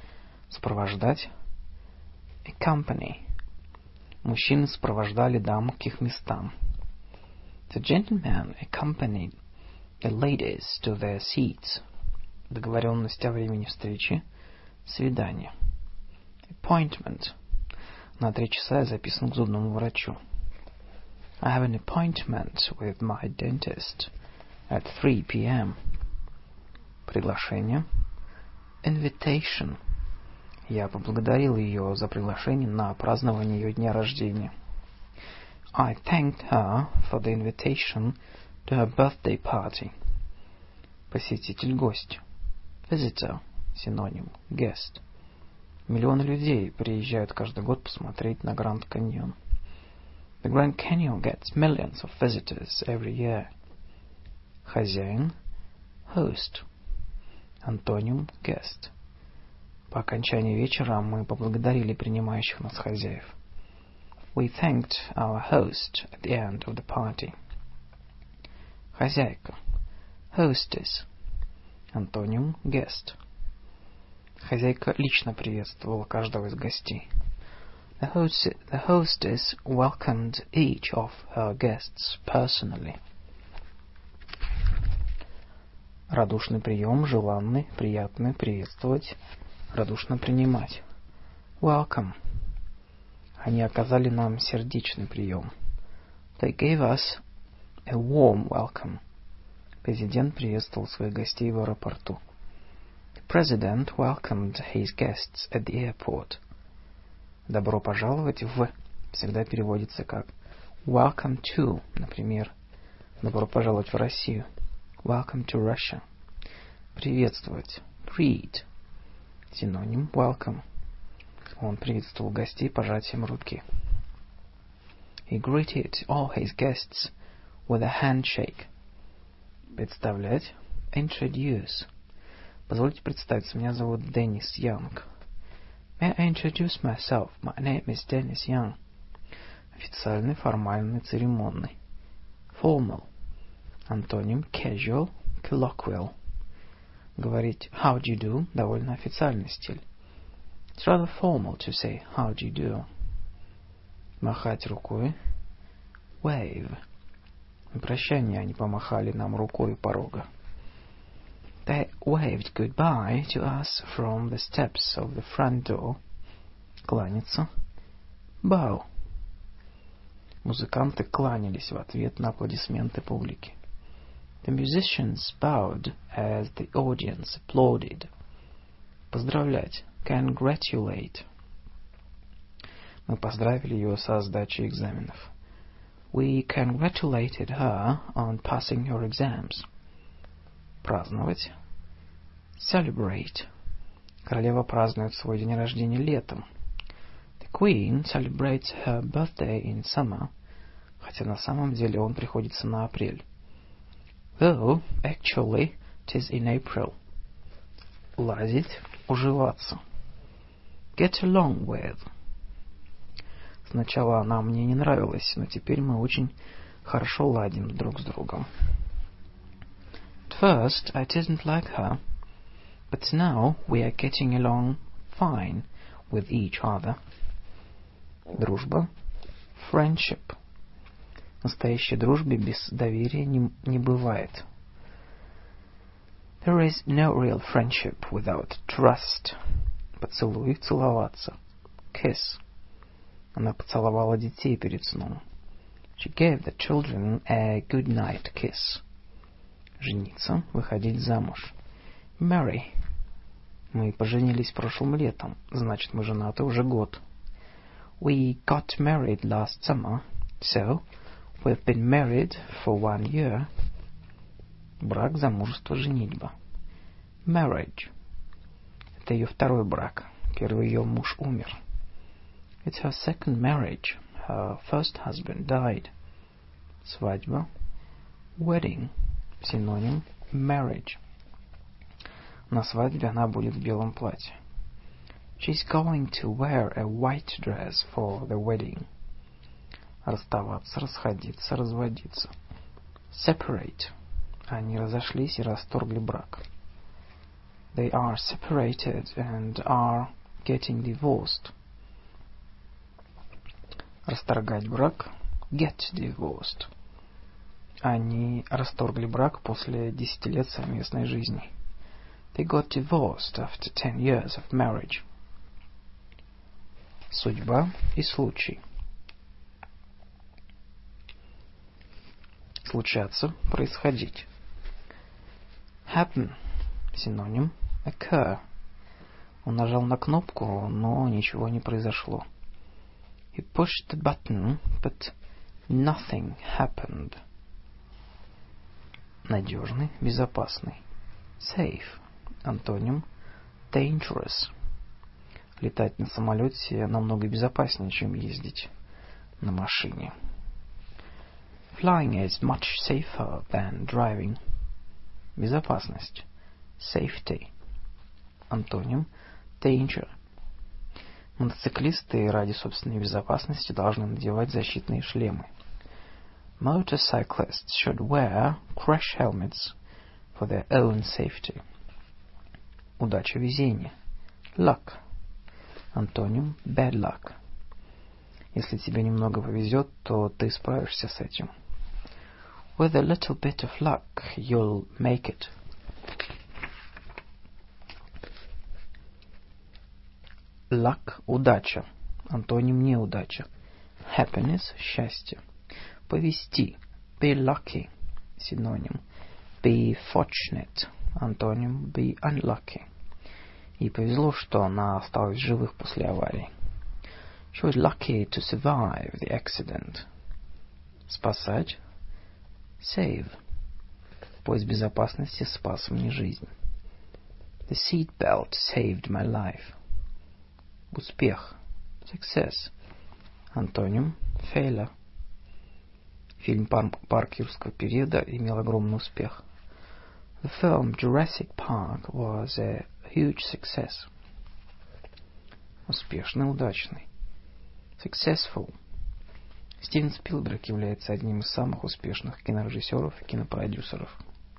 Сопровождать. Accompany. Мужчины сопровождали дам к их местам. The gentlemen accompanied the ladies to their seats. Договоренность о времени встречи. Свидание. Appointment. На 3 часа я записан к зубному врачу. I have an appointment with my dentist at 3 p.m. Приглашение. Invitation. Я поблагодарил ее за приглашение на празднование ее дня рождения. I thanked her for the invitation to her birthday party. Посетитель-гость. Visitor. Синоним. Guest. Миллионы людей приезжают каждый год посмотреть на Гранд Каньон. The Grand Canyon gets millions of visitors every year. Хозяин. Host. Антоним. Guest. По окончании вечера мы поблагодарили принимающих нас хозяев. We thanked our host at the end of the party. Хозяйка. Hostess. Антоним. Guest. Хозяйка лично приветствовала каждого из гостей. The hostess welcomed each of her guests personally. Радушный прием, желанный, приятный, приветствовать, радушно принимать. Welcome. Они оказали нам сердечный прием. They gave us a warm welcome. Президент приветствовал своих гостей в аэропорту. The president welcomed his guests at the airport. Добро пожаловать в всегда переводится как welcome to, например, добро пожаловать в Россию. Welcome to Russia. Приветствовать. Greet. Синоним welcome. Он приветствовал гостей пожатием руки. He greeted all his guests with a handshake. Представлять. Introduce. Позвольте представиться, меня зовут Деннис Янг. May I introduce myself? My name is Dennis Young. Официальный, формальный, церемонный. Formal. Антоним casual, colloquial. Говорить how do you do довольно официальный стиль. It's rather formal to say how do you do. Махать рукой. Wave. На прощание они помахали нам рукой у порога. They waved goodbye to us from the steps of the front door. Кланяться. Bow. Музыканты кланялись в ответ на аплодисменты публики. The musicians bowed as the audience applauded. Поздравлять. Congratulate. Мы поздравили ее со сдачей экзаменов. We congratulated her on passing her exams. Праздновать. Celebrate. Королева празднует свой день рождения летом. The Queen celebrates her birthday in summer, хотя на самом деле он приходится на апрель. Though, actually, it is in April. Ладить, уживаться. Get along with. Сначала она мне не нравилась, но теперь мы очень хорошо ладим друг с другом. At first, I didn't like her, but now we are getting along fine with each other. Дружба. Friendship. Настоящей дружбе без доверия не бывает. There is no real friendship without trust. Поцелуй, целоваться. Kiss. Она поцеловала детей перед сном. She gave the children a good night kiss. Жениться, выходить замуж. Marry. Мы поженились прошлым летом, значит, мы женаты уже год. We got married last summer, so we've been married for 1 year. Брак, замужество, женитьба. Marriage. Это ее второй брак. Первый ее муж умер. It's her second marriage. Her first husband died. Свадьба. Wedding. Синоним marriage. На свадьбе она будет в белом платье. She's going to wear a white dress for the wedding. Расставаться, расходиться, разводиться. Separate. Они разошлись и расторгли брак. They are separated and are getting divorced. Расторгать брак. Get divorced. Они расторгли брак после 10 лет совместной жизни. They got divorced after 10 years of marriage. Судьба и случай. Случаться, происходить. Happen. Синоним. Occur. Он нажал на кнопку, но ничего не произошло. He pushed the button, but nothing happened. Надежный, безопасный. Safe. Антоним. Dangerous. Летать на самолете намного безопаснее, чем ездить на машине. Flying is much safer than driving. Безопасность. Safety. Антоним. Danger. Мотоциклисты ради собственной безопасности должны надевать защитные шлемы. Motorcyclists should wear crash helmets for their own safety. Удача, везение. Luck. Антоним. Bad luck. Если тебе немного повезет, то ты справишься с этим. With a little bit of luck, you'll make it. Luck – удача. Антоним неудача. Happiness – счастье. Повезти. Be lucky. Синоним. Be fortunate. Антоним. Be unlucky. Ей повезло, что она осталась живых после аварии. She was lucky to survive the accident. Спасать. Save. Пояс безопасности спас мне жизнь. The seat belt saved my life. Успех. Success. Антоним. Failure. Фильм «Парк юрского периода» имел огромный успех. The film Jurassic Park was a huge success. Успешный, удачный. Successful. Стивен Спилберг является одним из самых успешных кинорежиссеров и кинопродюсеров.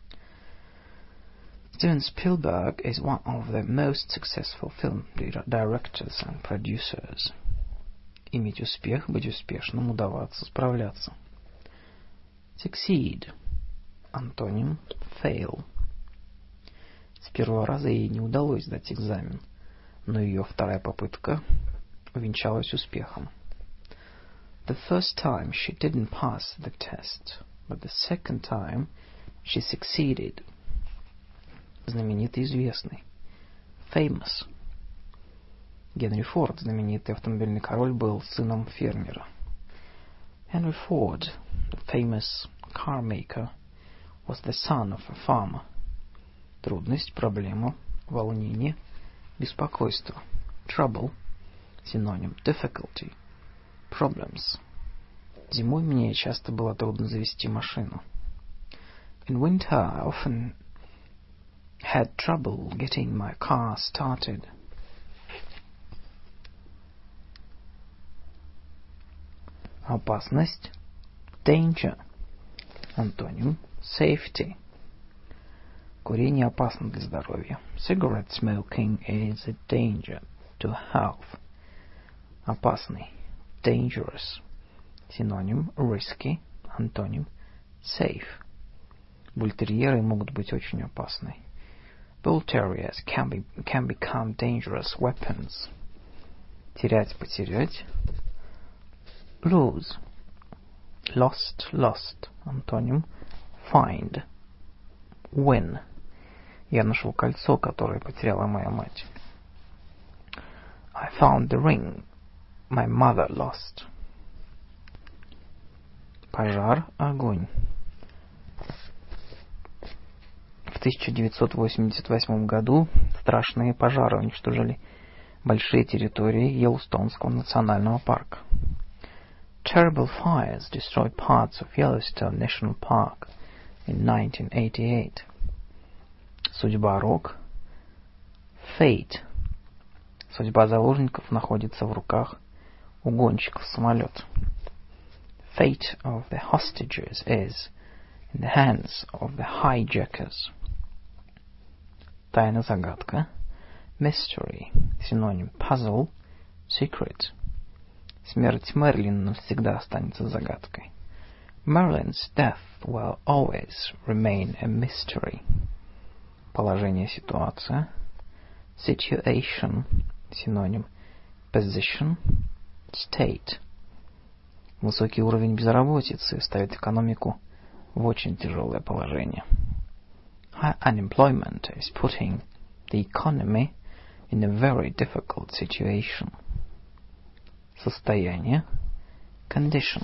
Steven Spielberg is one of the most successful film directors and producers. Иметь успех, быть успешным, удаваться, справляться. Succeed. Антоним. Fail. С первого раза ей не удалось сдать экзамен, но ее вторая попытка увенчалась успехом. The first time she didn't pass the test, but the second time she succeeded. Знаменитый, известный. Famous. Генри Форд, знаменитый автомобильный король, был сыном фермера. Henry Ford, the famous car maker, was the son of a farmer. Трудность, проблема, волнение, беспокойство. Trouble. Синоним. Difficulty. Problems. Зимой мне часто было трудно завести машину. In winter I often had trouble getting my car started. Опасность. Danger. Антоним. Safety. Курение опасно для здоровья. Cigarette smoking is a danger to health. Опасный. Dangerous. Синоним. Risky. Антоним. Safe. Бультерьеры могут быть очень опасны. Bull terriers can become dangerous weapons. Терять, потерять. Lose. Lost. Антоним. Find. Win. Я нашел кольцо, которое потеряла моя мать. I found the ring my mother lost. Пожар, огонь. В 1988 году страшные пожары уничтожили большие территории Йеллоустонского национального парка. Terrible fires destroyed parts of Yellowstone National Park in 1988. Судьба, рок. Fate. Судьба заложников находится в руках угонщиков самолета. Fate of the hostages is in the hands of the hijackers. Тайна, загадка. mystery, синоним puzzle, secret. Смерть Мерлин навсегда останется загадкой. Merlin's death will always remain a mystery. Положение, ситуация. Situation, синоним position, state. Высокий уровень безработицы ставит экономику в очень тяжелое положение. High unemployment is putting the economy in a very difficult situation. Состояние, condition.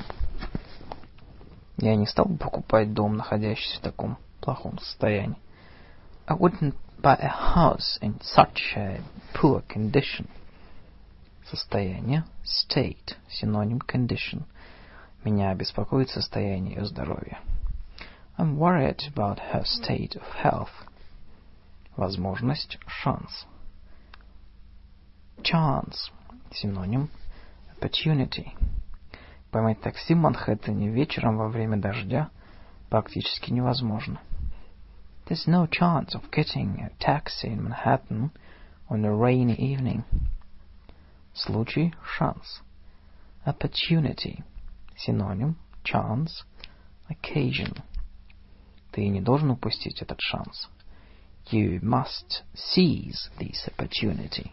Я не стал бы покупать дом, находящийся в таком плохом состоянии. I wouldn't buy a house in such a poor condition. Состояние, state, синоним condition. Меня беспокоит состояние ее здоровья. I'm worried about her state of health. Возможность, шанс. Chance, синоним opportunity. Поймать такси в Манхэттене вечером во время дождя практически невозможно. There's no chance of getting a taxi in Manhattan on a rainy evening. Случай, шанс. Opportunity, синоним chance, occasion. Ты не должен упустить этот шанс. You must seize this opportunity.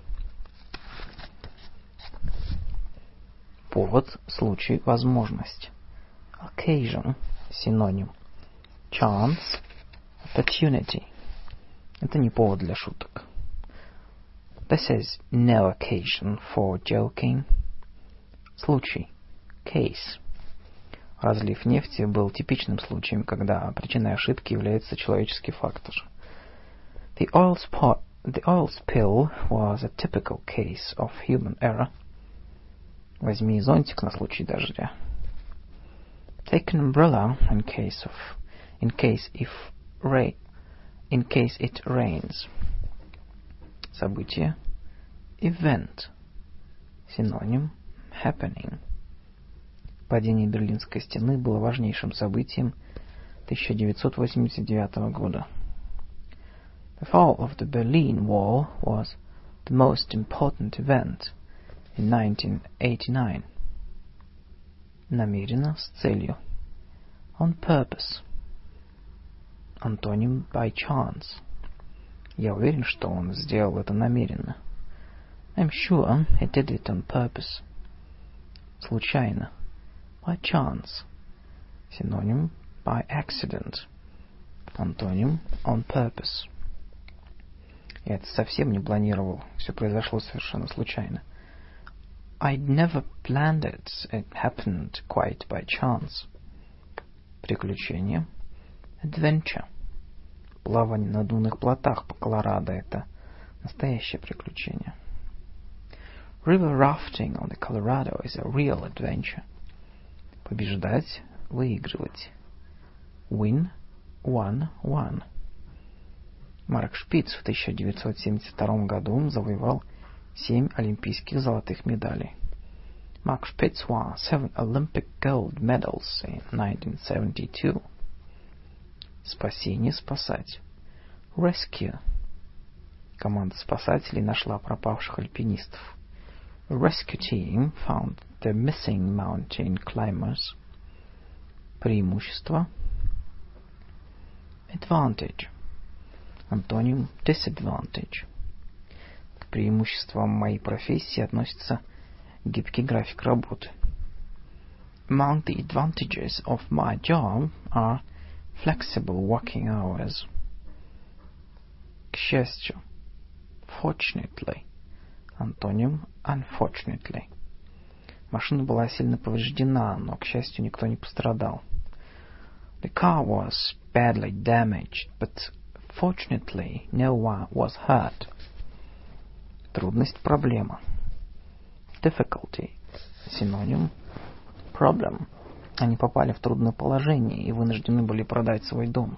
Повод, случай, возможность. Occasion, синоним chance, opportunity. Это не повод для шуток. This is no occasion for joking. Случай, case. Разлив нефти был типичным случаем, когда причиной ошибки является человеческий фактор. The oil spill was a typical case of human error. Возьми зонтик на случай дождя. Take an umbrella in case it rains. Событие, event, синоним happening. Падение Берлинской стены было важнейшим событием 1989 года. The fall of the Berlin Wall was the most important event in 1989. Намеренно, с целью. On purpose. Антоним by chance. Я уверен, что он сделал это намеренно. I'm sure he did it on purpose. Случайно. By chance. Синоним by accident. Антоним on purpose. Я это совсем не планировал. Все произошло совершенно случайно. I'd never planned it. It happened quite by chance. Приключение. Adventure. Плавание на надувных плотах по Колорадо — это настоящее приключение. River rafting on the Colorado is a real adventure. Побеждать, выигрывать. Win, won, won. Марк Шпиц в 1972 году завоевал 7 олимпийских золотых медалей. Mark Spitz won 7 Olympic gold medals in 1972. Спасение, спасать. Rescue. Команда спасателей нашла пропавших альпинистов. A rescue team found the missing mountain climbers. Преимущество. Advantage. Антоним disadvantage. К преимуществам моей профессии относится гибкий график работы. Among the advantages of my job are flexible working hours. К счастью. Fortunately. Антоним unfortunately. Машина была сильно повреждена, но, к счастью, никто не пострадал. The car was badly damaged, but fortunately no one was hurt. Трудность, проблема. Difficulty. Синоним problem. Они попали в трудное положение и вынуждены были продать свой дом.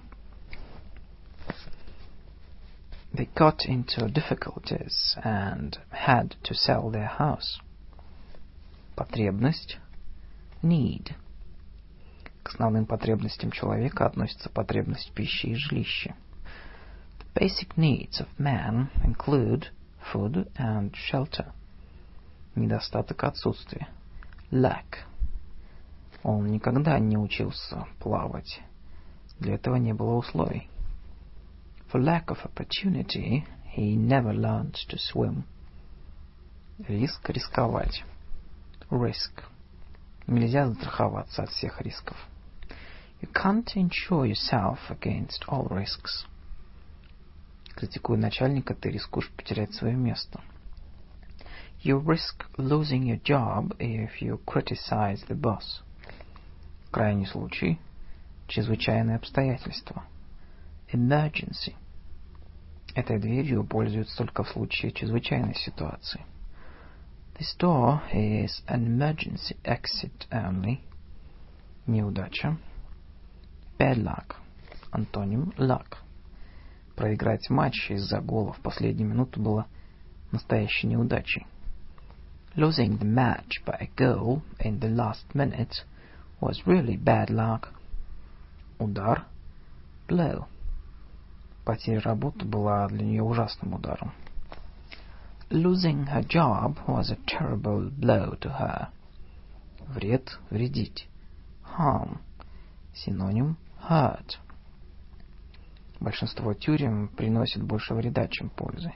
They got into difficulties and had to sell their house. Потребность. Need. К основным потребностям человека относятся потребность в пище и жилище. The basic needs of man include food and shelter. Недостаток, отсутствие. Lack. Он никогда не учился плавать. Для этого не было условий. For lack of opportunity, he never learned to swim. Риск, рисковать. Risk. Нельзя застраховаться от всех рисков. You can't insure yourself against all risks. Критикуя начальника, ты рискуешь потерять свое место. You risk losing your job if you criticize the boss. Крайний случай. Чрезвычайные обстоятельства. Emergency. Этой дверью пользуются только в случае чрезвычайной ситуации. This door is an emergency exit only. Неудача. Bad luck. Антоним luck. Проиграть матч из-за гола в последнюю минуту было настоящей неудачей. Losing the match by a goal in the last minute was really bad luck. Удар. Blow. Потеря работы была для нее ужасным ударом. Losing her job was a terrible blow to her. Вред, вредить. Harm. Синоним hurt. Большинство тюрем приносит больше вреда, чем пользы.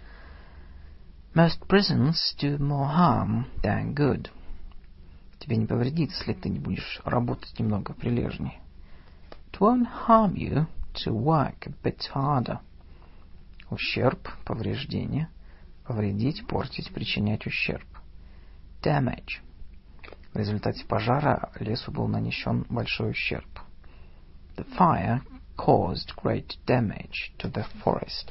Most prisons do more harm than good. Тебе не повредит, если ты не будешь работать немного прилежнее. It won't harm you to work a bit harder. Ущерб, повреждение. Повредить, портить, причинять ущерб. Damage. В результате пожара лесу был нанесен большой ущерб. The fire caused great damage to the forest.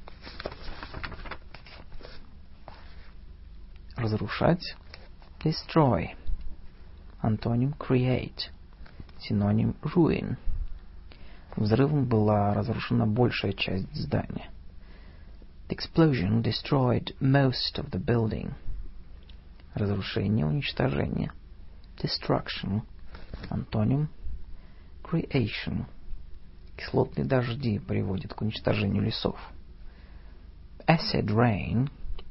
Разрушать. Destroy. Антоним create. Синоним ruin. Взрывом была разрушена большая часть здания. The explosion destroyed most of the building. Разрушение, уничтожение. Destruction. Антоним creation. Кислотные дожди приводят к уничтожению лесов. Acid rain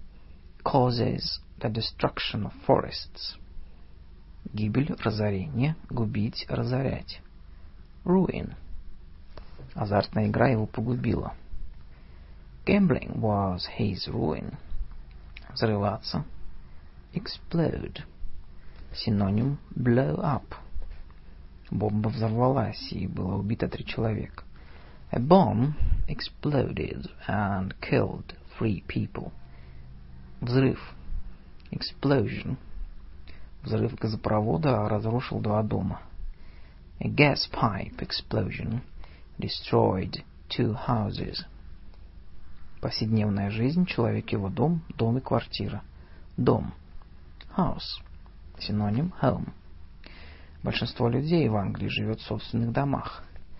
causes the destruction of forests. Гибель, разорение, губить, разорять. Ruin. Азартная игра его погубила. Gambling was his ruin. Взрываться. Explode. Синоним blow up. Бомба взорвалась, и было убито 3 человека. A bomb exploded and killed 3 people. Взрыв. Explosion. Взрыв газопровода разрушил 2 дома. A gas pipe explosion destroyed 2 houses. Повседневная жизнь, человек, его дом, дом и квартира. Дом. House. Синоним home. Большинство людей в Англии живет в собственных домах.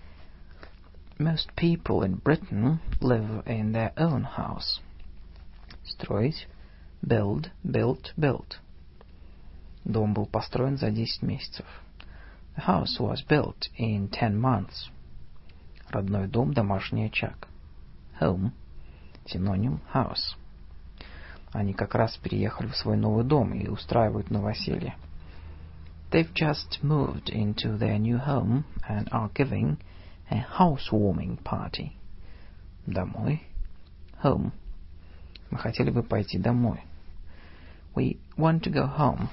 Most people in Britain live in their own house. Строить. Build, built, built. Дом был построен за 10 месяцев. The house was built in 10 months. Родной дом, домашний очаг. Home. Синоним house. Они как раз переехали в свой новый дом и устраивают новоселье. They've just moved into their new home and are giving a housewarming party. Домой. Home. Мы хотели бы пойти домой. We want to go home.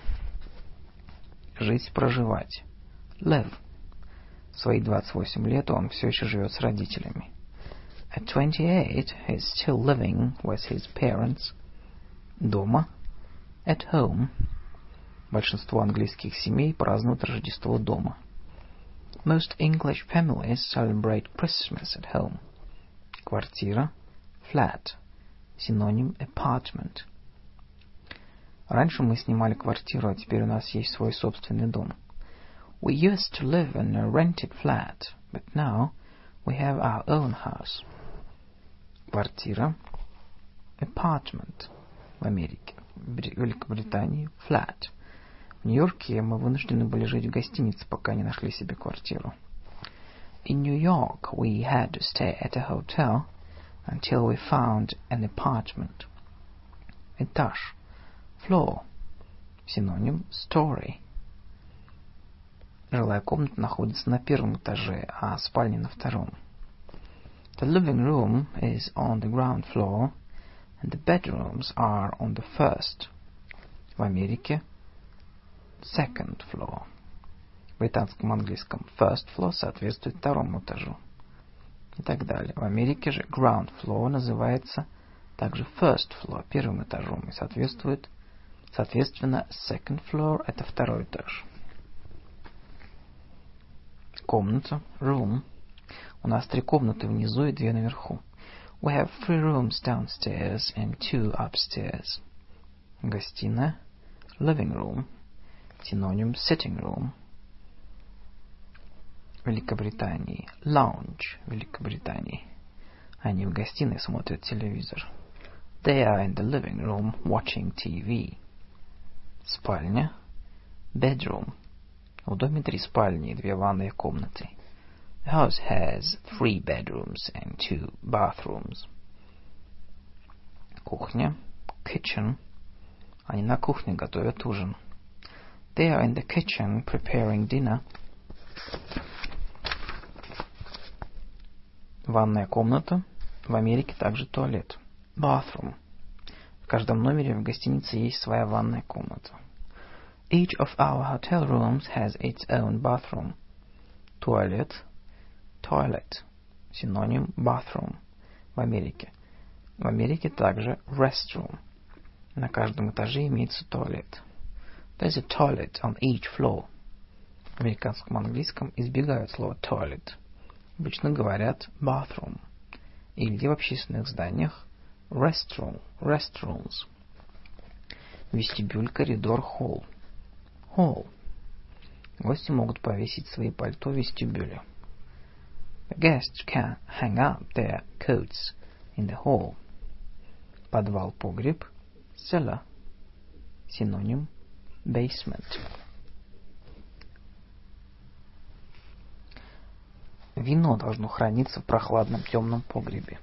Жить, проживать. Live. В свои 28 лет он все еще живет с родителями. At 28, he's still living with his parents. Дома. At home. Большинство английских семей празднуют Рождество дома. Most English families celebrate Christmas at home. Квартира. Flat. Синоним apartment. Раньше мы снимали квартиру, а теперь у нас есть свой собственный дом. We used to live in a rented flat, but now we have our own house. Квартира. Apartment. В Америке. В Великобритании. Flat. В Нью-Йорке мы вынуждены были жить в гостинице, пока не нашли себе квартиру. In New York we had to stay at a hotel until we found an apartment. этаж. Floor. Синоним story. Жилая комната находится на первом этаже, а спальня на втором. The living room is on the ground floor, and the bedrooms are on the first. В Америке second floor. В британском английском first floor соответствует второму этажу. И так далее. В Америке же ground floor называется также first floor, первым этажом, и соответственно second floor это второй этаж. Комната, room. У нас 3 комнаты внизу и 2 наверху. We have 3 rooms downstairs and 2 upstairs. Гостиная, living room. Синоним sitting room. Великобритании lounge, Великобритании. Они в гостиной смотрят телевизор. They are in the living room watching TV. Спальня, bedroom. В доме 3 спальни и 2 ванные комнаты. The house has 3 bedrooms and 2 bathrooms. Кухня, kitchen. Они на кухне готовят ужин. They are in the kitchen preparing dinner. Ванная комната. В Америке также туалет. Bathroom. В каждом номере в гостинице есть своя ванная комната. Each of our hotel rooms has its own bathroom. Туалет. Toilet. Синоним bathroom. В Америке. В Америке также restroom. На каждом этаже имеется туалет. There's a toilet on each floor. В американском английском избегают слова toilet. Обычно говорят bathroom. Или в общественных зданиях restroom, restrooms. Вестибюль, коридор, холл. Hall. Гости могут повесить свои пальто в вестибюле. The guests can hang up their coats in the hall. Подвал, погреб, cellar. Синоним basement. Вино должно храниться в прохладном темном погребе.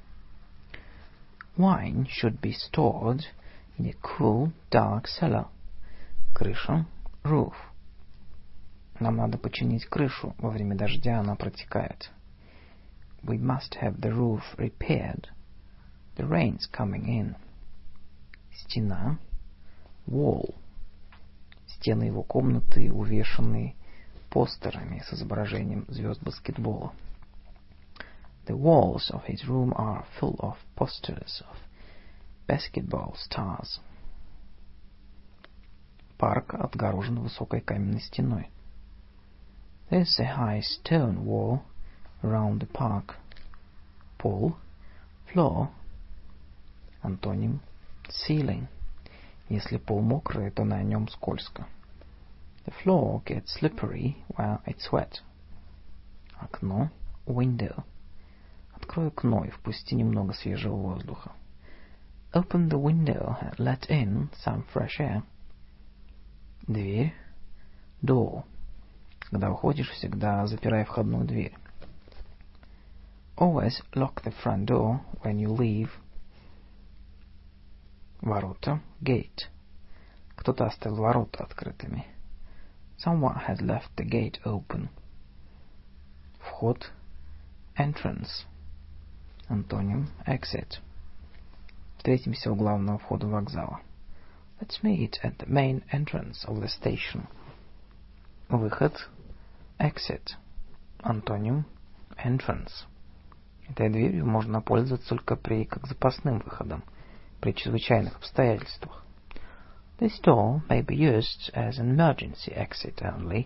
Wine should be stored in a cool, dark cellar. Крыша, roof. Нам надо починить крышу, во время дождя она протекает. We must have the roof repaired. The rain's coming in. Стена, wall. Стены его комнаты увешаны постерами с изображением звезд баскетбола. The walls of his room are full of posters of basketball stars. Парк отгорожен высокой каменной стеной. There's a high stone wall around the park. Пол, floor. Антоним ceiling. Если пол мокрый, то на нем скользко. The floor gets slippery while it's wet. Окно, window. Открой окно и впусти немного свежего воздуха. Open the window and let in some fresh air. Дверь, door. Когда уходишь, всегда запирай входную дверь. Always lock the front door when you leave. Ворота, gate. Кто-то оставил ворота открытыми. Someone has left the gate open. Вход, entrance. Антоним exit. Встретимся у главного входа вокзала. Let's meet at the main entrance of the station. Выход, exit. Антоним entrance. Этой дверью можно пользоваться только как запасным выходом, при чрезвычайных обстоятельствах. This door may be used as an emergency exit only.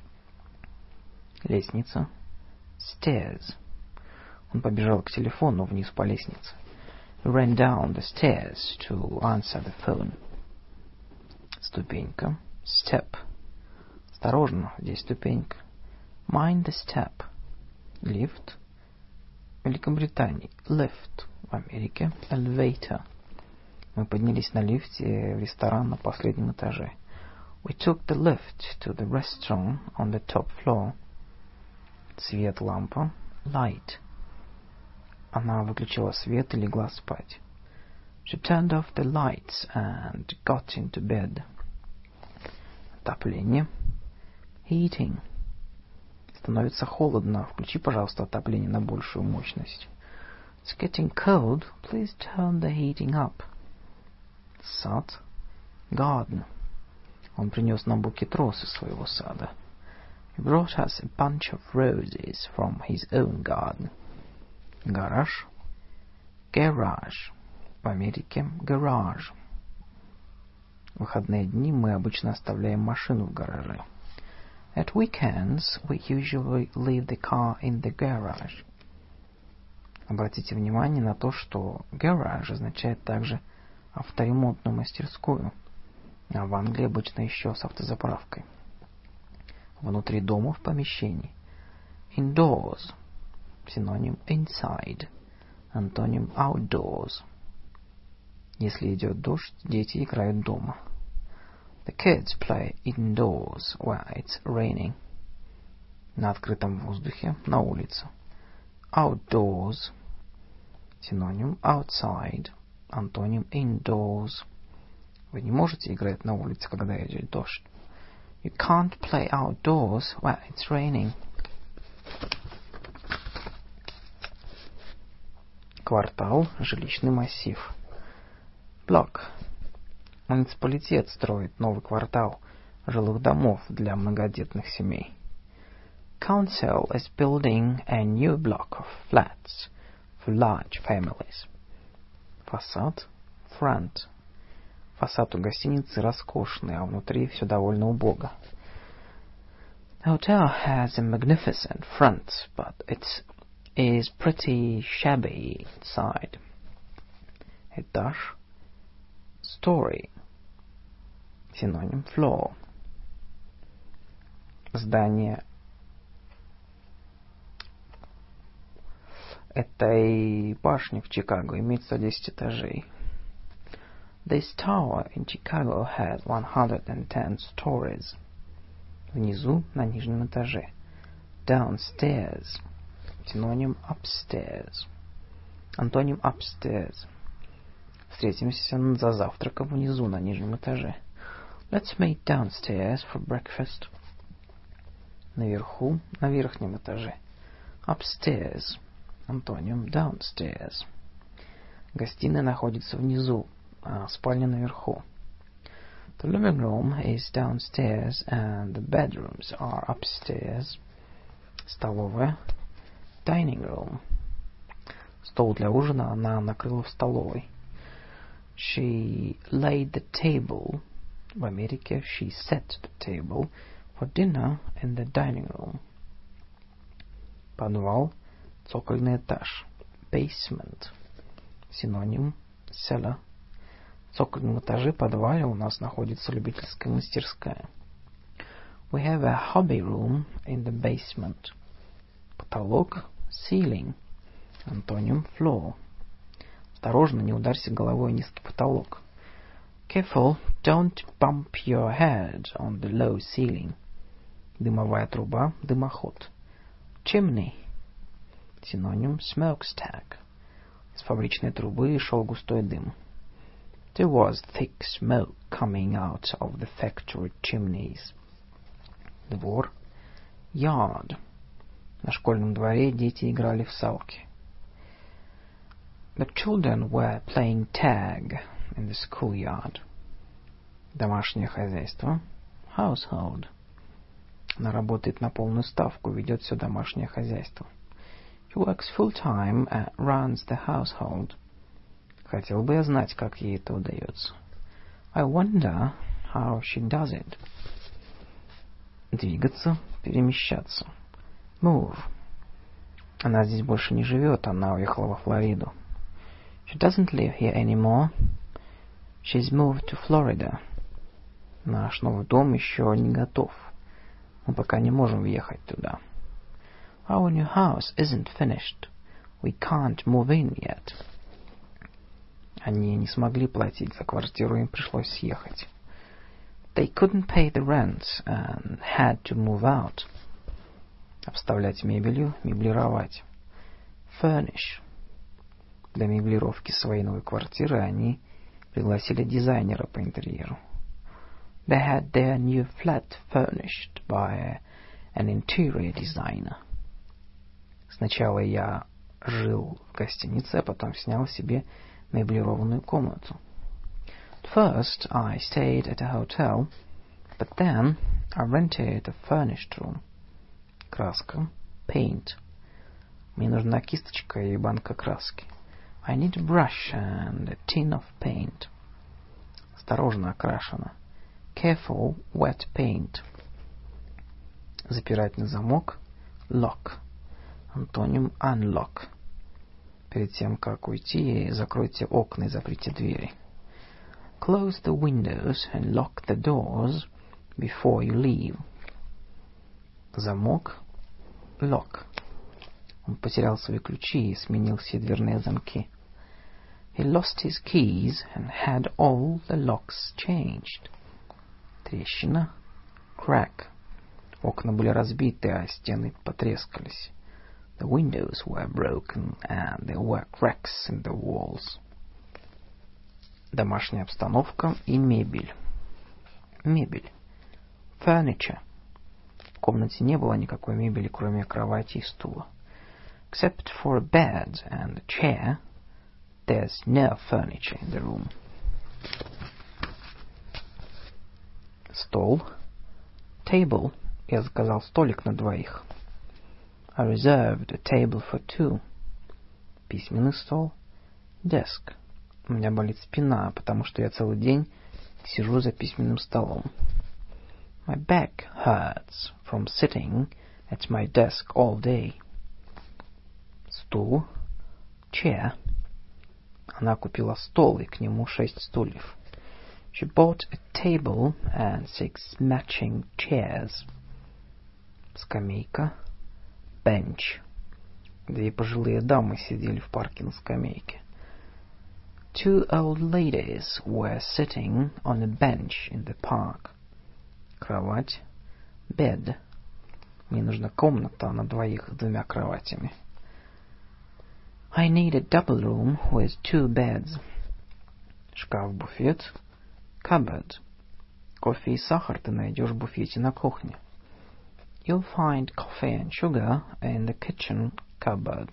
Лестница, stairs. Он побежал к телефону вниз по лестнице. He ran down the stairs to answer the phone. Ступенька, step. Осторожно, здесь ступенька. Mind the step. Лифт. В Великобритании lift. В Америке elevator. Мы поднялись на лифте в ресторан на последнем этаже. We took the lift to the restaurant on the top floor. Свет, лампа, light. Она выключила свет и легла спать. She turned off the lights and got into bed. Отопление. Heating. Становится холодно. Включи, пожалуйста, отопление на большую мощность. It's getting cold. Please turn the heating up. Сад. Garden. Он принес нам букет роз из своего сада. He brought us a bunch of roses from his own garden. Гараж. Garage. В Америке garage. В выходные дни мы обычно оставляем машину в гараже. At weekends, we usually leave the car in the garage. Обратите внимание на то, что garage означает также авторемонтную мастерскую, а в Англии обычно еще с автозаправкой. Внутри дома, в помещении. Indoors. Синоним inside. Антоним outdoors. Если идет дождь, дети играют дома. The kids play indoors when it's raining. На открытом воздухе, на улице. Outdoors. Синоним outside. Антоним indoors. Вы не можете играть на улице, когда идет дождь. You can't play outdoors when it's raining. Квартал, жилищный массив. Block. Муниципалитет строит новый квартал жилых домов для многодетных семей. Council is building a new block of flats for large families. Фасад. Front. Фасад у гостиницы роскошный, а внутри все довольно убого. The hotel has a magnificent front, but it is pretty shabby inside. Этаж. Story. Синоним floor. Здание этой башни в Чикаго имеет 110 этажей. This tower in Chicago has 110 stories. Внизу, на нижнем этаже. Downstairs. Синоним upstairs. Антоним upstairs. Встретимся за завтраком внизу, на нижнем этаже. Let's meet downstairs for breakfast. Наверху, на верхнем этаже. Upstairs. Антоним downstairs. Гостиная находится внизу, а спальня наверху. The living room is downstairs and the bedrooms are upstairs. Столовая. Dining room. Стол для ужина она накрыла в столовой. She laid the table. В Америке she set the table for dinner in the dining room. Подвал. Цокольный этаж. Basement. Синоним cellar. В цокольном этаже подвале у нас находится любительская мастерская. We have a hobby room in the basement. Потолок. Ceiling. Антоним floor. Осторожно, не ударься головой о низкий потолок. Careful, don't bump your head on the low ceiling. Дымовая труба. Дымоход. Chimney. Синоним smokestack. Из фабричной трубы шел густой дым. There was thick smoke coming out of the factory chimneys. Двор. Yard. На школьном дворе дети играли в салки. The children were playing tag in the schoolyard. Домашнее хозяйство. Household. Она работает на полную ставку, ведет все домашнее хозяйство. She works full-time and runs the household. Хотел бы я знать, как ей это удается. I wonder how she does it. Двигаться, перемещаться. Move. Она здесь больше не живет, она уехала во Флориду. She doesn't live here anymore. She's moved to Florida. Наш новый дом еще не готов. Мы пока не можем въехать туда. Our new house isn't finished. We can't move in yet. Они не смогли платить за квартиру, им пришлось съехать. They couldn't pay the rent and had to move out. Обставлять мебелью, меблировать. Furnish. Для меблировки своей новой квартиры они пригласили дизайнера по интерьеру. They had their new flat furnished by an interior designer. Сначала я жил в гостинице, а потом снял себе меблированную комнату. At first I stayed at a hotel, but then I rented a furnished room. Краска. Paint. Мне нужна кисточка и банка краски. I need a brush and a tin of paint. Осторожно, окрашено. Careful, wet paint. Запирать на замок. Lock. Антоним unlock. Перед тем, как уйти, закройте окна и заприте двери. Close the windows and lock the doors before you leave. Замок. Lock. Он потерял свои ключи и сменил все дверные замки. He lost his keys and had all the locks changed. Трещина. Crack. Окна были разбиты, а стены потрескались. The windows were broken and there were cracks in the walls. Домашняя обстановка и мебель. Мебель. Furniture. В комнате не было никакой мебели, кроме кровати и стула. Except for a bed and a chair, there's no furniture in the room. Стол. Table. Я заказал столик на двоих. I reserved a table for two. Письменный стол. Desk. У меня болит спина, потому что я целый день сижу за письменным столом. My back hurts from sitting at my desk all day. Стул. Chair. Она купила стол и к нему 6 стульев. She bought a table and 6 matching chairs. Скамейка. Bench. Две пожилые дамы сидели в парке на скамейке. Two old ladies were sitting on a bench in the park. Кровать. Bed. Мне нужна комната на двоих с 2 кроватями. I need a double room with 2 beds. Шкаф-буфет. Cupboard. Кофе и сахар ты найдешь в буфете на кухне. You'll find coffee and sugar in the kitchen cupboard.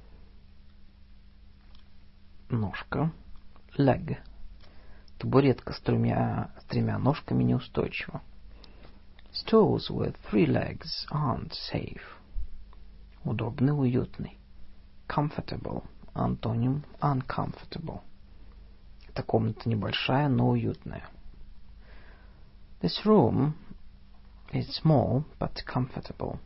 Ножка. Leg. Табуретка с тремя ножками неустойчива. Stools with 3 legs aren't safe. Удобный, уютный. Comfortable. Антоним uncomfortable. Эта комната небольшая, но уютная. This room is small but comfortable.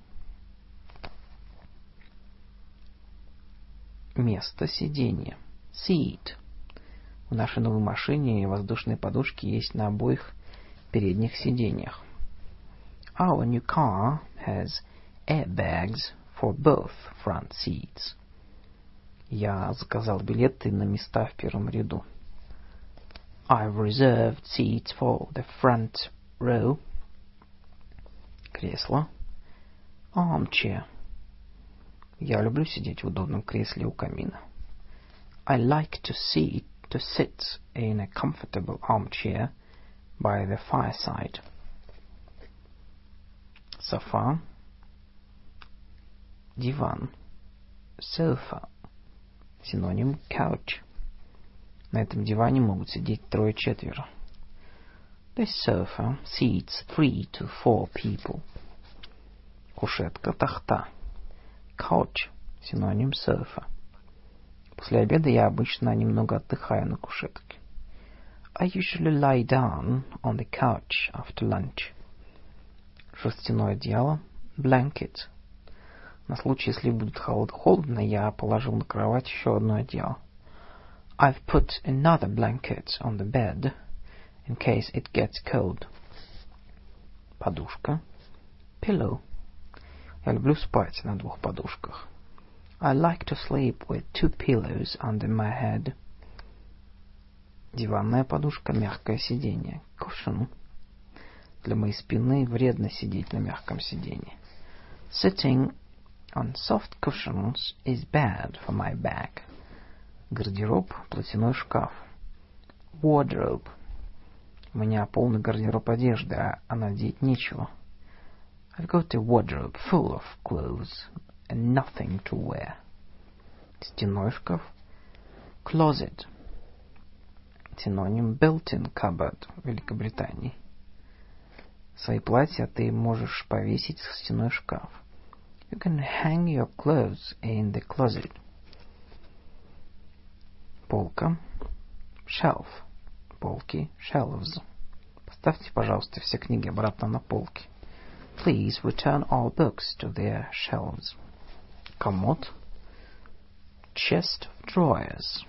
Место сидения. Seat. В нашей новой машине воздушные подушки есть на обоих передних сиденьях. Our new car has airbags for both front seats. Я заказал билеты на места в первом ряду. I've reserved seats for the front row. Кресло. Armchair. Я люблю сидеть в удобном кресле у камина. I like to sit in a comfortable armchair by the fireside. Софа. Диван. Sofa. Синоним couch. На этом диване могут сидеть 3-4. This sofa seats 3 to 4 people. Кушетка, тахта. Couch. Синоним sofa. После обеда я обычно немного отдыхаю на кушетке. I usually lie down on the couch after lunch. Шерстяное одеяло. Blanket. На случай, если будет холодно, я положил на кровать еще одно одеяло. I've put another blanket on the bed in case it gets cold. Подушка. Pillow. Я люблю спать на 2 подушках. I like to sleep with 2 pillows under my head. Диванная подушка, мягкое сиденье. Cushion. Для моей спины вредно сидеть на мягком сиденье. Sitting on soft cushions is bad for my back. Гардероб, платяной шкаф. Wardrobe. У меня полный гардероб одежды, а надеть нечего. I've got a wardrobe full of clothes and nothing to wear. Стенной шкаф. Closet. Синоним built-in cupboard в Великобритании. Свои платья ты можешь повесить в стенной шкаф. You can hang your clothes in the closet. Полка. Shelf. Полки. Shelves. Поставьте, пожалуйста, все книги обратно на полки. Please return all books to their shelves. Комод. Chest of drawers.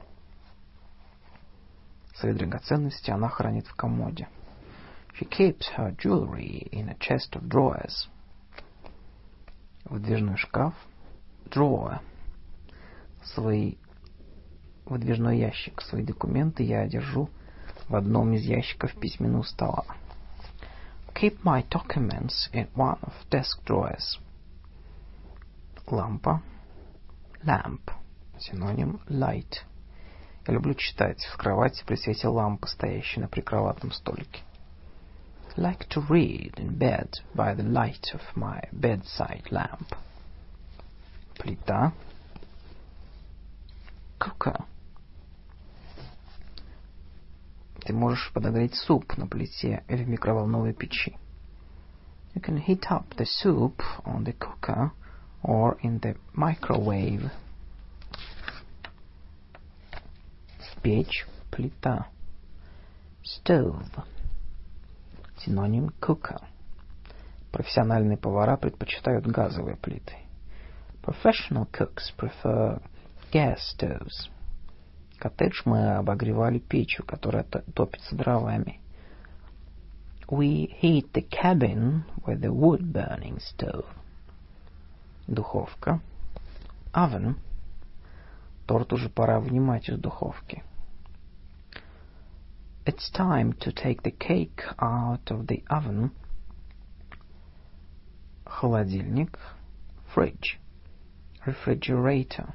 Свои драгоценности она хранит в комоде. She keeps her jewelry in a chest of drawers. Выдвижной шкаф. Drawer. Выдвижной ящик. Свои документы я держу в одном из ящиков письменного стола. Keep my documents in one of desk drawers. Лампа. Lamp. Синоним light. Я люблю читать в кровати при свете лампы, стоящей на прикроватном столике. I like to read in bed by the light of my bedside lamp. Плита. Cooker. Ты можешь подогреть суп на плите или в микроволновой печи. You can heat up the soup on the cooker or in the microwave. Печь, плита. Stove. Синоним cooker. Профессиональные повара предпочитают газовые плиты. Professional cooks prefer gas stoves. Коттедж мы обогревали печью, которая топится дровами. We heat the cabin with a wood-burning stove. Духовка. Oven. Торт уже пора вынимать из духовки. It's time to take the cake out of the oven. Холодильник. Fridge. Refrigerator.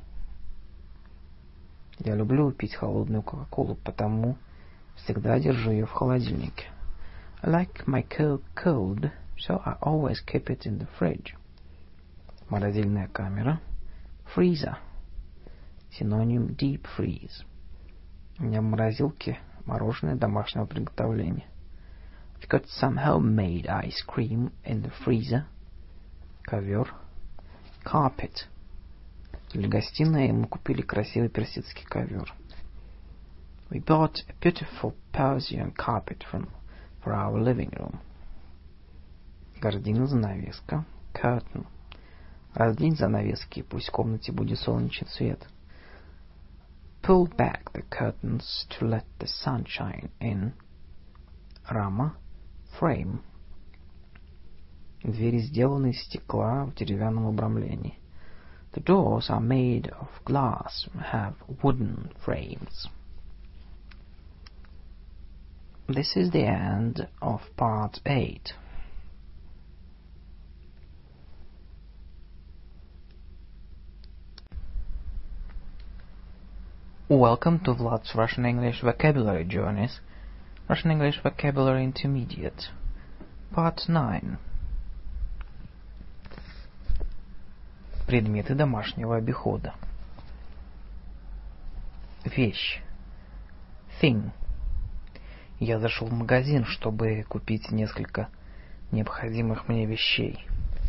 Я люблю пить холодную кока-колу, потому всегда держу ее в холодильнике. I like my Coke cold, so I always keep it in the fridge. Морозильная камера. Freezer. Синоним deep freeze. У меня в морозилке мороженое домашнего приготовления. I've got some homemade ice cream in the freezer. Ковер. Carpet. Для гостиной мы купили красивый персидский ковер. We bought a beautiful Persian carpet for our living room. Гардина, занавеска. Curtain. Раздвинь занавески, пусть в комнате будет солнечный свет. Pull back the curtains to let the sunshine in. Рама. Frame. Двери сделаны из стекла в деревянном обрамлении. The doors are made of glass and have wooden frames. This is the end of part 8. Welcome to Vlad's Russian English Vocabulary Journeys, Russian English Vocabulary Intermediate, Part 9. Предметы домашнего обихода. Вещь. Thing. Я зашел в магазин, чтобы купить несколько необходимых мне вещей.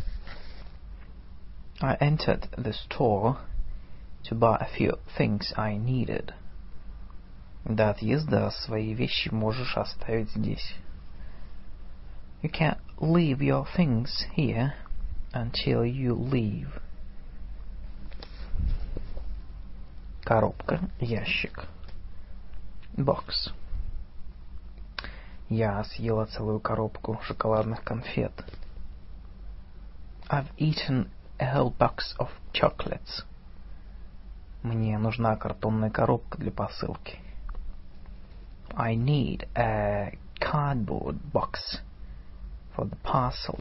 I entered the store to buy a few things I needed. До отъезда свои вещи можешь оставить здесь. You can leave your things here until you leave. Коробка, ящик. Box. Я съела целую коробку шоколадных конфет. I've eaten a whole box of chocolates. Мне нужна картонная коробка для посылки. I need a cardboard box for the parcel.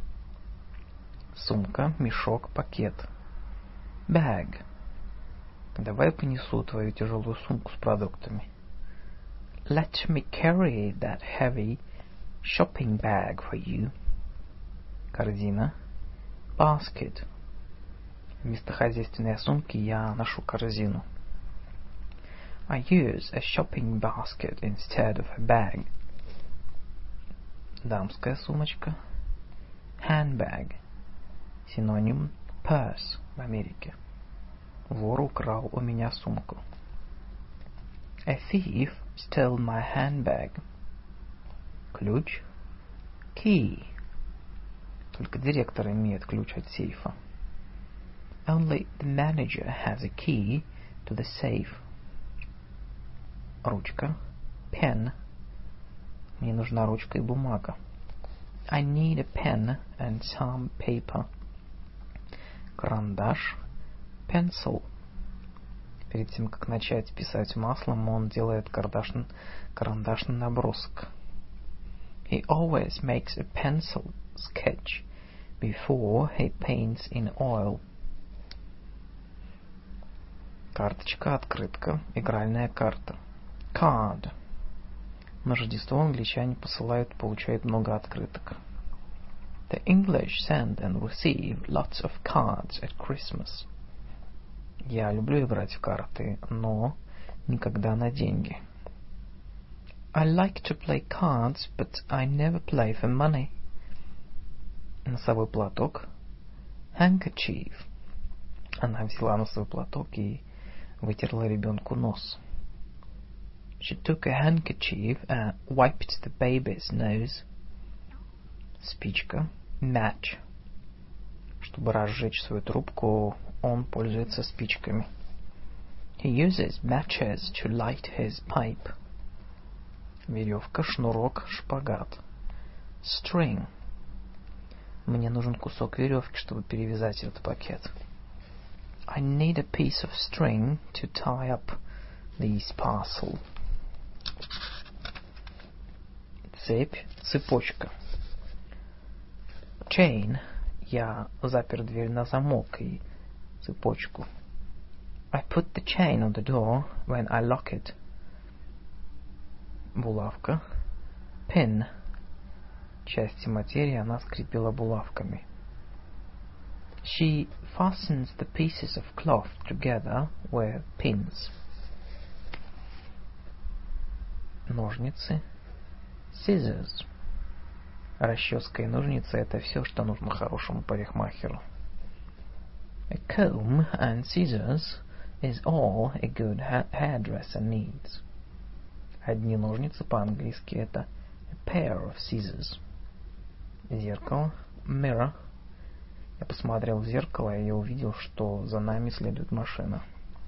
Сумка, мешок, пакет. Bag. Давай понесу твою тяжелую сумку с продуктами. Let me carry that heavy shopping bag for you. Корзина. Basket. Вместо хозяйственной сумки я ношу корзину. I use a shopping basket instead of a bag. Дамская сумочка. Handbag. Синоним purse в Америке. Вор украл у меня сумку. A thief stole my handbag. Ключ. Key. Только директор имеет ключ от сейфа. Only the manager has a key to the safe. Ручка. Pen. Мне нужна ручка и бумага. I need a pen and some paper. Карандаш. Pencil. Перед тем, как начать писать маслом, он делает карандашный набросок. He always makes a pencil sketch before he paints in oil. Карточка, открытка, игральная карта. Card. На Рождество англичане получают много открыток. The English send and receive lots of cards at Christmas. Я люблю играть в карты, но никогда на деньги. I like to play cards, but I never play for money. Носовой платок. Handkerchief. Она взяла носовой платок и вытерла ребенку нос. She took a handkerchief and wiped the baby's nose. Спичка. Match. Чтобы разжечь свою трубку, он пользуется спичками. He uses matches to light his pipe. Веревка, шнурок, шпагат. String. Мне нужен кусок веревки, чтобы перевязать этот пакет. I need a piece of string to tie up this parcel. Цепь, цепочка. Chain. Я запер дверь на замок и цепочку. I put the chain on the door when I lock it. Булавка. Pin. Части материи она скрепила булавками. She fastens the pieces of cloth together with pins. Ножницы. Scissors. Расческа и ножницы — это все, что нужно хорошему парикмахеру. A comb and scissors is all a good hairdresser needs. Одни ножницы по-английски — это a pair of scissors. Зеркало. Mirror. Я посмотрел в зеркало, и я увидел, что за нами следует машина.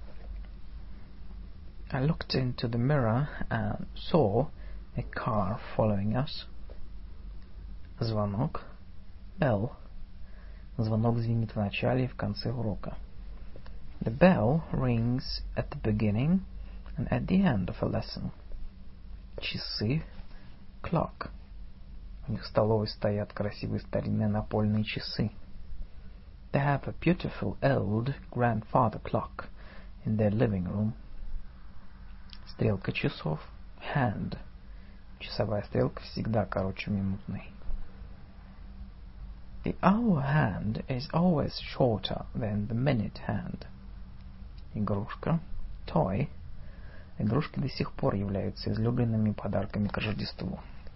I looked into the mirror and saw a car following us. Звонок. Bell. Звонок звенит в начале и в конце урока. The bell rings at the beginning and at the end of a lesson. Часы. Clock. У них в столовой стоят красивые старинные напольные часы. They have a beautiful old grandfather clock in their living room. Стрелка часов. Hand. Часовая стрелка всегда короче минутной. The hour hand is always shorter than the minute hand. Игрушка. Toy. Игрушки до сих пор являются излюбленными подарками к Рождеству.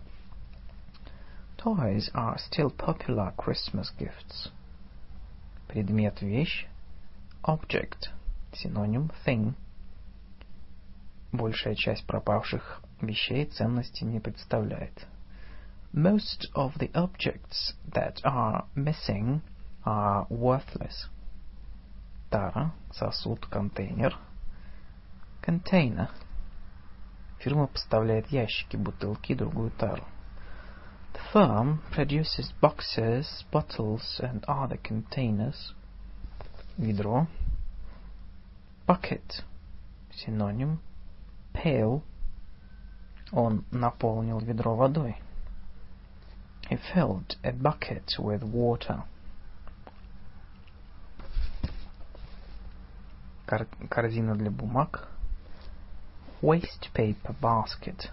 Toys are still popular Christmas gifts. Предмет, вещь. Object. Синоним thing. Большая часть пропавших вещей ценности не представляет. Most of the objects that are missing are worthless. Тара, сосуд, контейнер. Container. Фирма поставляет ящики, бутылки и другую тару. The firm produces boxes, bottles and other containers. Ведро. Bucket. Синоним. Pail. Он наполнил ведро водой. He filled a bucket with water. корзина для бумаг. Waste paper basket.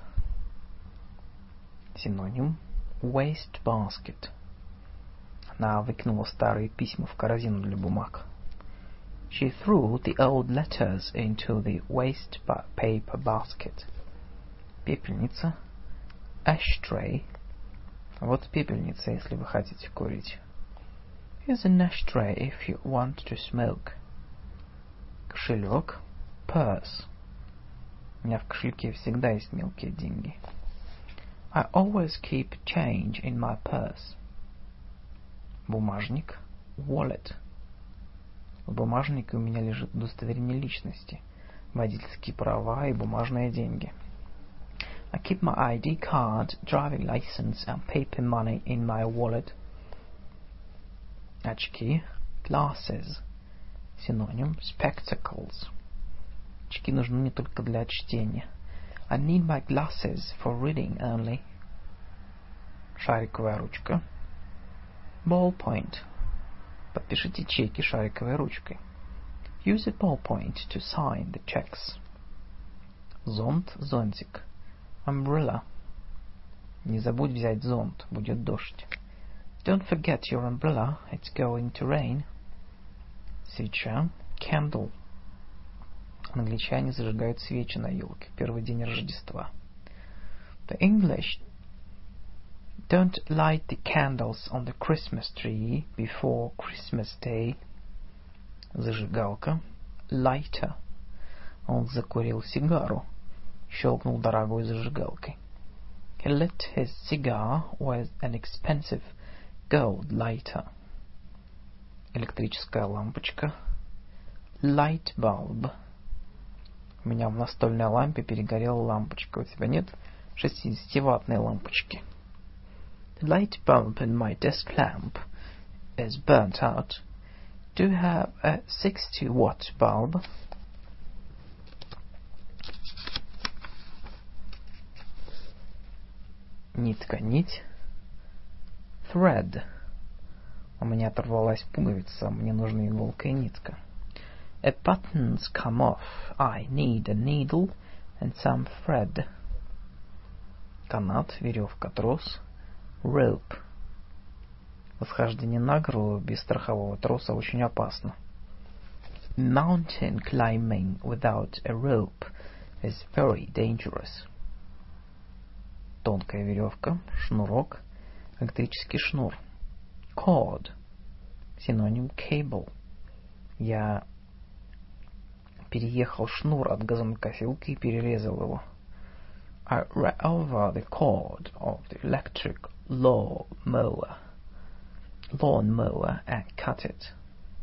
Синоним waste basket. Она выкинула старые письма в корзину для бумаг. She threw the old letters into the waste paper basket. Пепельница. Ashtray. Вот пепельница, если вы хотите курить. Here's an ashtray if you want to smoke. Кошелек. Purse. У меня в кошельке всегда есть мелкие деньги. I always keep change in my purse. Бумажник. Wallet. В бумажнике у меня лежит удостоверение личности, водительские права и бумажные деньги. I keep my ID card, driving license and paper money in my wallet. Очки. Glasses. Синоним spectacles. Очки нужны не только для чтения. I need my glasses for reading only. Шариковая ручка. Ballpoint. Подпишите чеки шариковой ручкой. Use a ballpoint to sign the checks. Зонт, зонтик. Umbrella. Не забудь взять зонт, будет дождь. Don't forget your umbrella, it's going to rain. Свеча. Candle. Англичане зажигают свечи на елке в первый день Рождества. The English don't light the candles on the Christmas tree before Christmas Day. Зажигалка. Lighter. Он закурил сигару, щелкнул дорогой зажигалкой. He lit his cigar with an expensive gold lighter. Электрическая лампочка. Light bulb. У меня в настольной лампе перегорела лампочка. У тебя нет 60-ваттной лампочки? The light bulb in my desk lamp is burnt out. Do you have a 60-watt bulb? Нитка, нить. Thread. У меня оторвалась пуговица, мне нужна иголка и нитка. A button's come off. I need a needle and some thread. Канат, веревка, трос. Rope. Восхождение на гору без страхового троса очень опасно. Mountain climbing without a rope is very dangerous. Тонкая веревка, шнурок, электрический шнур. Cord. Синоним cable. Я переехал шнур от газонокосилки и перерезал его. I ran over the cord of the electric lawnmower and cut it.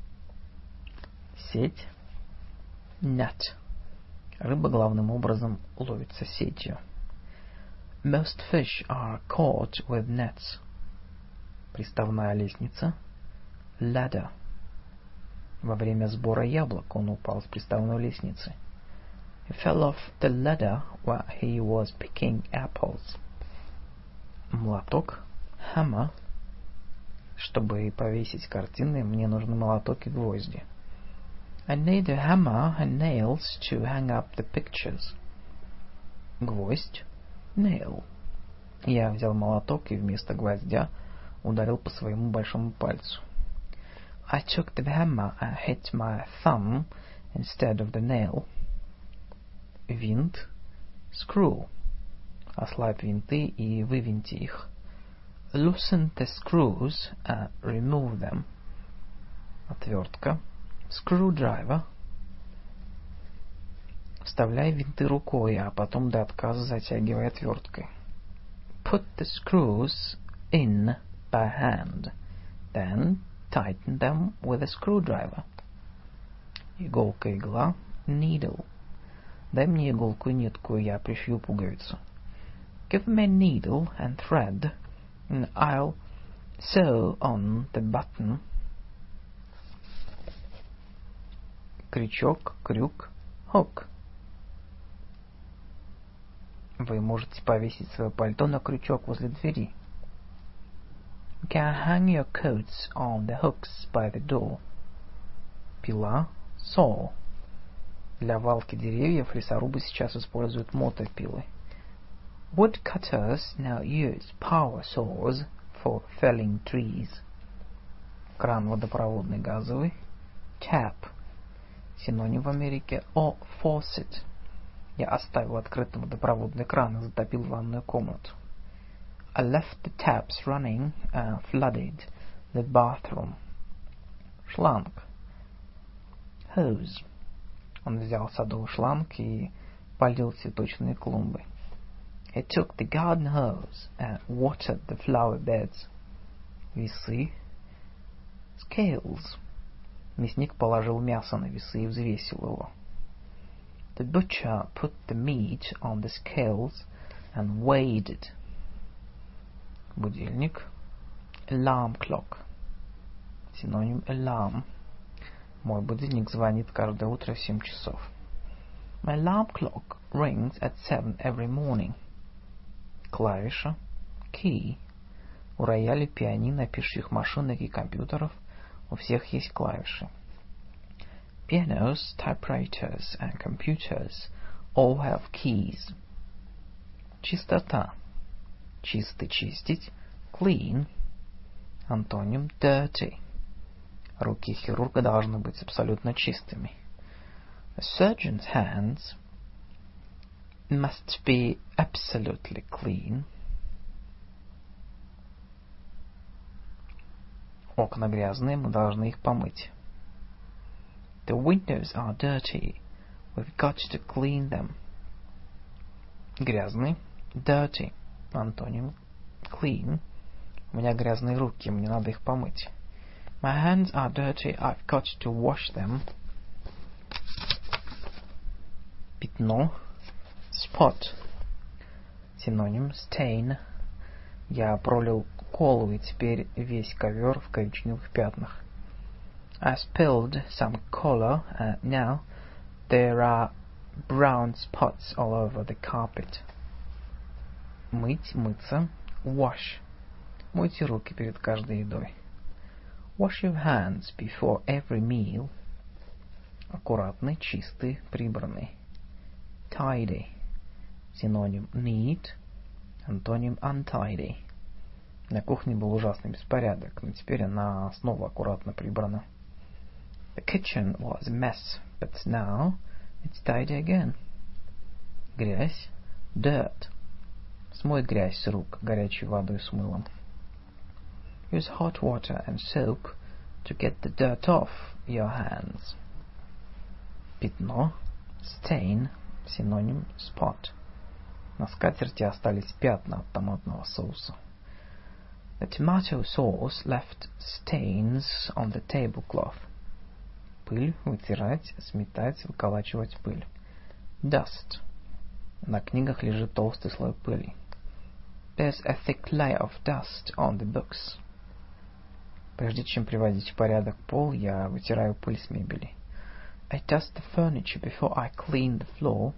Сеть. Net. Рыба главным образом ловится сетью. Most fish are caught with nets. Приставная лестница. Ladder. Во время сбора яблок он упал с приставной лестницы. He fell off the ladder while he was picking apples. Молоток. Hammer. Чтобы повесить картины, мне нужны молоток и гвозди. I need a hammer and nails to hang up the pictures. Гвоздь. Nail. Я взял молоток и вместо гвоздя ударил по своему большому пальцу. I took the hammer and hit my thumb instead of the nail. Винт. Screw. Ослабь винты и вывинти их. Loosen the screws and remove them. Отвертка. Screwdriver. Вставляй винты рукой, а потом до отказа затягивай отверткой. Put the screws in by hand, then tighten them with a screwdriver. Иголка, игла. Needle. Дай мне иголку и нитку, и я пришью пуговицу. Give me a needle and thread, and I'll sew on the button. Крючок, крюк. Hook. Вы можете повесить свое пальто на крючок возле двери. You can hang your coats on the hooks by the door. Пила. Saw. Для валки деревьев лесорубы сейчас используют мотопилы. Woodcutters now use power saws for felling trees. Кран водопроводный газовый. Tap. Синоним в Америке faucet. Я оставил открытым водопроводный кран и затопил ванную комнату. I left the taps running and flooded the bathroom. Шланг. Hose. Он взял садовый шланг и полил цветочные клумбы. He took the garden hose and watered the flower beds. Весы. Scales. Мясник положил мясо на весы и взвесил его. The butcher put the meat on the scales and weighed it. Будильник. Alarm clock. Синоним alarm. Мой будильник звонит каждое утро в 7 часов. My alarm clock rings at 7 every morning. Клавиша. Key. У рояля, пианино, пишущих машинок и компьютеров у всех есть клавиши. Pianos, typewriters and computers all have keys. Чистота. Чистый, чистить. Clean. Антоним dirty. Руки хирурга должны быть абсолютно чистыми. A surgeon's hands must be absolutely clean. Окна грязные, мы должны их помыть. The windows are dirty. We've got to clean them. Грязный. Dirty. Антоним clean. У меня грязные руки, мне надо их помыть. My hands are dirty. I've got to wash them. Пятно. Spot. Синоним stain. Я пролил колу, и теперь весь ковер в коричневых пятнах. I spilled some color, and now there are brown spots all over the carpet. Мыть, мыться. Wash. Мойте руки перед каждой едой. Wash your hands before every meal. Аккуратный, чистый, прибранный. Tidy. Синоним neat. Антоним untidy. На кухне был ужасный беспорядок, но теперь она снова аккуратно прибрана. The kitchen was a mess, but now it's tidy again. Грязь. Dirt. Смой грязь с рук горячей водой с мылом. Use hot water and soap to get the dirt off your hands. Пятно. Stain. Синоним spot. На скатерти остались пятна от томатного соуса. The tomato sauce left stains on the tablecloth. Пыль. Вытирать, сметать, выколачивать пыль. Dust. На книгах лежит толстый слой пыли. There's a thick layer of dust on the books. Прежде чем приводить в порядок пол, я вытираю пыль с мебели. I dust the furniture before I clean the floor.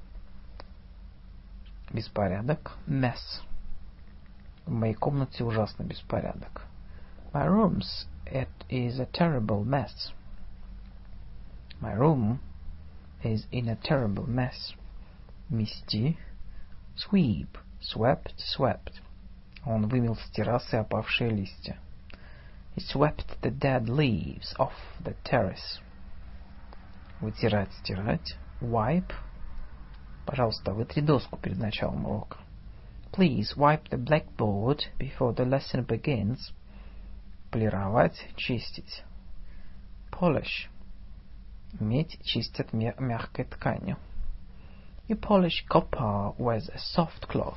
Беспорядок. Mess. В моей комнате ужасный беспорядок. My room's it is a terrible mess. My room is in a terrible mess. Мести. Sweep. Swept, swept. Он вымел с террасы опавшие листья. He swept the dead leaves off the terrace. Вытирать, стирать. Wipe. Пожалуйста, вытри доску перед началом урока. Please wipe the blackboard before the lesson begins. Полировать, чистить. Polish. Медь чистят мягкой тканью. You polish copper with a soft cloth.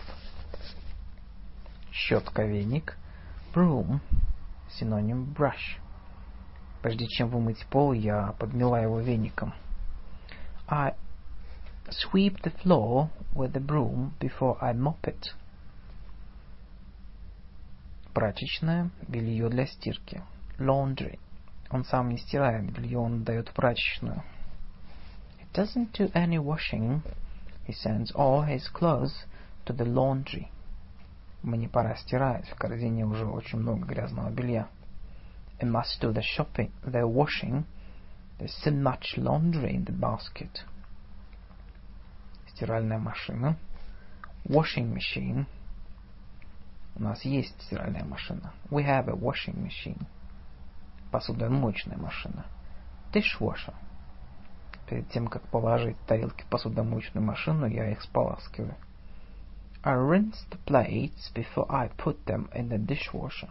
Щетка, веник. Broom. Синоним brush. Прежде чем вымыть пол, я подмела его веником. I sweep the floor with the broom before I mop it. Прачечная, белье для стирки. Laundry. Он сам не стирает белье, он отдает в прачечную. He doesn't do any washing. He sends all his clothes to the laundry. Мне пора стирать, в корзине уже очень много грязного белья. I must do the washing. There's so much laundry in the basket. Стиральная машина. Washing machine. У нас есть стиральная машина. We have a washing machine. Посудомоечная машина. Dishwasher. Перед тем, как положить тарелки в посудомоечную машину, я их споласкиваю. I rinse the plates before I put them in the dishwasher.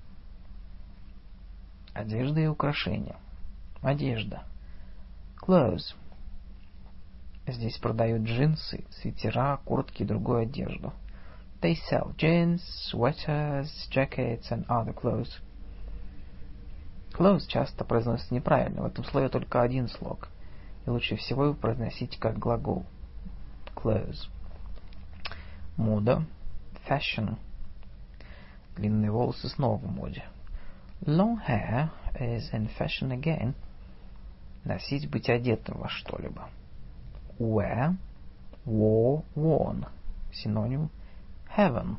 Одежда и украшения. Одежда. Clothes. Здесь продают джинсы, свитера, куртки и другую одежду. They sell jeans, sweaters, jackets and other clothes. Clothes часто произносится неправильно. В этом слове только один слог. И лучше всего его произносить как глагол. Clothes. Мода. Fashion. Длинные волосы снова в моде. Long hair is in fashion again. Носить, быть одетым во что-либо. Wear. Wore, worn. Синоним. Heaven.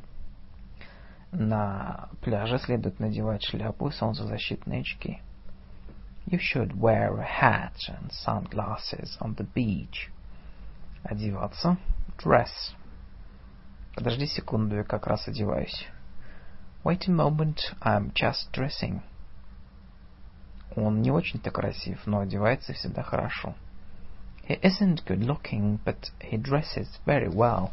На пляже следует надевать шляпу и солнцезащитные очки. You should wear a hat and sunglasses on the beach. Одеваться. Dress. Подожди секунду, я как раз одеваюсь. Wait a moment, I'm just dressing. Он не очень-то красив, но одевается всегда хорошо. He isn't good looking, but he dresses very well.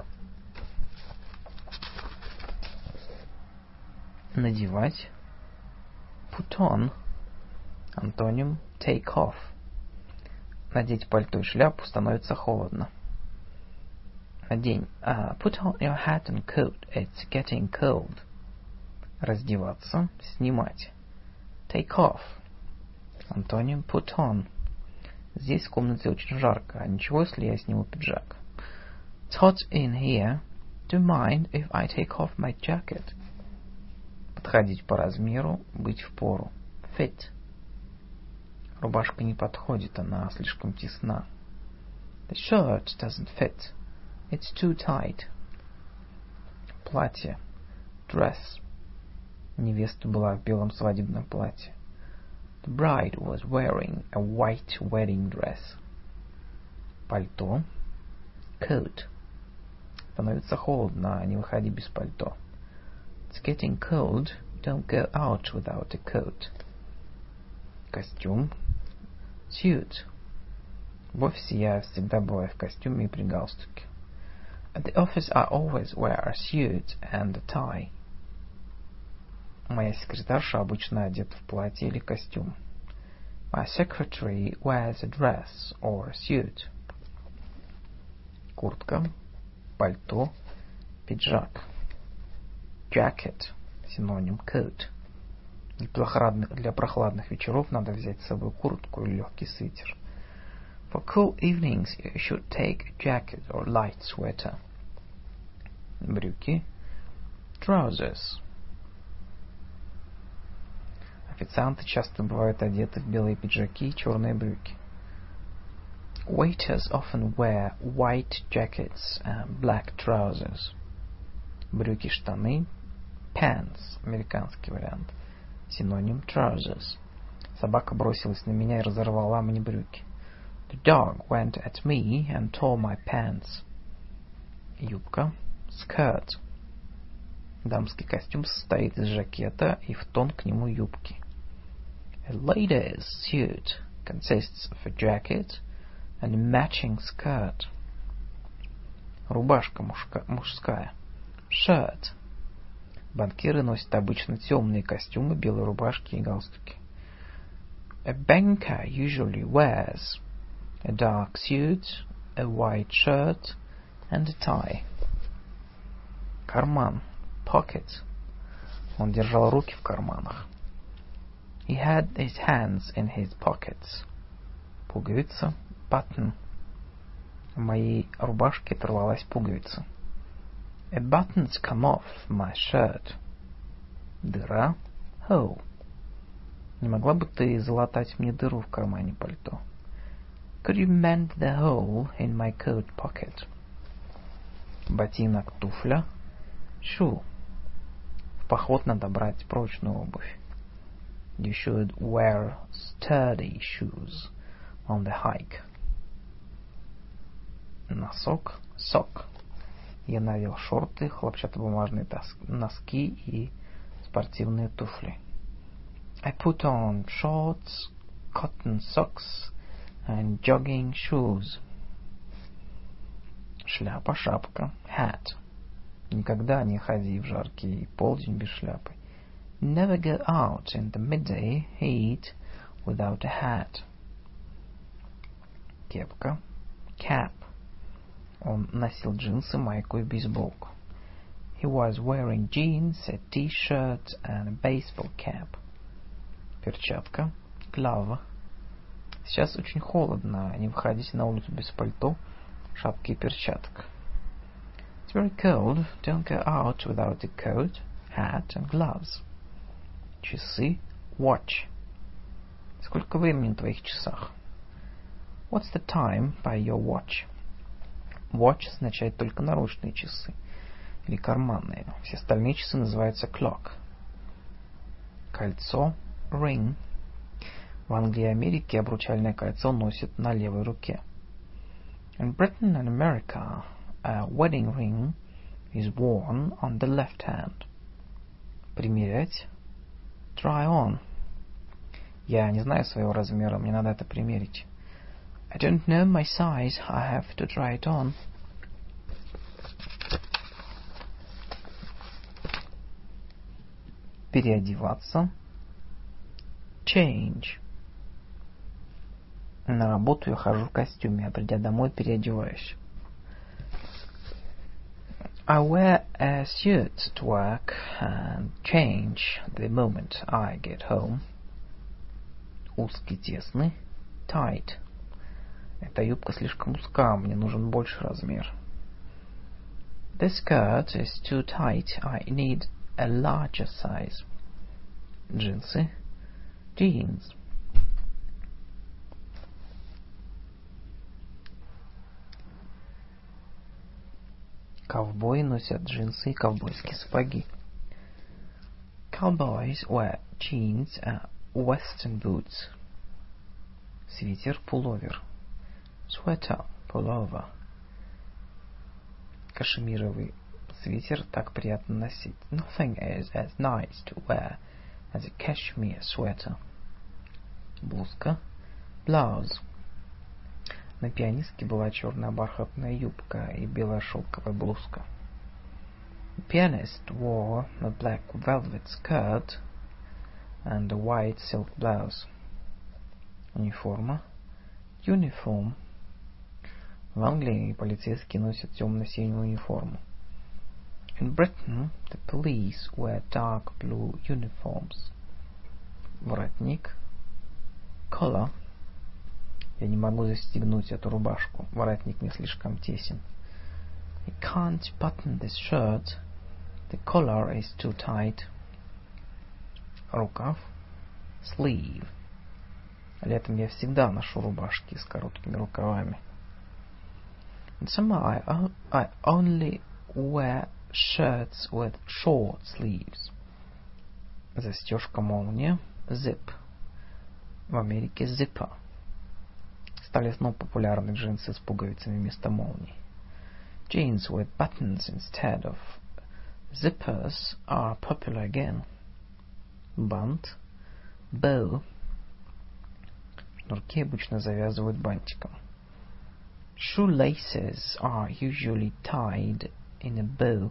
Надевать. Put on. Антоним take off. Надеть пальто и шляпу становится холодно. Надень. Put on your hat and coat. It's getting cold. Раздеваться. Снимать. Take off. Антоним put on. Здесь в комнате очень жарко. А ничего, если я сниму пиджак? It's hot in here. Do you mind if I take off my jacket? Подходить по размеру. Быть в пору. Fit. Рубашка не подходит, она слишком тесна. The shirt doesn't fit. It's too tight. Платье. Dress. Невеста была в белом свадебном платье. The bride was wearing a white wedding dress. Пальто. Coat. Становится холодно, не выходи без пальто. It's getting cold. Don't go out without a coat. Костюм. Suit. В офисе я всегда бываю в костюме и при галстуке. At the office I always wear a suit and a tie. Моя секретарша обычно одета в платье или костюм. My secretary wears a dress or a suit. Куртка, пальто, пиджак. Jacket. Синоним coat. Для прохладных вечеров надо взять с собой куртку или легкий свитер. For cool evenings you should take a jacket or light sweater. Брюки. Trousers. Официанты часто бывают одеты в белые пиджаки и черные брюки. Waiters often wear white jackets and black trousers. Брюки-штаны. Pants. Американский вариант. Синоним trousers. Собака бросилась на меня и разорвала мне брюки. The dog went at me and tore my pants. Юбка. Skirt. Дамский костюм состоит из жакета и в тон к нему юбки. A lady's suit consists of a jacket and a matching skirt. Рубашка мужская. Shirt. Банкиры носят обычно темные костюмы, белые рубашки и галстуки. A banker usually wears a dark suit, a white shirt and a tie. Карман. Pocket. Он держал руки в карманах. He had his hands in his pockets. Пуговица. Button. В моей рубашке оторвалась пуговица. A button's come off my shirt. Дыра. Hole. Не могла бы ты залатать мне дыру в кармане пальто? Could you mend the hole in my coat pocket? Ботинок, туфля. Shoe. В поход надо брать прочную обувь. You should wear sturdy shoes on the hike. Носок – sock. Я надел шорты, хлопчатобумажные носки и спортивные туфли. I put on shorts, cotton socks and jogging shoes. Шляпа, шапка, hat. Никогда не ходи в жаркий полдень без шляпы. Never go out in the midday heat without a hat. Кепка, cap. Он носил джинсы, майку и бейсболку. He was wearing jeans, a t-shirt and a baseball cap. Перчатка, glove. Сейчас очень холодно, не выходите на улицу без пальто, шапки и перчаток. It's very cold, don't go out without a coat, hat and gloves. Часы, watch. Сколько времени на твоих часах? What's the time by your watch? Watch означает только наручные часы или карманные. Все остальные часы называются clock. Кольцо, ring. В Англии и Америке обручальное кольцо носят на левой руке. In Britain and America, a wedding ring is worn on the left hand. Примерять, try on. Я не знаю своего размера, мне надо это примерить. I don't know my size, I have to try it on. Переодеваться, change. На работу я хожу в костюме, а придя домой переодеваюсь. I wear a suit to work and change the moment I get home. Узкий, тесный, tight. Эта юбка слишком узка, мне нужен больший размер. This skirt is too tight, I need a larger size. Джинсы, jeans. Ковбои носят джинсы и ковбойские сапоги. Cowboys wear jeans and western boots. Свитер, пуловер. Sweater, pullover. Кашемировый свитер так приятно носить. Nothing is as nice to wear as a cashmere sweater. Блузка, blouse. На пианистке была черная бархатная юбка и белая шелковая блузка. The pianist wore a black velvet skirt and a white silk blouse. Униформа, uniform. В Англии полицейские носят темно-синюю униформу. In Britain, the police wear dark blue uniforms. Воротник, collar. Я не могу застегнуть эту рубашку. Воротник не слишком тесен. I can't button this shirt. The collar is too tight. Рукав, sleeve. Летом я всегда ношу рубашки с короткими рукавами. In summer I only wear shirts with short sleeves. Застежка, молния, zip. В Америке zipper. Стали снова популярны джинсы с пуговицами вместо молний. Jeans with buttons instead of zippers are popular again. Бант, bow. Шнурки обычно завязывают бантиком. Shoelaces are usually tied in a bow.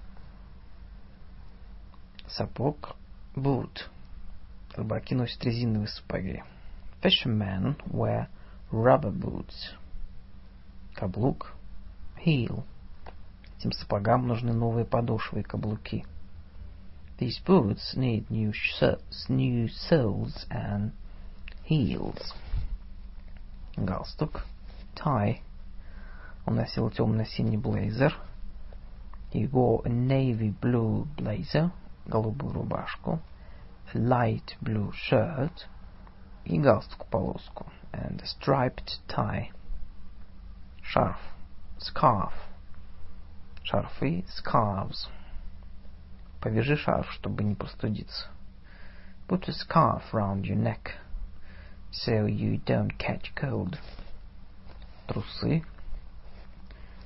Сапог, boot. Рыбаки носят резиновые сапоги. Fishermen wear rubber boots. Каблук, heel. Этим сапогам нужны новые подошвы и каблуки. These boots need new soles and heels. Галстук, tie. Он носил темно-синий блейзер. He wore a navy blue blazer, голубую рубашку, a light blue shirt и галстук-полоску, and a striped tie. Шарф, scarf. Шарфы, scarves. Повяжи шарф, чтобы не простудиться. Put a scarf round your neck, so you don't catch cold. Трусы,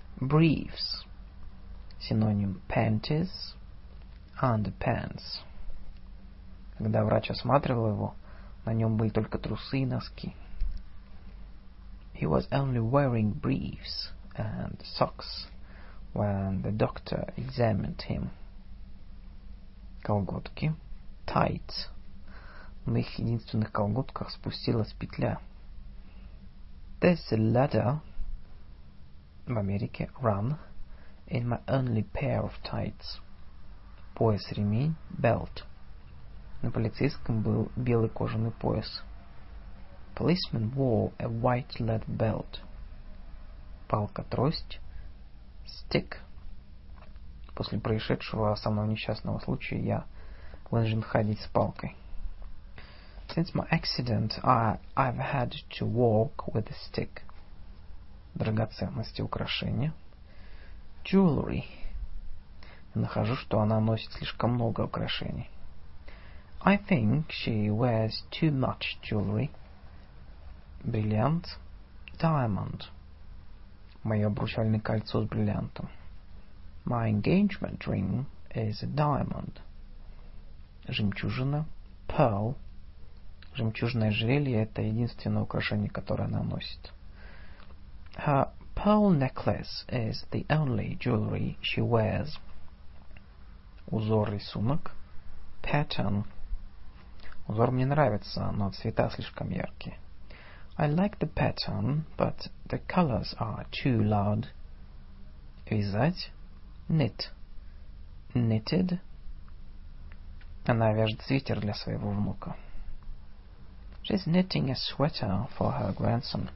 Briefs. Синоним panties, underpants. Когда врач осматривал его, на нем были только трусы и носки. He was only wearing briefs and socks when the doctor examined him. Колготки. Tights. На их единственных колготках спустилась петля. There's a ladder, в Америке run, in my only pair of tights. Пояс, ремень, belt. На полицейском был белый кожаный пояс. Policeman wore a white leather belt. Палка, трость, stick. После происшедшего самого несчастного случая я вынужден ходить с палкой. Since my accident, I've had to walk with a stick. Драгоценности, украшения. Jewelry. Я нахожу, что она носит слишком много украшений. I think she wears too much jewelry. Бриллиант. Diamond. Мое обручальное кольцо с бриллиантом. My engagement ring is a diamond. Жемчужина. Pearl. Жемчужное ожерелье — это единственное украшение, которое она носит. Her pearl necklace is the only jewelry she wears. Узор, рисунок. Pattern. Узор мне нравится, но цвета слишком яркие. I like the pattern, but the colors are too loud. Вязать. Knit. Knitted. Она вяжет свитер для своего внука. She's knitting a sweater for her grandson.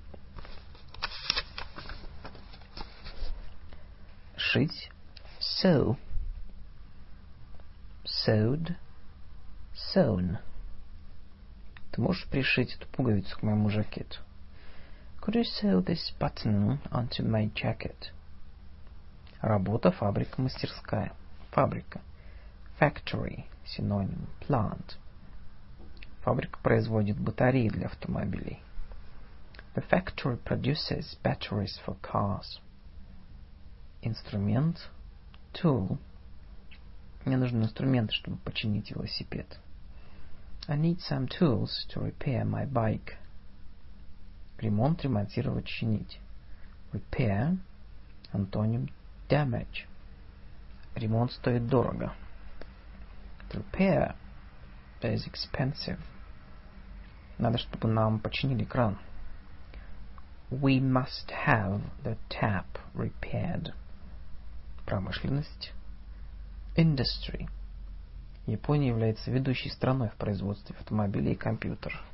Шить. Sew. Sewed. Sewn. Ты можешь пришить эту пуговицу к моему жакету? Could you sew this button onto my jacket? Работа, фабрика, мастерская. Фабрика. Factory. Синоним. Plant. Фабрика производит батареи для автомобилей. The factory produces batteries for cars. Инструмент. Tool. Мне нужны инструменты, чтобы починить велосипед. I need some tools to repair my bike. Ремонт, ремонтировать, чинить. Repair. Антоним. Damage. Ремонт стоит дорого. To repair is expensive. Надо, чтобы нам починили кран. We must have the tap repaired. Промышленность. Industry. Япония является ведущей страной в производстве автомобилей и компьютеров.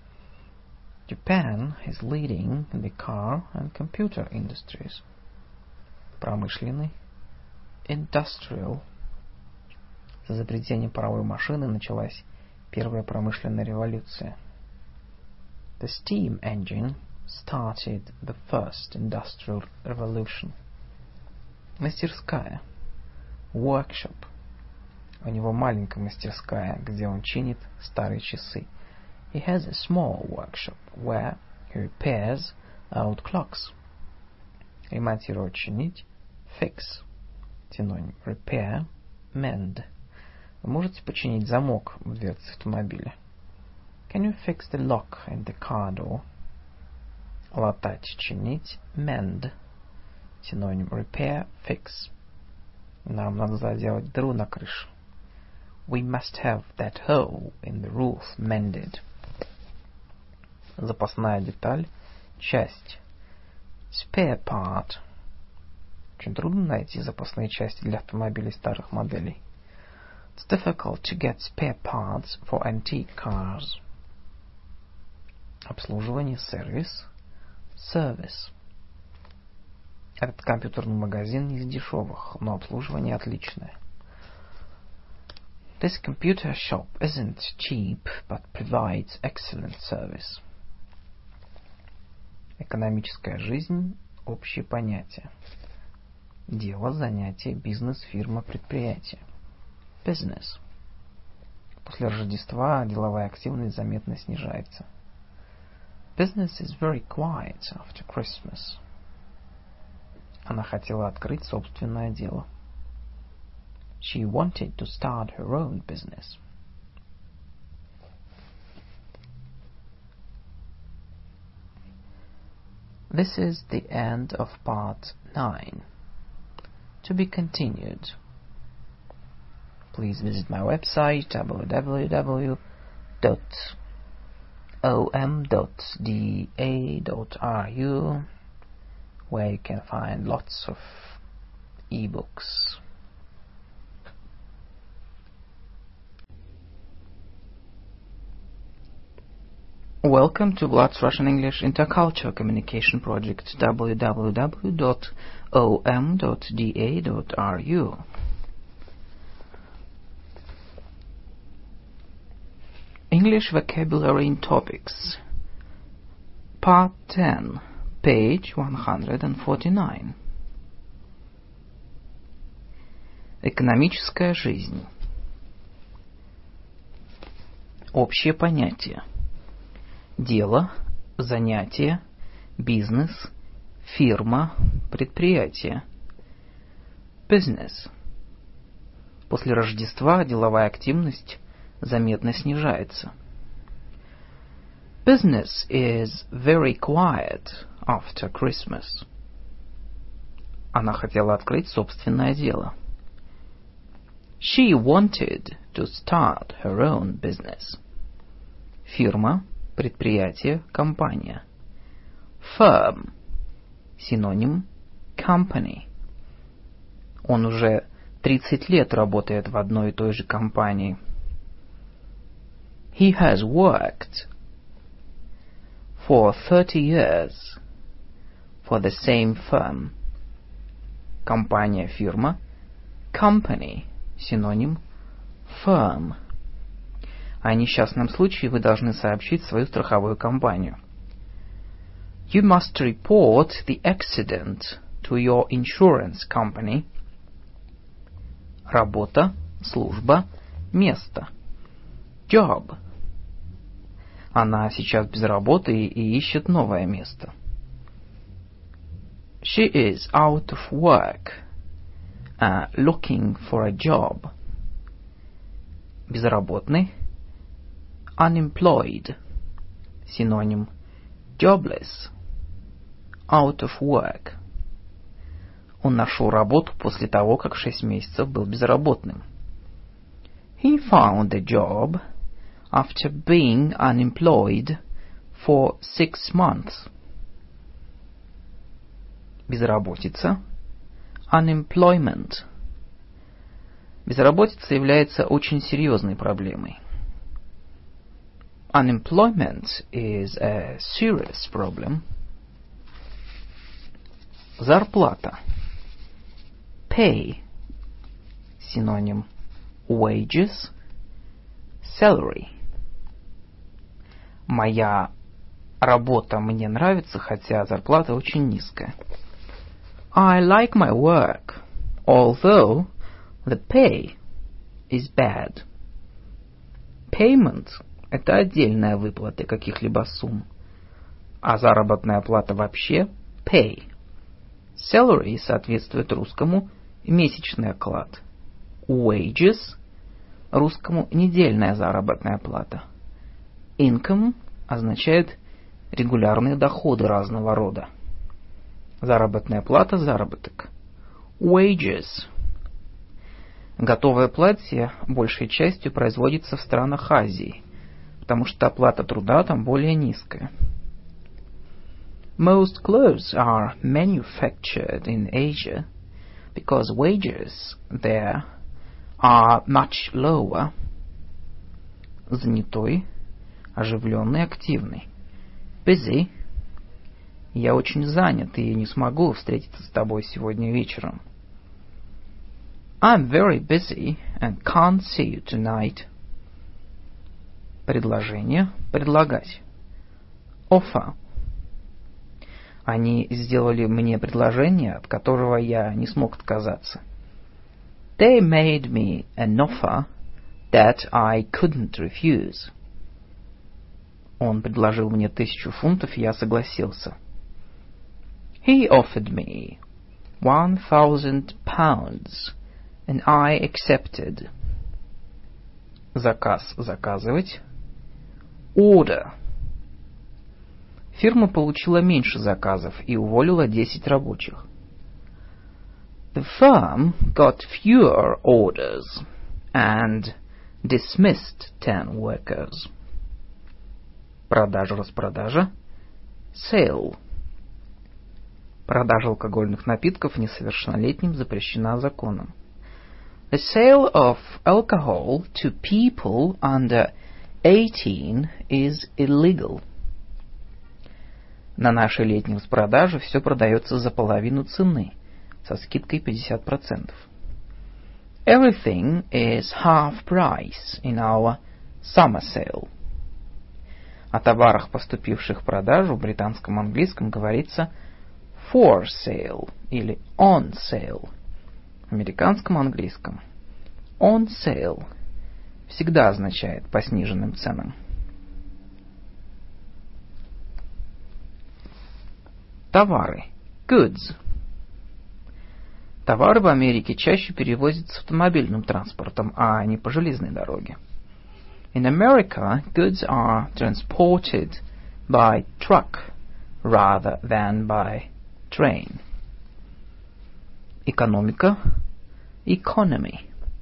Japan is leading in the car and computer industries. Промышленный. Industrial. С изобретением паровой машины началась первая промышленная революция. The steam engine started the first industrial revolution. Мастерская. Workshop. У него маленькая мастерская, где он чинит старые часы. He has a small workshop where he repairs old clocks. Ремонтировать, чинить. Fix. Синоним. Repair. Mend. Вы можете починить замок в дверце автомобиля? Can you fix the lock in the car door? Латать, чинить. Mend. Синоним. Repair. Fix. Нам надо заделать дыру на крыше. We must have that hole in the roof mended. Запасная деталь. Часть. Spare part. Очень трудно найти запасные части для автомобилей старых моделей. It's difficult to get spare parts for antique cars. Обслуживание, сервис. Service. Этот компьютерный магазин не из дешевых, но обслуживание отличное. This computer shop isn't cheap, but provides excellent service. Экономическая жизнь – общее понятие. Дело, занятие, бизнес, фирма, предприятие. Business. После Рождества деловая активность заметно снижается. Business is very quiet after Christmas. Она хотела открыть собственное дело. She wanted to start her own business. This is the end of part 9. To be continued. Please visit my website www.om.da.ru, where you can find lots of ebooks. Welcome to Vlad's Russian English Intercultural Communication Project, www.om.da.ru. English Vocabulary in Topics, Part 10, page 149. Экономическая жизнь. Общее понятие. Дело, занятие, бизнес, фирма, предприятие. Business. После Рождества деловая активность заметно снижается. Business is very quiet after Christmas. Она хотела открыть собственное дело. She wanted to start her own business. Фирма, предприятие, компания. Firm. Синоним company. Он уже 30 лет работает в одной и той же компании. He has worked for 30 years for the same firm. Компания, фирма. Company. Синоним firm. О несчастном случае вы должны сообщить свою страховую компанию. You must report the accident to your insurance company. Работа, служба, место. Job. Она сейчас без работы и ищет новое место. She is out of work, looking for a job. Безработный. Unemployed. Синоним jobless. Out of work. Он нашел работу после того, как 6 месяцев был безработным. He found a job after being unemployed for 6 months. Безработица. Unemployment. Безработица является очень серьезной проблемой. Unemployment is a serious problem. Зарплата. Pay. Синоним wages. Salary. Моя работа мне нравится, хотя зарплата очень низкая. I like my work, although the pay is bad. Payment – это отдельная выплата каких-либо сумм, а заработная плата вообще – pay. Salary соответствует русскому месячный оклад. Wages – русскому недельная заработная плата. Income означает регулярные доходы разного рода. Заработная плата – заработок. Wages. Готовое платье большей частью производится в странах Азии, потому что оплата труда там более низкая. Most clothes are manufactured in Asia because wages there are much lower. Занятой, оживленный, активный. Busy. Я очень занят и не смогу встретиться с тобой сегодня вечером. I'm very busy and can't see you tonight. Предложение. Предлагать. Offer. Они сделали мне предложение, от которого я не смог отказаться. They made me an offer that I couldn't refuse. Он предложил мне 1000 фунтов, и я согласился. He offered me £1,000, and I accepted. Заказ — заказывать. Order. Фирма получила меньше заказов и уволила 10 рабочих. The firm got fewer orders and dismissed 10 workers. Продажа-распродажа. Sale. Продажа алкогольных напитков несовершеннолетним запрещена законом. The sale of alcohol to people under 18 is illegal. На нашей летней распродаже все продается за половину цены, со скидкой 50%. Everything is half price in our summer sale. О товарах, поступивших в продажу, в британском английском говорится for sale или on sale. В американском английском on sale всегда означает по сниженным ценам. Товары. Goods. Товары в Америке чаще перевозятся автомобильным транспортом, а не по железной дороге. In America, goods are transported by truck rather than by train. Экономика. Economy.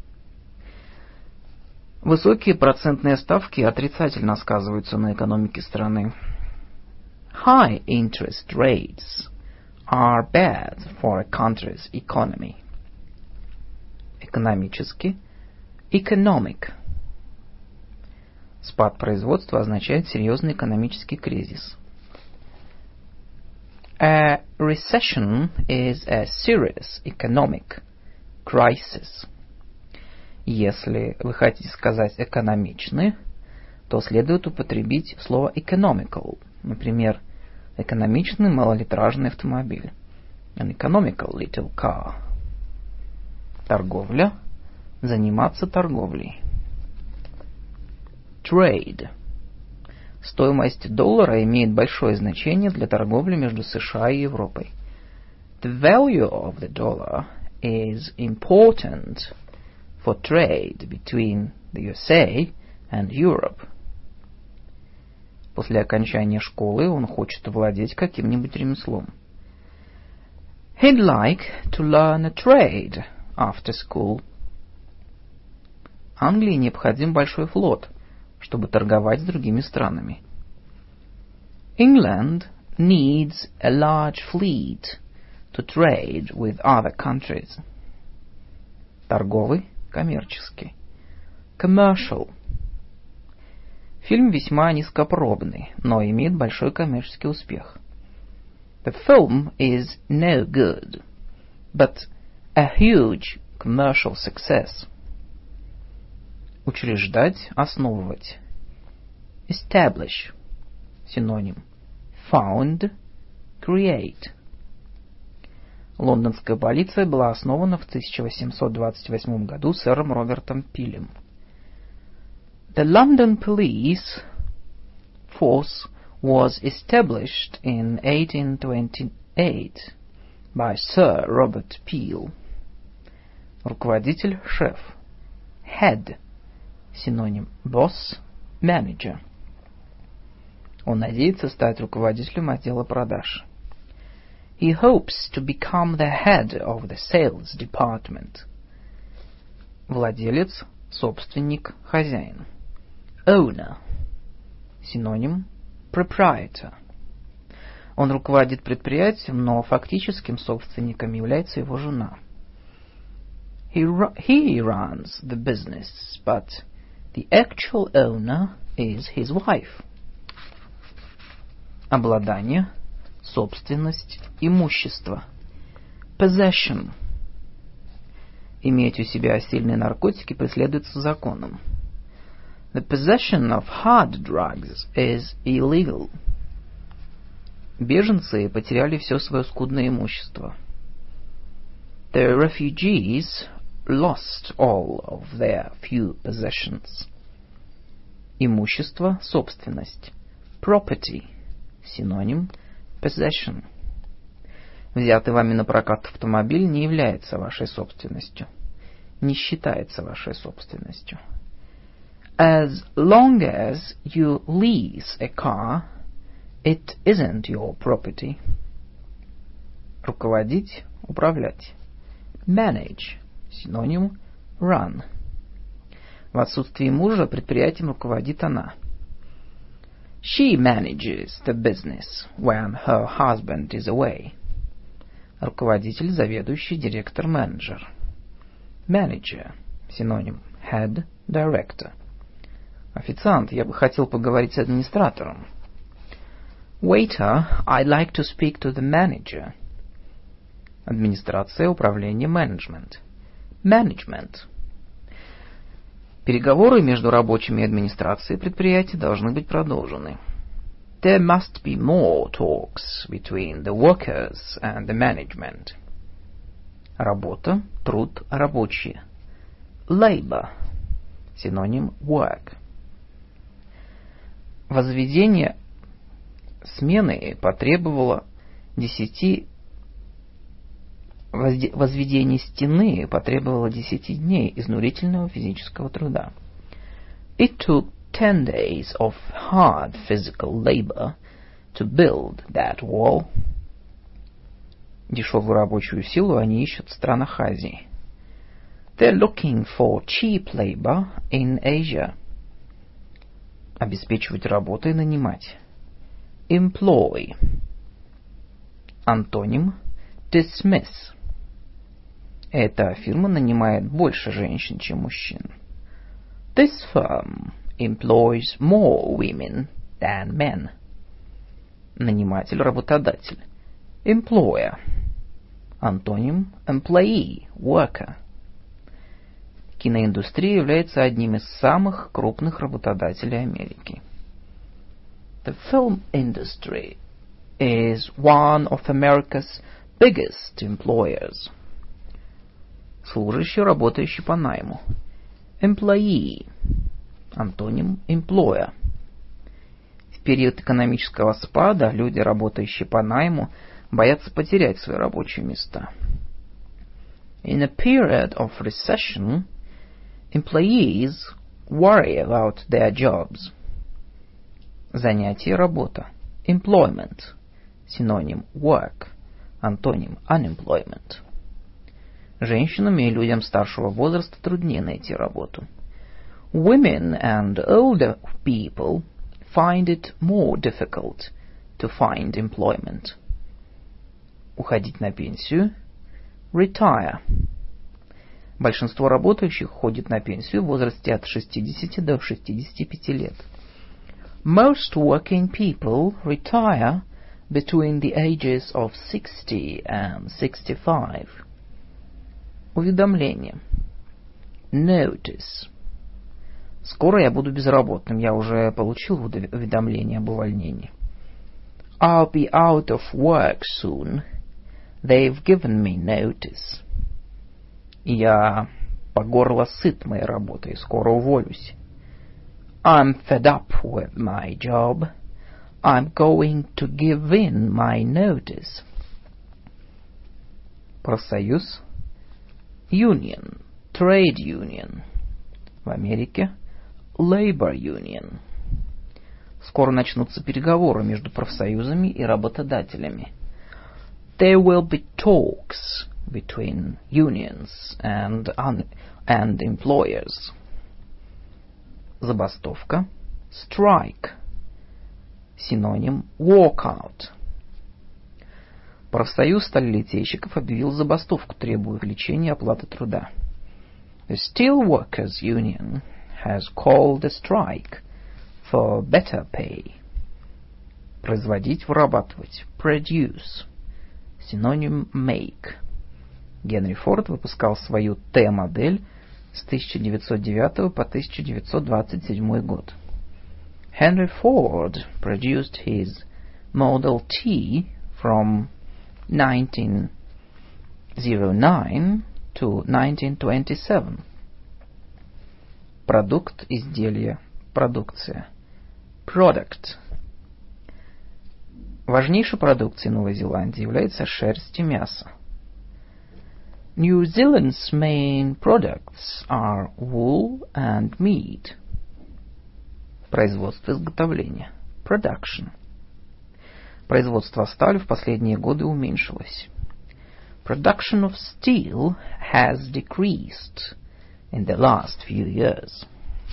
Высокие процентные ставки отрицательно сказываются на экономике страны. High interest rates are bad for a country's economy. Экономически. Economic. Спад производства означает серьезный экономический кризис. A recession is a serious economic crisis. Если вы хотите сказать экономичный, то следует употребить слово economical. Например, экономичный малолитражный автомобиль. An economical little car. Торговля. Заниматься торговлей. Trade. Стоимость доллара имеет большое значение для торговли между США и Европой. The value of the dollar is important for trade between the USA and Europe. После окончания школы он хочет овладеть каким-нибудь ремеслом. He'd like to learn a trade after school. Англии необходим большой флот, чтобы торговать с другими странами. England needs a large fleet to trade with other countries. Торговый, коммерческий. Commercial. Фильм весьма низкопробный, но имеет большой коммерческий успех. The film is no good, but a huge commercial success. Учреждать, основывать. Establish. Синоним. Found, create. Лондонская полиция была основана в 1828 году сэром Робертом Пилем. The London police force was established in 1828 by Sir Robert Peel. Руководитель, шеф. Head. Синоним. Boss, manager. Он надеется стать руководителем отдела продаж. He hopes to become the head of the sales department. Владелец, собственник, хозяин. Owner. Синоним. Proprietor. Он руководит предприятием, но фактическим собственником является его жена. He runs the business, but the actual owner is his wife. Обладание, собственность, имущество. Possession. Иметь у себя сильные наркотики преследуется законом. The possession of hard drugs is illegal. Беженцы потеряли все свое скудное имущество. The refugees lost all of their few possessions. Имущество, собственность. Property. Синоним. Possession. Взятый вами на прокат автомобиль не является вашей собственностью, не считается вашей собственностью. As long as you lease a car, it isn't your property. Руководить, управлять. Manage. Синоним run. В отсутствие мужа предприятием руководит она. She manages the business when her husband is away. Руководитель, заведующий, директор, менеджер. Manager. Синоним head, director. Официант, я бы хотел поговорить с администратором. Waiter, I'd like to speak to the manager. Администрация, управление, менеджмент. Management. Переговоры между рабочими и администрацией предприятия должны быть продолжены. There must be more talks between the workers and the management. Работа, труд, рабочие. Labor. Синоним work. Возведение смены потребовало 10 Возведение стены потребовало 10 дней изнурительного физического труда. It took 10 days of hard physical labor to build that wall. Дешевую рабочую силу они ищут в странах Азии. They're looking for cheap labor in Asia. Обеспечивать работой, нанимать. Employ. Антоним dismiss. Эта фирма нанимает больше женщин, чем мужчин. This firm employs more women than men. Наниматель, работодатель. Employer. Антоним employee, worker. Киноиндустрия является одним из самых крупных работодателей Америки. The film industry is one of America's biggest employers. Служащий, работающий по найму. Employee. Антоним employer. В период экономического спада люди, работающие по найму, боятся потерять свои рабочие места. In a period of recession, employees worry about their jobs. Занятие, работа. Employment. Синоним work. Антоним unemployment. Женщинам и людям старшего возраста труднее найти работу. Women and older people find it more difficult to find employment. Уходить на пенсию. Retire. Большинство работающих уходит на пенсию в возрасте от 60 до 65 лет. Most working people retire between the ages of 60 and 65. Уведомление. Notice. Скоро я буду безработным. Я уже получил уведомление об увольнении. I'll be out of work soon. They've given me notice. Я по горло сыт моей работой. Скоро уволюсь. I'm fed up with my job. I'm going to give in my notice. Профсоюз. Union. Trade union. В Америке. Labor union. Скоро начнутся переговоры между профсоюзами и работодателями. There will be talks between unions and employers. Забастовка. Strike. Синоним walkout. Профсоюз сталелитейщиков объявил забастовку, требуя увеличения оплаты труда. The Steelworkers Union has called a strike for better pay. Производить, вырабатывать. Produce. Синоним make. Генри Форд выпускал свою Т-модель с 1909 по 1927 год. Henry Ford produced his Model T from 1909 to 1927. Продукт, изделие, продукция. Product. Важнейшей продукцией Новой Зеландии является шерсть и мясо. New Zealand's main products are wool and meat. Производство, изготовление. Production. Производство стали в последние годы уменьшилось. Production of steel has decreased in the last few years.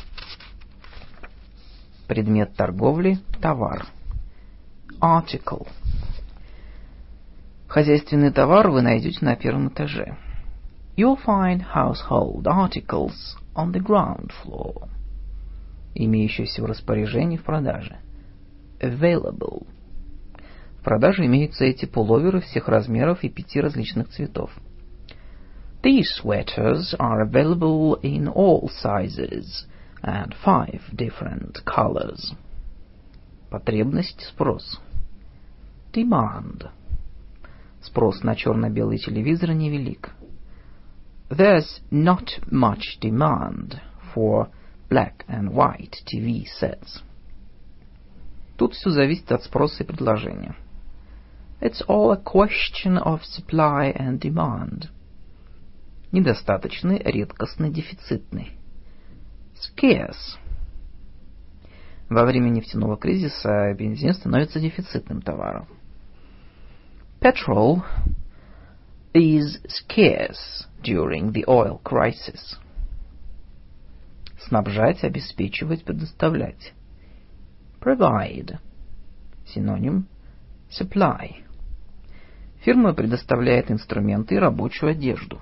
Предмет торговли – товар. Article. Хозяйственный товар вы найдете на первом этаже. You'll find household articles on the ground floor. Имеющиеся в распоряжении в продаже. Available. В продаже имеются эти пуловеры всех размеров и 5 различных цветов. These sweaters are available in all sizes and 5 different colors. Потребность, спрос. Demand. Спрос на черно-белый телевизор невелик. There's not much demand for black and white TV sets. Тут все зависит от спроса и предложения. It's all a question of supply and demand. Недостаточный, редкостный, дефицитный. Scarce. Во время нефтяного кризиса бензин становится дефицитным товаром. Petrol is scarce during the oil crisis. Снабжать, обеспечивать, предоставлять. Provide. Синоним supply. Фирма предоставляет инструменты и рабочую одежду.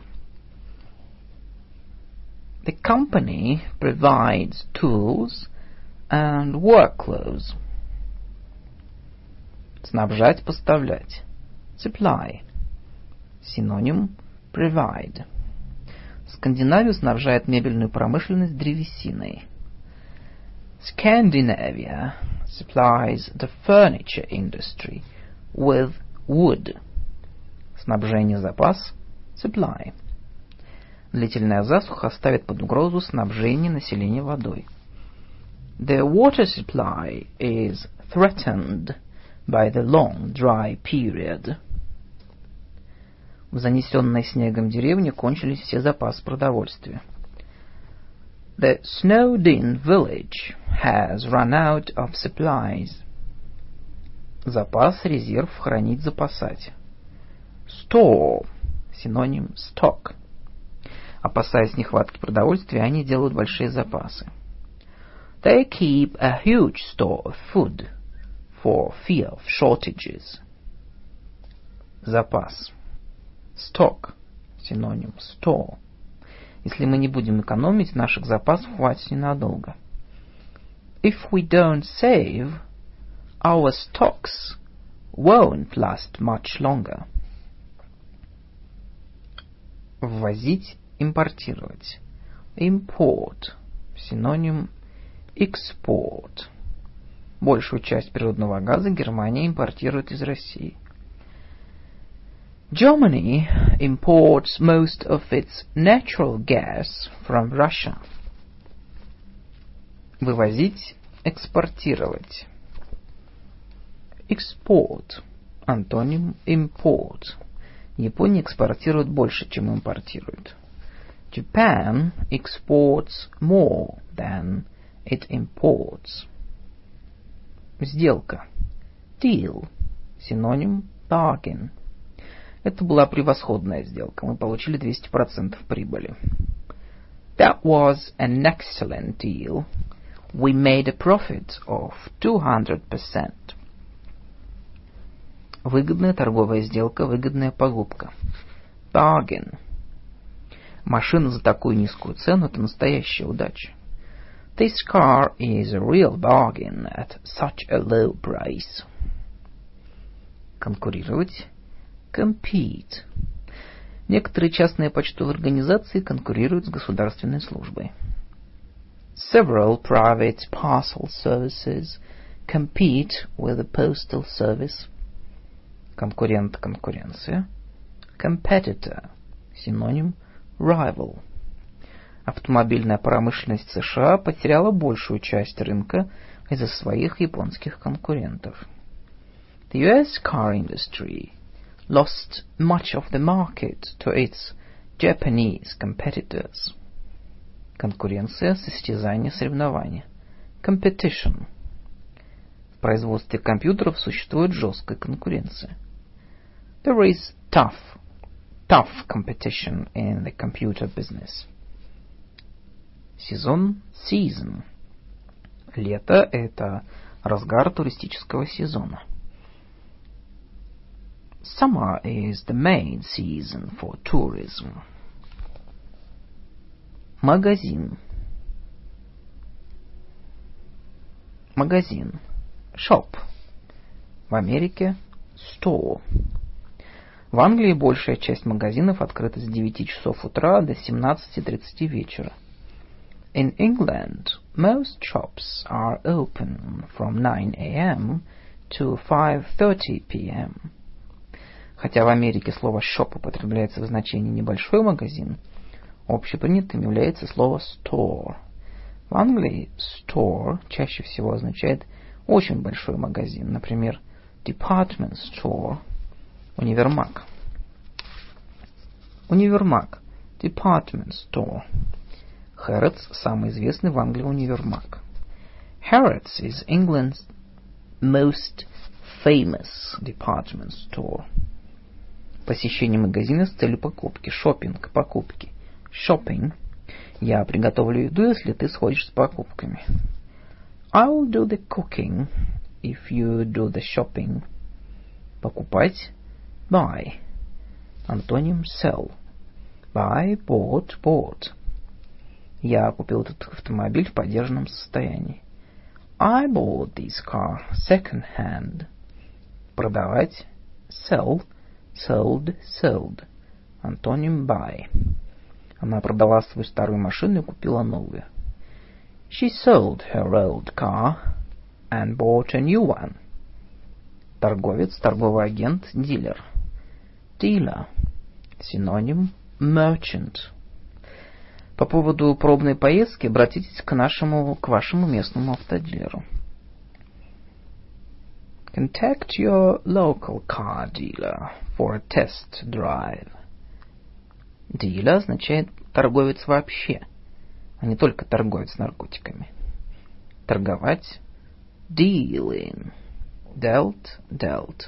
The company provides tools and work clothes. Снабжать, поставлять. Supply. Синоним provide. Скандинавия снабжает мебельную промышленность древесиной. Scandinavia supplies the furniture industry with wood. Снабжение, запас. Supply. Длительная засуха ставит под угрозу снабжение населения водой. The water supply is threatened by the long dry period. В занесенной снегом деревне кончились все запасы продовольствия. The snowed-in village has run out of supplies. Запас, резерв, хранить, запасать. Store. Синоним stock. Опасаясь нехватки продовольствия, они делают большие запасы. They keep a huge store of food for fear of shortages. Запас. Stock. Синоним store. Если мы не будем экономить, наших запасов хватит ненадолго. If we don't save, our stocks won't last much longer. Ввозить, импортировать. Import. Синоним export. Большую часть природного газа Германия импортирует из России. Germany imports most of its natural gas from Russia. Вывозить, экспортировать. Export. Антоним import. Япония экспортирует больше, чем импортирует. Japan exports more than it imports. Сделка. Deal. Синоним bargain. Это была превосходная сделка. Мы получили 200% прибыли. That was an excellent deal. We made a profit of 200%. Выгодная торговая сделка, выгодная покупка. Bargain. Машина за такую низкую цену – это настоящая удача. This car is a real bargain at such a low price. Конкурировать. Compete. Некоторые частные почтовые организации конкурируют с государственной службой. Several private parcel services compete with the postal service. Конкурент, конкуренция. Competitor. Синоним rival. Автомобильная промышленность США потеряла большую часть рынка из-за своих японских конкурентов. The US car industry lost much of the market to its Japanese competitors. Конкуренция, состязание, соревнование. Competition. В производстве компьютеров существует жесткая конкуренция. There is tough competition in the computer business. Сезон, season. Лето – это разгар туристического сезона. Summer is the main season for tourism. Магазин. Магазин. Shop. В Америке store. В Англии большая часть магазинов открыта с 9 часов утра до 17:30 вечера. In England, most shops are open from 9 a.m. to 5:30 p.m. Хотя в Америке слово shop употребляется в значении небольшой магазин, общепринятым является слово store. В Англии store чаще всего означает очень большой магазин, например, department store, универмаг. Универмаг, department store. Harrods – самый известный в Англии универмаг. Harrods is England's most famous department store. Посещение магазина с целью покупки. Шоппинг, покупки. Shopping. Я приготовлю еду, если ты сходишь с покупками. I'll do the cooking if you do the shopping. Покупать. Buy. Антоним sell. Buy, bought, bought. Я купил этот автомобиль в подержанном состоянии. I bought this car second hand. Продавать. Sell. Sold, sold. Антоним buy. Она продала свою старую машину и купила новую. She sold her old car and bought a new one. Торговец, торговый агент, дилер. Dealer. Синоним merchant. По поводу пробной поездки обратитесь к вашему местному автодилеру. Contact your local car dealer for a test drive. Dealer означает торговец вообще, а не только торговец наркотиками. Торговать. Dealing. Dealt.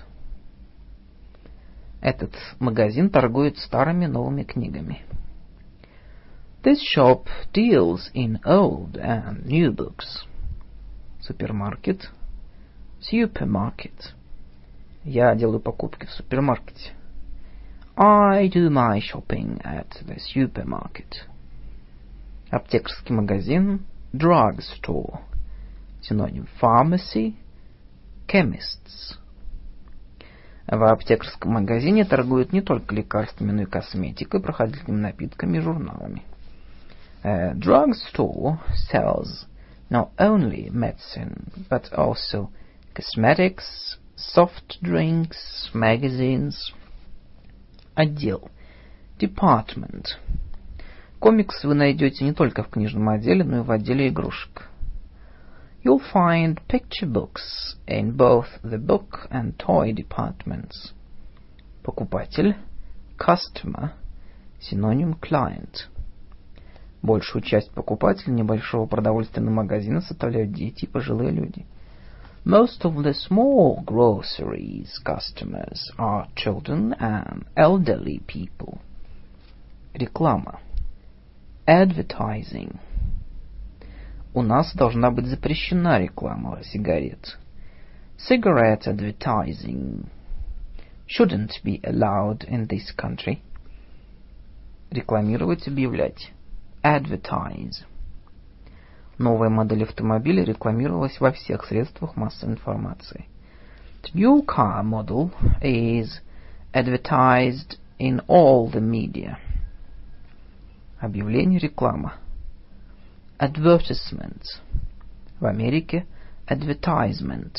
Этот магазин торгует старыми новыми книгами. This shop deals in old and new books. Супермаркет. Supermarket. Я делаю покупки в супермаркете. I do my shopping at the supermarket. Аптекарский магазин. Drugstore. Синоним pharmacy. Chemists. В аптекарском магазине торгуют не только лекарствами, но и косметикой, проходительными напитками и журналами. A drugstore sells not only medicine, but also cosmetics, soft drinks, magazines. Отдел. Department. Комиксы вы найдете не только в книжном отделе, но и в отделе игрушек. You'll find picture books in both the book and toy departments. Покупатель. Customer. Синоним client. Большую часть покупателей небольшого продовольственного магазина составляют дети и пожилые люди. Most of the small groceries customers are children and elderly people. Реклама. Advertising. У нас должна быть запрещена реклама сигарет. Cigarette advertising shouldn't be allowed in this country. Рекламировать, объявлять. Advertise. Новая модель автомобиля рекламировалась во всех средствах массовой информации. The new car model is advertised in all the media. Объявление, реклама. Advertisement. В Америке advertisement.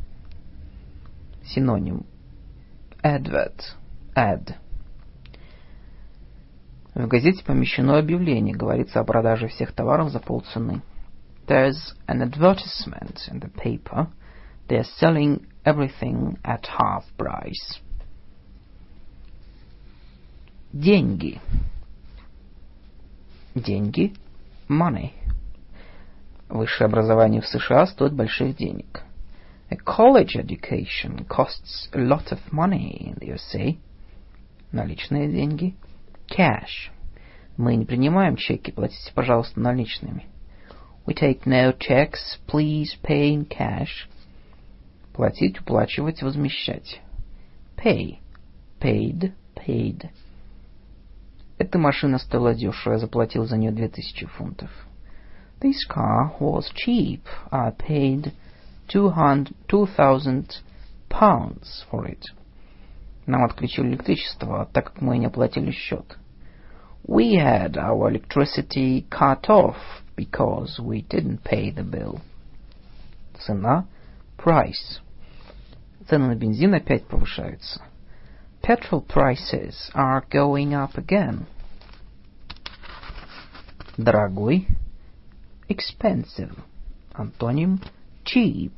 Синоним. Advert. Ad. В газете помещено объявление, говорится о продаже всех товаров за полцены. There's an advertisement in the paper They're selling everything at half price. Деньги. Деньги. Money. Высшее образование в США стоит больших денег. A college education costs a lot of money in the USA. Наличные деньги. Cash. Мы не принимаем чеки, платите, пожалуйста, наличными. We take no checks, please pay in cash. Платить, уплачивать, возмещать. Pay. Paid, paid. Эта машина стоила дешево, я заплатил за нее 2000 фунтов. This car was cheap. I paid 2,000 pounds for it. Нам отключили электричество, так как мы не оплатили счет. We had our electricity cut off because we didn't pay the bill. Цена. Price. Цены на бензин опять повышаются. Petrol prices are going up again. Дорогой. Expensive. Антоним cheap.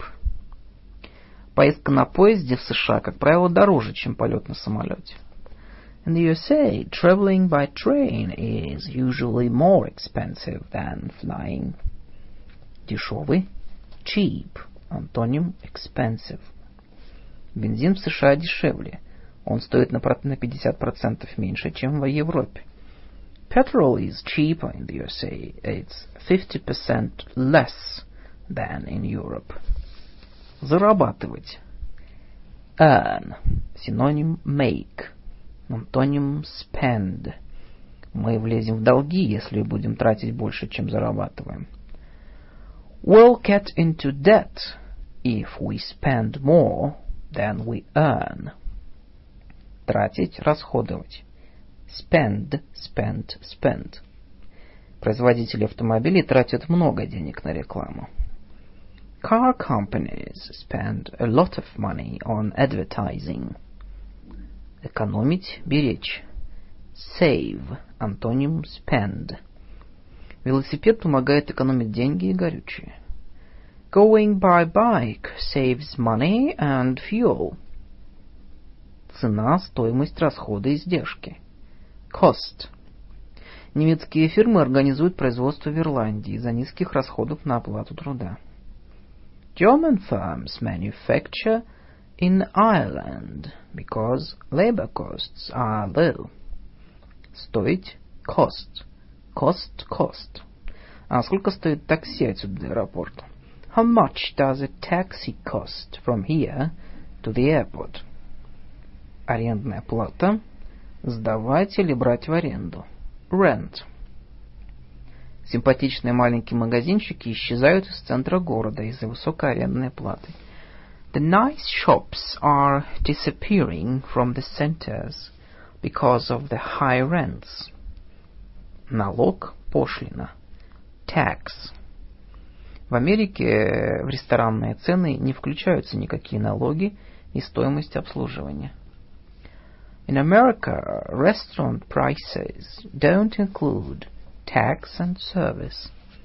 Поездка на поезде в США, как правило, дороже, чем полет на самолете. In the USA, traveling by train is usually more expensive than flying. Дешевый. Cheap. Антоним expensive. Бензин в США дешевле. Он стоит на 50% меньше, чем в Европе. Petrol is cheaper in the USA. It's 50% less than in Europe. Зарабатывать. Earn. Синоним make. Антоним spend. Мы влезем в долги, если будем тратить больше, чем зарабатываем. We'll get into debt if we spend more than we earn. Тратить, расходовать. Spend, spent, spend. Производители автомобилей тратят много денег на рекламу. Car companies spend a lot of money on advertising. Экономить, беречь. Save, антоним spend. Велосипед помогает экономить деньги и горючее. Going by bike saves money and fuel. Цена, стоимость, расходы, издержки. Cost. Немецкие фирмы организуют производство в Ирландии из-за низких расходов на оплату труда. German firms manufacture in Ireland because labor costs are low. Стоить. Cost. Cost, cost. А сколько стоит такси отсюда до аэропорта? How much does a taxi cost from here to the airport? Арендная плата. Сдавать или брать в аренду. Rent. Симпатичные маленькие магазинчики исчезают из центра города из-за высокой арендной платы. The nice shops are disappearing from the centers because of the high rents. Налог, пошлина. Tax. В Америке в ресторанные цены не включаются никакие налоги и стоимость обслуживания. In America, restaurant prices don't include tax and service.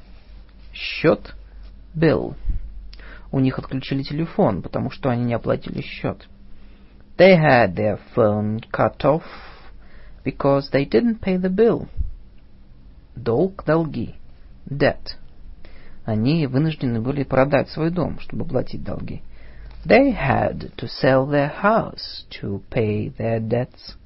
Счет. Bill. У них отключили телефон, потому что они не оплатили счет. They had their phone cut off because they didn't pay the bill. Долг, долги. Debt. Они вынуждены были продать свой дом, чтобы платить долги. They had to sell their house to pay their debts.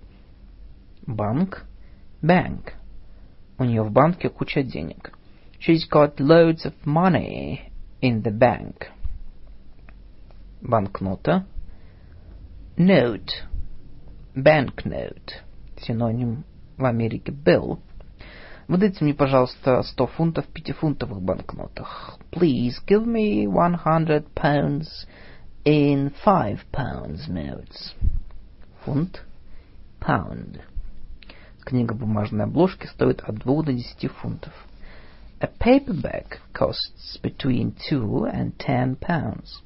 Банк. Bank. У нее в банке куча денег. She's got loads of money in the bank. Банкнота. Note. Banknote. Синоним в Америке bill. Выдайте мне, пожалуйста, 100 фунтов в 5-фунтовых банкнотах. Please give me 100 pounds in 5 pounds notes. Фунт. Pound. Книга бумажной обложки стоит от 2 до 10 фунтов. A paperback costs between 2 and 10 pounds.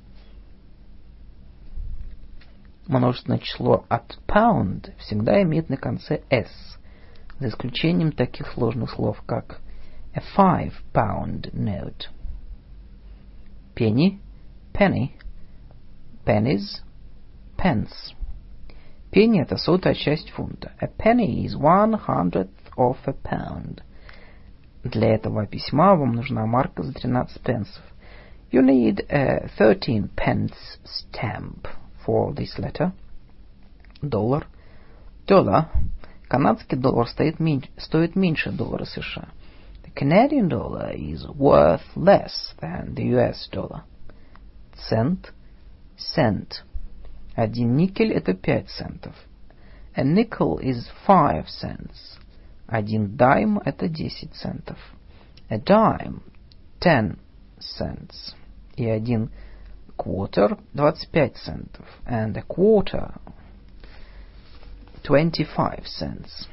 Множественное число от pound всегда имеет на конце s, за исключением таких сложных слов, как a 5-pound note. Penny, penny, Pennies, pence. Пенни — это сотая часть фунта. A penny is 1/100th of a pound. Для этого письма вам нужна марка за 13 пенсов. You need a 13 pence stamp for this letter. Доллар. Dollar. Канадский доллар стоит стоит меньше доллара США. The Canadian dollar is worth less than the US dollar. Цент. Cent. Один никель — это 5 центов. A nickel is 5 cents. Один дайм — это 10 центов. A dime — 10 cents. И один quarter — 25 центов. And a quarter — 25 cents.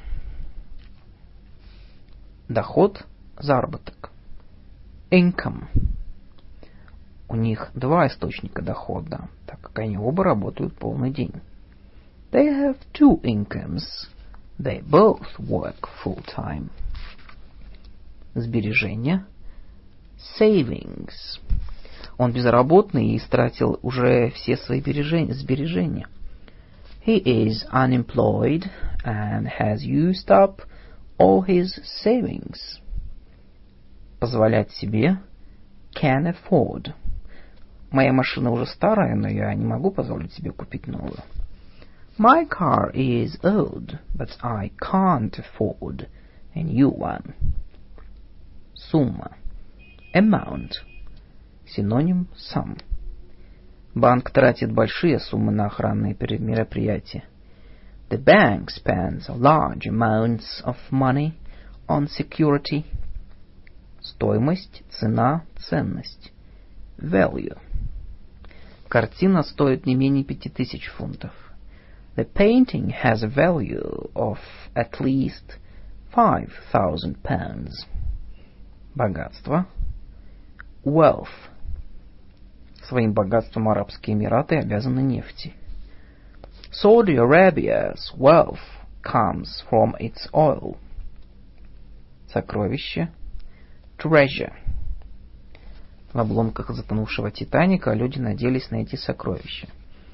Доход, заработок. Income. У них два источника дохода, так как они оба работают полный день. They have two incomes. They both work full time. Сбережения. Savings. Он безработный и истратил уже все свои сбережения. He is unemployed and has used up all his savings. Позволять себе. Can afford. Моя машина уже старая, но я не могу позволить себе купить новую. My car is old, but I can't afford a new one. Сумма. Amount. Синоним sum. Банк тратит большие суммы на охранные мероприятия. The bank spends large amounts of money on security. Стоимость, цена, ценность. Value. Картина стоит не менее 5000 фунтов. The painting has a value of at least 5,000 pounds. Богатство. Wealth. Своим богатством Арабские Эмираты обязаны нефти. Saudi Arabia's wealth comes from its oil. Сокровище. Treasure. В обломках затонувшего Титаника люди надеялись найти сокровища.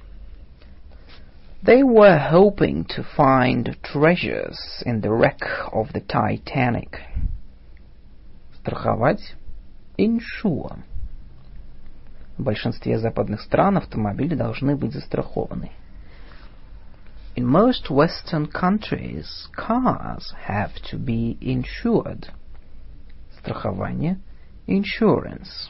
They were hoping to find treasures in the wreck of the Titanic. Страховать. Insure. В большинстве западных стран автомобили должны быть застрахованы. In most Western countries, cars have to be insured. Страхование. Insurance.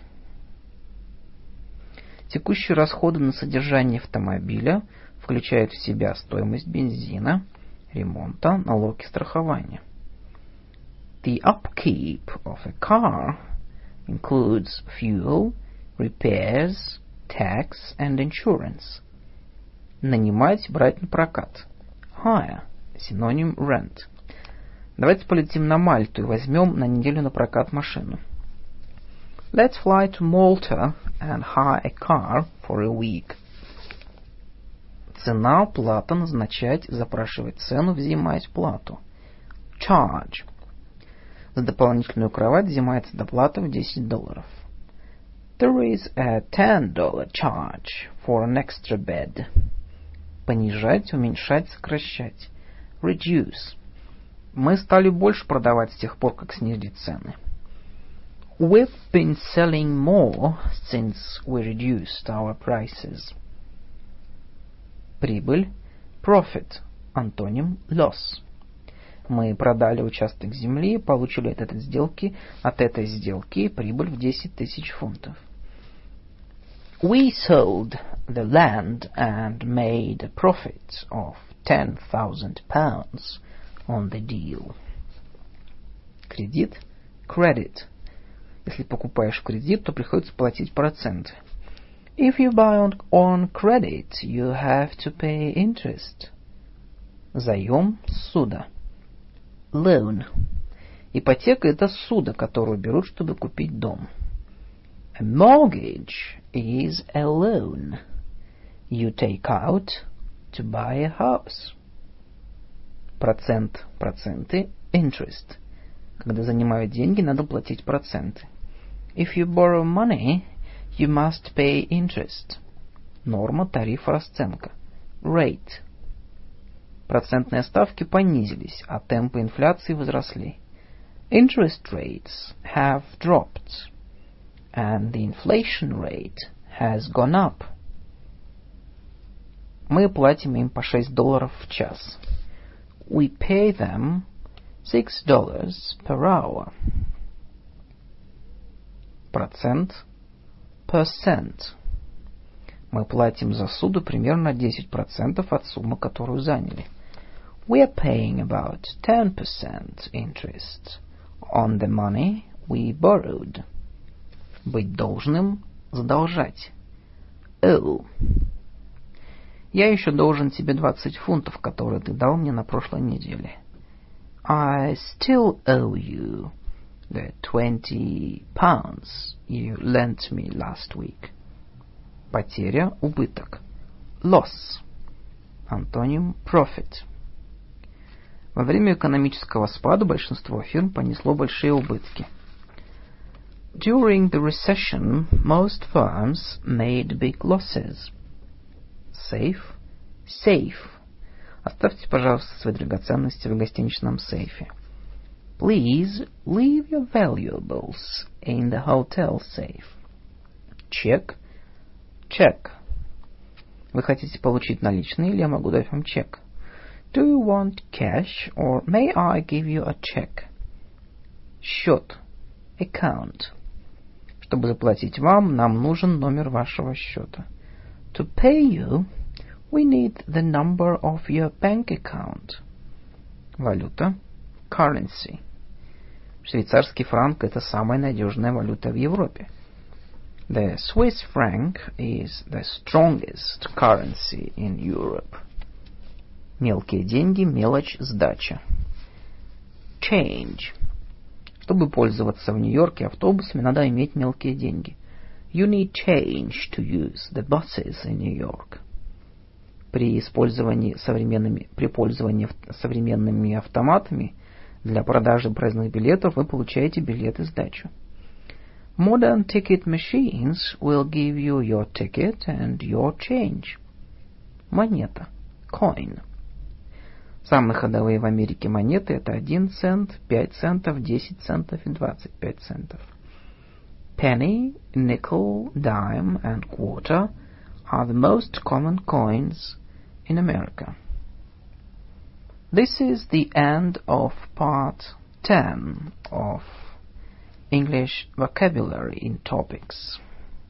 Текущие расходы на содержание автомобиля включают в себя стоимость бензина, ремонта, налоги, страхования. The upkeep of a car includes fuel, repairs, tax and insurance. Нанимать, брать на прокат. Hire. Синоним rent. Давайте полетим на Мальту и возьмем на неделю на прокат машину. Let's fly to Malta and hire a car for a week. Цена, плата, назначать, запрашивать цену, взимать плату. Charge. За дополнительную кровать взимается доплата в $10. There is a $10 charge for an extra bed. Понижать, уменьшать, сокращать. Reduce. Мы стали больше продавать с тех пор, как снизили цены. We've been selling more since we reduced our prices. Прибыль. Profit. Антоним loss. Мы продали участок земли, получили от этой сделки прибыль в 10 тысяч фунтов. We sold the land and made a profit of 10,000 pounds on the deal. Кредит. Credit. Если покупаешь в кредит, то приходится платить проценты. If you buy on credit, you have to pay interest. Заем. Ссуда. Loan. Ипотека — это ссуда, которую берут, чтобы купить дом. A mortgage is a loan you take out to buy a house. Процент, проценты. Interest. Когда занимают деньги, надо платить проценты. If you borrow money, you must pay interest. Норма, тариф, расценка. Rate. Процентные ставки понизились, а темпы инфляции возросли. Interest rates have dropped, and the inflation rate has gone up. Мы платим им по $6 в час. We pay them $6 per hour. Процент. Percent. Мы платим за суду примерно 10% от суммы, которую заняли. We are paying about 10% interest on the money we borrowed. Быть должным. Задолжать. Owe. Я еще должен тебе 20 фунтов, которые ты дал мне на прошлой неделе. I still owe you the 20 pounds you lent me last week. Потеря, убыток. Loss. Антоним profit. Во время экономического спада большинство фирм понесло большие убытки. During the recession, most firms made big losses. Safe. Safe. Оставьте, пожалуйста, свои драгоценности в гостиничном сейфе. Please leave your valuables in the hotel safe. Чек. Check. Вы хотите получить наличные, или я могу дать вам чек? Do you want cash, or may I give you a check? Счет. Account. Чтобы заплатить вам, нам нужен номер вашего счета. To pay you, we need the number of your bank account. Валюта. Currency. Швейцарский франк – это самая надежная валюта в Европе. The Swiss franc is the strongest currency in Europe. Мелкие деньги, мелочь, сдача. Change. Чтобы пользоваться в Нью-Йорке автобусами, надо иметь мелкие деньги. You need change to use the buses in New York. При пользовании современными автоматами для продажи проездных билетов вы получаете билет и сдачу. Modern ticket machines will give you your ticket and your change. Монета. Coin. Самые ходовые в Америке монеты – это 1 цент, 5 центов, 10 центов и 25 центов. Penny, nickel, dime and quarter are the most common coins in America. This is the end of part 10 of English vocabulary in topics.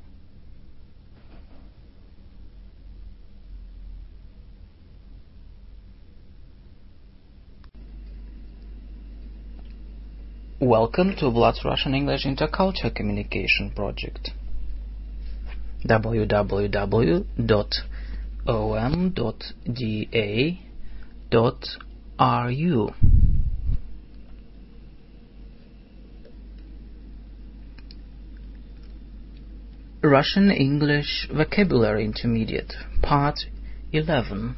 Welcome to Vlad's Russian English Intercultural Communication Project. www.om.da.ru Russian English Vocabulary Intermediate, Part 11,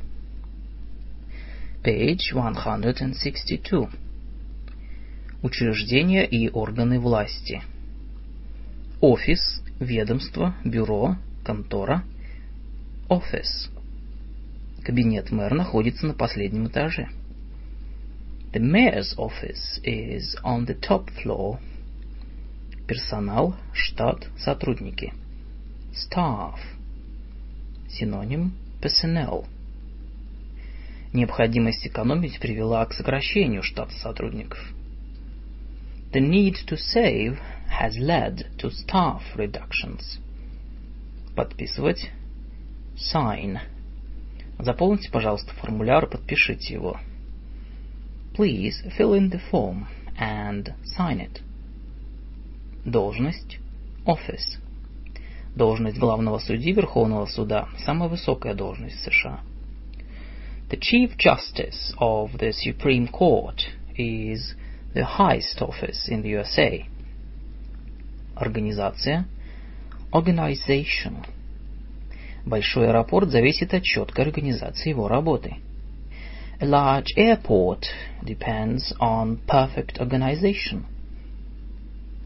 Page 162. Учреждения и органы власти. Офис, ведомство, бюро, контора. Office. Кабинет мэра находится на последнем этаже. The mayor's office is on the top floor. Персонал, штат, сотрудники. Staff. Синоним personnel. Необходимость экономить привела к сокращению штата сотрудников. The need to save has led to staff reductions. Подписывать. Sign. Заполните, пожалуйста, формуляр и подпишите его. Please fill in the form and sign it. Должность. Office. Должность главного судьи Верховного суда – самая высокая должность в США. The Chief Justice of the Supreme Court is the highest office in the USA. Организация. Organization. Большой аэропорт зависит от четкой организации его работы. A large airport depends on perfect organization.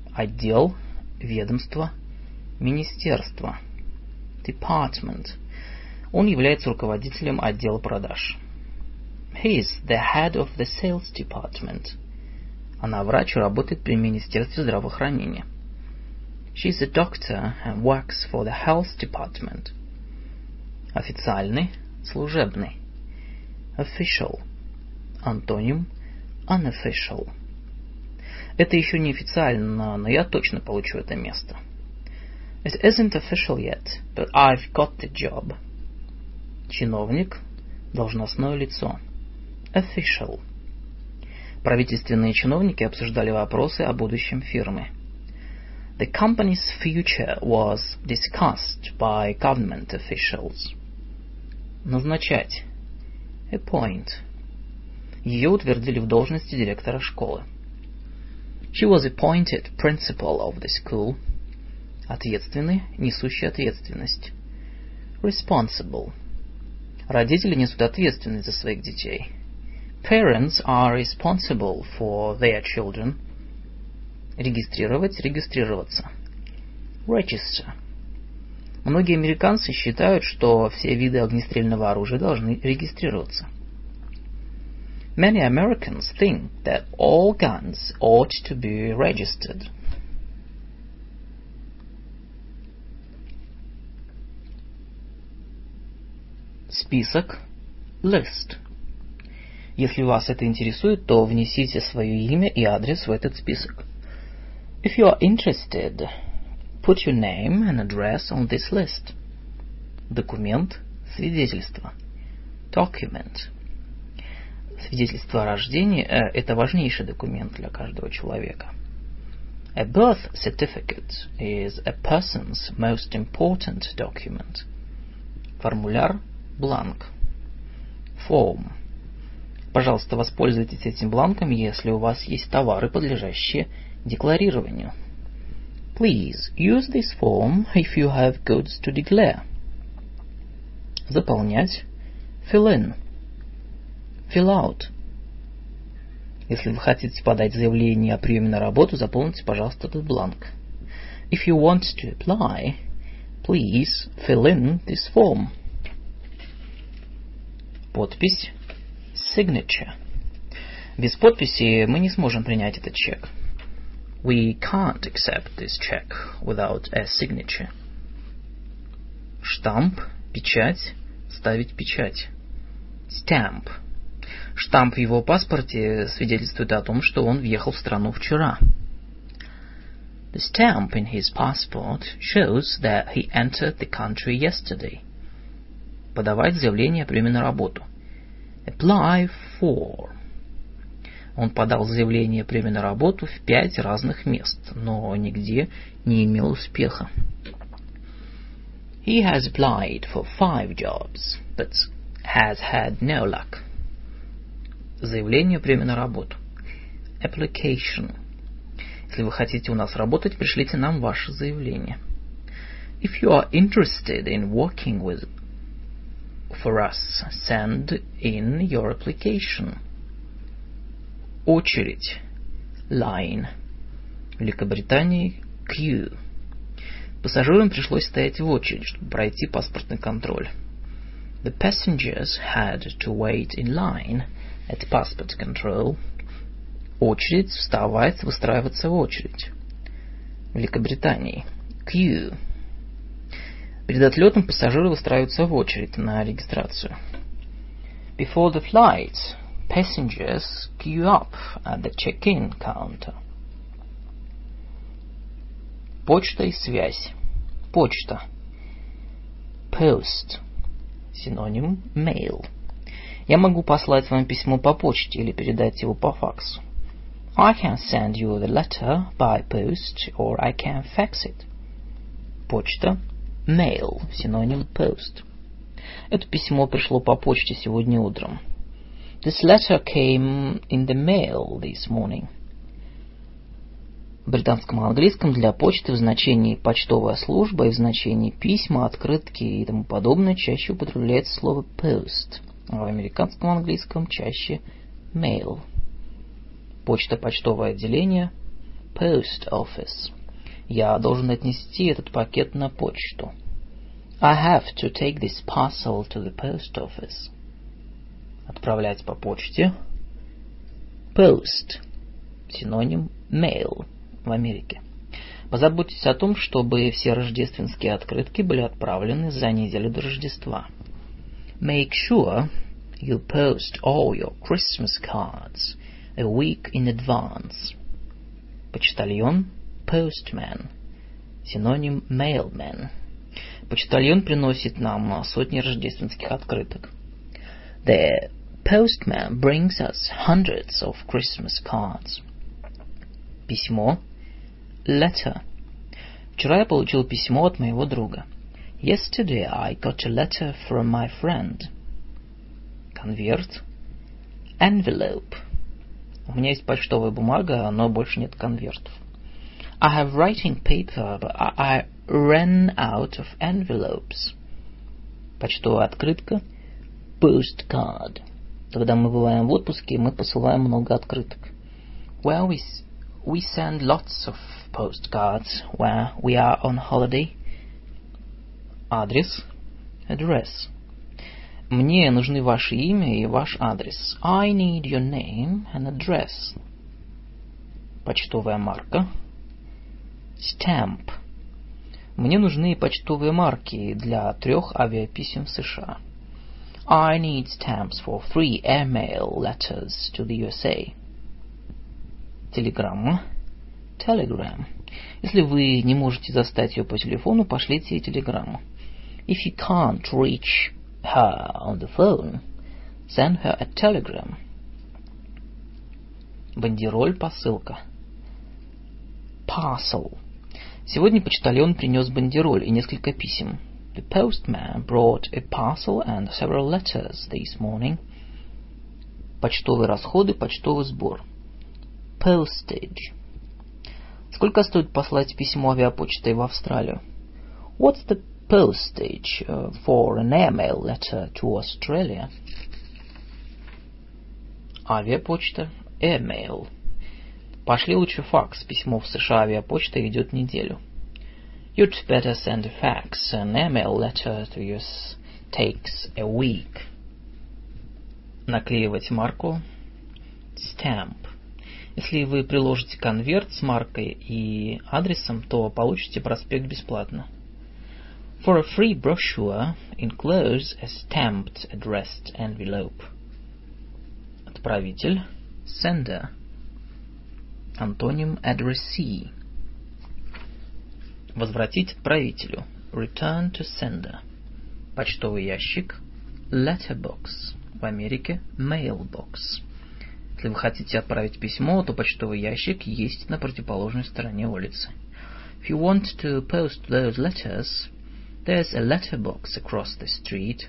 Отдел, ведомство, министерство. Department. Он является руководителем отдела продаж. He is the head of the sales department. Она врач и работает при Министерстве здравоохранения. She is a doctor and works for the health department. Официальный, служебный. Official. Антоним unofficial. Это еще не официально, но я точно получу это место. It isn't official yet, but I've got the job. Чиновник, должностное лицо. Official. Правительственные чиновники обсуждали вопросы о будущем фирмы. The company's future was discussed by government officials. Назначать. Appoint. Ее утвердили в должности директора школы. She was appointed principal of the school. Ответственный, несущий ответственность. Responsible. Родители несут ответственность за своих детей. Parents are responsible for their children. Регистрировать, регистрироваться. Register. Многие американцы считают, что все виды огнестрельного оружия должны регистрироваться. Many Americans think that all guns ought to be registered. Список. List. Если вас это интересует, то внесите свое имя и адрес в этот список. If you are interested, put your name and address on this list. Документ, свидетельство. Document. Свидетельство о рождении – это важнейший документ для каждого человека. A birth certificate is a person's most important document. Формуляр, бланк. Form. Пожалуйста, воспользуйтесь этим бланком, если у вас есть товары, подлежащие декларированию. Please use this form if you have goods to declare. Заполнять. Fill in. Fill out. Если вы хотите подать заявление о приеме на работу, заполните, пожалуйста, этот бланк. If you want to apply, please fill in this form. Подпись. Signature. Без подписи мы не сможем принять этот чек. We can't accept this check without a signature. Штамп, печать, ставить печать. Stamp. Штамп в его паспорте свидетельствует о том, что он въехал в страну вчера. The stamp in his passport shows that he entered the country yesterday. Подавать заявление о приеме на работу. Apply for. Он подал заявление о приеме на работу в 5 разных мест, но нигде не имел успеха. He has applied for 5 jobs, but has had no luck. Заявление о приеме на работу. Application. Если вы хотите у нас работать, пришлите нам ваше заявление. If you are interested in working for us, send in your application. Очередь. Line. В Великобритании queue. Пассажирам пришлось стоять в очередь, чтобы пройти паспортный контроль. The passengers had to wait in line at passport control. Очередь, вставать, выстраиваться в очередь. В Великобритании queue. Перед отлетом пассажиры выстраиваются в очередь на регистрацию. Before the flight, passengers queue up at the check-in counter. Почта и связь. Почта. Post. Синоним mail. Я могу послать вам письмо по почте или передать его по факсу. I can send you the letter by post or I can fax it. Почта. Mail. Синоним post. Это письмо пришло по почте сегодня утром. This letter came in the mail this morning. В британском английском для почты в значении почтовая служба и в значении письма, открытки и тому подобное чаще употребляется слово post, а в американском английском чаще mail. Почта, почтовое отделение, post office. Я должен отнести этот пакет на почту. I have to take this parcel to the post office. Отправлять по почте. Post. Синоним mail в Америке. Позаботьтесь о том, чтобы все рождественские открытки были отправлены за неделю до Рождества. Make sure you post all your Christmas cards a week in advance. Почтальон. Postman. Синоним mailman. Почтальон приносит нам сотни рождественских открыток. The postman brings us hundreds of Christmas cards. Письмо. Letter. Вчера я получил письмо от моего друга. Yesterday I got a letter from my friend. Конверт. Envelope. У меня есть почтовая бумага, но больше нет конвертов. I have writing paper, but I ran out of envelopes. Почтовая открытка. Postcard. Когда мы бываем в отпуске, мы посылаем много открыток. Well, we send lots of postcards where we are on holiday. Адрес. Address. Мне нужны ваше имя и ваш адрес. I need your name and address. Почтовая марка. Stamp. Мне нужны почтовые марки для 3 авиаписем в США. I need stamps for 3 airmail letters to the USA. Телеграмма. Telegram. Если вы не можете застать ее по телефону, пошлите ей телеграмму. If you can't reach her on the phone, send her a telegram. Бандероль, посылка. Parcel. Сегодня почтальон принес бандероль и несколько писем. The postman brought a parcel and several letters this morning. Почтовые расходы, почтовый сбор. Postage. Сколько стоит послать письмо авиапочтой в Австралию? What's the postage for an airmail letter to Australia? Авиапочта. Airmail. Пошли лучше факс. Письмо в США авиапочта идет неделю. You'd better send a fax. An airmail letter to US takes a week. Наклеивать марку. Stamp. Если вы приложите конверт с маркой и адресом, то получите проспект бесплатно. For a free brochure, enclose a stamped addressed envelope. Отправитель. Sender. Антоним addressee. Возвратить отправителю. Return to sender. Почтовый ящик. Letterbox. В Америке mailbox. Если вы хотите отправить письмо, то почтовый ящик есть на противоположной стороне улицы. If you want to post those letters, there's a letterbox across the street.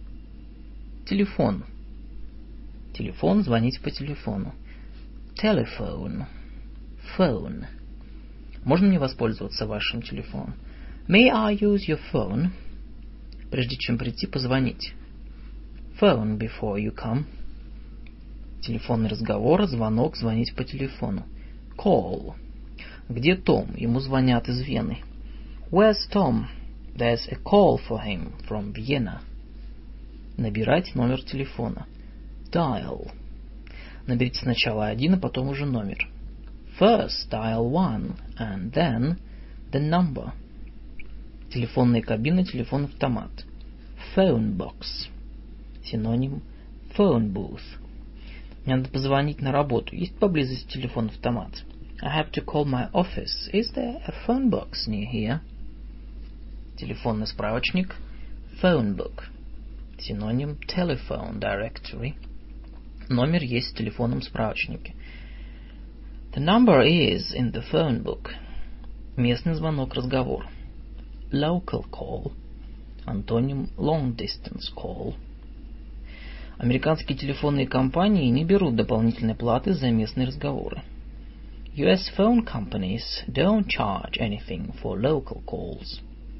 Телефон. Телефон, звонить по телефону. Telephone. Phone. Можно мне воспользоваться вашим телефоном? May I use your phone? Прежде чем прийти, позвонить. Phone before you come. Телефонный разговор, звонок, звонить по телефону. Call. Где Том? Ему звонят из Вены. Where's Tom? There's a call for him from Vienna. Набирать номер телефона. Dial. Наберите сначала 1, а потом уже номер. First dial 1 and then the number. Телефонная кабина, телефон-автомат. Phone box. Синоним phone booth. Мне надо позвонить на работу. Есть поблизости телефон-автомат? I have to call my office. Is there a phone box near here? Телефонный справочник. Phone book. Синоним telephone directory. Номер есть в телефонном справочнике. The number is in the phone book. Местный звонок, разговор. Local call. Антоним long distance call. Американские телефонные компании не берут дополнительной платы за местные разговоры. US phone companies don't charge anything for local calls.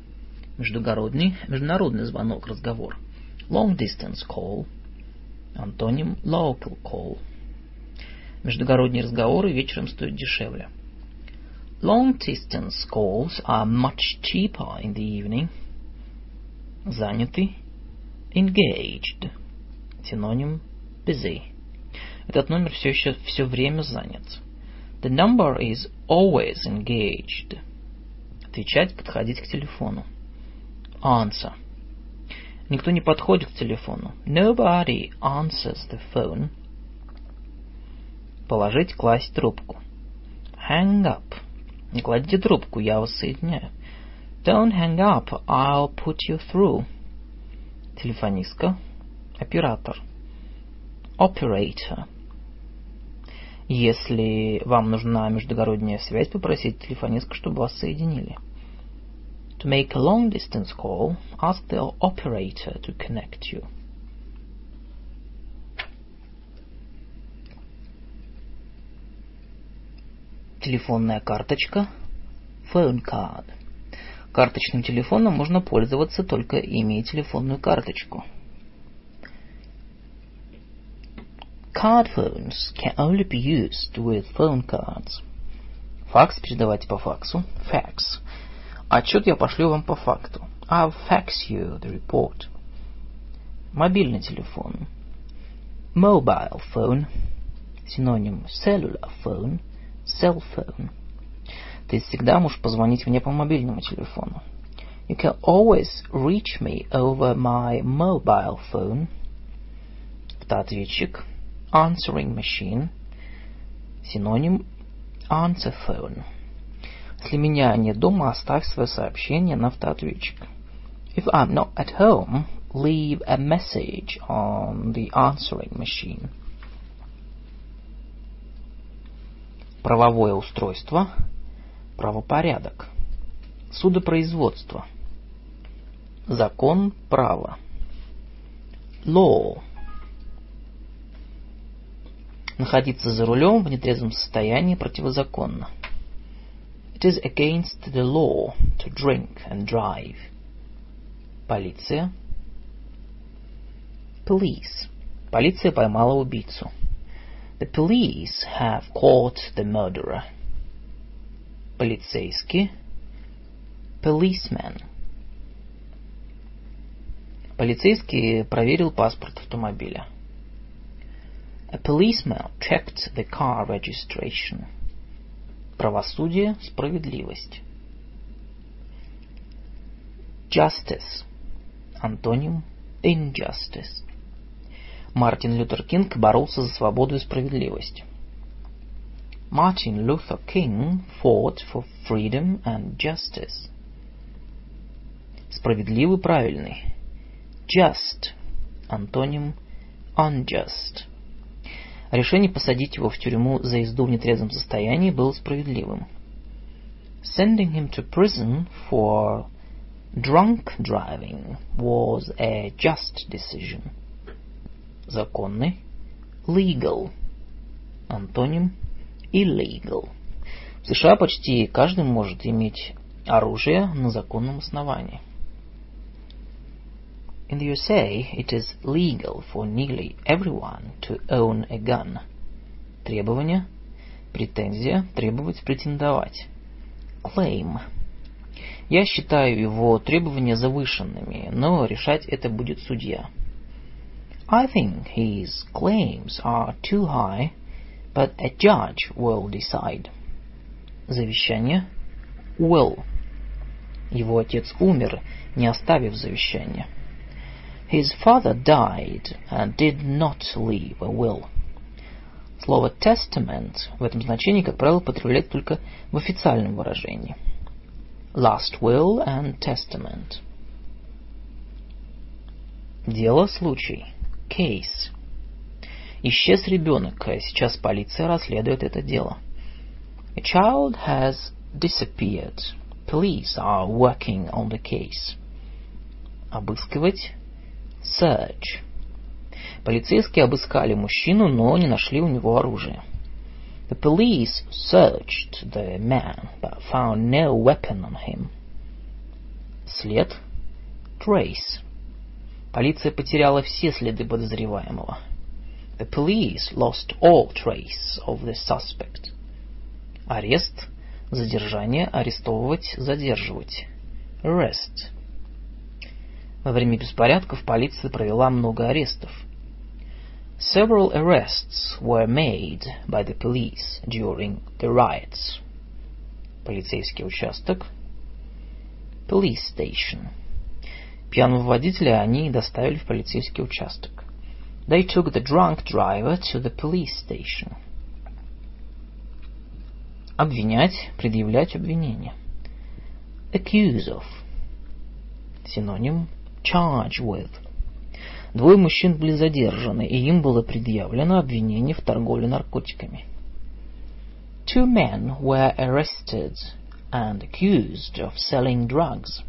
Международный звонок, разговор. Long distance call. Антоним local call. Междугородние разговоры вечером стоят дешевле. Long distance calls are much cheaper in the evening. Занятый. Engaged. Синоним busy. Этот номер все время занят. The number is always engaged. Отвечать, подходить к телефону. Answer. Никто не подходит к телефону. Nobody answers the phone. Положить, класть трубку. Hang up. Не кладите трубку, я вас соединяю. Don't hang up, I'll put you through. Телефонистка. Оператор. Operator. Если вам нужна междугородняя связь, попросите телефонистку, чтобы вас соединили. To make a long-distance call, ask the operator to connect you. Телефонная карточка. Phone card. Карточным телефоном можно пользоваться, только имея телефонную карточку. Card phones can only be used with phone cards. Факс передавайте по факсу. Fax. Отчет я пошлю вам по факту. I'll fax you the report. Мобильный телефон. Mobile phone. Синоним cellular phone. Cell phone. Ты всегда можешь позвонить мне по мобильному телефону. You can always reach me over my mobile phone. Автоответчик. Answering machine. Синоним answer phone. Если меня нет дома, оставь свое сообщение на автоответчик. If I'm not at home, leave a message on the answering machine. Правовое устройство. Правопорядок. Судопроизводство. Закон, право. Law. Находиться за рулем в нетрезвом состоянии противозаконно. It is against the law to drink and drive. Полиция. Police. Полиция поймала убийцу. The police have caught the murderer. Полицейский. Policeman. Полицейский проверил паспорт автомобиля. A policeman checked the car registration. Правосудие, справедливость. Justice. Антоним injustice. Мартин Лютер Кинг боролся за свободу и справедливость. Martin Luther King fought for freedom and justice. Справедливый, правильный. Just. Антоним unjust. Решение посадить его в тюрьму за езду в нетрезвом состоянии было справедливым. Sending him to prison for drunk driving was a just decision. Законный. Legal. Антоним illegal. В США почти каждый может иметь оружие на законном основании. In the USA, it is legal for nearly everyone to own a gun. Требование. Претензия. Требовать, претендовать. Claim. Я считаю его требования завышенными, но решать это будет судья. I think his claims are too high, but a judge will decide. Завещание. Will. Его отец умер, не оставив завещания. His father died and did not leave a will. Слово testament в этом значении, как правило, употребляется только в официальном выражении. Last will and testament. Дело, случай. Case. Исчез ребенок, а сейчас полиция расследует это дело. A child has disappeared. Police are working on the case. Обыскивать. Search. Полицейские обыскали мужчину, но не нашли у него оружия. The police searched the man, but found no weapon on him. След. Trace. Полиция потеряла все следы подозреваемого. The police lost all trace of the suspect. Арест. Задержание. Арестовывать. Задерживать. Arrest. Во время беспорядков полиция провела много арестов. Several arrests were made by the police during the riots. Полицейский участок. Police station. Пьяного водителя они доставили в полицейский участок. They took the drunk driver to the police station. Обвинять, предъявлять обвинение. Accuse of. Синоним charge with. Двое мужчин были задержаны, и им было предъявлено обвинение в торговле наркотиками. Two men were arrested and accused of selling drugs.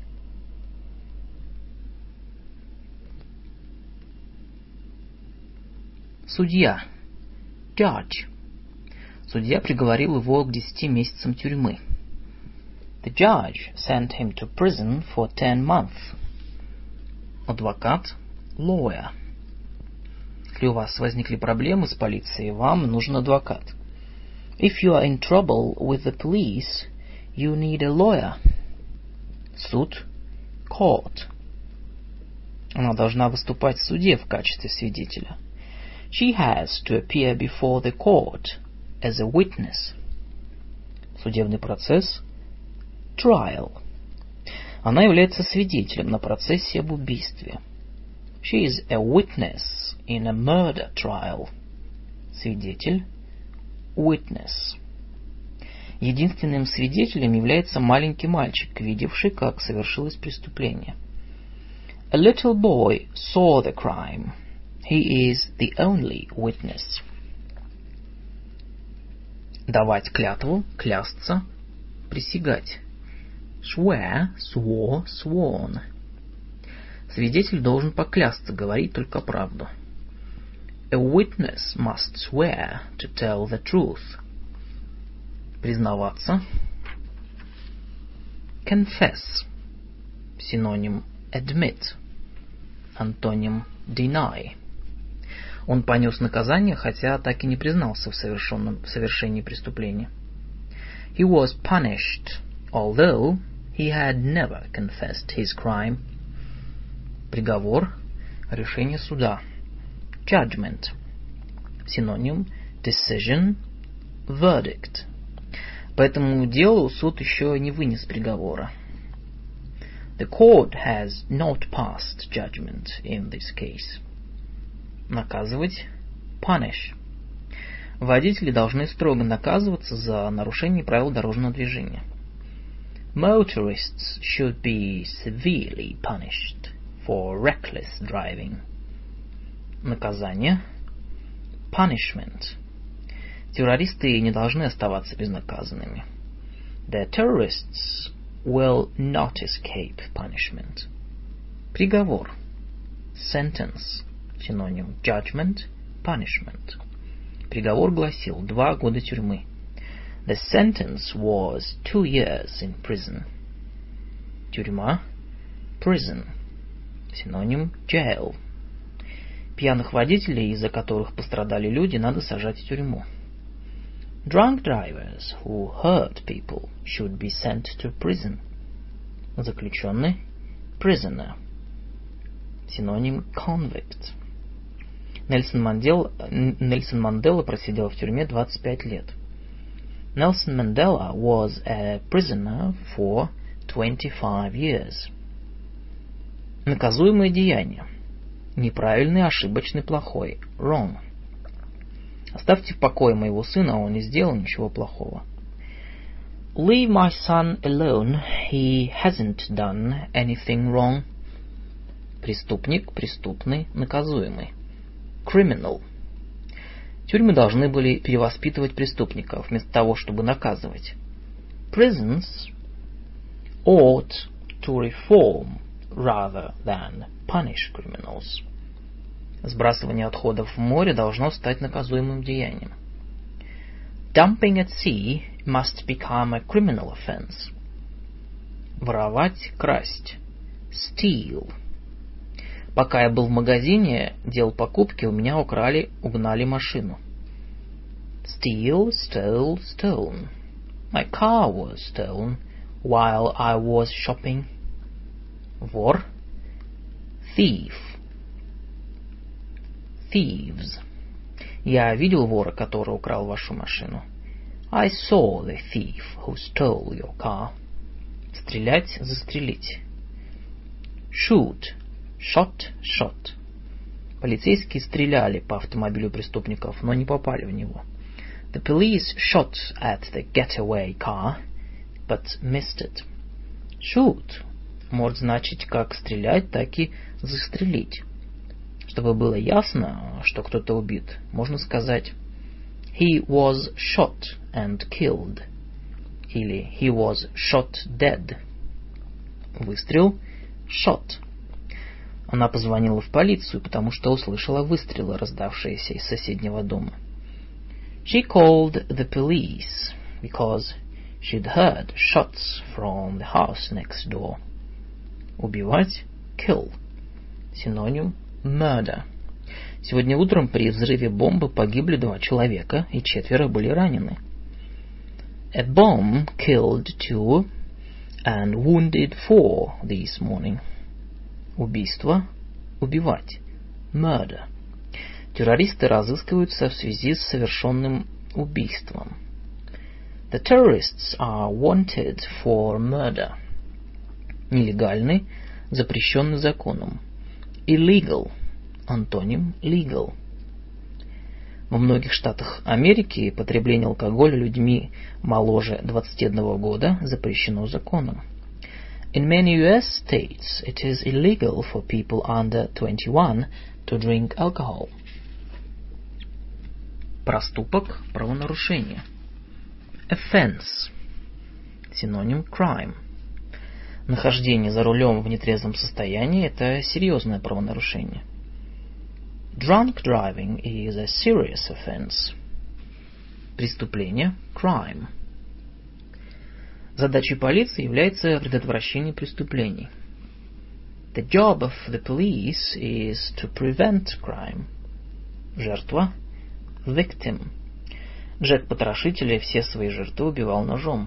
Судья. Judge. Судья приговорил его к 10 месяцам тюрьмы. The judge sent him to prison for 10 months. Адвокат. Lawyer. Если у вас возникли проблемы с полицией, вам нужен адвокат. If you are in trouble with the police, you need a lawyer. Суд. Court. Она должна выступать в суде в качестве свидетеля. She has to appear before the court as a witness. Судебный процесс. Trial. Она является свидетелем на процессе об убийстве. She is a witness in a murder trial. Свидетель. Witness. Единственным свидетелем является маленький мальчик, видевший, как совершилось преступление. A little boy saw the crime. He is the only witness. Давать клятву, клясться, присягать. Swear, swore, sworn. Свидетель должен поклясться, говорить только правду. A witness must swear to tell the truth. Признаваться. Confess. Синоним admit. Антоним deny. Он понес наказание, хотя так и не признался в совершении преступления. He was punished, although he had never confessed his crime. Приговор. Решение суда. Judgment. Синоним decision, verdict. По этому делу суд еще не вынес приговора. The court has not passed judgment in this case. Наказывать. Punish. Водители должны строго наказываться за нарушение правил дорожного движения. Motorists should be severely punished for reckless driving. Наказание. Punishment. Террористы не должны оставаться безнаказанными. The terrorists will not escape punishment. Приговор. Sentence. Синоним judgment, punishment. Приговор гласил 2 года тюрьмы. The sentence was 2 years in prison. Тюрьма. Prison. Синоним jail. Пьяных водителей, из-за которых пострадали люди, надо сажать в тюрьму. Drunk drivers who hurt people should be sent to prison. Заключенный. Prisoner. Синоним convict. Нельсон Мандела просидел в тюрьме 25 лет. Nelson Mandela was a prisoner for 25 years. Наказуемое деяние. Неправильный, ошибочный, плохой. Wrong. Оставьте в покое моего сына, он не сделал ничего плохого. Leave my son alone, he hasn't done anything wrong. Преступник, преступный, наказуемый. Criminal. Тюрьмы должны были перевоспитывать преступников, вместо того, чтобы наказывать. Prisons ought to reform rather than punish criminals. Сбрасывание отходов в море должно стать наказуемым деянием. Dumping at sea must become a criminal offense. Воровать, красть. Steal. Пока я был в магазине, делал покупки, у меня угнали машину. Steal, stole, stolen. My car was stolen while I was shopping. Вор. Thief. Thieves. Я видел вора, который украл вашу машину. I saw the thief who stole your car. Стрелять, застрелить. Shoot. Shot, shot. Полицейские стреляли по автомобилю преступников, но не попали в него. The police shot at the getaway car, but missed it. Shoot может значить как стрелять, так и застрелить. Чтобы было ясно, что кто-то убит, можно сказать He was shot and killed. Или He was shot dead. Выстрел. Shot. Она позвонила в полицию, потому что услышала выстрелы, раздавшиеся из соседнего дома. She called the police because she'd heard shots from the house next door. Убивать. Kill. Синоним murder. Сегодня утром при взрыве бомбы погибли 2 человека, и 4 были ранены. A bomb killed 2 and wounded 4 this morning. Убийство. Убивать. Murder. Террористы разыскиваются в связи с совершенным убийством. The terrorists are wanted for murder. Нелегальный, запрещенный законом. Illegal. Антоним legal. Во многих штатах Америки потребление алкоголя людьми моложе 21 года запрещено законом. In many US states, it is illegal for people under 21 to drink alcohol. Проступок, правонарушение. Offense. Синоним crime. Нахождение за рулем в нетрезвом состоянии – это серьезное правонарушение. Drunk driving is a serious offense. Преступление – crime. Задачей полиции является предотвращение преступлений. The job of the police is to prevent crime. Жертва – victim. Джек-потрошитель все свои жертвы убивал ножом.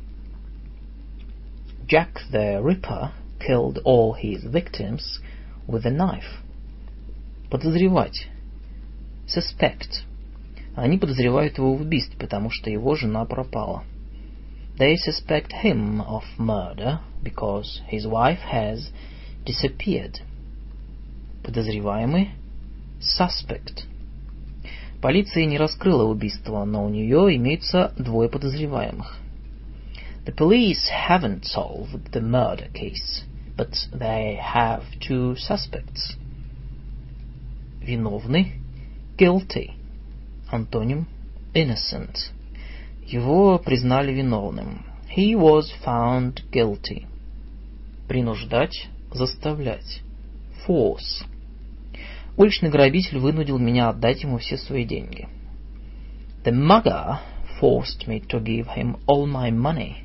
Jack the Ripper killed all his victims with a knife. Подозревать. Suspect. Они подозревают его в убийстве, потому что его жена пропала. They suspect him of murder because his wife has disappeared. Подозреваемый. Suspect. Полиция не раскрыла убийство, но у нее имеются 2 подозреваемых. The police haven't solved the murder case, but they have 2 suspects. Виновный. Guilty. Антоним innocent. Его признали виновным. He was found guilty. Принуждать, заставлять. Force. Уличный грабитель вынудил меня отдать ему все свои деньги. The mugger forced me to give him all my money.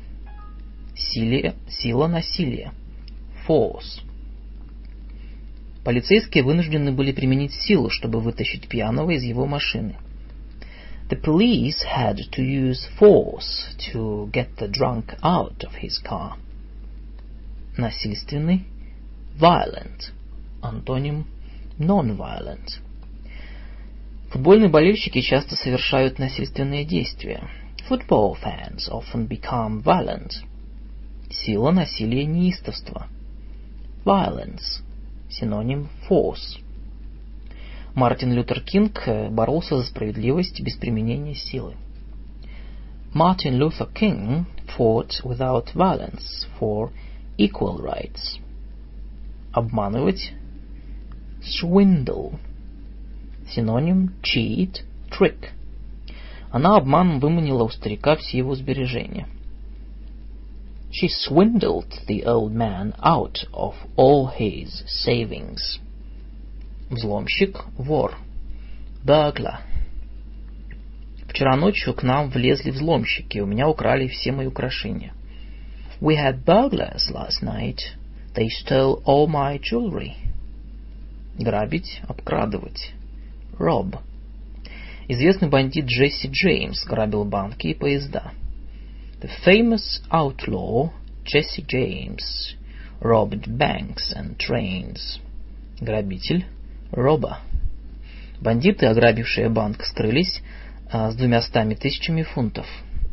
Сила, насилие. Force. Полицейские вынуждены были применить силу, чтобы вытащить пьяного из его машины. The police had to use force to get the drunk out of his car. Насильственный. Violent. Антоним non-violent. Футбольные болельщики часто совершают насильственные действия. Football fans often become violent. Сила, насилие, неистовство. Violence. Синоним force. Мартин Лютер Кинг боролся за справедливость без применения силы. Martin Luther King fought without violence for equal rights. Обманывать. Swindle. Синоним cheat, trick. Она обманом выманила у старика все его сбережения. She swindled the old man out of all his savings. Взломщик, вор. Burglar. Вчера ночью к нам влезли взломщики, у меня украли все мои украшения. We had burglars last night. They stole all my jewelry. Грабить, обкрадывать. Rob. Известный бандит Джесси Джеймс грабил банки и поезда. The famous outlaw Jesse James robbed banks and trains. Грабитель. Robber. Бандиты, ограбившие банк, скрылись с 200 тысячами фунтов.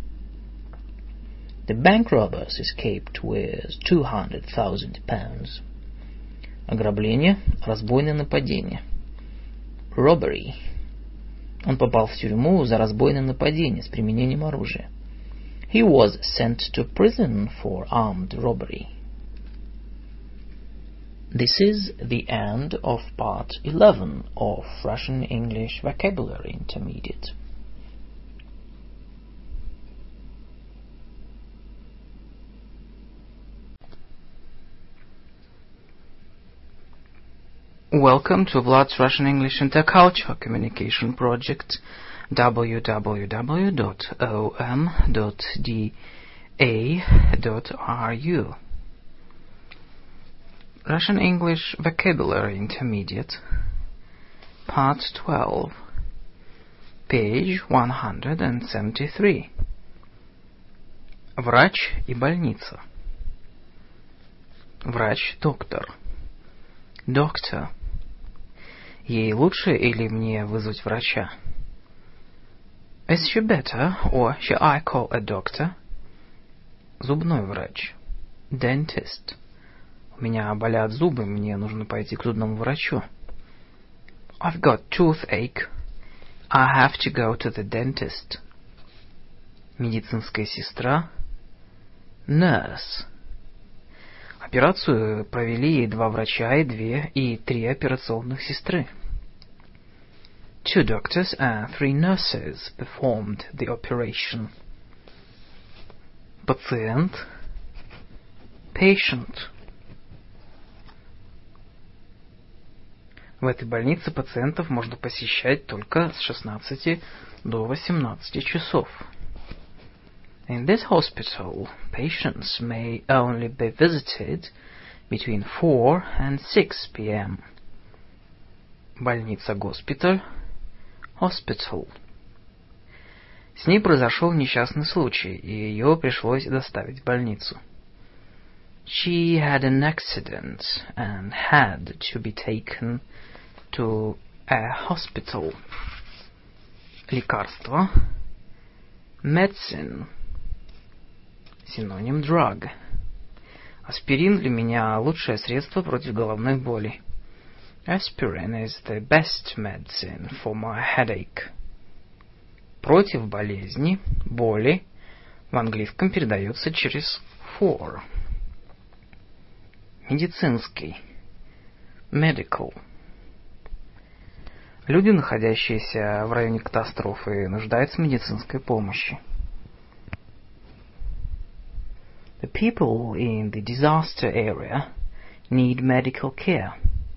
The bank robbers escaped with £200,000. Ограбление, разбойное нападение. Robbery. Он попал в тюрьму за разбойное нападение с применением оружия. He was sent to prison for armed robbery. This is the end of part 11 of Russian English Vocabulary Intermediate. Welcome to Vlad's Russian English Intercultural Communication Project, www.om.da.ru. Russian English Vocabulary Intermediate, Part 12, page 173. Врач и больница. Врач, доктор. Doctor. Ей лучше или мне вызвать врача? Is she better, or shall I call a doctor? Зубной врач. Dentist. У меня болят зубы, мне нужно пойти к зубному врачу. I've got toothache. I have to go to the dentist. Медицинская сестра. Nurse. Операцию провели 2 врача и 3 операционных сестры. 2 doctors and 3 nurses performed the operation. Пациент. Patient. В этой больнице пациентов можно посещать только с 16 до 18 часов. In this hospital, patients may only be visited between 4 and 6 p.m. Больница-госпиталь. Hospital. С ней произошел несчастный случай, и ее пришлось доставить в больницу. She had an accident and had to be taken to a hospital. Лекарство. Medicine. Синоним drug. Аспирин для меня лучшее средство против головной боли. Aspirin is the best medicine for my headache. Против болезни, боли, в английском передается через for. Медицинский. Medical. Люди, находящиеся в районе катастрофы, нуждаются в медицинской помощи. The people in the disaster area need medical care.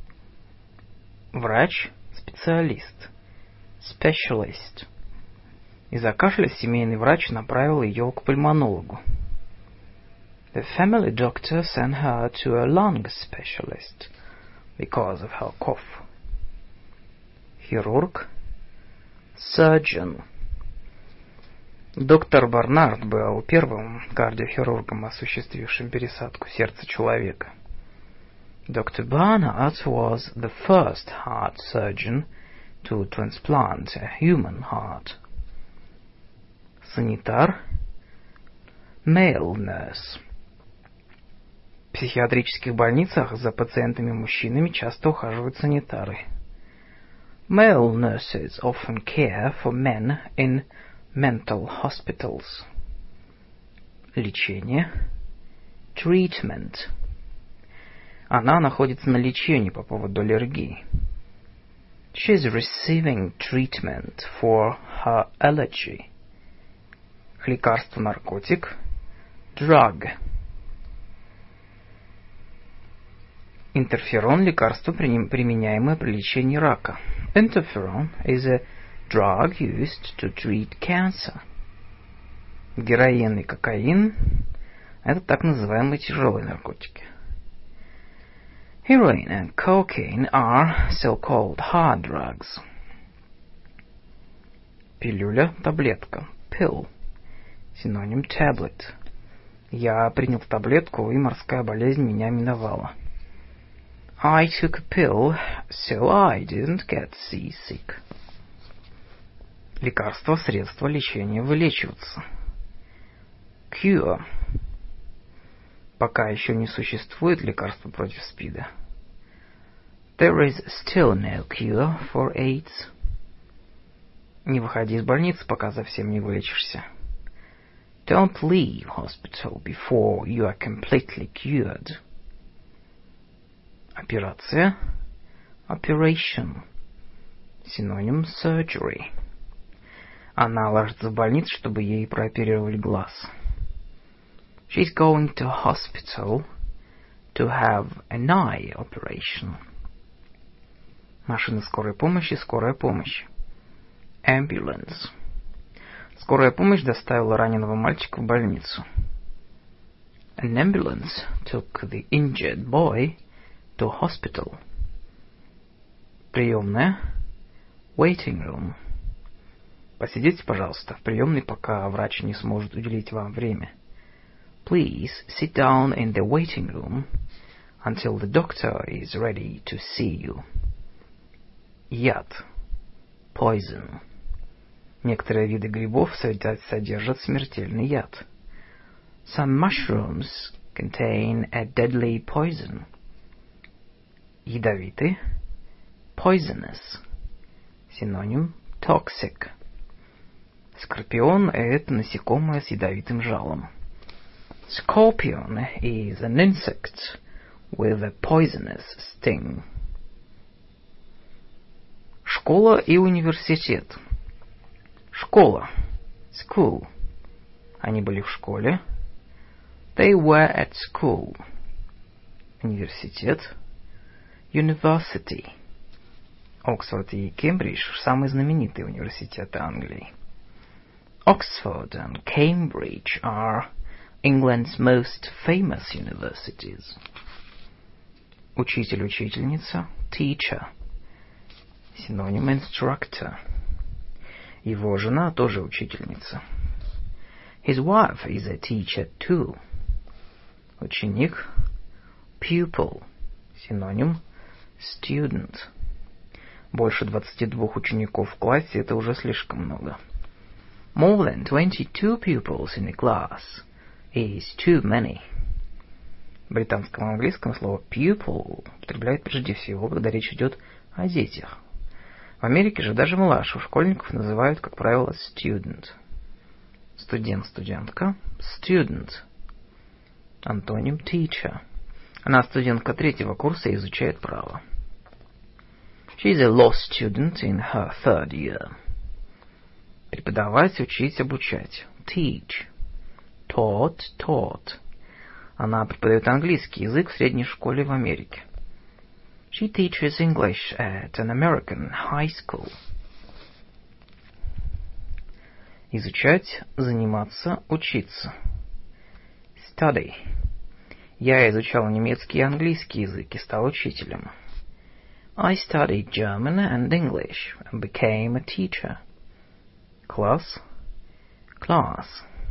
Врач, специалист. Specialist. Из-за кашля семейный врач направил ее к пульмонологу. The family doctor sent her to a lung specialist because of her cough. Хирург. Surgeon. Доктор Барнард был первым кардиохирургом, осуществившим пересадку сердца человека. Dr. Barnard was the first heart surgeon to transplant a human heart. Санитар. Male nurse. В психиатрических больницах за пациентами-мужчинами часто ухаживают санитары. Male nurses often care for men in mental hospitals. Лечение. Treatment. Она находится на лечении по поводу аллергии. She is receiving treatment for her allergy. Лекарство, наркотик. Drug. Интерферон – лекарство, применяемое при лечении рака. Interferon is a drug used to treat cancer. Героин и кокаин – это так называемые тяжелые наркотики. Heroin and cocaine are so-called hard drugs. Пилюля, таблетка. Pill. Синоним tablet. Я принял таблетку, и морская болезнь меня миновала. I took a pill, so I didn't get seasick. Лекарство, средство лечения, вылечиваться. Cure. Пока еще не существует лекарства против СПИДа. There is still no cure for AIDS. Не выходи из больницы, пока совсем не вылечишься. Don't leave hospital before you are completely cured. Операция. Operation. Синоним surgery. Она ложится в больницу, чтобы ей прооперировали глаз. She's going to hospital to have an eye operation. Машина скорой помощи, скорая помощь. Ambulance. Скорая помощь доставила раненого мальчика в больницу. An ambulance took the injured boy to hospital. Приемная. Waiting room. Посидите, пожалуйста, в приемной, пока врач не сможет уделить вам время. Please sit down in the waiting room until the doctor is ready to see you. Яд. Poison. Некоторые виды грибов содержат смертельный яд. Some mushrooms contain a deadly poison. Ядовитый. Poisonous. Синоним toxic. Скорпион – это насекомое с ядовитым жалом. Scorpion is an insect with a poisonous sting. Школа и университет. Школа. School. Они были в школе. They were at school. Университет. University. Оксфорд и Кембридж – самые знаменитые университеты Англии. Oxford and Cambridge are England's most famous universities. Учитель-учительница. Teacher. Синоним instructor. Его жена тоже учительница. His wife is a teacher too. Ученик. Pupil. Синоним student. Больше 22 учеников в классе – это уже слишком много. More than 22 pupils in a class is too many. В британском английском слово pupil употребляют прежде всего, когда речь идет о детях. В Америке же даже младших школьников называют, как правило, student. Студент, студентка. Student. Антоним teacher. Она студентка 3-го курса и изучает право. She is a law student in her 3rd year. Преподавать, учить, обучать. Teach. Taught, taught. Она преподает английский язык в средней школе в Америке. She teaches English at an American high school. Изучать, заниматься, учиться. Study. Я изучал немецкий и английский язык и стал учителем. I studied German and English and became a teacher. Класс. Class.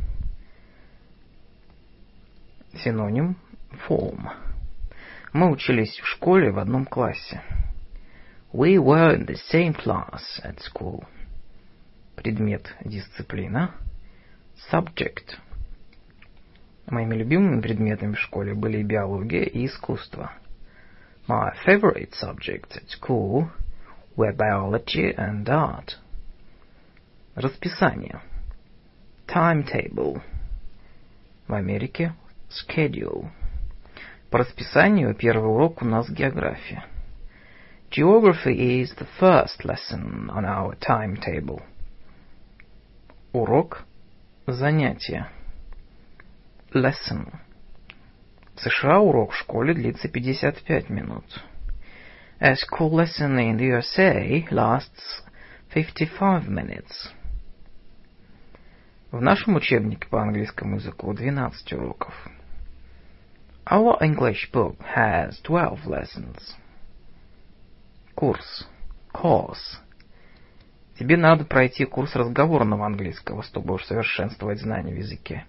Синоним form. Мы учились в школе в одном классе. We were in the same class at school. Предмет, дисциплина. Subject. Моими любимыми предметами в школе были биология и искусство. My favorite subjects at school were biology and art. Расписание. Timetable. В Америке schedule. По расписанию первый урок у нас география. Geography is the first lesson on our timetable. Урок. Занятие. Lesson. В США урок в школе длится 55 минут. A school lesson in the USA lasts 55 minutes. В нашем учебнике по английскому языку 12 уроков. Our English book has 12 lessons. Курс. Course. Тебе надо пройти курс разговорного английского, чтобы усовершенствовать знания в языке.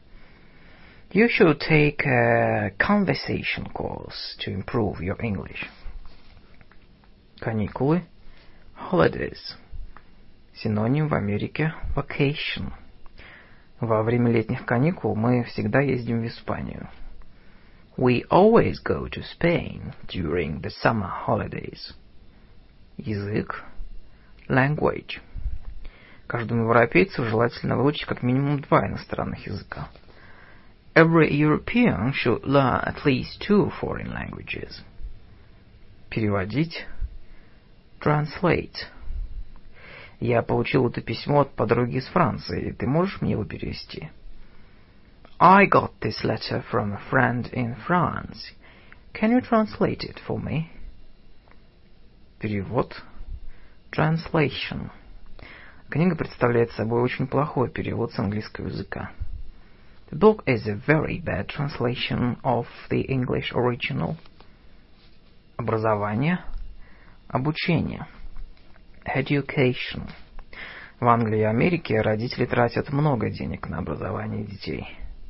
You should take a conversation course to improve your English. Каникулы. Holidays. Синоним в Америке vacation. Во время летних каникул мы всегда ездим в Испанию. We always go to Spain during the summer holidays. Язык. Language. Каждому европейцу желательно выучить как минимум 2 иностранных языка. Every European should learn at least 2 foreign languages. Переводить. Translate. Я получил это письмо от подруги из Франции. Ты можешь мне его перевести? I got this letter from a friend in France. Can you translate it for me? Перевод. Translation. Книга представляет собой очень плохой перевод с английского языка. The book is a very bad translation of the English original. Образование. Обучение. Education. В Англии и Америке родители тратят много денег на образование детей.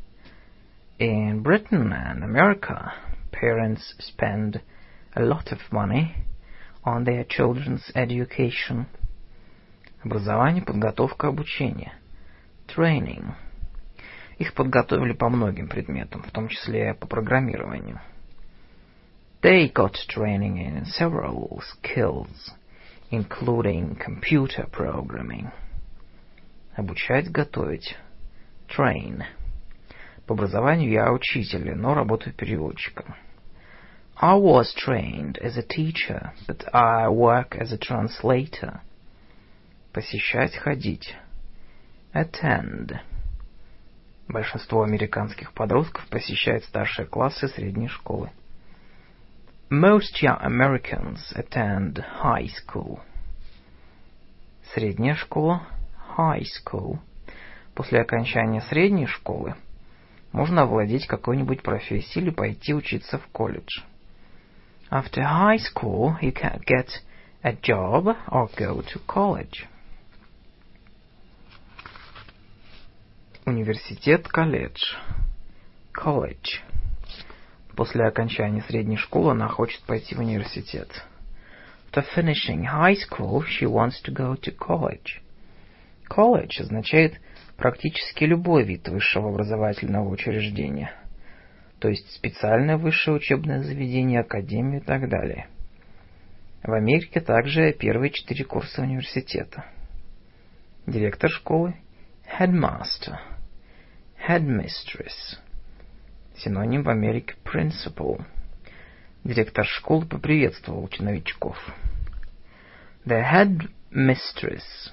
In Britain and America, parents spend a lot of money on their children's education. Образование, подготовка, обучение. Training. Их подготовили по многим предметам, в том числе по программированию. They got training in several skills, including computer programming. Обучать, готовить. Train. По образованию я учитель, но работаю переводчиком. I was trained as a teacher, but I work as a translator. Посещать, ходить. Attend. Большинство американских подростков посещает старшие классы средней школы. Most young Americans attend high school. Средняя школа. High school. После окончания средней школы можно овладеть какой-нибудь профессией или пойти учиться в колледж. After high school, you can get a job or go to college. Университет, колледж. College. После окончания средней школы она хочет пойти в университет. After finishing high school, she wants to go to college. College означает практически любой вид высшего образовательного учреждения, то есть специальное высшее учебное заведение, академию и так далее. В Америке также первые 4 курса университета. Директор школы. Headmaster. Headmistress. Синоним в Америке principal. Директор школы поприветствовал новичков. The headmistress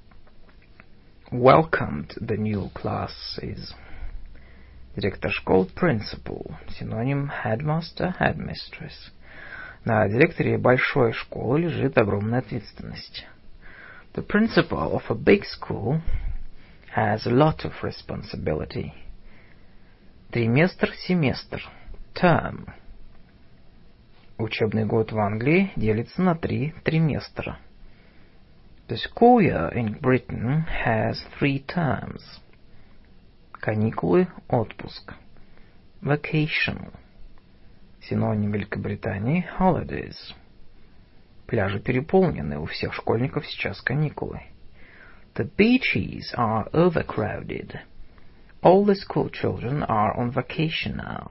welcomed the new classes. Директор школы principal. Синоним headmaster, headmistress. На директоре большой школы лежит огромная ответственность. The principal of a big school has a lot of responsibility. Триместр, семестр. Term. Учебный год в Англии делится на 3 триместра. The school year in Britain has 3 terms. Каникулы, отпуск. Vacation. Синоним Великобритании holidays. Пляжи переполнены, у всех школьников сейчас каникулы. The beaches are overcrowded. All the school children are on vacation now.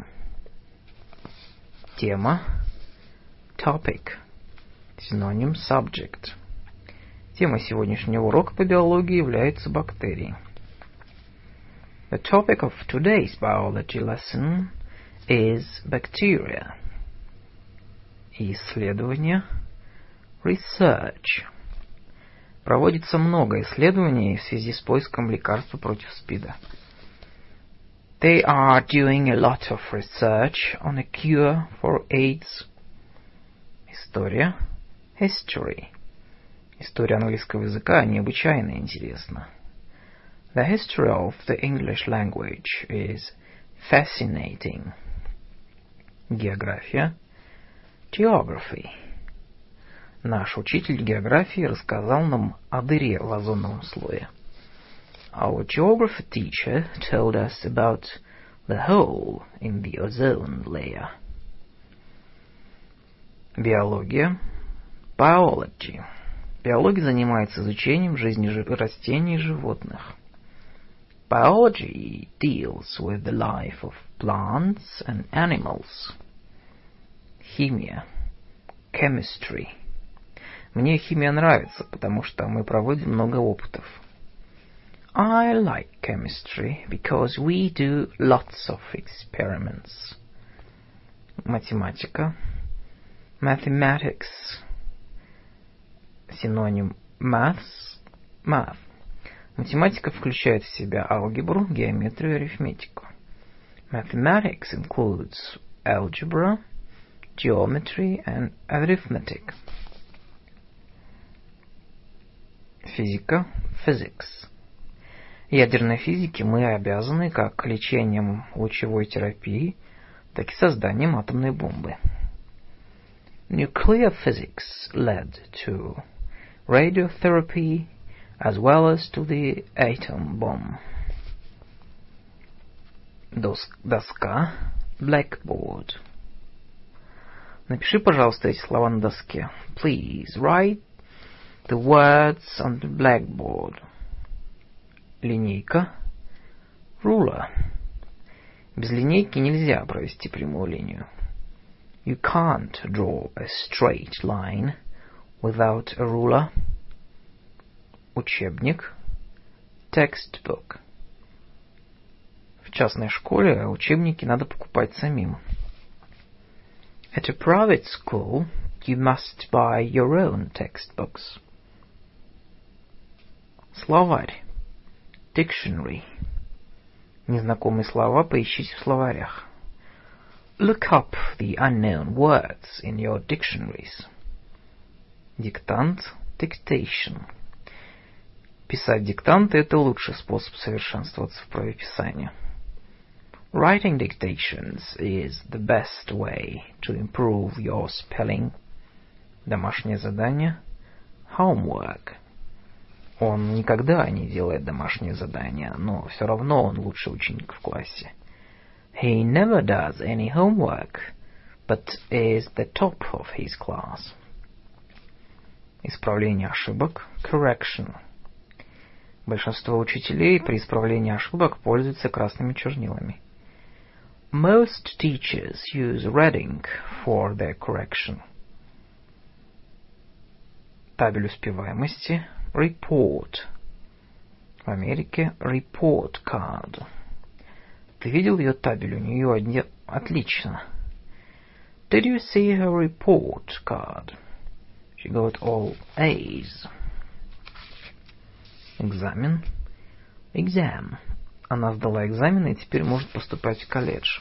Тема. Topic. Синоним subject. Тема сегодняшнего урока по биологии является бактерии. The topic of today's biology lesson is bacteria. Исследование. Research. Проводится много исследований в связи с поиском лекарства против СПИДа. They are doing a lot of research on a cure for AIDS. История. History. История английского языка необычайно интересна. The history of the English language is fascinating. География. Geography. Наш учитель географии рассказал нам о дыре в озоновом слое. Our geography teacher told us about the hole in the ozone layer. Биология. Biology. Биология занимается изучением жизни растений и животных. Biology deals with the life of plants and animals. Химия. Chemistry. Мне химия нравится, потому что мы проводим много опытов. I like chemistry because we do lots of experiments. Математика. Mathematics. Синоним maths. Math. Математика включает в себя алгебру, геометрию и арифметику. Mathematics includes algebra, geometry and arithmetic. Физика. Physics. Ядерной физике мы обязаны как лечением лучевой терапии, так и созданием атомной бомбы. Nuclear physics led to radiotherapy as well as to the atom bomb. Доска. Blackboard. Напиши, пожалуйста, эти слова на доске. Please write the words on the blackboard. Линейка. Ruler. Без линейки нельзя провести прямую линию. You can't draw a straight line without a ruler. Учебник. Textbook. В частной школе учебники надо покупать самим. At a private school, you must buy your own textbooks. Словарь. Dictionary. Незнакомые слова поищите в словарях. Look up the unknown words in your dictionaries. Диктант. Dictation. Писать диктанты – это лучший способ совершенствоваться в правописании. Writing dictations is the best way to improve your spelling. Домашнее задание. Homework. Он никогда не делает домашнее задание, но все равно он лучший ученик в классе. He never does any homework, but is the top of his class. Исправление ошибок. Correction. Большинство учителей при исправлении ошибок пользуются красными чернилами. Most teachers use red ink for their correction. Табель успеваемости. Report. В Америке report card. Ты видел ее табель? У нее отлично. Did you see her report card? She got all A's. Экзамен. Exam. Она сдала экзамен и теперь может поступать в колледж.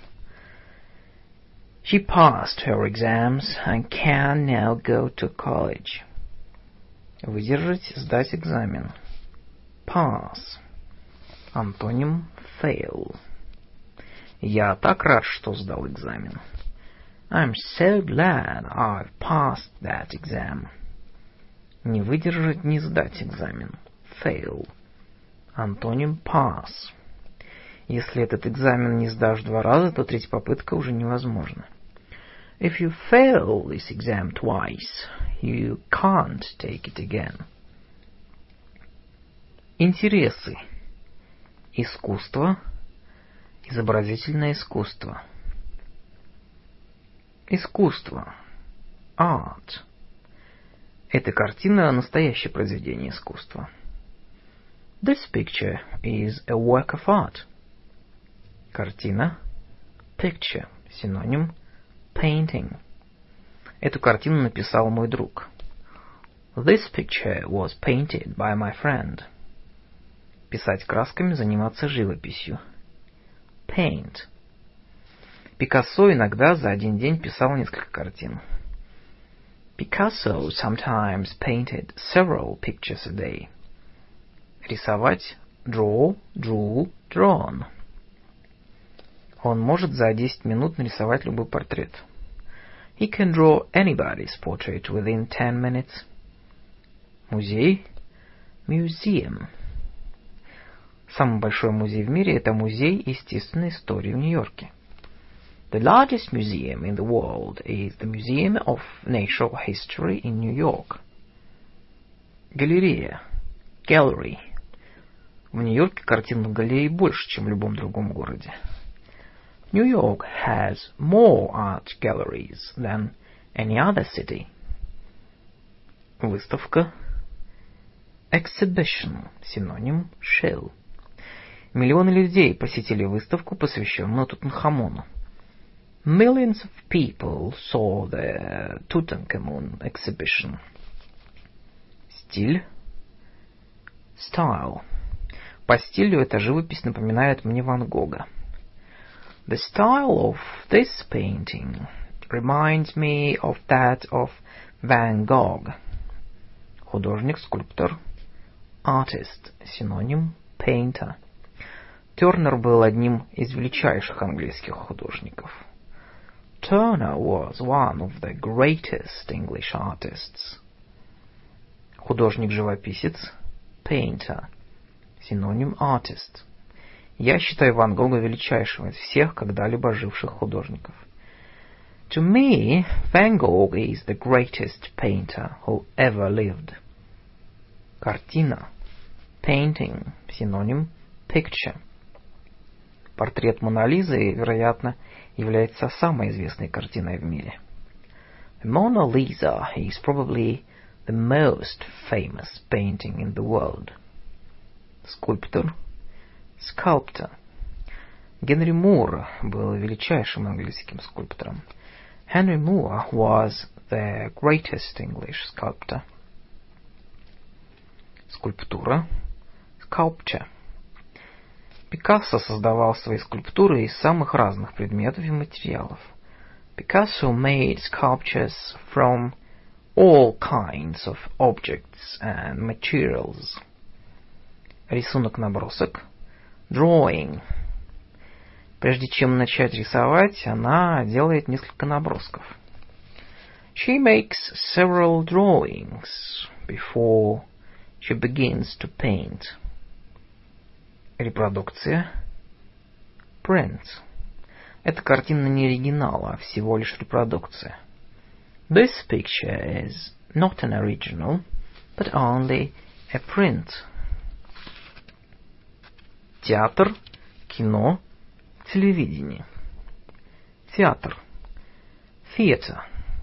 She passed her exams and can now go to college. Выдержать, сдать экзамен. Pass. Антоним fail. Я так рад, что сдал экзамен. I'm so glad I've passed that exam. Не выдержать, не сдать экзамен. Fail. Антоним pass. Если этот экзамен не сдашь 2 раза, то третья попытка уже невозможна. If you fail this exam twice, you can't take it again. Интересы. Искусство. Изобразительное искусство. Искусство. Art. Эта картина – настоящее произведение искусства. This picture is a work of art. Картина. Picture. Синоним. Painting. Эту картину написал мой друг. This picture was painted by my friend. Писать красками, заниматься живописью. Paint. Пикассо иногда за один день писал несколько картин. Picasso sometimes painted several pictures a day. Рисовать. Draw, drew, drawn. Он может за 10 минут нарисовать любой портрет. He can draw anybody's portrait within 10 minutes. Музей. Museum. Самый большой музей в мире – это музей естественной истории в Нью-Йорке. The largest museum in the world is the Museum of Natural History in New York. Галерея. Gallery. В Нью-Йорке картинных галерей больше, чем в любом другом городе. New York has more art galleries than any other city. Выставка. Exhibition. Синоним show. Миллионы людей посетили выставку, посвященную Тутанхамону. Millions of people saw the Tutankhamun exhibition. Стиль. Style. По стилю эта живопись напоминает мне Ван Гога. The style of this painting reminds me of that of Van Gogh. Художник, скульптор. Artist. Синоним painter. Тернер был одним из величайших английских художников. Turner was one of the greatest English artists. Художник-живописец. Painter. Синоним artist. Я считаю Ван Гога величайшим из всех когда-либо живших художников. To me, Van Gogh is the greatest painter who ever lived. Картина. Painting. Синоним picture. Портрет Моны Лизы, вероятно, является самой известной картиной в мире. The Mona Lisa is probably the most famous painting in the world. Скульптор. Sculptor. Генри Мур был величайшим английским скульптором. Henry Moore was the greatest English sculptor. Скульптура. Sculpture. Пикассо создавал свои скульптуры из самых разных предметов и материалов. Picasso made sculptures from all kinds of objects and materials. Рисунок-набросок. Drawing. Прежде чем начать рисовать, она делает несколько набросков. She makes several drawings before she begins to paint. Репродукция. Print. Эта картина не оригинал, а всего лишь репродукция. This picture is not an original, but only a print. Театр, кино, телевидение. Театр. Theater.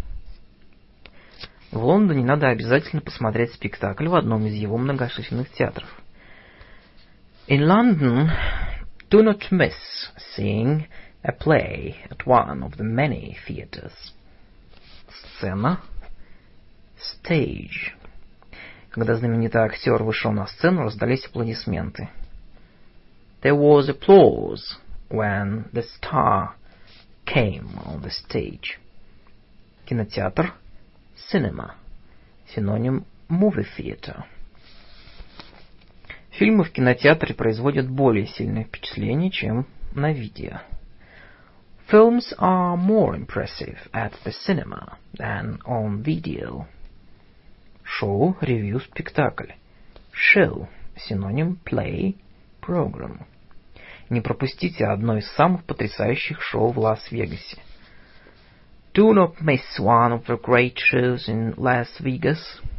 В Лондоне надо обязательно посмотреть спектакль в одном из его многочисленных театров. In London, do not miss seeing a play at one of the many theatres. Сцена. Stage. Когда знаменитый актер вышел на сцену, раздались аплодисменты. There was applause when the star came on the stage. Кинотеатр. Cinema. Синоним movie theater. Фильмы в кинотеатре производят более сильное впечатление, чем на видео. Films are more impressive at the cinema than on video. Шоу, ревью, спектакль. Show. Синоним play, program. Не пропустите одно из самых потрясающих шоу в Лас-Вегасе. Do not miss one of the great shows in Las Vegas.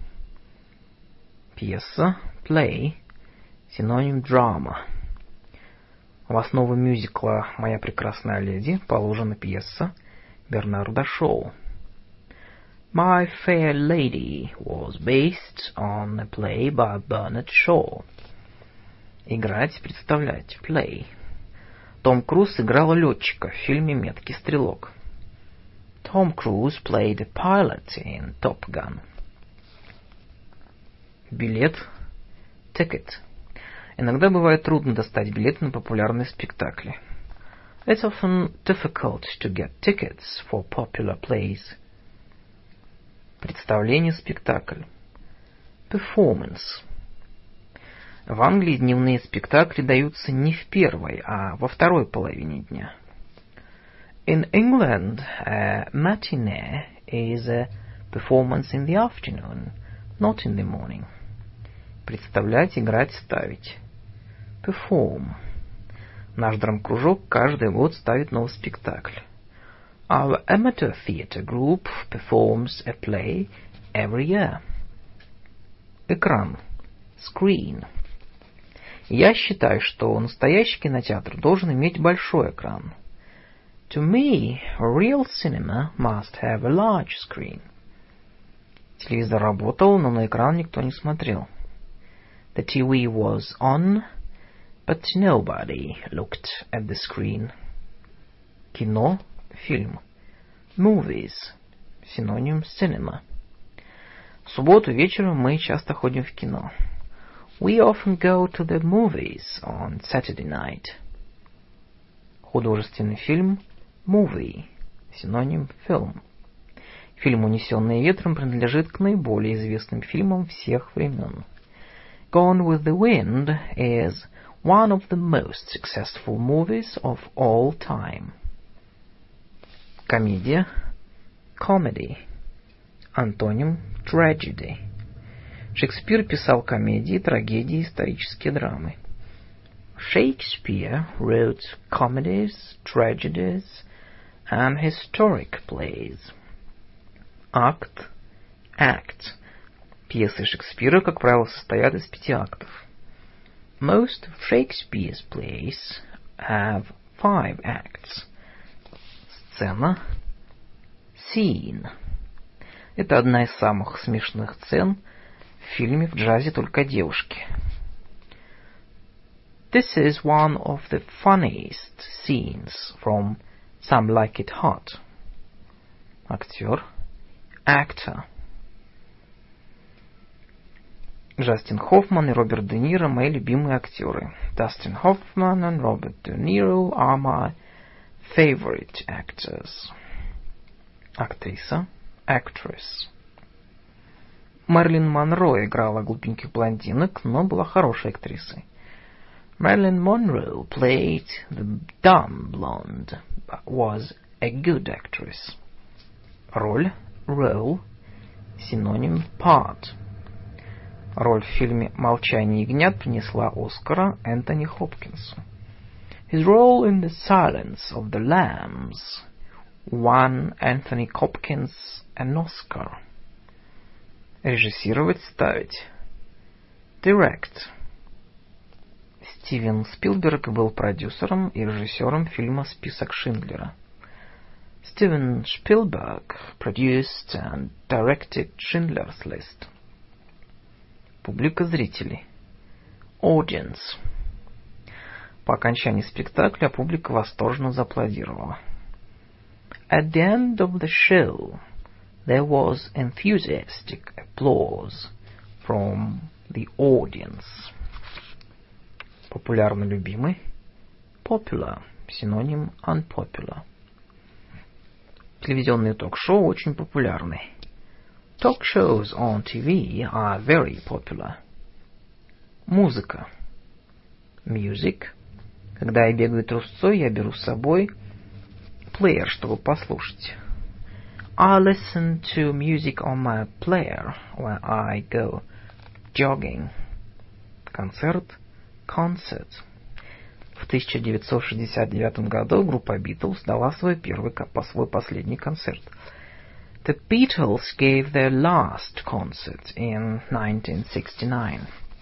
Пьеса, play, синоним drama. В основу мюзикла «Моя прекрасная леди» положена пьеса Бернарда Шоу. My Fair Lady was based on a play by Bernard Shaw. Играть, представлять, play. Том Круз играл летчика в фильме «Меткий стрелок». Tom Cruise played a pilot in Top Gun. Билет, ticket. Иногда бывает трудно достать билеты на популярные спектакли. It's often difficult to get tickets for popular plays. Представление, спектакль. Performance. В Англии дневные спектакли даются не в первой, а во второй половине дня. In England, a matinee is a performance in the afternoon, not in the morning. Представлять, играть, ставить. Perform. Наш драм-кружок каждый год ставит новый спектакль. Our amateur theatre group performs a play every year. Экран. Screen. Я считаю, что настоящий кинотеатр должен иметь большой экран. To me, real cinema must have a large screen. Телевизор работал, но на экран никто не смотрел. The TV was on, but nobody looked at the screen. Кино, фильм. Movies, синоним cinema. В субботу вечером мы часто ходим в кино. We often go to the movies on Saturday night. Художественный фильм, movie, синоним film. Фильм «Унесенные ветром» принадлежит к наиболее известным фильмам всех времен. Gone with the Wind is one of the most successful movies of all time. Комедия, comedy, антоним tragedy. Шекспир писал комедии, трагедии, исторические драмы. Shakespeare wrote comedies, tragedies, and historic plays. Акт, act. Пьесы Шекспира, как правило, состоят из 5 актов. Most of Shakespeare's plays have 5 acts. Сцена, scene. Это одна из самых смешных сцен в фильме «В джазе только девушки». This is one of the funniest scenes from Some Like It Hot. Актер, actor. Джастин Хоффман и Роберт Де Ниро — мои любимые актеры. Dustin Hoffman and Robert De Niro are my favorite actors. Актриса, actress. Мэрилин Монро играла глупеньких блондинок, но была хорошей актрисой. Marilyn Monroe played the dumb blonde, but was a good actress. Роль, role, синоним part. Роль в фильме «Молчание ягнят» принесла Оскара Энтони Хопкинсу. His role in The Silence of the Lambs won Anthony Hopkins an Oscar. Режиссировать, ставить. Direct. Стивен Спилберг был продюсером и режиссером фильма «Список Шиндлера». Steven Spielberg produced and directed Schindler's List. Публика зрителей. Audience. По окончании спектакля публика восторженно зааплодировала. At the end of the show, there was enthusiastic applause from the audience. Популярно любимый. Popular. Синоним unpopular. Телевизионные ток-шоу очень популярны. Talk shows on TV are very popular. Музыка. Music. Когда я бегаю трусцой, я беру с собой плеер, чтобы послушать. I listen to music on my player when I go jogging. Концерт. Concert. В 1969 году группа Beatles дала свой последний концерт. The Beatles gave their last concert in 1969.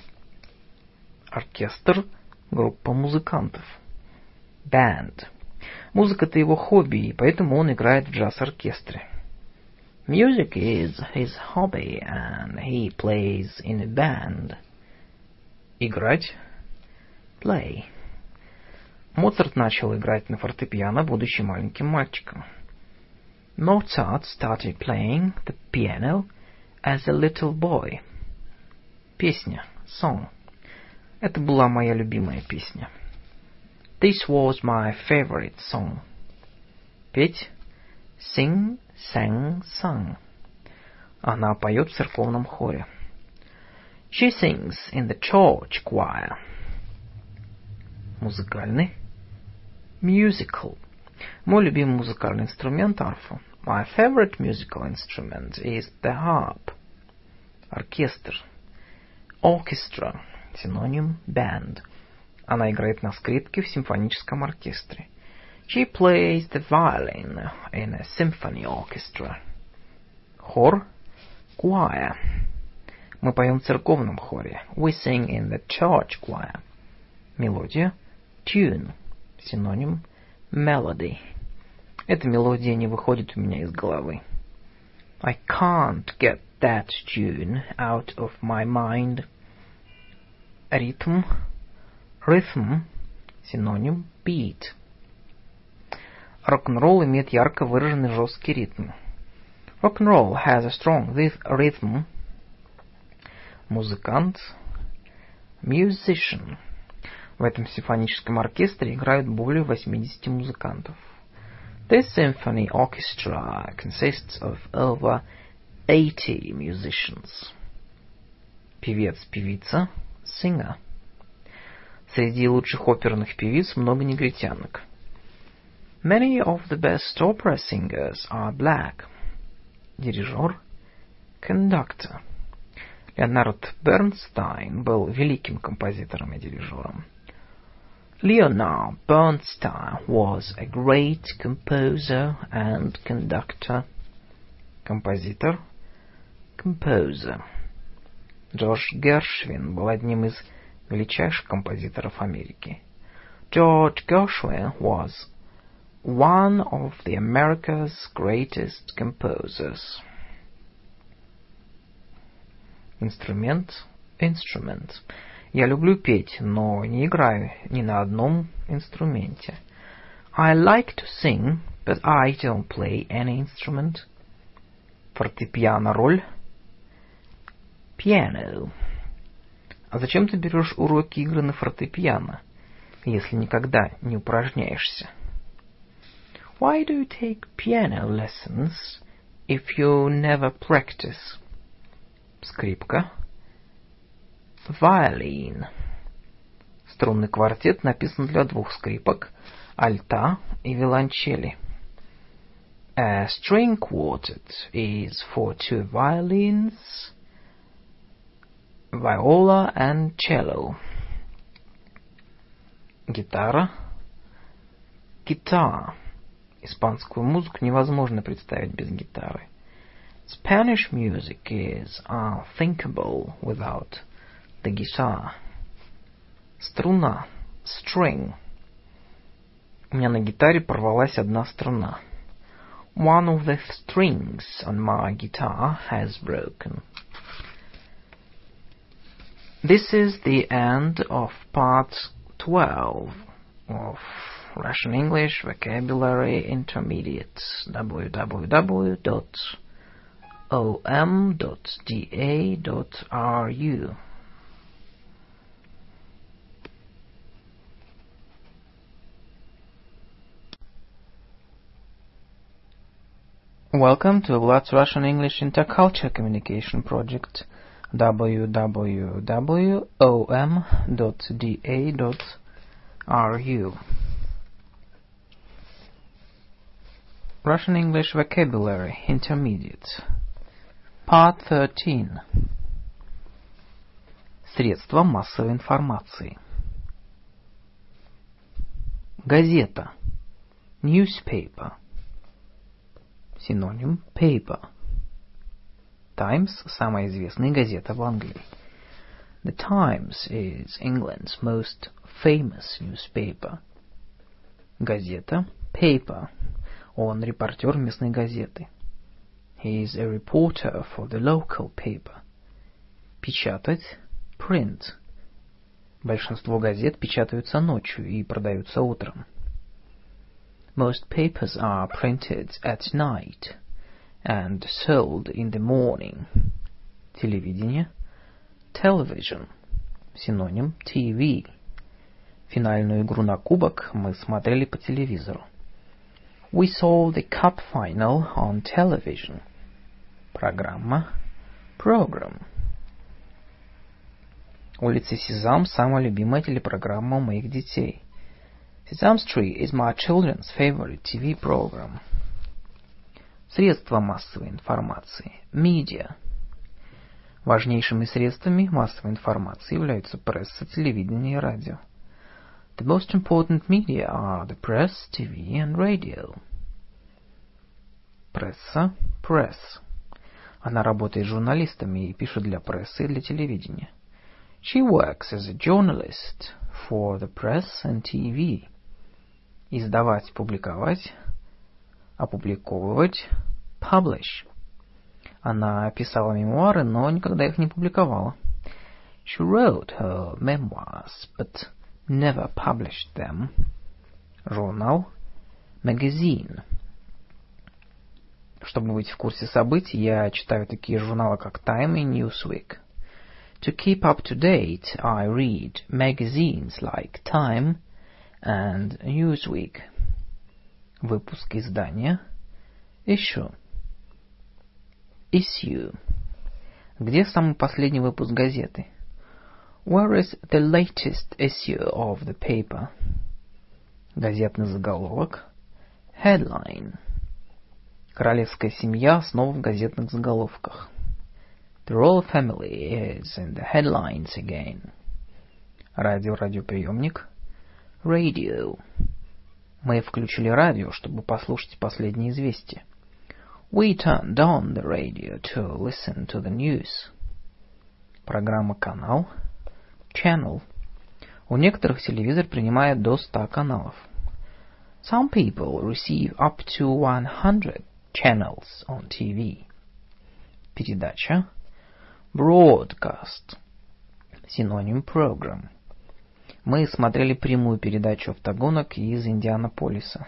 Оркестр — группа музыкантов. Band. Музыка — это его хобби, и поэтому он играет в джаз-оркестре. Music is his hobby, and he plays in a band. Играть. Play. Моцарт начал играть на фортепиано, будучи маленьким мальчиком. Mozart started playing the piano as a little boy. Песня. Song. Это была моя любимая песня. This was my favorite song. Петь. Sing, sang, sung. Она поет в церковном хоре. She sings in the church choir. Музыкальный. Musical. Мой любимый музыкальный инструмент — арфа. My favorite musical instrument is the harp. Оркестр. Orchestra. Синоним band. Она играет на скрипке в симфоническом оркестре. She plays the violin in a symphony orchestra. Хор – choir. Мы поем в церковном хоре. We sing in the church choir. Мелодия – tune. Синоним – melody. Эта мелодия не выходит у меня из головы. I can't get that tune out of my mind. Ритм – rhythm. Синоним – beat. Рок-н-ролл имеет ярко выраженный жесткий ритм. Rock-and-roll has a strong rhythm. Музыкант – musician. В этом симфоническом оркестре играют более 80 музыкантов. This symphony orchestra consists of over 80 musicians. Певец-певица – singer. Среди лучших оперных певиц много негритянок. Many of the best opera singers are black. Дирижер – conductor. Леонард Бернстайн был великим композитором и дирижером. Leonard Bernstein was a great composer and conductor. Композитор – composer. Джордж Гершвин был одним из величайших композиторов Америки. George Gershwin was one of the America's greatest composers. Инструмент – instrument. Я люблю петь, но не играю ни на одном инструменте. I like to sing, but I don't play any instrument. Фортепиано роль – piano. А зачем ты берешь уроки игры на фортепиано, если никогда не упражняешься? Why do you take piano lessons if you never practice? Скрипка. Violin. Струнный квартет написан для двух скрипок, альта и виолончели. A string quartet is for two violins, viola and cello. Гитара. Guitar. Испанскую музыку невозможно представить без гитары. Spanish music is unthinkable without the guitar. Струна. String. У меня на гитаре порвалась одна струна. One of the strings on my guitar has broken. This is the end of part 12 of Russian English Vocabulary Intermediate. www.om.da.ru. Welcome to Vlad's Russian English Intercultural Communication Project. www.om.da.ru. Russian English Vocabulary Intermediate. Part 13. Средства массовой информации. Газета. Newspaper. Синоним paper. Times – самая известная газета в Англии. The Times is England's most famous newspaper. Газета – paper. Он репортер местной газеты. He is a reporter for the local paper. Печатать – print. Большинство газет печатаются ночью и продаются утром. Most papers are printed at night and sold in the morning. Телевидение – television. Синоним – TV. Финальную игру на кубок мы смотрели по телевизору. We saw the cup final on television. Программа – program. Улица Сезам – самая любимая телепрограмма у моих детей. Sesame Street is my children's favorite TV program. Средства массовой информации. Media. Важнейшими средствами массовой информации являются пресса, телевидение и радио. The most important media are the press, TV and radio. Пресса, press. Она работает журналистами и пишет для прессы и для телевидения. She works as a journalist for the press and TV. Издавать, публиковать, опубликовывать, publish. Она писала мемуары, но никогда их не публиковала. She wrote her memoirs, but never published them. Журнал, magazine. Чтобы быть в курсе событий, я читаю такие журналы, как Time и Newsweek. To keep up to date, I read magazines like Time and Newsweek. Выпуск издания, issue. Issue. Где самый последний выпуск газеты? Where is the latest issue of the paper? Газетный заголовок, headline. Королевская семья снова в газетных заголовках. The royal family is in the headlines again. Радиоприемник, radio. Мы включили радио, чтобы послушать последние известия. We turned on the radio to listen to the news. Программа «Канал», channel. У некоторых телевизор принимает до 100 каналов. Some people receive up to 100 channels on TV. Передача, broadcast. Синоним program. Мы смотрели прямую передачу автогонок из Индианаполиса.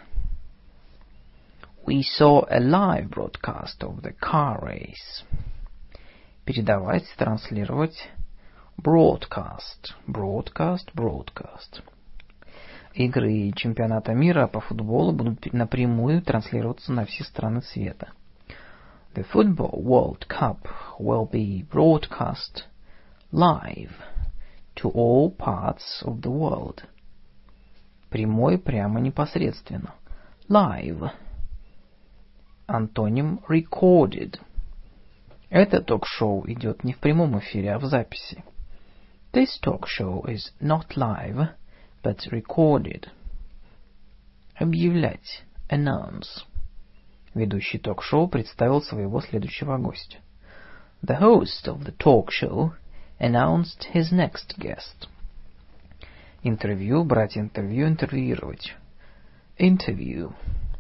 We saw a live broadcast of the car race. Передавать, транслировать, broadcast. Broadcast. Игры чемпионата мира по футболу будут напрямую транслироваться на все страны света. The Football World Cup will be broadcast live to all parts of the world. Прямой, прямо, непосредственно. Live. Антоним recorded. Это ток-шоу идет не в прямом эфире, а в записи. This talk show is not live, but recorded. Объявлять. Announce. Ведущий ток-шоу представил своего следующего гостя. The host of the talk show announced his next guest. Интервью, брать интервью, интервьюировать. Interview.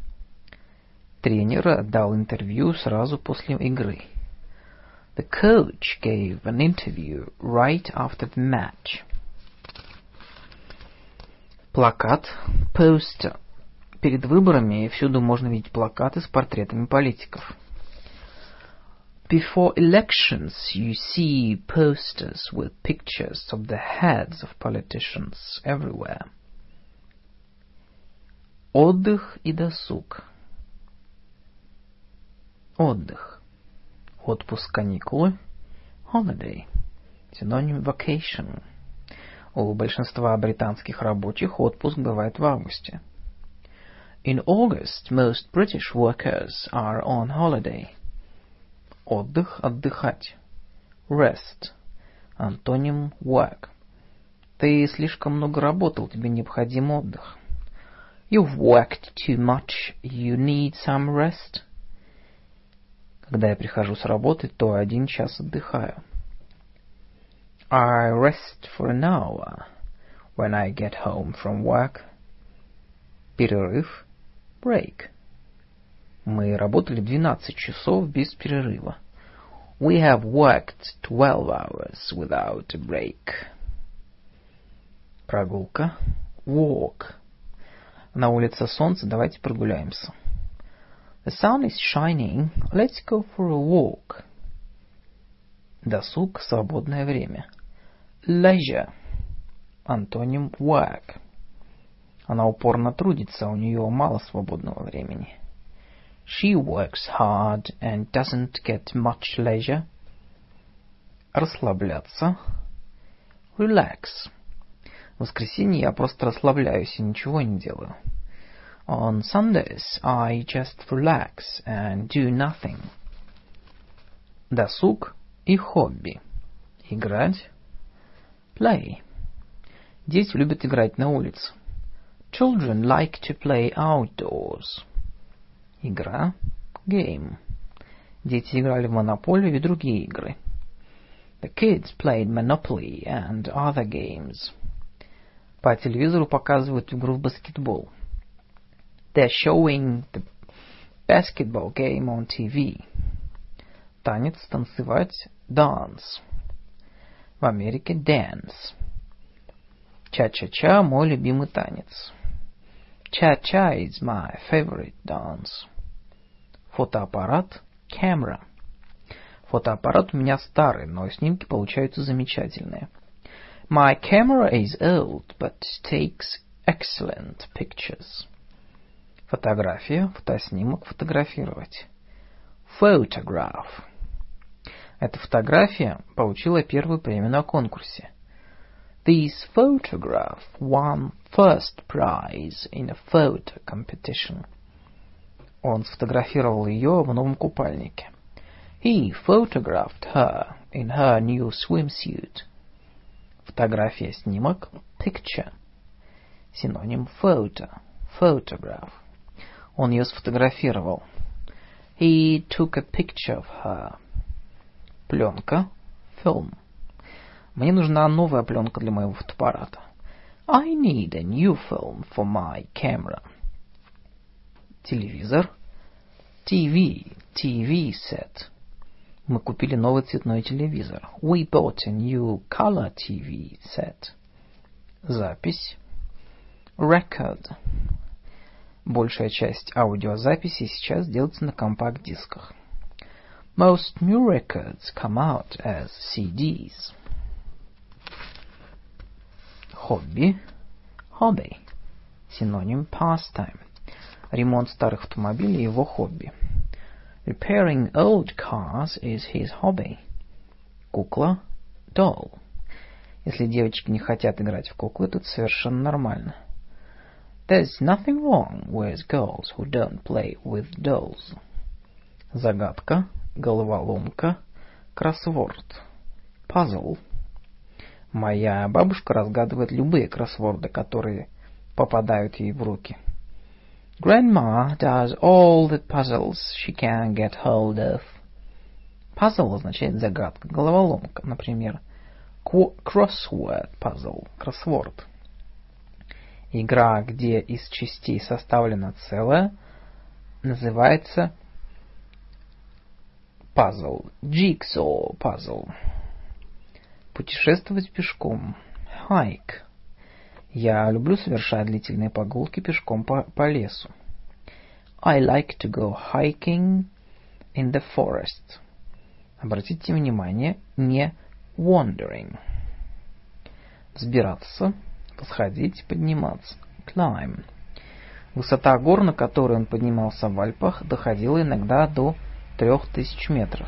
Тренер дал интервью сразу после игры. The coach gave an interview right after the match. Плакат, poster. Перед выборами всюду можно видеть плакаты с портретами политиков. Before elections, you see posters with pictures of the heads of politicians everywhere. Отдых и досуг. Отдых. Отпуск, каникулы. Holiday. Синоним vacation. У большинства британских рабочих отпуск бывает в августе. In August, most British workers are on holiday. Отдых, отдыхать. Rest. Антоним work. Ты слишком много работал, тебе необходим отдых. You've worked too much, you need some rest. Когда я прихожу с работы, то 1 час отдыхаю. I rest for an hour when I get home from work. Перерыв. Break. Мы работали 12 часов без перерыва. We have worked 12 hours without a break. Прогулка. Walk. На улице солнце, давайте прогуляемся. The sun is shining, let's go for a walk. Досуг, свободное время. Leisure. Антоним work. Она упорно трудится, у нее мало свободного времени. She works hard and doesn't get much leisure. Расслабляться. Relax. В воскресенье я просто расслабляюсь и ничего не делаю. On Sundays, I just relax and do nothing. Досуг и хобби. Играть. Play. Дети любят играть на улице. Children like to play outdoors. Игра. Game. Дети играли в монополию и другие игры. The kids played Monopoly and other games. По телевизору показывают игру в баскетбол. They're showing the basketball game on TV. Танец, танцевать. Dance. В Америке dance. Ча-ча-ча – мой любимый танец. Cha-cha is my favorite dance. Фотоаппарат. Camera. Фотоаппарат у меня старый, но снимки получаются замечательные. My camera is old, but takes excellent pictures. Фотография, фотоснимок, фотографировать. Photograph. Эта фотография получила первую премию на конкурсе. This photograph won first prize in a photo competition. Он сфотографировал ее в новом купальнике. He photographed her in her new swimsuit. Фотография, снимок, picture. Синоним photo, photograph. Он ее сфотографировал. He took a picture of her. Пленка, film. Мне нужна новая пленка для моего фотоаппарата. I need a new film for my camera. Телевизор. TV, TV set. Мы купили новый цветной телевизор. We bought a new color TV set. Запись. Record. Большая часть аудиозаписей сейчас делается на компакт-дисках. Most new records come out as CDs. Хобби. Hobby. Синоним pastime. Ремонт старых автомобилей – его хобби. Repairing old cars is his hobby. Кукла. Doll. Если девочки не хотят играть в куклы, то это совершенно нормально. There's nothing wrong with girls who don't play with dolls. Загадка, головоломка, кроссворд. Puzzle. Моя бабушка разгадывает любые кроссворды, которые попадают ей в руки. Grandma does all the puzzles she can get hold of. Puzzle означает загадка, головоломка, например, crossword puzzle, кроссворд. Игра, где из частей составлено целое, называется puzzle, jigsaw puzzle. Путешествовать пешком. Hike. Я люблю совершать длительные прогулки пешком по лесу. I like to go hiking in the forest. Обратите внимание, не wandering. Взбираться, восходить, подниматься. Climb. Высота гор, на которой он поднимался в Альпах, доходила иногда до 3000 метров.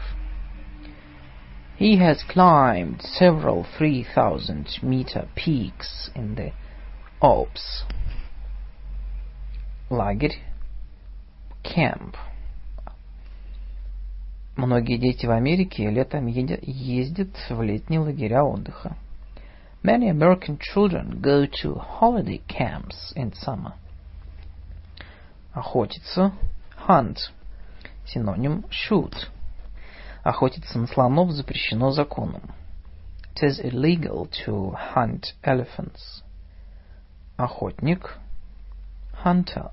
He has climbed several 3000-meter peaks in the Alps. Лагерь. Camp. Многие дети в Америке летом ездят в летние лагеря отдыха. Many American children go to holiday camps in summer. Охотиться. Hunt. Синоним shoot. Охотиться на слонов запрещено законом. It is illegal to hunt elephants. Охотник. Hunter.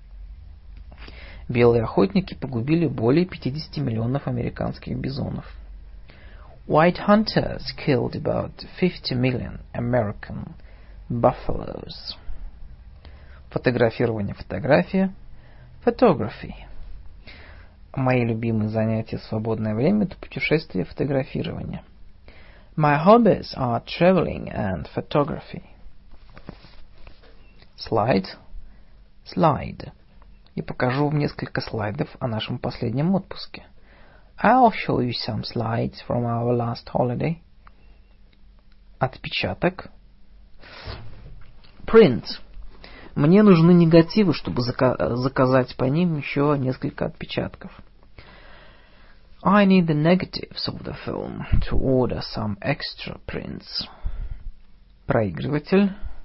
Белые охотники погубили более 50 миллионов американских бизонов. White hunters killed about 50 million American buffaloes. Фотографирование, фотография. Photography. Мои любимые занятия в свободное время – это путешествие и фотографирование. My hobbies are traveling and photography. Слайд. Slide. Я покажу вам несколько слайдов о нашем последнем отпуске. I'll show you some slides from our last holiday. Отпечаток. Print. Мне нужны негативы, чтобы заказать по ним еще несколько отпечатков. I need the negatives of the film to order some extra prints. Проигрыватель.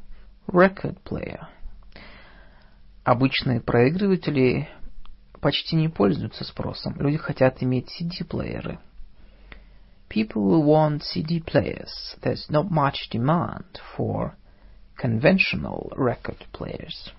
record player. Обычные проигрыватели почти не пользуются спросом. Люди хотят иметь CD-плееры. People will want CD players. There's not much demand for conventional record players.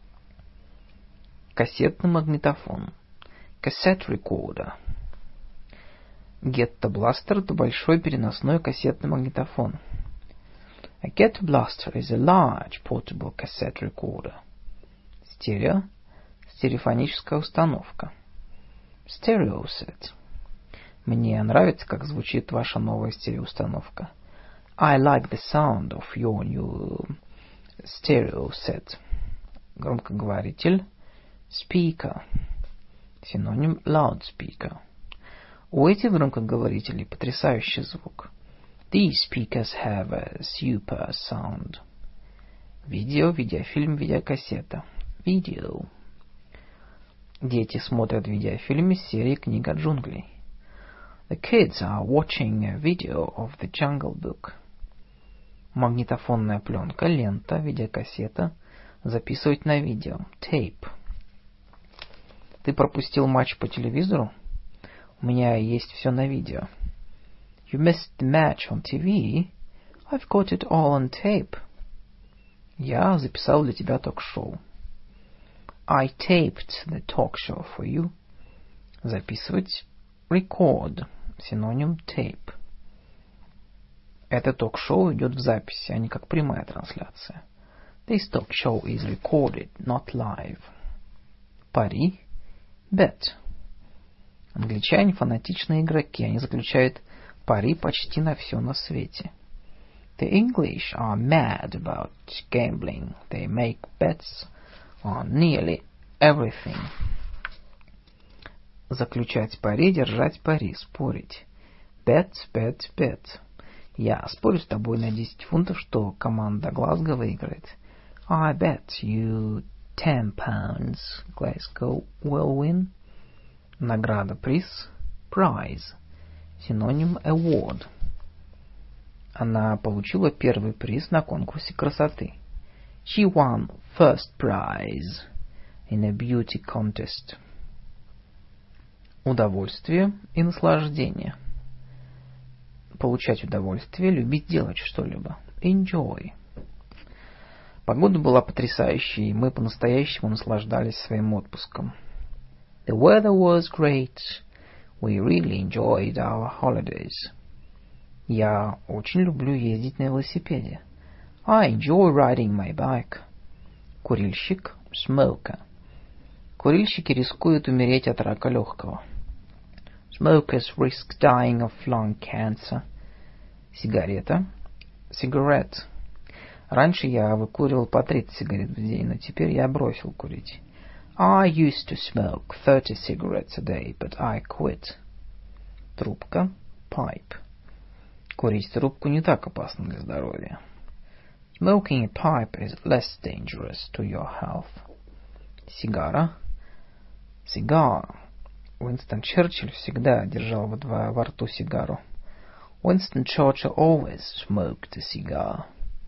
Кассетный магнитофон. Cassette recorder. Ghetto Blaster — это большой переносной кассетный магнитофон. A Ghetto Blaster is a large portable cassette recorder. Стерео — стереофоническая установка. Stereo set. Мне нравится, как звучит ваша новая стереоустановка. I like the sound of your new stereo set. Громкоговоритель. Speaker. Синоним loudspeaker. У этих громкоговорителей потрясающий звук. These speakers have a super sound. Видео, видеофильм, видеокассета. Video. Дети смотрят видеофильм из серии «Книга джунглей». The kids are watching a video of the Jungle Book. Магнитофонная пленка, лента, видеокассета. Записывать на видео. Tape. Ты пропустил матч по телевизору? У меня есть все на видео. You missed the match on TV? I've got it all on tape. Я записал для тебя ток-шоу. I taped the talk show for you. Записывать. Record. Синоним tape. Это ток-шоу идет в записи, а не как прямая трансляция. This talk show is recorded, not live. Пари. Bet. Англичане фанатичные игроки. Они заключают пари почти на все на свете. The English are mad about gambling. They make bets on nearly everything. Заключать пари, держать пари, спорить. Bet, bet, bet. Я спорю с тобой на 10 фунтов, что команда Глазго выиграет. I bet you 10 pounds Glasgow will win. Награда, приз. Prize. Синоним award. Она получила первый приз на конкурсе красоты. She won first prize in a beauty contest. Удовольствие и наслаждение. Получать удовольствие, любить делать что-либо. Enjoy. Погода была потрясающей, и мы по-настоящему наслаждались своим отпуском. The weather was great. We really enjoyed our holidays. Я очень люблю ездить на велосипеде. I enjoy riding my bike. Курильщик. Smoker. Курильщики рискуют умереть от рака легкого. Smokers risk dying of lung cancer. Сигарета. Cigarette. Раньше я выкуривал по 30 сигарет в день, но теперь я бросил курить. I used to smoke 30 cigarettes a day, but I quit. Трубка. Pipe. Курить трубку не так опасно для здоровья. Smoking a pipe is less dangerous to your health. Сигара. Cigar. Уинстон Черчилль всегда держал во рту сигару. Winston Churchill always smoked a cigar.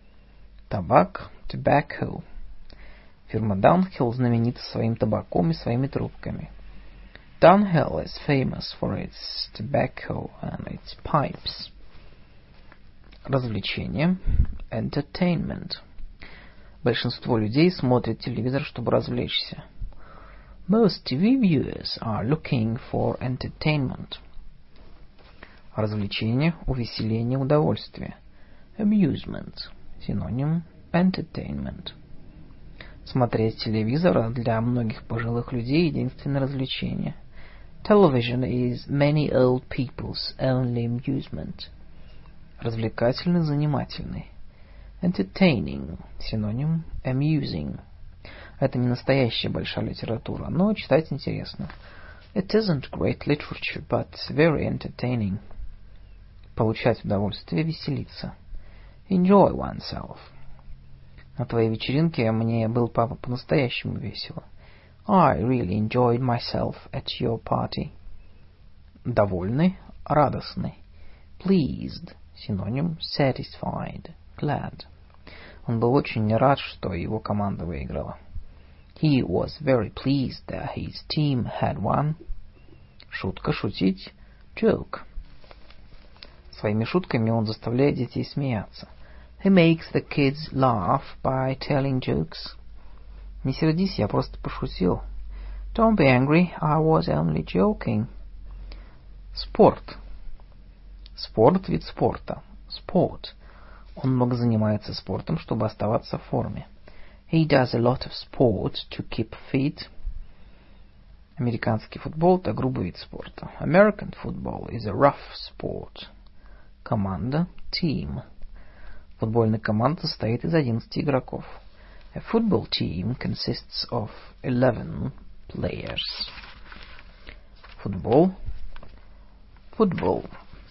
Табак. Tobacco. Фирма Dunhill знаменита своим табаком и своими трубками. Dunhill is famous for its tobacco and its pipes. Развлечение. Entertainment. Большинство людей смотрят телевизор, чтобы развлечься. Most TV viewers are looking for entertainment. Развлечение, увеселение, удовольствие. Amusement. Синоним entertainment. Смотреть телевизор для многих пожилых людей единственное развлечение. Television is many old people's only amusement. Развлекательный, занимательный. Entertaining. Синоним amusing. Это не настоящая большая литература, но читать интересно. It isn't great literature, but very entertaining. Получать удовольствие, веселиться. Enjoy oneself. На твоей вечеринке мне было по-настоящему весело. I really enjoyed myself at your party. Довольный, радостный. Pleased. Синоним satisfied, glad. Он был очень рад, что его команда выиграла. He was very pleased that his team had won. Шутка, шутить. Joke. Своими шутками он заставляет детей смеяться. He makes the kids laugh by telling jokes. Не сердись, я просто пошутил. Don't be angry, I was only joking. Спорт. Спорт — вид спорта. Sport. Он много занимается спортом, чтобы оставаться в форме. He does a lot of sport to keep fit. Американский футбол — это грубый вид спорта. American football is a rough sport. Команда — team. Футбольная команда состоит из 11 игроков. A football team consists of 11 players. Футбол. Football.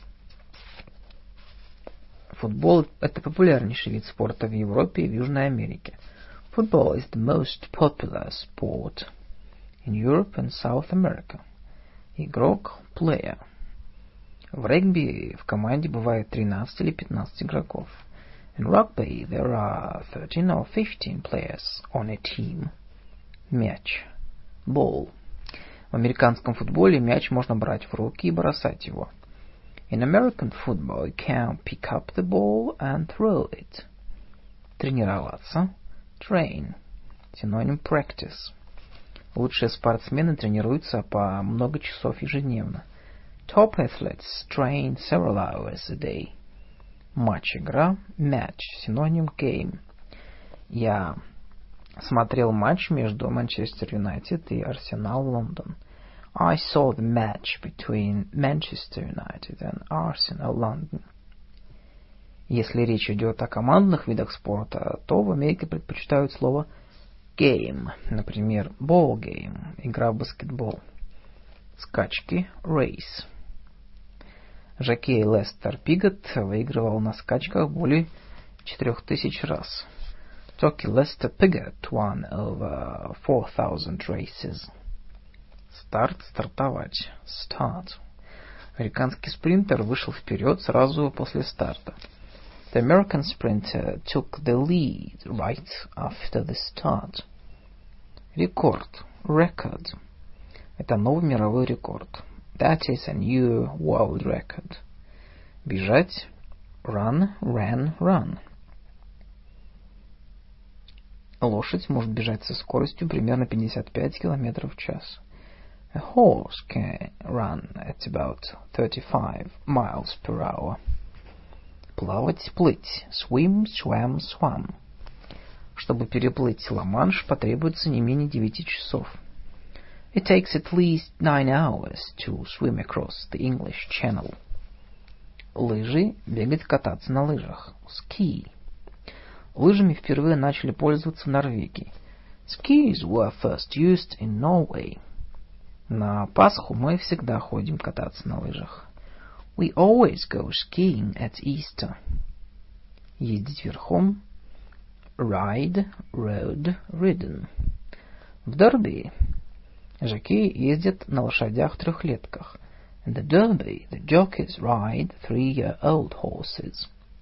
Футбол — это популярнейший вид спорта в Европе и в Южной Америке. Football is the most popular sport in Europe and South America. Игрок — player. В регби в команде бывает 13 или 15 игроков. In rugby there are 13 or 15 players on a team. Мяч. Ball. В американском футболе мяч можно брать в руки и бросать его. In American football you can pick up the ball and throw it. Тренироваться. Train. Синоним practice. Лучшие спортсмены тренируются по много часов ежедневно. Top athletes train several hours a day. Матч, игра. Match. Синоним game. Я смотрел матч между Манчестер Юнайтед и Арсенал Лондон. I saw the match between Manchester United and Arsenal London. Если речь идет о командных видах спорта, то в Америке предпочитают слово game. Например, ball game, игра в баскетбол. Скачки, race. Жокей Лестер Пигот выигрывал на скачках более 4000 раз. Jockey Lester Piggott won over 4000 races. Старт, стартовать. Start. Американский спринтер вышел вперед сразу после старта. The American sprinter took the lead right after the start. Рекорд. Record. Это новый мировой рекорд. That is a new world record. Бежать. Run, ran, run. Лошадь может бежать со скоростью примерно 55 км в час. A horse can run at about 35 miles per hour. Плавать, плыть. Swim, swam, swam. Чтобы переплыть Ла-Манш, потребуется не менее 9 часов. It takes at least 9 hours to swim across the English Channel. Лыжи, бегать, кататься на лыжах. Ski. Лыжами впервые начали пользоваться в Норвегии. Skis were first used in Norway. На Пасху мы всегда ходим кататься на лыжах. We always go skiing at Easter. Ездить верхом. Ride, rode, ridden. В Дерби жокеи ездят на лошадях-трехлетках. In the Derby, the jockeys ride 3-year-old horses.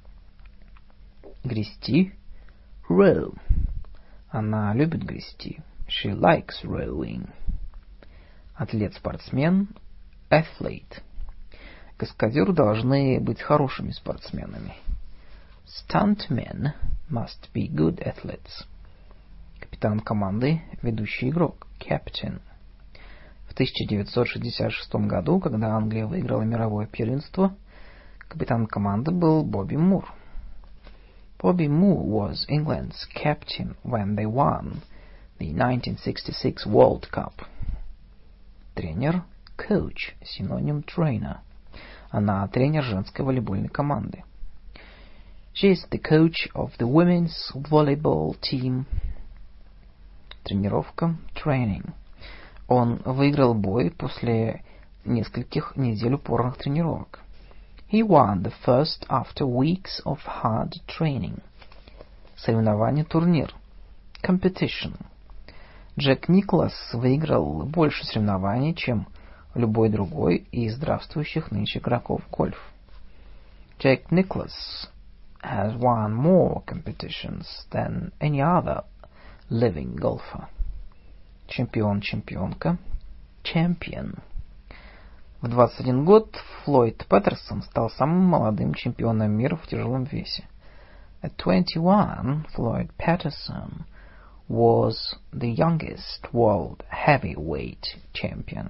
Грести. Row. Она любит грести. She likes rowing. Атлет-спортсмен. Athlete. Каскадеры должны быть хорошими спортсменами. Stuntmen must be good athletes. Капитан команды, ведущий игрок. Captain. В 1966 году, когда Англия выиграла мировое первенство, капитан команды был Бобби Мур. Bobby Moore was England's captain when they won the 1966 World Cup. Тренер. Coach. Синоним trainer. Она тренер женской волейбольной команды. She is the coach of the women's volleyball team. Тренировка. Training. Он выиграл бой после нескольких недель упорных тренировок. He won the first after weeks of hard training. Соревнование, турнир. Competition. Джек Николас выиграл больше соревнований, чем любой другой из здравствующих нынче игроков в гольф. Jack Nicklaus has won more competitions than any other living golfer. Чемпион-чемпионка. Champion. В 21 год Флойд Паттерсон стал самым молодым чемпионом мира в тяжелом весе. At 21, Floyd Patterson was the youngest world heavyweight champion.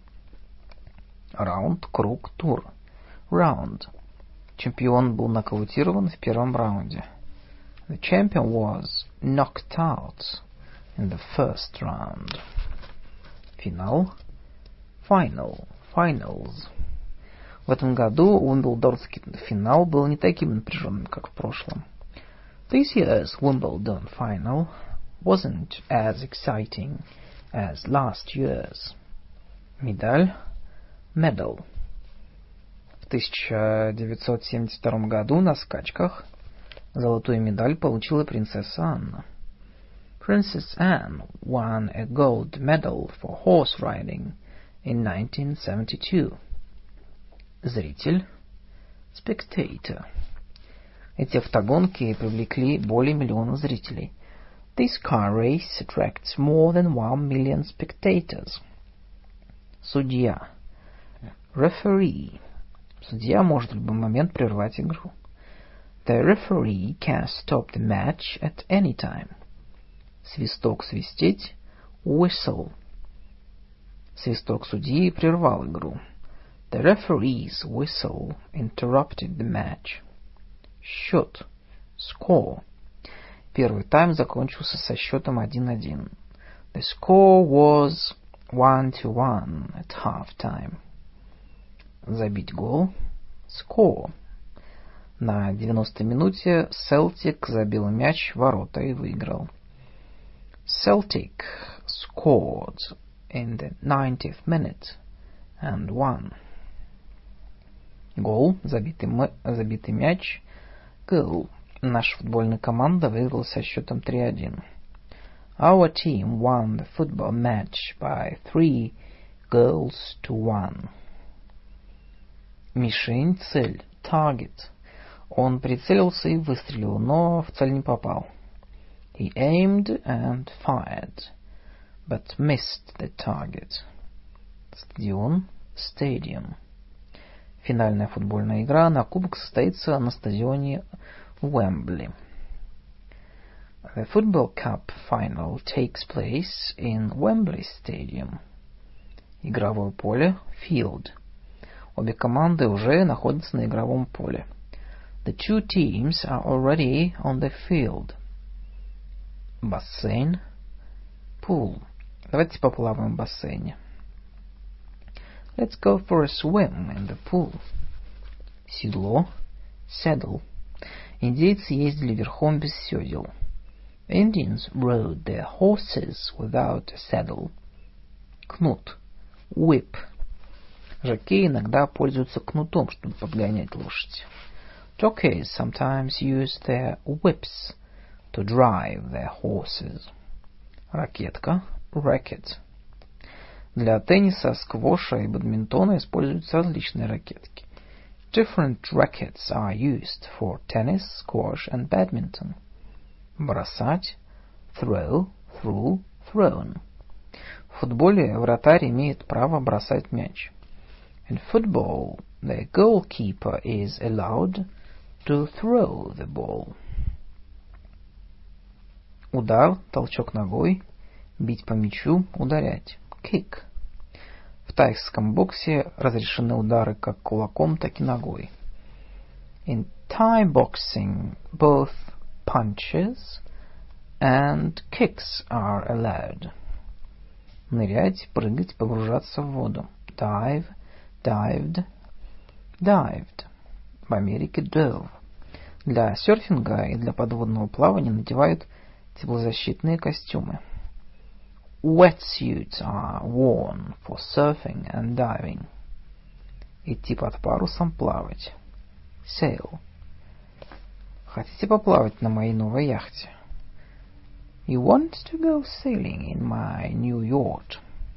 Раунд, круг, тур. Round. Чемпион был нокаутирован в первом раунде. The champion was knocked out in the first round. Финал. Final. Finals. В этом году Уимблдонский финал был не таким напряженным, как в прошлом. This year's Wimbledon final wasn't as exciting as last year's. Медаль. Medal. В 1972 году на скачках золотую медаль получила принцесса Анна. Princess Anne won a gold medal for horse riding in 1972. Зритель. Spectator. Эти автогонки привлекли более миллиона зрителей. This car race attracts more than 1 million spectators. Судья. Referee. Судья может в любой момент прервать игру. The referee can stop the match at any time. Свисток свистеть. Whistle. Свисток судьи прервал игру. The referee's whistle interrupted the match. Счет. Score. Первый тайм закончился со счетом 1-1. The score was 1-1 at half-time. Забить гол. Score. На 90-й минуте Celtic забил мяч в ворота и выиграл. Celtic scored in the 90th minute and won. Гол, забитый мяч. Goal. Наша футбольная команда выиграла со счетом 3-1. Our team won the football match by 3-1. Мишень, цель. Target. Он прицелился и выстрелил, но в цель не попал. He aimed and fired, but missed the target. Стадион. Stadium. Финальная футбольная игра на кубок состоится на стадионе Уэмбли. The Football Cup final takes place in Wembley Stadium. Игровое поле. Field. Обе команды уже находятся на игровом поле. The two teams are already on the field. Бассейн. Pool. Давайте поплаваем в бассейне. Let's go for a swim in the pool. Седло. Saddle. Индейцы ездили верхом без седел. Indians rode their horses without a saddle. Кнут. Whip. Жокеи иногда пользуются кнутом, чтобы подгонять лошадь. Jockeys sometimes use their whips to drive their horses. Ракетка. Racket. Для тенниса, сквоша и бадминтона используются различные ракетки. Different rackets are used for tennis, squash and badminton. Бросать. Throw, threw, thrown. В футболе вратарь имеет право бросать мяч. In football, the goalkeeper is allowed to throw the ball. Удар, толчок ногой, бить по мячу, ударять. Kick. В тайском боксе разрешены удары как кулаком, так и ногой. In Thai boxing, both punches and kicks are allowed. Нырять, прыгать, погружаться в воду. Dive, dived, dived. В Америке dove. Для серфинга и для подводного плавания надевают теплозащитные костюмы. Wetsuits are worn for surfing and diving. Идти под парусом, плавать. Sail. Хотите поплавать на моей новой яхте? You want to go sailing in my new yacht?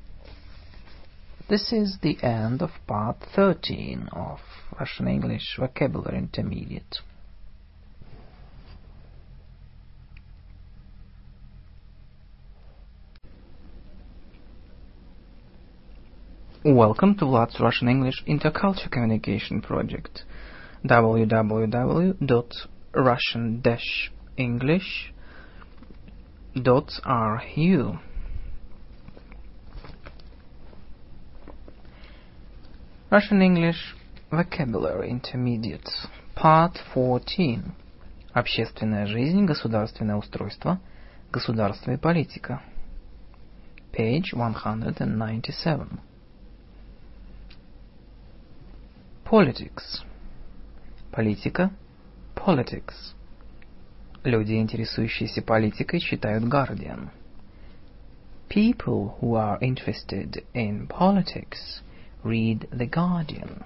This is the end of part 13 of Russian English Vocabulary Intermediate. Welcome to Vlad's Russian English Intercultural Communication Project. www.russian-english.ru. Russian English Vocabulary Intermediate. Part 14. Общественная жизнь, государственное устройство, государство и политика. Page 197. Politics. Политика. Politics. Люди, интересующиеся политикой, читают Guardian. People who are interested in politics read The Guardian.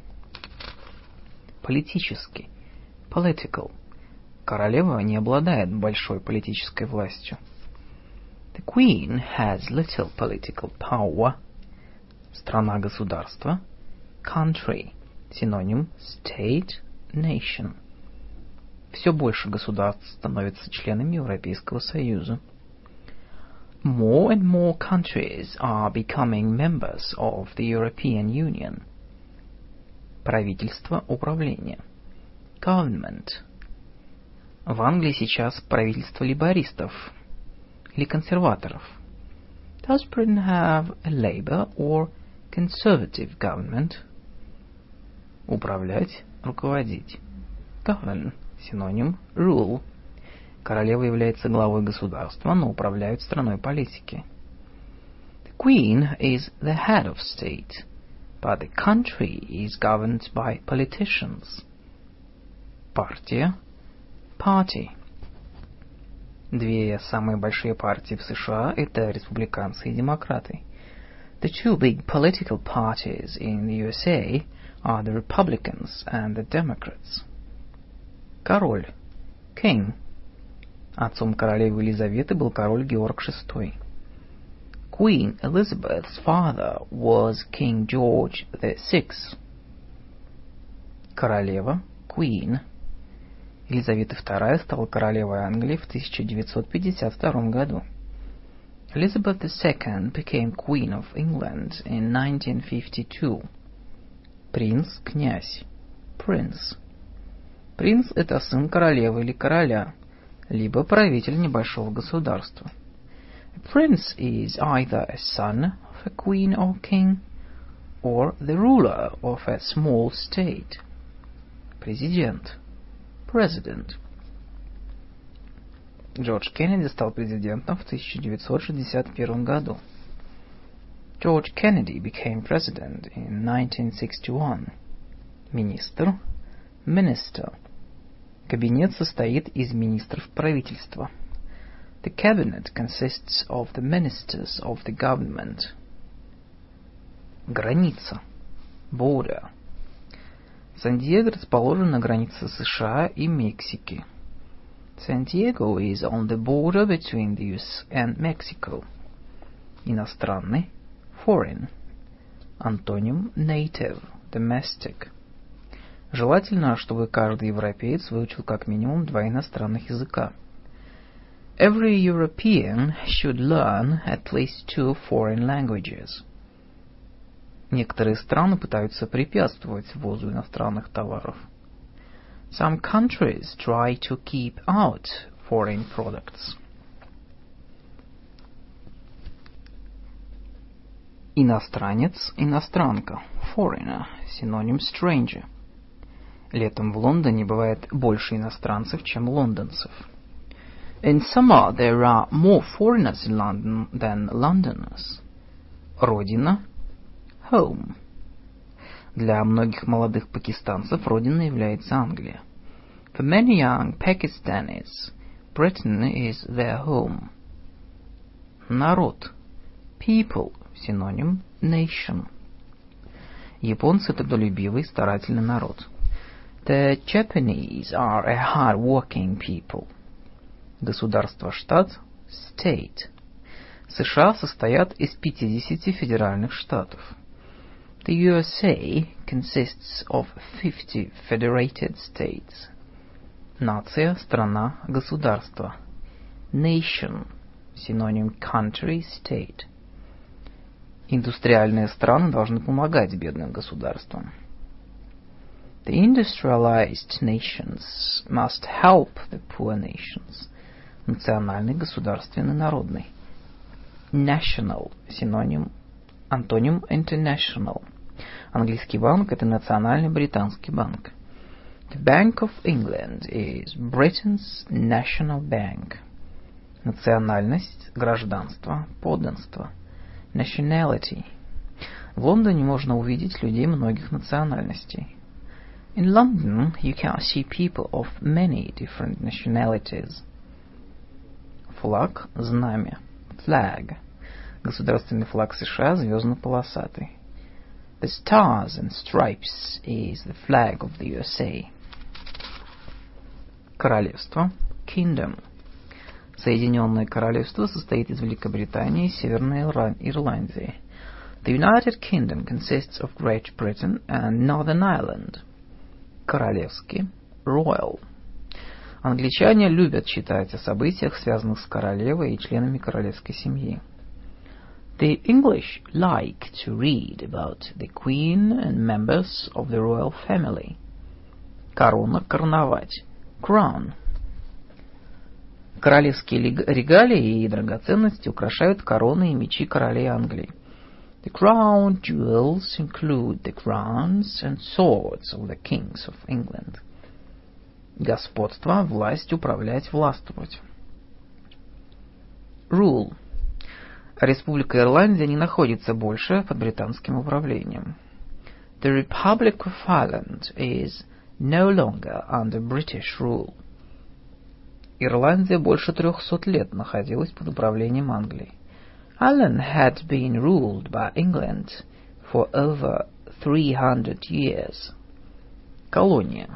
Политический. Political. Королева не обладает большой политической властью. The Queen has little political power. Страна-государство. Country. Синоним state, nation. Все больше государств становятся членами Европейского Союза. More and more countries are becoming members of the European Union. Правительство, управление. Government. В Англии сейчас правительство лейбористов или консерваторов. Does Britain have a Labour or Conservative government? Управлять, руководить. Govern. Синоним rule. Королева является главой государства, но управляет страной политики. The Queen is the head of state, but the country is governed by politicians. Партия. Party. Две самые большие партии в США – это республиканцы и демократы. The two big political parties in the USA are the Republicans and the Democrats. Король. King. Отцом королевы Елизаветы был король Георг VI. Queen Elizabeth's father was King George VI. Королева. Queen. Елизавета II стала королевой Англии в 1952 году. Elizabeth II became Queen of England in 1952. Принц, князь. Prince. Принц – это сын королевы или короля, либо правитель небольшого государства. A prince is either a son of a queen or king, or the ruler of a small state. Президент. President. Джордж Кеннеди стал президентом в 1961 году. George Kennedy became president in 1961. Министр. Minister. Кабинет состоит из министров правительства. The cabinet consists of the ministers of the government. Граница. Border. Сан-Диего расположен на границе США и Мексики. San Diego is on the border between the US and Mexico. Иностранный. Foreign. Антоним native, domestic. Желательно, чтобы каждый европеец выучил как минимум 2 иностранных языка. Every European should learn at least 2 foreign languages. Некоторые страны пытаются препятствовать ввозу иностранных товаров. Some countries try to keep out foreign products. Иностранец, иностранка. Foreigner. Синоним stranger. Летом в Лондоне бывает больше иностранцев, чем лондонцев. In summer there are more foreigners in London than Londoners. Родина. Home. Для многих молодых пакистанцев родиной является Англия. For many young Pakistanis, Britain is their home. Народ. People. Синоним nation. Японцы – трудолюбивый, старательный народ. The Japanese are a hard-working people. Государство, штат, state. США состоят из 50 федеральных штатов. The USA consists of 50 federated states. Нация, страна, государство. Nation. Синоним country, state. Индустриальные страны должны помогать бедным государствам. The industrialized nations must help the poor nations. Национальный, государственный, народный. National антоним international. Английский банк – это национальный британский банк. The Bank of England is Britain's national bank. Национальность, гражданство, подданство. Nationality. В Лондоне можно увидеть людей многих национальностей. In London, you can see people of many different nationalities. Флаг, знамя. Flag. Государственный флаг США звездно-полосатый. The Stars and Stripes is the flag of the USA. Королевство. Kingdom. Соединенное Королевство состоит из Великобритании и Северной Ирландии. The United Kingdom consists of Great Britain and Northern Ireland. Королевский. Royal. Англичане любят читать о событиях, связанных с королевой и членами королевской семьи. The English like to read about the Queen and members of the royal family. Корона, короновать. Crown. Королевские регалии и драгоценности украшают короны и мечи королей Англии. The crown jewels include the crowns and swords of the kings of England. Господство, власть, управлять, властвовать. Rule. Республика Ирландия не находится больше под британским управлением. The Republic of Ireland is no longer under British rule. Ирландия больше 300 лет находилась под управлением Англии. Ireland had been ruled by England for over 300 years. Колония.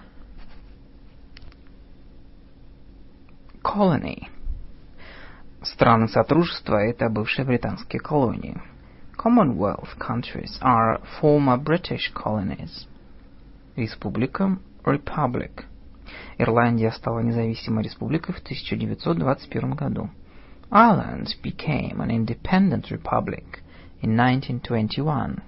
Colony. Страны Содружества – это бывшие британские колонии. Commonwealth countries are former British colonies. Республика – Republic. Ирландия стала независимой республикой в 1921 году. Ireland became an independent republic in 1921.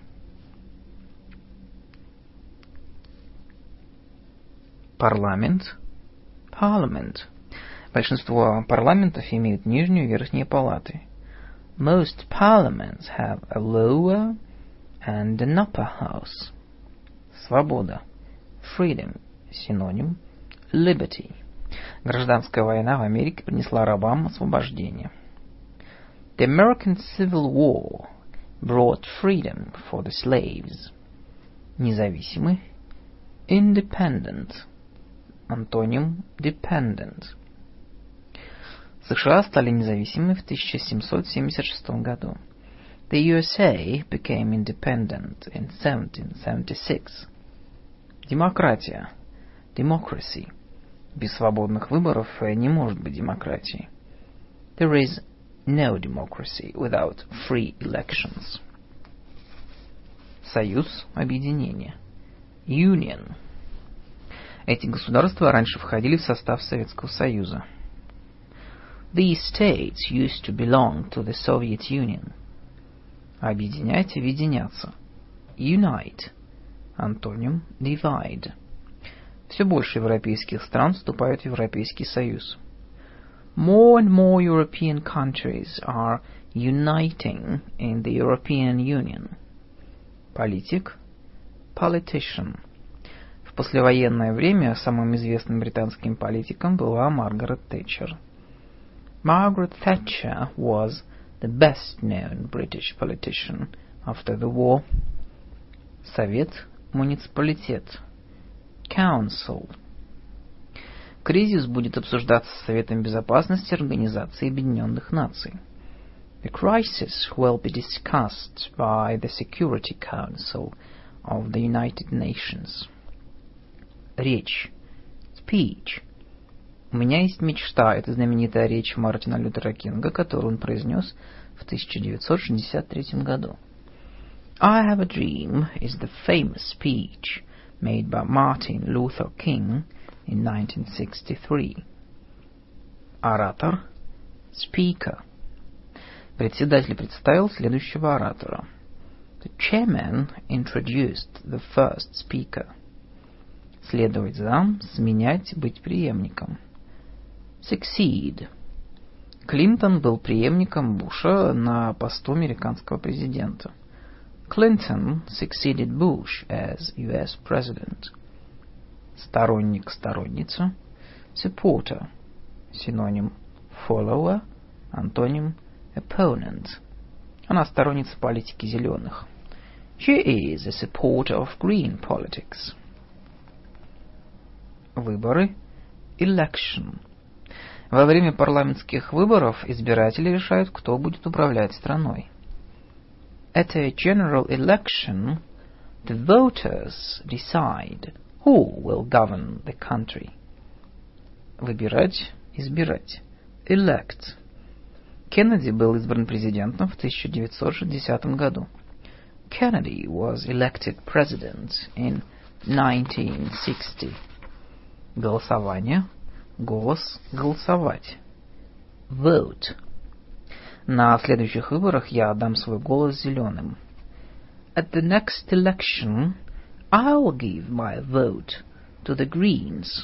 Парламент. Parliament. Большинство парламентов имеют нижнюю и верхние палаты. Most parliaments have a lower and an upper house. Свобода. Freedom. Синоним. Liberty. Гражданская война в Америке принесла рабам освобождение. The American Civil War brought freedom for the slaves. Независимый. Independent. Антоним. Dependent. США стали независимыми в 1776 году. The USA became independent in 1776. Демократия. Democracy. Без свободных выборов не может быть демократии. There is no democracy without free elections. Союз, объединение. Union. Эти государства раньше входили в состав Советского Союза. These states used to belong to the Soviet Union. Объединять, объединяться. Unite. Антоним. Divide. Все больше европейских стран вступают в Европейский Союз. More and more European countries are uniting in the European Union. Политик. Politician. В послевоенное время самым известным британским политиком была Маргарет Тэтчер. Margaret Thatcher was the best-known British politician after the war. Совет, муниципалитет. Council. Кризис будет обсуждаться Советом Безопасности Организации Объединенных Наций. The crisis will be discussed by the Security Council of the United Nations. Речь. Speech. У меня есть мечта. Это знаменитая речь Мартина Лютера Кинга, которую он произнес в 1963 году. I have a dream is the famous speech made by Martin Luther King in 1963. Оратор. Speaker. Председатель представил следующего оратора. The chairman introduced the first speaker. Следовать за, сменять, быть преемником. Succeed. Клинтон был преемником Буша на посту американского президента. Clinton succeeded Bush as U.S. President. Сторонник, сторонница. Supporter. Синоним follower. Антоним opponent. Она сторонница политики зеленых. She is a supporter of green politics. Выборы. Election. Во время парламентских выборов избиратели решают, кто будет управлять страной. At a general election, the voters decide who will govern the country. Выбирать, избирать. Elect. Кеннеди был избран президентом в 1960 году. Kennedy was elected president in 1960. Голосование. Голос. Голосовать. Vote. На следующих выборах я отдам свой голос зеленым. At the next election, I'll give my vote to the Greens.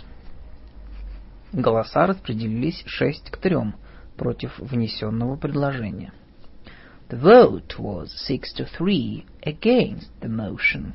Голоса распределились 6-3 против внесенного предложения. The vote was 6-3 against the motion.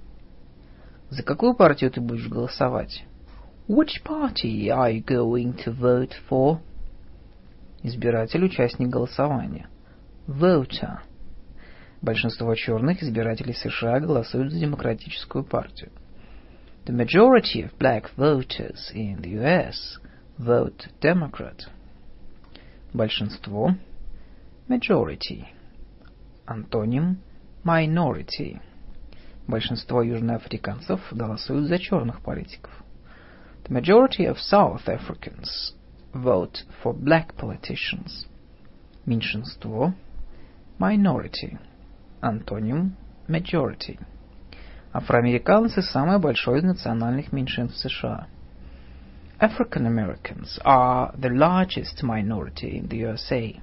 За какую партию ты будешь голосовать? Which party are you going to vote for? Избиратель, участник голосования. Voter. Большинство черных избирателей США голосуют за Демократическую партию. The majority of black voters in the U.S. vote Democrat. Большинство. Majority. Антоним minority. Большинство южноафриканцев голосуют за черных политиков. The majority of South Africans vote for black politicians. Меньшинство. Minority. Антоним majority. Афроамериканцы – самое большое из национальных меньшинств США. African Americans are the largest minority in the USA.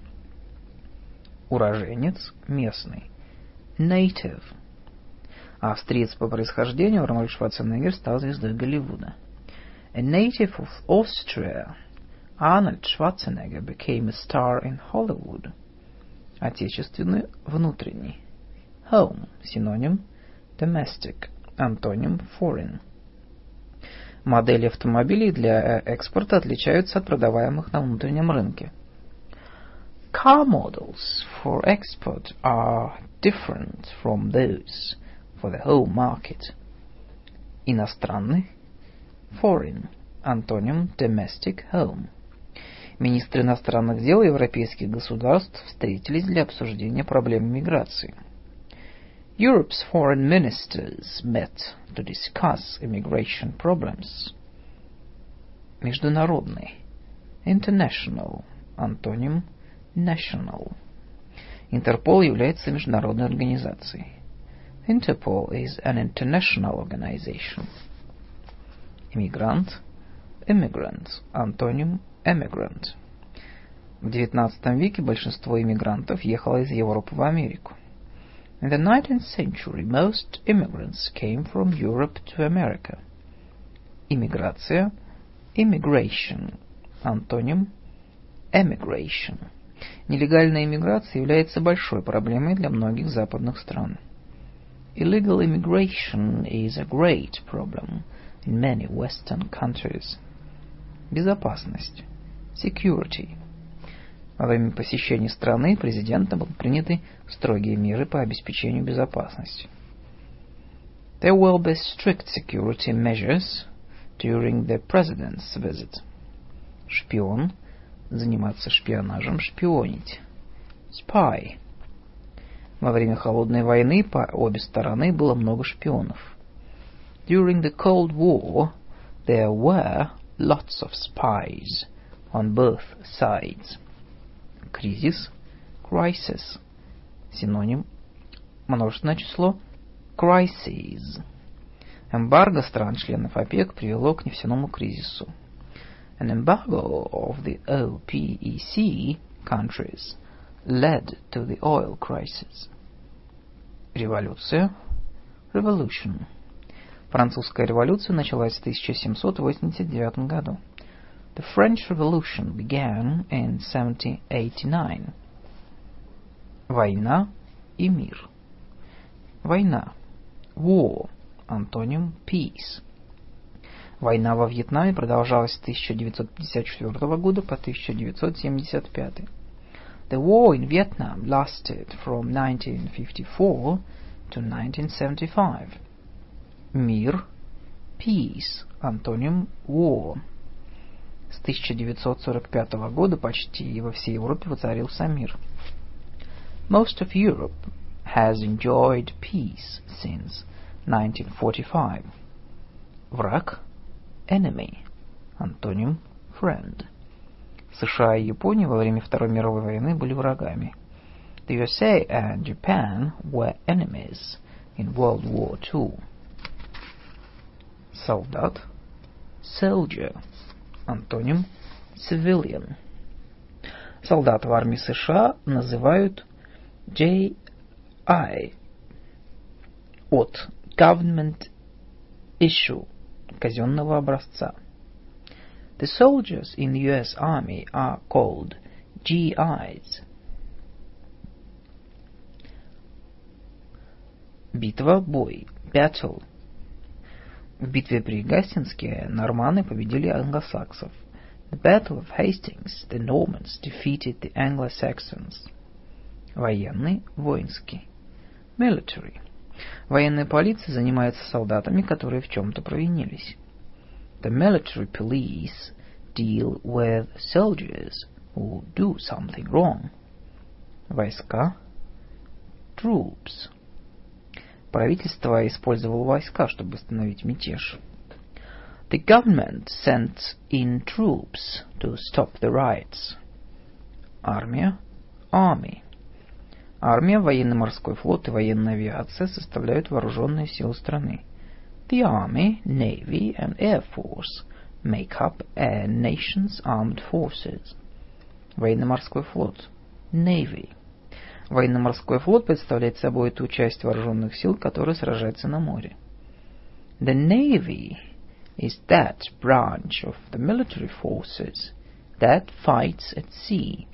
Уроженец – местный. Native. Австриец по происхождению Арнольд Шварценеггер стал звездой Голливуда. A native of Austria, Arnold Schwarzenegger became a star in Hollywood. Отечественный, внутренний. Home. Синоним domestic. Антоним foreign. Модели автомобилей для экспорта отличаются от продаваемых на внутреннем рынке. Car models for export are different from those for the home market. Иностранный. Foreign. Антоним domestic home. Министры иностранных дел европейских государств встретились для обсуждения проблем миграции. Europe's foreign ministers met to discuss immigration problems. Международный. International. Антоним national. Интерпол является международной организацией. Interpol is an international organization. Иммигрант. Immigrant. Антоним immigrant. В XIX веке большинство иммигрантов ехало из Европы в Америку. In the 19th century, most immigrants came from Europe to America. Иммиграция. Immigration. Антоним emigration. Нелегальная иммиграция является большой проблемой для многих западных стран. Illegal immigration is a great problem in many Western countries. Безопасность. Security. Во время посещения страны президентом были приняты строгие меры по обеспечению безопасности. There will be strict security measures during the president's visit. Шпион. Заниматься шпионажем, шпионить. Spy. Во время холодной войны по обе стороны было много шпионов. During the Cold War, there were lots of spies on both sides. Кризис. Crisis. Синоним. Множественное число. Crises. Эмбарго стран-членов ОПЕК привело к нефтяному кризису. An embargo of the OPEC countries led to the oil crisis. Революция. Revolution. Французская революция началась в 1789 году. The French Revolution began in 1789. Война и мир. Война. War. Антоним peace. Война во Вьетнаме продолжалась с 1954 года по 1975. The war in Vietnam lasted from 1954 to 1975. Мир. Peace. Антоним war. С 1945 года почти во всей Европе воцарился мир. Most of Europe has enjoyed peace since 1945. Враг. Enemy. Антоним friend. США и Япония во время Второй мировой войны были врагами. The USA and Japan were enemies in World War II. Солдат. Soldier. Антоним civilian. Солдат в армии США называют JI от Government Issue, казенного образца. The soldiers in the US Army are called GIs. Битва, бой, battle. В битве при Гастингсе норманы победили англосаксов. The Battle of Hastings, the Normans defeated the Anglo-Saxons. Военный, воинский. Military. Военная полиция занимается солдатами, которые в чем-то провинились. The military police deal with soldiers who do something wrong. Войска. Troops. Правительство использовало войска, чтобы остановить мятеж. The government sent in troops to stop the riots. Армия. Army. Армия, военно-морской флот и военная авиация составляют вооруженные силы страны. The Army, Navy and Air Force make up a nation's armed forces. Военно-морской флот. Navy. Военно-морской флот представляет собой ту часть вооруженных сил, которая сражается на море. The Navy is that branch of the military forces that fights at sea.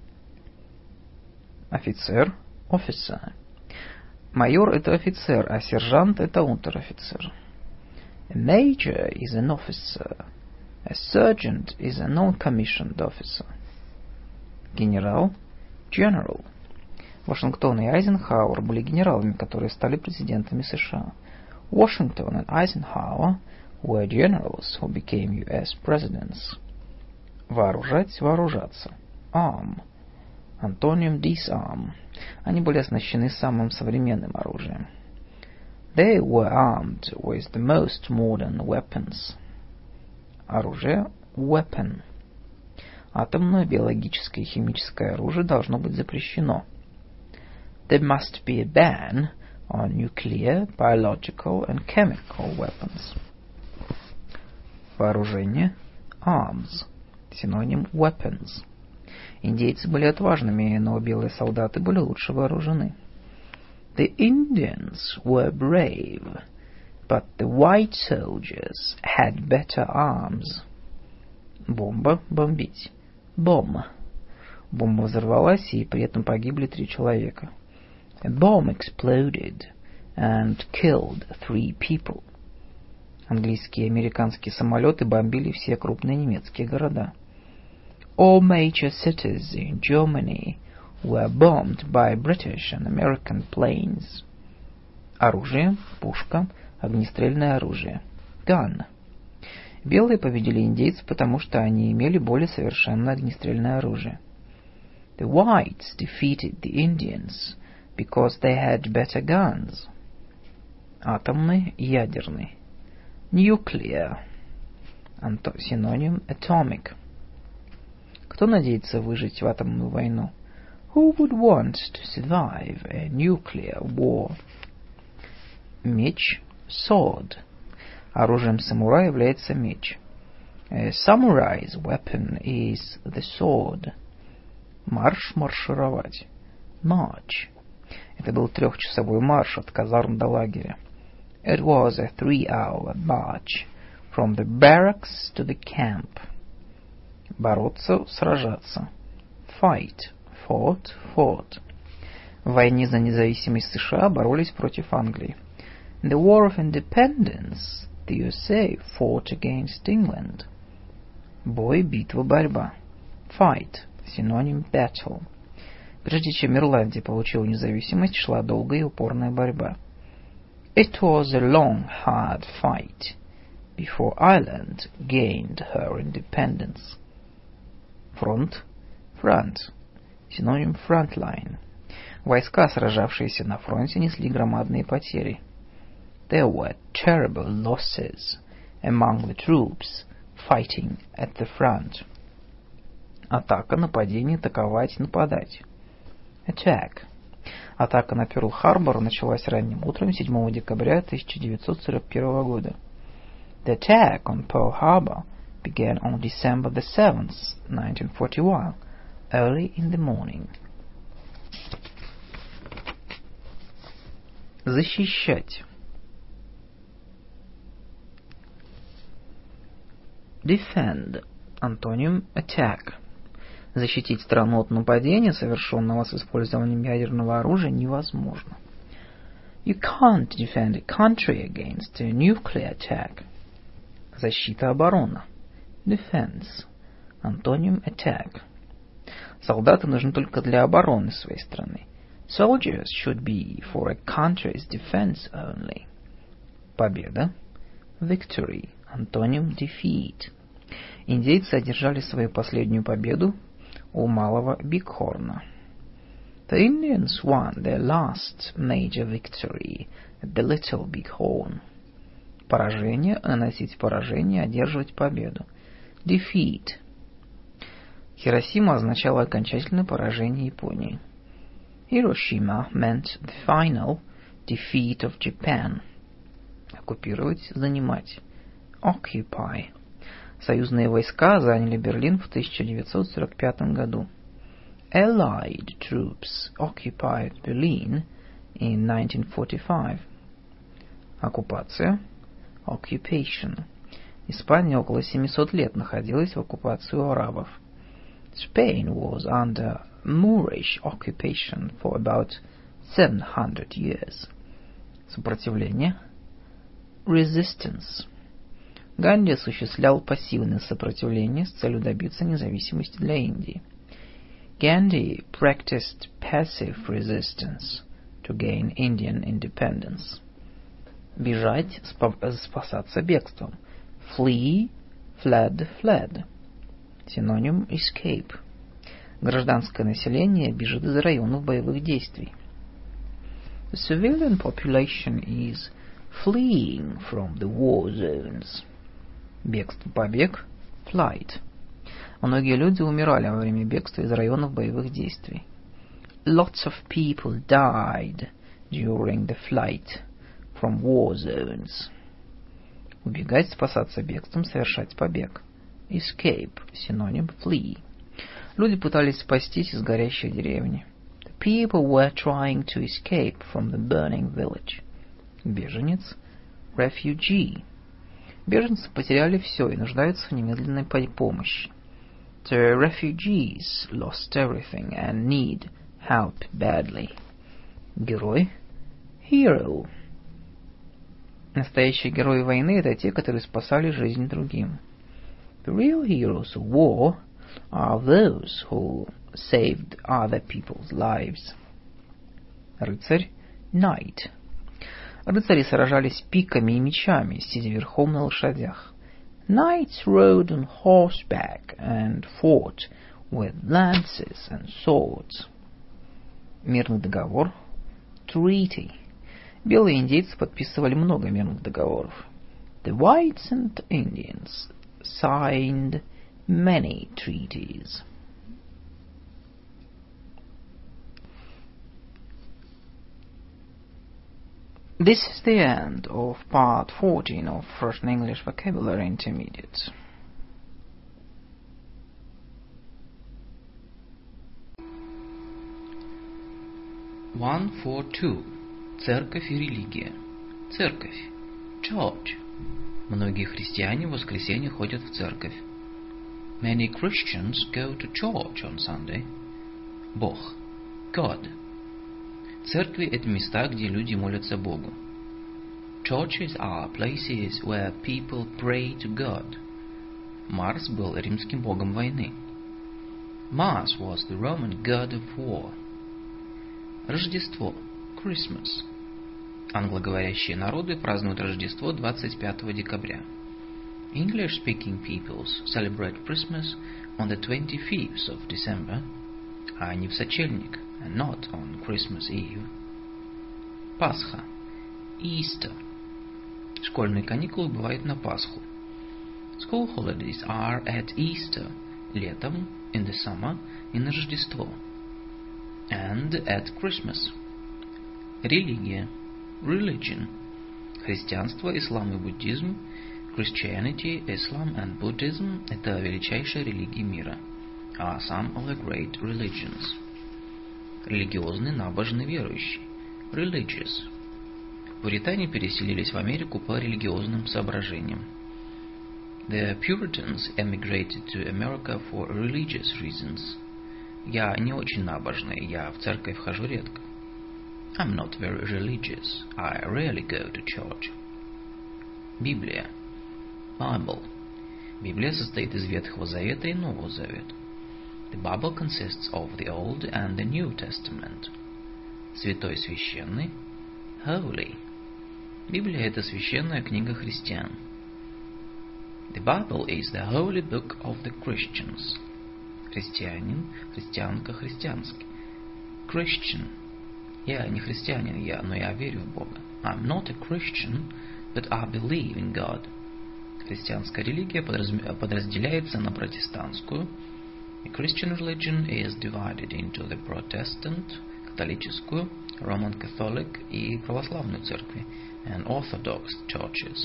Офицер. Officer. Майор – это офицер, а сержант – это унтер-офицер. A major is an officer. A sergeant is a non-commissioned officer. Генерал. General. Вашингтон и Айзенхауэр были генералами, которые стали президентами США. Washington and Eisenhower were generals who became U.S. presidents. Вооружать, вооружаться. Arm. Антоним disarm. Они были оснащены самым современным оружием. They were armed with the most modern weapons. Оружие. Weapon. Атомное, биологическое и химическое оружие должно быть запрещено. There must be a ban on nuclear, biological and chemical weapons. Вооружение. Arms. Синоним weapons. Индейцы были отважными, но белые солдаты были лучше вооружены. The Indians were brave, but the white soldiers had better arms. Бомба. Бомбить. Bomb. Бомба взорвалась, и при этом погибли 3 человека. A bomb exploded and killed 3 people. Английские и американские самолеты бомбили все крупные немецкие города. All major cities in Germany were bombed by British and American planes. Оружие. Пушка. Огнестрельное оружие. Gun. Белые победили индейцев, потому что они имели более совершенное огнестрельное оружие. The whites defeated the Indians because they had better guns. Атомный, ядерный. Nuclear. Синоним atomic. Кто надеется выжить в атомную войну? Who would want to survive a nuclear war? Меч. Sword. Оружием самурая является меч. A samurai's weapon is the sword. Марш, маршировать. March. Это был 3-часовой марш от казарм до лагеря. It was a 3-hour march from the barracks to the camp. Бороться, сражаться. Fight, fought, fought. В войне за независимость США боролись против Англии. In the War of Independence, the USA fought against England. Бой, битва, борьба. Fight, синоним battle. Прежде чем Ирландия получила независимость, шла долгая и упорная борьба. It was a long, hard fight before Ireland gained her independence. Фронт, front, синоним frontline. Войска, сражавшиеся на фронте, несли громадные потери. There were terrible losses among the troops fighting at the front. Атака, нападение, атаковать, нападать. Attack. Атака на Пёрл-Харбор началась ранним утром 7 декабря 1941 года. The attack on Pearl Harbor began on December the 7th, 1941, early in the morning. Защищать. Defend. Антоним attack. Защитить страну от нападения, совершенного с использованием ядерного оружия, невозможно. You can't defend a country against a nuclear attack. Защита, оборона. Defense. Антоним attack. Солдаты нужны только для обороны своей страны. Soldiers should be for a country's defense only. Победа. Victory. Антоним defeat. Индейцы одержали свою последнюю победу у Малого Бигхорна. The Indians won their last major victory at the Little Bighorn. Поражение, наносить поражение, одерживать победу. Defeat. Хиросима означала окончательное поражение Японии. Hiroshima meant the final defeat of Japan. Оккупировать, занимать. Occupy. Союзные войска заняли Берлин в 1945 году. Allied troops occupied Berlin in 1945. Оккупация. Occupation. Испания около 700 лет находилась в оккупации у арабов. Spain was under Moorish occupation for about 700 years. Сопротивление. Resistance. Ганди осуществлял пассивное сопротивление с целью добиться независимости для Индии. Gandhi practiced passive resistance to gain Indian independence. Бежать, спасаться бегством. Flee, fled, fled. Синоним escape. Гражданское население бежит из районов боевых действий. The civilian population is fleeing from the war zones. Бегство, побег, flight. Многие люди умирали во время бегства из районов боевых действий. Lots of people died during the flight from war zones. Убегать, спасаться бегством, совершать побег. Escape, синоним flee. Люди пытались спастись из горящей деревни. The people were trying to escape from the burning village. Беженец, refugee. Беженцы потеряли все и нуждаются в немедленной помощи. The refugees lost everything and need help badly. Герой, hero. Настоящие герои войны — это те, которые спасали жизнь другим. The real heroes of war are those who saved other people's lives. Рыцарь, knight. Рыцари сражались пиками и мечами, сидя верхом на лошадях. Knights rode on horseback and fought with lances and swords. Мирный договор, treaty. Белые индейцы подписывали много мирных договоров. The whites and Indians signed many treaties. This is the end of part 14 of Russian English Vocabulary Intermediate. 142. Церковь и религия. Церковь. Church. Многие христиане в воскресенье ходят в церковь. Many Christians go to church on Sunday. Бог. God. Церкви – это места, где люди молятся Богу. Churches are places where people pray to God. Марс был римским богом войны. Mars was the Roman god of war. Рождество. Christmas. Англоговорящие народы празднуют Рождество 25 декабря. English-speaking peoples celebrate Christmas on the 25th of December, а не в сочельник, and not on Christmas Eve. Пасха. Easter. Школьные каникулы бывают на Пасху. School holidays are at Easter, летом, in the summer, и на Рождество. And at Christmas. Религия. Religion. Христианство, ислам и буддизм. Christianity, Islam and Buddhism – это величайшие религии мира. Are some of the great religions. Религиозный, набожный, верующий. Religious. Пуритане переселились в Америку по религиозным соображениям. The Puritans emigrated to America for religious reasons. Я не очень набожный, я в церковь хожу редко. I'm not very religious. I rarely go to church. Библия. Bible. Библия состоит из Ветхого Завета и Нового Завета. The Bible consists of the Old and the New Testament. Святой, священный. Holy. Библия – это священная книга христиан. The Bible is the holy book of the Christians. Христианин, христианка, христианский. Christian. Я не христианин, но я верю в Бога. I'm not a Christian, but I believe in God. Христианская религия подразделяется на протестантскую. The Christian religion is divided into the Protestant, католическую, Roman Catholic и православную церкви, and Orthodox churches.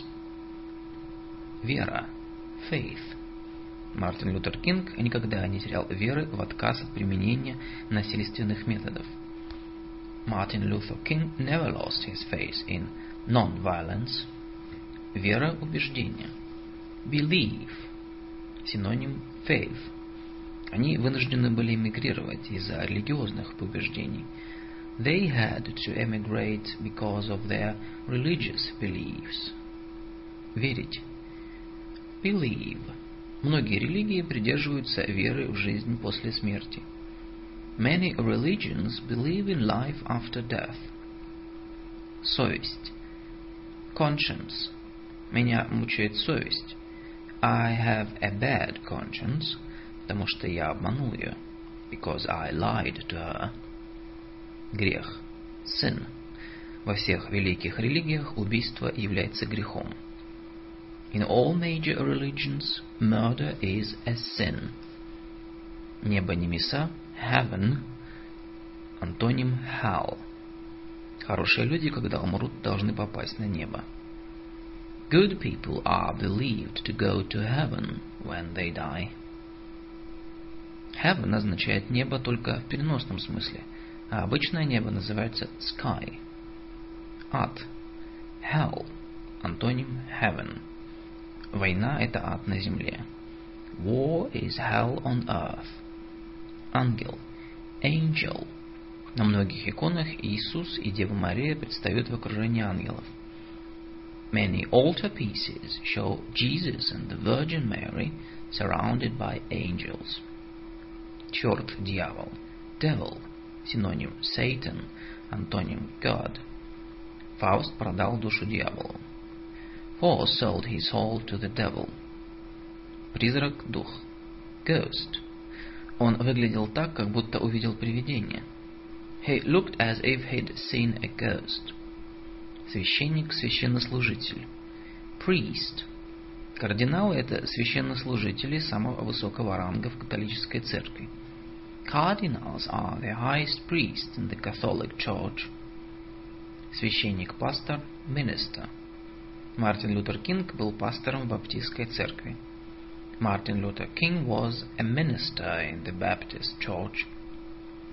Вера. Faith. Мартин Лютер Кинг никогда не терял веры в отказ от применения насильственных методов. Martin Luther King never lost his faith in non-violence. Вера, убеждение. Believe. Синоним faith. Они вынуждены были эмигрировать из-за религиозных убеждений. They had to emigrate because of their religious beliefs. Верить. Believe. Многие религии придерживаются веры в жизнь после смерти. Many religions believe in life after death. Совесть. Conscience. Меня мучает совесть. I have a bad conscience, потому что я обманул ее. Because I lied to her. Грех. Sin. Во всех великих религиях убийство является грехом. In all major religions, murder is a sin. Небо, небеса, heaven, антоним hell. Хорошие люди, когда умрут, должны попасть на небо. Good people are believed to go to heaven when they die. Heaven означает небо только в переносном смысле, а обычное небо называется sky. Ад. Hell. Антоним heaven. Война – это ад на земле. War is hell on earth. Ангел. Angel. На многих иконах Иисус и Дева Мария предстают в окружении ангелов. Many altar pieces show Jesus and the Virgin Mary surrounded by angels. Черт, дьявол. Devil. Синоним Satan, антоним God. Фауст продал душу дьяволу. Faust sold his soul to the devil. Призрак, дух. Ghost. Он выглядел так, как будто увидел привидение. He looked as if he'd seen a ghost. Священник, священнослужитель. Priest. Кардиналы – это священнослужители самого высокого ранга в католической церкви. Cardinals are the highest priests in the Catholic Church. Священник, пастор, minister. Мартин Лютер Кинг был пастором в баптистской церкви. Martin Luther King was a minister in the Baptist Church.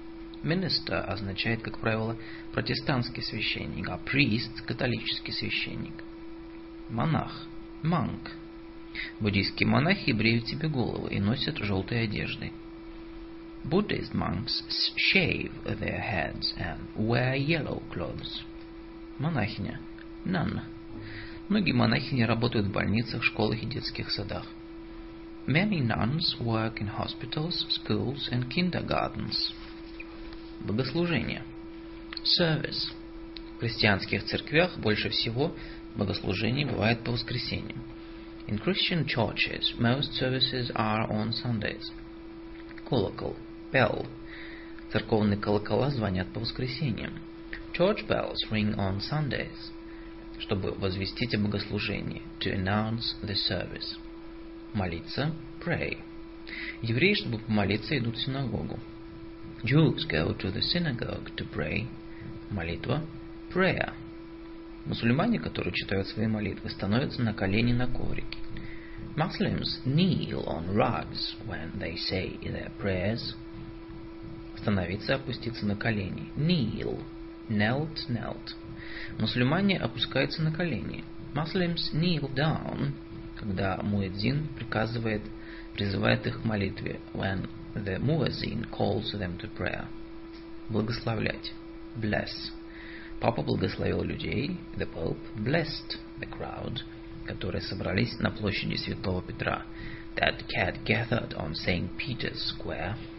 Minister означает, как правило, протестантский священник, а priest – католический священник. Монах – monk. Буддийские монахи бреют себе головы и носят желтые одежды. Buddhist monks shave their heads and wear yellow clothes. Монахиня – nun. Многие монахини работают в больницах, школах и детских садах. Many nuns work in hospitals, schools and kindergartens. Богослужение. Service. В христианских церквях больше всего богослужений бывает по воскресеньям. In Christian churches, most services are on Sundays. Колокол. Bell. Церковные колокола звонят по воскресеньям. Church bells ring on Sundays. Чтобы возвестить о богослужении. To announce the service. Молиться. Pray. Евреи, чтобы помолиться, идут в синагогу. Jews go to the synagogue to pray. Молитва. Prayer. Мусульмане, которые читают свои молитвы, становятся на колени на коврике. Muslims kneel on rugs when they say their prayers. Становиться, опуститься на колени. Kneel. Knelt, knelt. Мусульмане опускаются на колени. Muslims kneel down, когда муэдзин призывает их к молитве. When the muezzin calls them to prayer. Благословлять. Bless. Папа благословил людей. The Pope blessed the crowd, которые собрались на площади Святого Петра. That gathered on St. Peter's Square.